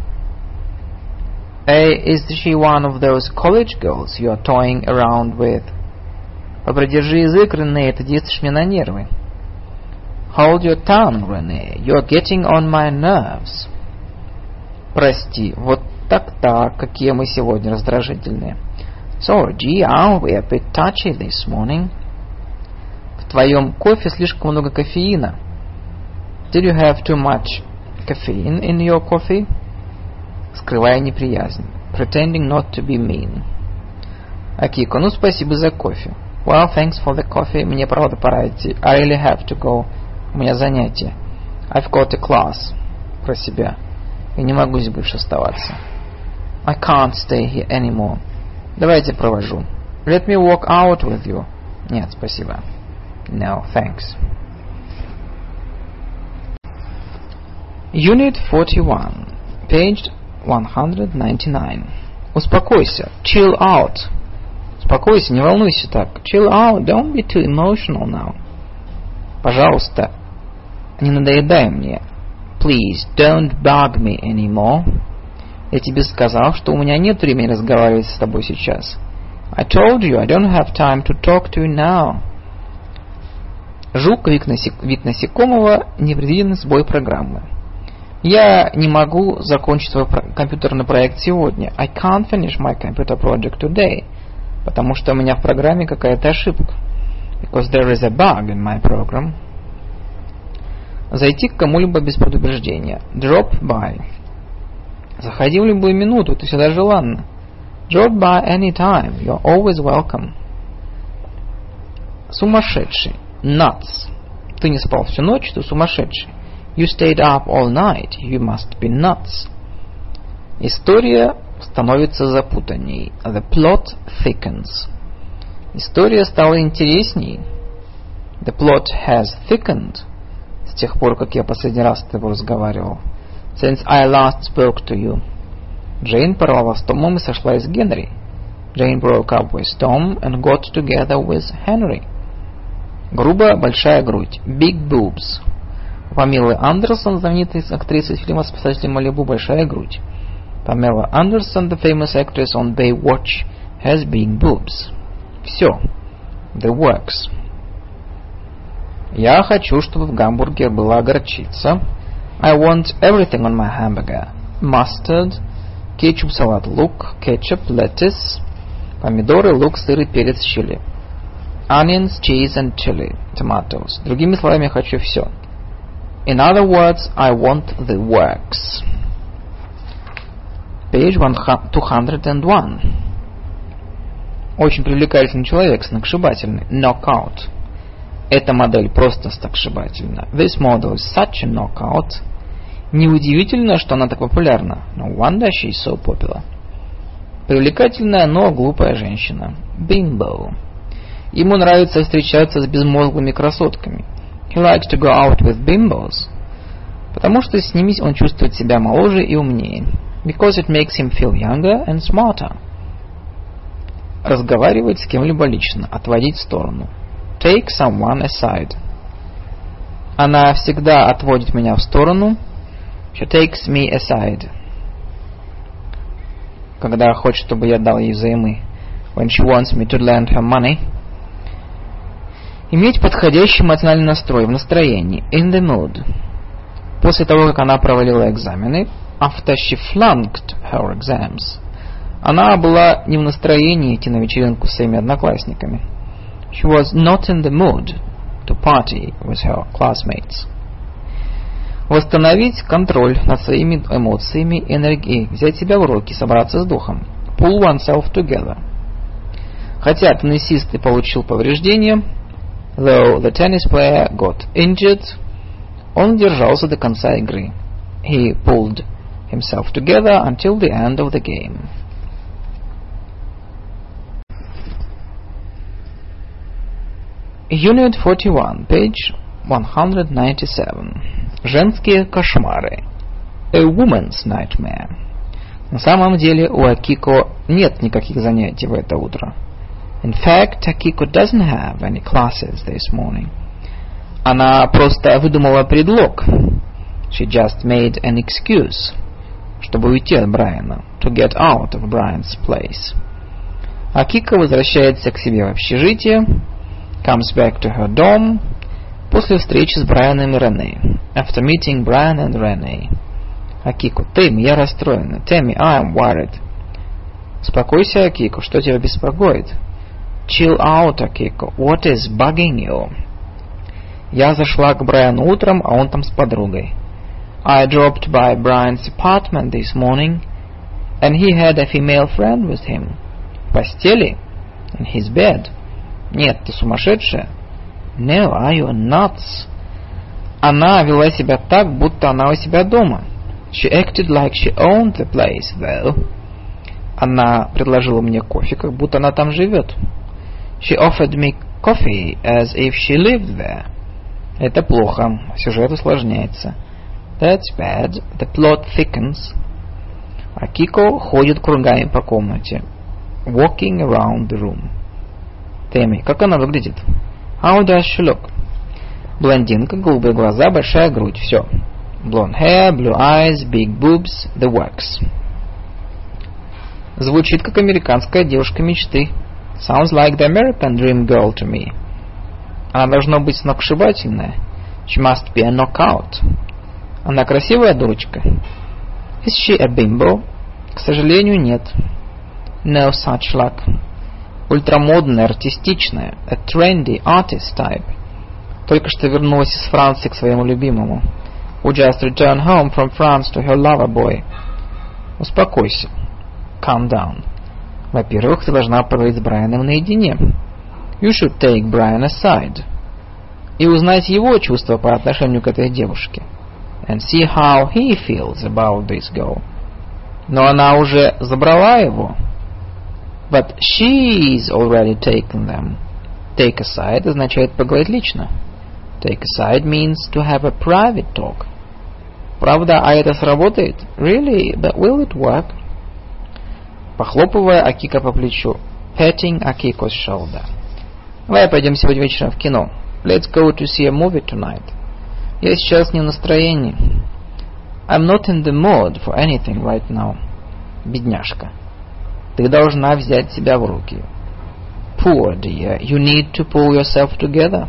Hey, is she one of those college girls you are toying around with? Попридержи язык, Рене, ты действуешь мне на нервы. Hold your tongue, René. You're getting on my nerves. Прости, вот так-так, какие мы сегодня раздражительные. Sorry, gee, aren't we a bit touchy this morning? В твоем кофе слишком много кофеина. Did you have too much caffeine in your coffee? Скрывая неприязнь. Pretending not to be mean. Акико, ну спасибо за кофе. Well, thanks for the coffee. Мне правда пора идти. I really have to go. У меня занятие. I've got a class. Про себя. Я не могу здесь больше оставаться. I can't stay here anymore. Давайте провожу. Let me walk out with you. Нет, спасибо. No, thanks. Unit 41. Page 199. Успокойся. Chill out. Успокойся, не волнуйся так. Chill out. Don't be too emotional now. Пожалуйста, не надоедай мне. Please, don't bug me anymore. Я тебе сказал, что у меня нет времени разговаривать с тобой сейчас. I told you I don't have time to talk to you now. Жук, вид насекомого, непредвиденный сбой программы. Я не могу закончить свой компьютерный проект сегодня. I can't finish my computer project today. Потому что у меня в программе какая-то ошибка. Because there is a bug in my program. Зайти к кому-либо без предупреждения. Drop by. Заходи в любую минуту, ты всегда желанна. Drop by any time. You're always welcome. Сумасшедший. Nuts. Ты не спал всю ночь, ты сумасшедший. You stayed up all night. You must be nuts. История становится запутанней. The plot thickens. История стала интересней. The plot has thickened. С тех пор, как я последний раз с тобой разговаривал. Since I last spoke to you. Джейн порвала с Томом и сошлась с Генри. Jane broke up with Tom and got together with Henry. Грубо большая грудь. Big boobs. У Памелы Андерсон, знаменитой актрисы фильма «Спасатели Малибу», большая грудь. Pamela Anderson, the famous actress on Baywatch, has big boobs. Все. The works. Я хочу, чтобы в гамбургере была горчица. I want everything on my hamburger. Mustard, кетчуп, салат, лук, ketchup, lettuce, помидоры, лук, сыр и перец, чили. Onions, cheese and chili, tomatoes. Другими словами, я хочу все. In other words, I want the works. Page 201. Очень привлекательный человек, сногсшибательный. Knockout. Эта модель просто сногсшибательна. This model is such a knockout. Неудивительно, что она так популярна. No wonder she's so popular. Привлекательная, но глупая женщина. Bimbo. Ему нравится встречаться с безмозглыми красотками. He likes to go out with bimbos. Потому что с ними он чувствует себя моложе и умнее. Because it makes him feel younger and smarter. Разговаривать с кем-либо лично, отводить в сторону. Take someone aside. Она всегда отводит меня в сторону. She takes me aside. Когда хочет, чтобы я дал ей взаймы. When she wants me to lend her money. Иметь подходящий эмоциональный настрой, в настроении. In the mood. После того, как она провалила экзамены. After she flunked her exams. Она была не в настроении идти на вечеринку с своими одноклассниками. She was not in the mood to party with her classmates. Восстановить контроль над своими эмоциями и энергией, взять себя в руки, собраться с духом. Pull oneself together. Хотя теннисист и получил повреждения, though the tennis player got injured, он держался до конца игры. He pulled himself together until the end of the game. Unit 41, page 197. Женские кошмары. A woman's nightmare. На самом деле у Акико нет никаких занятий в это утро. In fact, Akiko doesn't have any classes this morning. Она просто выдумала предлог. She just made an excuse, чтобы уйти от Брайана, to get out of Brian's place. Акико возвращается к себе в общежитие, comes back to her dorm, после встречи с Брайаном и Рене, after meeting Brian and Renee. Акико, Тэмми, я расстроена. Тэмми, I am worried. Успокойся, Акико, что тебя беспокоит? Chill out, Акико, what is bugging you? Я зашла к Брайану утром, а он там с подругой. I dropped by Brian's apartment this morning, and he had a female friend with him. В постели? In his bed. Нет, ты сумасшедшая? No, are you nuts? Она вела себя так, будто она у себя дома. She acted like she owned the place, though. Она предложила мне кофе, как будто она там живет. She offered me coffee as if she lived there. Это плохо. Сюжет усложняется. That's bad. The plot thickens. Акико ходит кругами по комнате. Walking around the room. Тэмми, как она выглядит? How does she look? Блондинка, голубые глаза, большая грудь. Все. Blonde hair, blue eyes, big boobs, the works. Звучит как американская девушка мечты. Sounds like the American dream girl to me. Она должна быть сногсшибательная. She must be a knockout. Она красивая дурочка. Is she a bimbo? К сожалению, нет. No such luck. Ультрамодная, артистичная. A trendy artist type. Только что вернулась из Франции к своему любимому. Who just returned home from France to her lover boy. Успокойся. Calm down. Во-первых, ты должна поговорить с Брайаном наедине. You should take Brian aside. И узнать его чувства по отношению к этой девушке. And see how he feels about this girl. Но она уже забрала его. But she's already taken them. Take aside означает поговорить лично. Take aside means to have a private talk. Правда, а это сработает? Really? But will it work? Похлопывая Акико по плечу. Patting Akiko's shoulder. Давай пойдем сегодня вечером в кино. Let's go to see a movie tonight. Я сейчас не в настроении. I'm not in the mood for anything right now. Бедняжка. Ты должна взять себя в руки. Poor dear, you need to pull yourself together.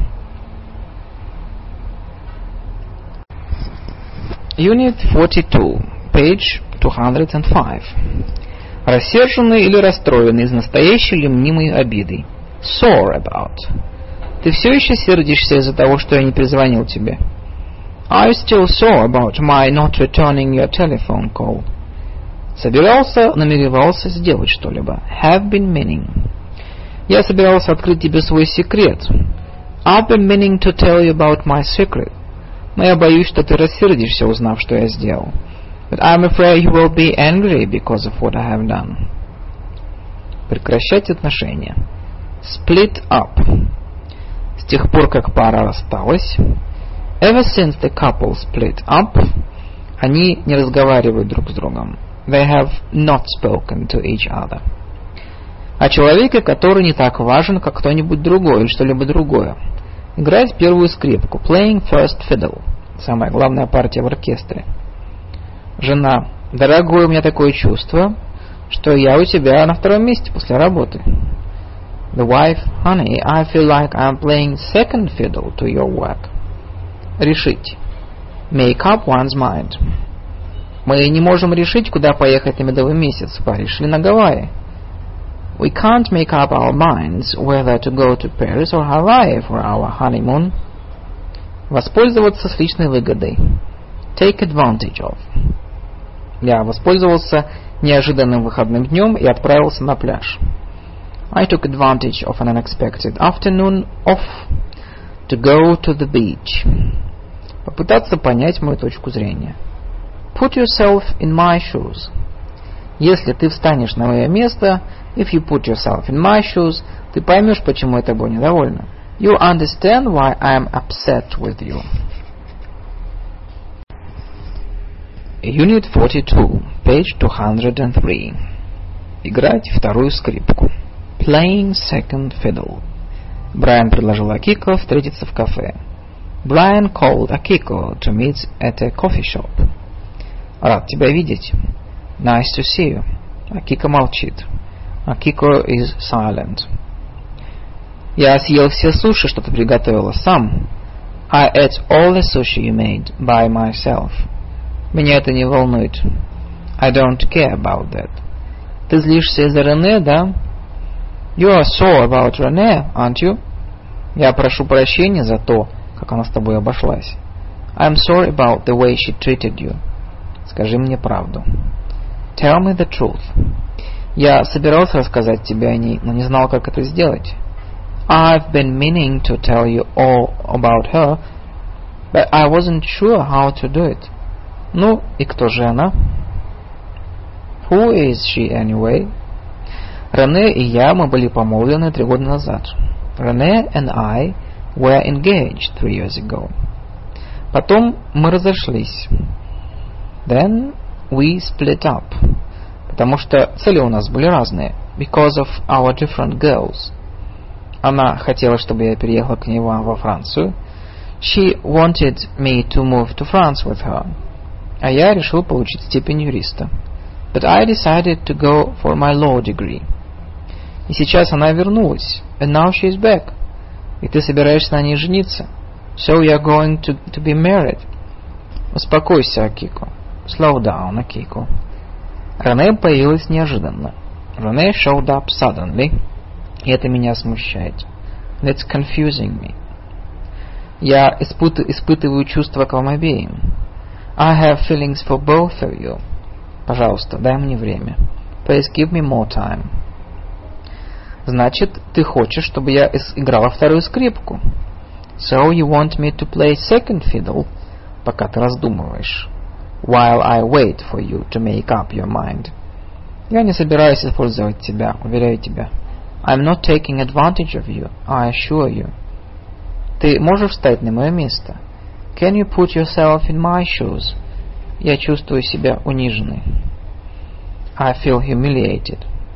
Unit 42, page 205. Рассерженный или расстроенный из настоящей или мнимой обиды. Sore about. Ты все еще сердишься из-за того, что я не перезвонил тебе? Are you still sore about my not returning your telephone call? Намеревался сделать что-либо. Have been meaning. Я собирался открыть тебе свой секрет. I've been meaning to tell you about my secret. Но я боюсь, что ты рассердишься, узнав, что я сделал. But I'm afraid you will be angry because of what I have done. Прекращать отношения. Split up. С тех пор, как пара рассталась, ever since the couple split up, они не разговаривают друг с другом. They have not spoken to each other. О человеке, который не так важен, как кто-нибудь другой или что-либо другое. Играть первую скрипку. Playing first fiddle. Самая главная партия в оркестре. Жена. Дорогой, у меня такое чувство, что я у тебя на втором месте после работы. The wife. Honey, I feel like I'm playing second fiddle to your work. Решить. Make up one's mind. Мы не можем решить, куда поехать на медовый месяц. Решили на Гавайи. We can't make up our minds whether to go to Paris or Hawaii for our honeymoon. Воспользоваться с личной выгодой. Take advantage of. Я воспользовался неожиданным выходным днем и отправился на пляж. I took advantage of an unexpected afternoon off to go to the beach. Попытаться понять мою точку зрения. Put yourself in my shoes. Если ты встанешь на мое место, if you put yourself in my shoes, ты поймешь, почему я тобой недовольна. You understand why I am upset with you. Unit 42, page 203. Играть вторую скрипку. Playing second fiddle. Брайан предложил Акико встретиться в кафе. Brian called Akiko to meet at a coffee shop. Рад тебя видеть. Nice to see you. Акико молчит. Akiko is silent. Я съел все суши, что ты приготовила сам. I ate all the sushi you made by myself. Меня это не волнует. I don't care about that. Ты злишься из-за Рене, да? You are sore about René, aren't you? Я прошу прощения за то, как она с тобой обошлась. I'm sorry about the way she treated you. Скажи мне правду. Tell me the truth. Я собирался рассказать тебе о ней, но не знал, как это сделать. I've been meaning to tell you all about her, but I wasn't sure how to do it. Ну, и кто же она? Who is she anyway? Рене и я, мы были помолвлены 3 года назад. René and I were engaged 3 years ago. Потом мы разошлись. Then we split up. Потому что цели у нас были разные. Because of our different goals. Она хотела, чтобы я переехал к ней во Францию. She wanted me to move to France with her. А я решил получить степень юриста. But I decided to go for my law degree. И сейчас она вернулась. And now she is back. И ты собираешься на ней жениться. So you are going to be married. Успокойся, Акико. Slow down, Акико. Рене появилась неожиданно. René showed up suddenly. И это меня смущает. That's confusing me. Я испытываю чувства к вам обеим. I have feelings for both of you. Пожалуйста, дай мне время. Please give me more time. Значит, ты хочешь, чтобы я играла вторую скрипку? So you want me to play second fiddle, пока ты раздумываешь. While I wait for you to make up your mind. Я не собираюсь использовать тебя, уверяю тебя. I'm not taking advantage of you, I assure you. Ты можешь встать на мое место? Can you put yourself in my shoes? Я чувствую себя униженной. I feel humiliated.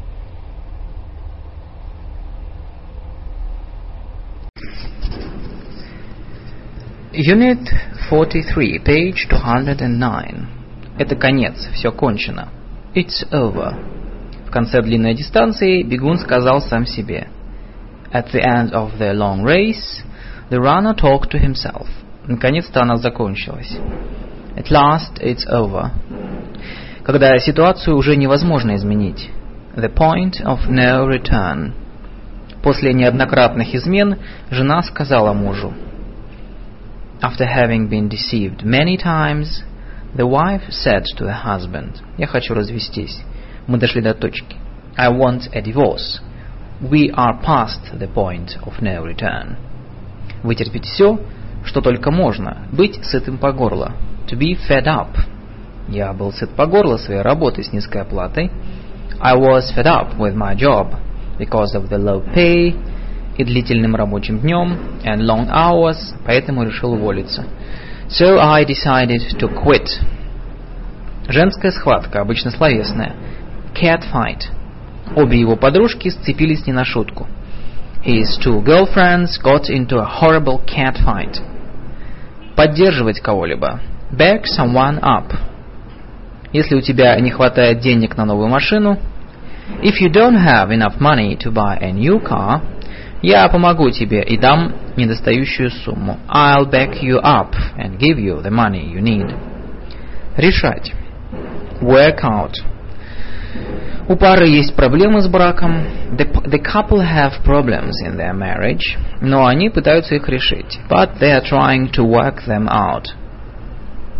Unit 43, page 209. Это конец, все кончено. It's over. В конце длинной дистанции бегун сказал сам себе. At the end of the long race, the runner talked to himself. Наконец-то она закончилась. At last it's over. Когда ситуацию уже невозможно изменить. The point of no return. После неоднократных измен жена сказала мужу. After having been deceived many times, the wife said to the husband, «Я хочу развестись. Мы дошли до точки. I want a divorce. We are past the point of no return». Вытерпеть все, что только можно. Быть сытым по горло. To be fed up. Я был сыт по горло своей работой с низкой оплатой. I was fed up with my job because of the low pay и длительным рабочим днем and long hours, поэтому решил уволиться. So I decided to quit. Женская схватка, обычно словесная. Cat fight. Обе его подружки сцепились не на шутку. His 2 girlfriends got into a horrible cat fight. Поддерживать кого-либо. Back someone up. Если у тебя не хватает денег на новую машину. If you don't have enough money to buy a new car, я помогу тебе и дам недостающую сумму. I'll back you up and give you the money you need. Решать. Work out. У пары есть проблемы с браком. The couple have problems in their marriage, но они пытаются их решить. But they are trying to work them out.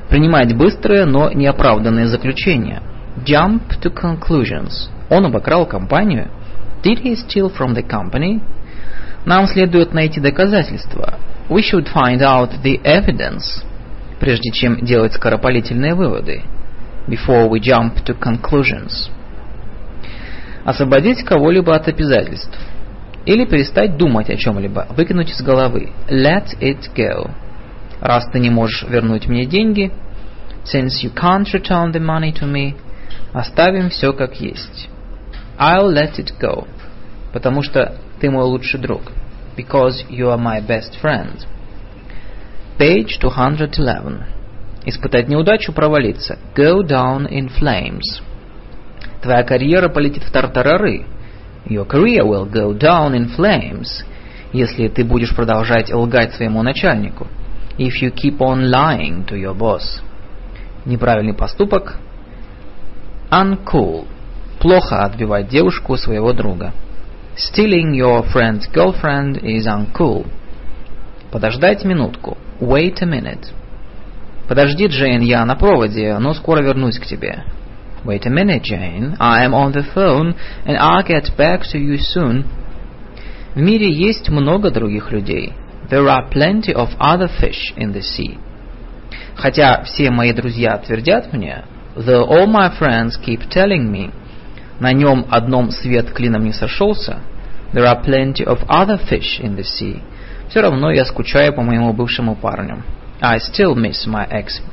Принимать быстрые, но неоправданные заключения. Jump to conclusions. Он обокрал компанию. Did he steal from the company? Нам следует найти доказательства. We should find out the evidence. Прежде чем делать скоропалительные выводы. Before we jump to conclusions. Освободить кого-либо от обязательств. Или перестать думать о чем-либо. Выкинуть из головы. Let it go. Раз ты не можешь вернуть мне деньги, since you can't return the money to me, оставим все как есть. I'll let it go. Потому что ты мой лучший друг. Because you are my best friend. Page 211. Испытать неудачу, провалиться. Go down in flames. Твоя карьера полетит в тартарары. Your career will go down in flames. Если ты будешь продолжать лгать своему начальнику. If you keep on lying to your boss. Неправильный поступок. Uncool. Плохо отбивать девушку своего друга. Stealing your friend's girlfriend is uncool. Подождать минутку. Wait a minute. Подожди, Джейн, я на проводе, но скоро вернусь к тебе. Wait a minute, Jane. I am on the phone, and I'll get back to you soon. В мире есть много других людей. There are plenty of other fish in the sea. Хотя все мои друзья твердят мне, though all my friends keep telling me, на нем одном свет клином не сошелся, there are plenty of other fish in the sea. Все равно я скучаю по моему бывшему парню. I still miss my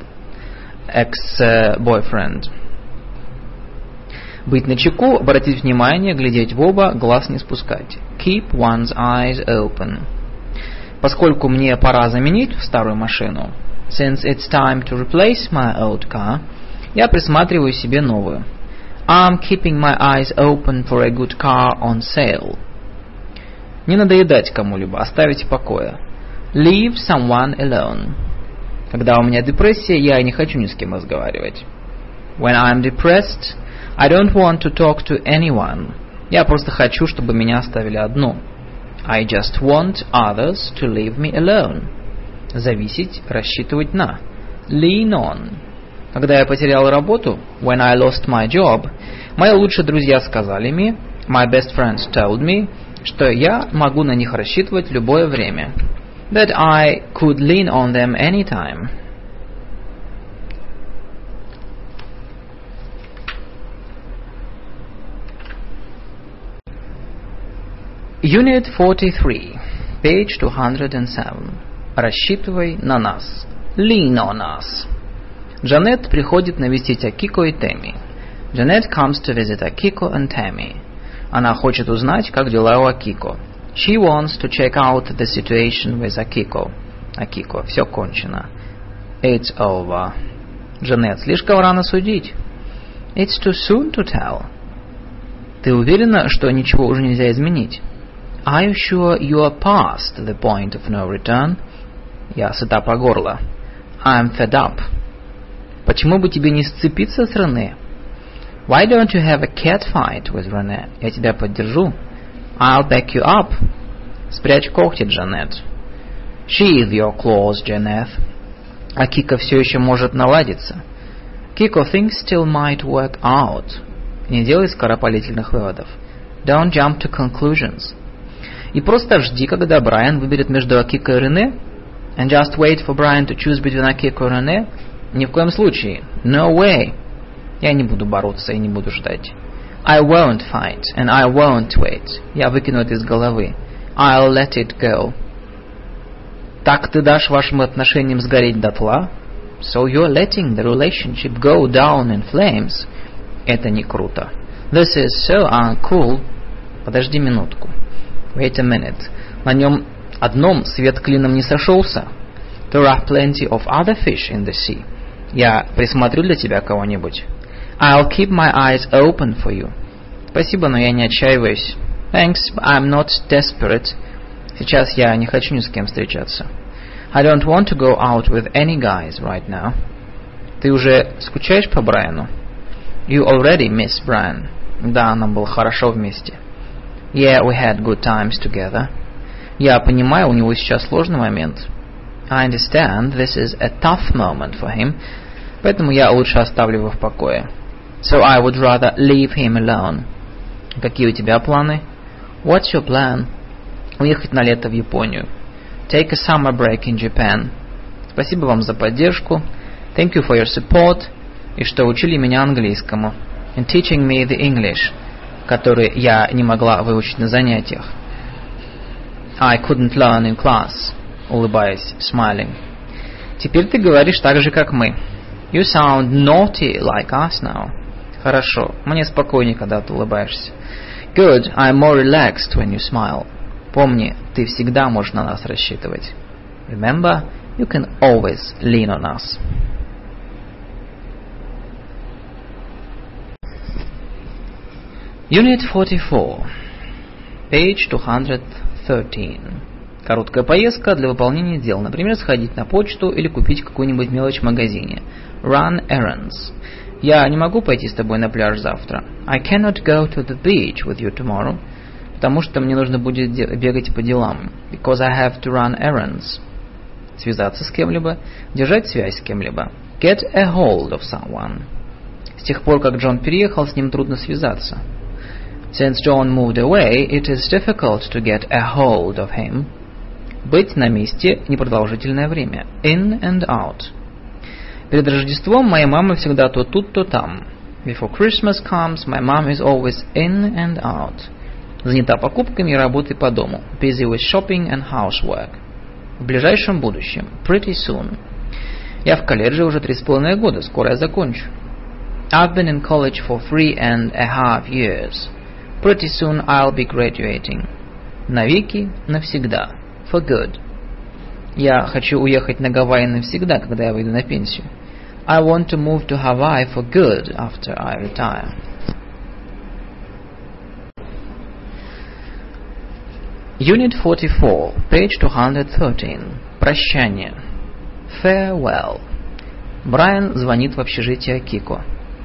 ex-boyfriend. Быть начеку, обратить внимание, глядеть в оба, глаз не спускать. Keep one's eyes open. Поскольку мне пора заменить старую машину, since it's time to replace my old car, я присматриваю себе новую. I'm keeping my eyes open for a good car on sale. Не надоедать кому-либо, оставить в покое. Leave someone alone. Когда у меня депрессия, я не хочу ни с кем разговаривать. When I'm depressed, I don't want to talk to anyone. Я просто хочу, чтобы меня оставили одну. I just want others to leave me alone. Зависеть, рассчитывать на. Lean on. Когда я потерял работу, when I lost my job, мои лучшие друзья сказали мне, my best friends told me, что я могу на них рассчитывать любое время. That I could lean on them anytime. Unit 43, page 207. Рассчитывай на нас. Lean on us. Джанет приходит навестить Акико и Тэмми. Janet comes to visit Akiko and Tammy. Она хочет узнать, как дела у Акико. She wants to check out the situation with Akiko. Акико, все кончено. It's over. Джанет, слишком рано судить. It's too soon to tell. Ты уверена, что ничего уже нельзя изменить? Are you sure you are past the point of no return? Я сыта по горло. I'm fed up. Почему бы тебе не сцепиться с Рене? Why don't you have a cat fight with René? Я тебя поддержу. I'll back you up. Спрячь когти, Джанет. Sheathe your claws, Janet. А Кика все еще может наладиться. Kiko things still might work out. Не делай скоропалительных выводов. Don't jump to conclusions. И просто жди, когда Брайан выберет между Акико и Рене. And just wait for Brian to choose between Akiko и Рене. Ни в коем случае. No way. Я не буду бороться и не буду ждать. I won't fight and I won't wait. Я выкину это из головы. I'll let it go. Так ты дашь вашим отношениям сгореть дотла? So you're letting the relationship go down in flames. Это не круто. This is so uncool. Подожди минутку. Wait a minute. На нем одном свет клином не сошелся. There are plenty of other fish in the sea. Я присмотрю для тебя кого-нибудь. I'll keep my eyes open for you. Спасибо, но я не отчаиваюсь. Thanks, I'm not desperate. Сейчас я не хочу ни с кем встречаться. I don't want to go out with any guys right now. Ты уже скучаешь по Брайану? You already miss Brian. Да, нам было хорошо вместе. Yeah, we had good times together. Я понимаю, у него сейчас сложный момент. I understand this is a tough moment for him. Поэтому я лучше оставлю его в покое. So I would rather leave him alone. Какие у тебя планы? What's your plan? Уехать на лето в Японию. Take a summer break in Japan. Спасибо вам за поддержку. Thank you for your support. И что учили меня английскому. And teaching me the English, который я не могла выучить на занятиях. I couldn't learn in class. Улыбаясь, smiling. Теперь ты говоришь так же, как мы. You sound naughty like us now. Хорошо, мне спокойнее, когда ты улыбаешься. Good, I'm more relaxed when you smile. Помни, ты всегда можешь на нас рассчитывать. Remember, you can always lean on us. Unit 44, page 213. Короткая поездка для выполнения дел. Например, сходить на почту или купить какую-нибудь мелочь в магазине. Run errands. Я не могу пойти с тобой на пляж завтра. I cannot go to the beach with you tomorrow. Потому что мне нужно будет бегать по делам. Because I have to run errands. Связаться с кем-либо. Держать связь с кем-либо. Get a hold of someone. С тех пор, как Джон переехал, с ним трудно связаться. Since John moved away, it is difficult to get a hold of him. Быть на месте непродолжительное время. In and out. Перед Рождеством моя мама всегда то тут, то там. Before Christmas comes, my mom is always in and out. Занята покупками и работой по дому. Busy with shopping and housework. В ближайшем будущем. Pretty soon. Я в колледже уже 3,5 года. Скоро я закончу. I've been in college for 3.5 years. Pretty soon I'll be graduating. Навеки, навсегда. For good. Я хочу уехать на Гавайи навсегда, когда я выйду на пенсию. I want to move to Hawaii for good after I retire. Unit 44, page 213. Прощание. Farewell. Брайан звонит в общежитие Акико.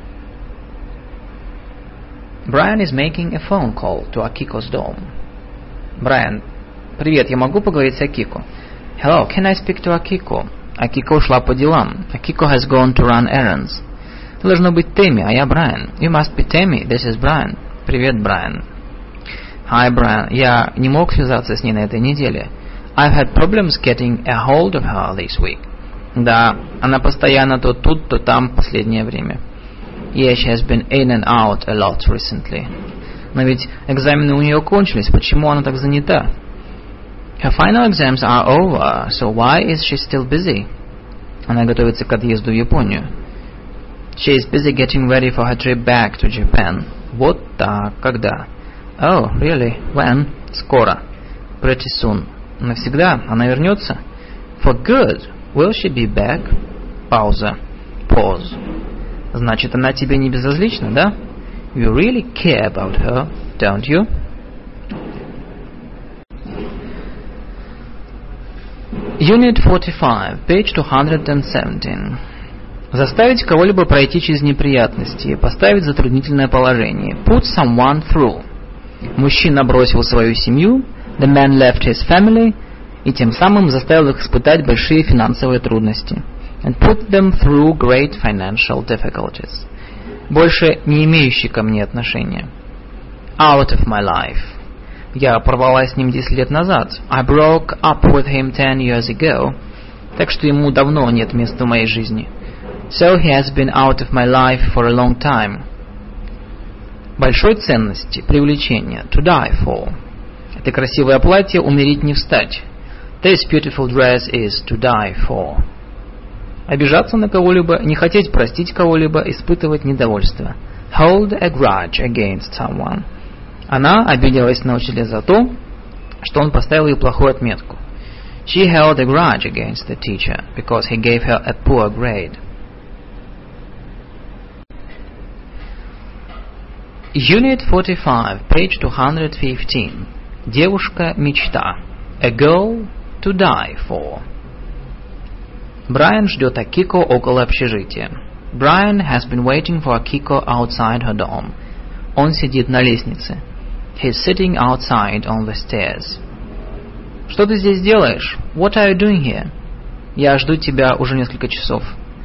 Brian is making a phone call to Akiko's dorm. Брайан, привет, я могу поговорить с Акико? Hello, can I speak to Akiko? Акико ушла по делам. Akiko has gone to run errands. Ты должно быть Тэмми, а я Брайан. You must be Tammy, this is Brian. Привет, Брайан. Hi, Brian. Я не мог связаться с ней на этой неделе. I've had problems getting a hold of her this week. Да, она постоянно то тут, то там в последнее время. Yeah, she has been in and out a lot recently. Но ведь экзамены у нее кончились, почему она так занята? Her final exams are over, so why is she still busy? Она готовится к отъезду в Японию. She is busy getting ready for her trip back to Japan. Вот так, когда? Oh, really? When? Скоро. Pretty soon. Навсегда? Она вернется? For good. Will she be back? Пауза. Pause. Значит, она тебе не безразлична, да? You really care about her, don't you? Unit 45, page 217. Заставить кого-либо пройти через неприятности, поставить в затруднительное положение. Put someone through. Мужчина бросил свою семью, the man left his family, и тем самым заставил их испытать большие финансовые трудности. And put them through great financial difficulties. Больше не имеющий ко мне отношения. Out of my life. Я порвала с ним 10 лет назад. I broke up with him 10 years ago. Так что ему давно нет места в моей жизни. So he has been out of my life for a long time. Большой ценности, привлечения. To die for. Это красивое платье умереть не встать. This beautiful dress is to die for. Обижаться на кого-либо, не хотеть простить кого-либо, испытывать недовольство. Hold a grudge against someone. Она обиделась на учителя за то, что он поставил ей плохую отметку. She held a grudge against the teacher because he gave her a poor grade. Unit 45, page 215. Девушка-мечта. A girl to die for. Брайан ждет Акико около общежития. Brian has been waiting for Akiko outside her dorm. Он сидит на лестнице. He's sitting outside on the stairs. Что ты здесь делаешь? What are you doing here? Я жду тебя уже несколько часов.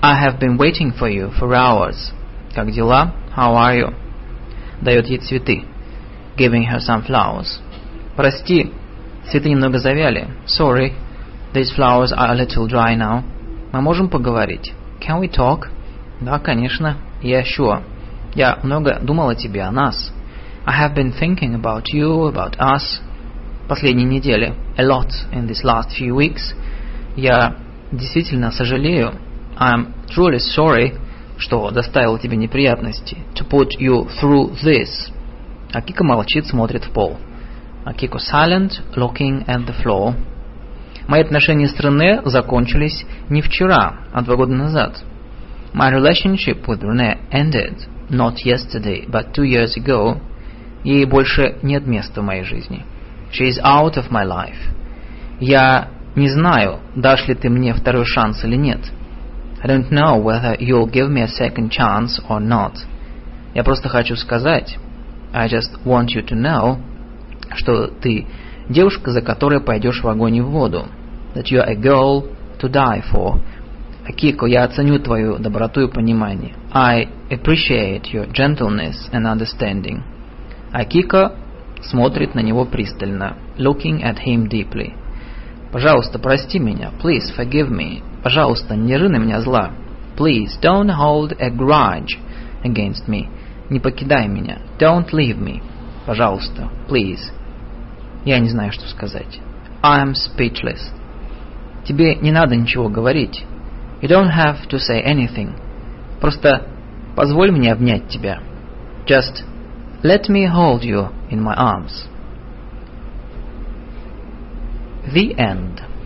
I have been waiting for you for hours. Как дела? How are you? Дает ей цветы. Giving her some flowers. Прости, цветы немного завяли. Sorry, these flowers are a little dry now. Мы можем поговорить? Can we talk? Да, конечно. Yeah, sure. Я много думал о тебе, о нас. I have been thinking about you, about us. Последние недели. A lot in these last few weeks. Я действительно сожалею. I'm truly sorry, что доставил тебе неприятности. To put you through this. Акико молчит, смотрит в пол. Акико silent, looking at the floor. Мои отношения с Рене закончились не вчера, а 2 года назад. My relationship with René ended not yesterday, but 2 years ago. Ей больше нет места в моей жизни. She is out of my life. Я не знаю, дашь ли ты мне второй шанс или нет. I don't know whether you'll give me a second chance or not. Я просто хочу сказать, I just want you to know, что ты девушка, за которой пойдешь в огонь и в воду. That you are a girl to die for. Акико, я оценю твою доброту и понимание. I appreciate your gentleness and understanding. Акико смотрит на него пристально, looking at him deeply. Пожалуйста, прости меня. Please forgive me. Пожалуйста, не ры на меня зла. Please don't hold a grudge against me. Не покидай меня. Don't leave me. Пожалуйста, please. Я не знаю, что сказать. I'm speechless. Тебе не надо ничего говорить. You don't have to say anything. Просто позволь мне обнять тебя. Just let me hold you in my arms. The end.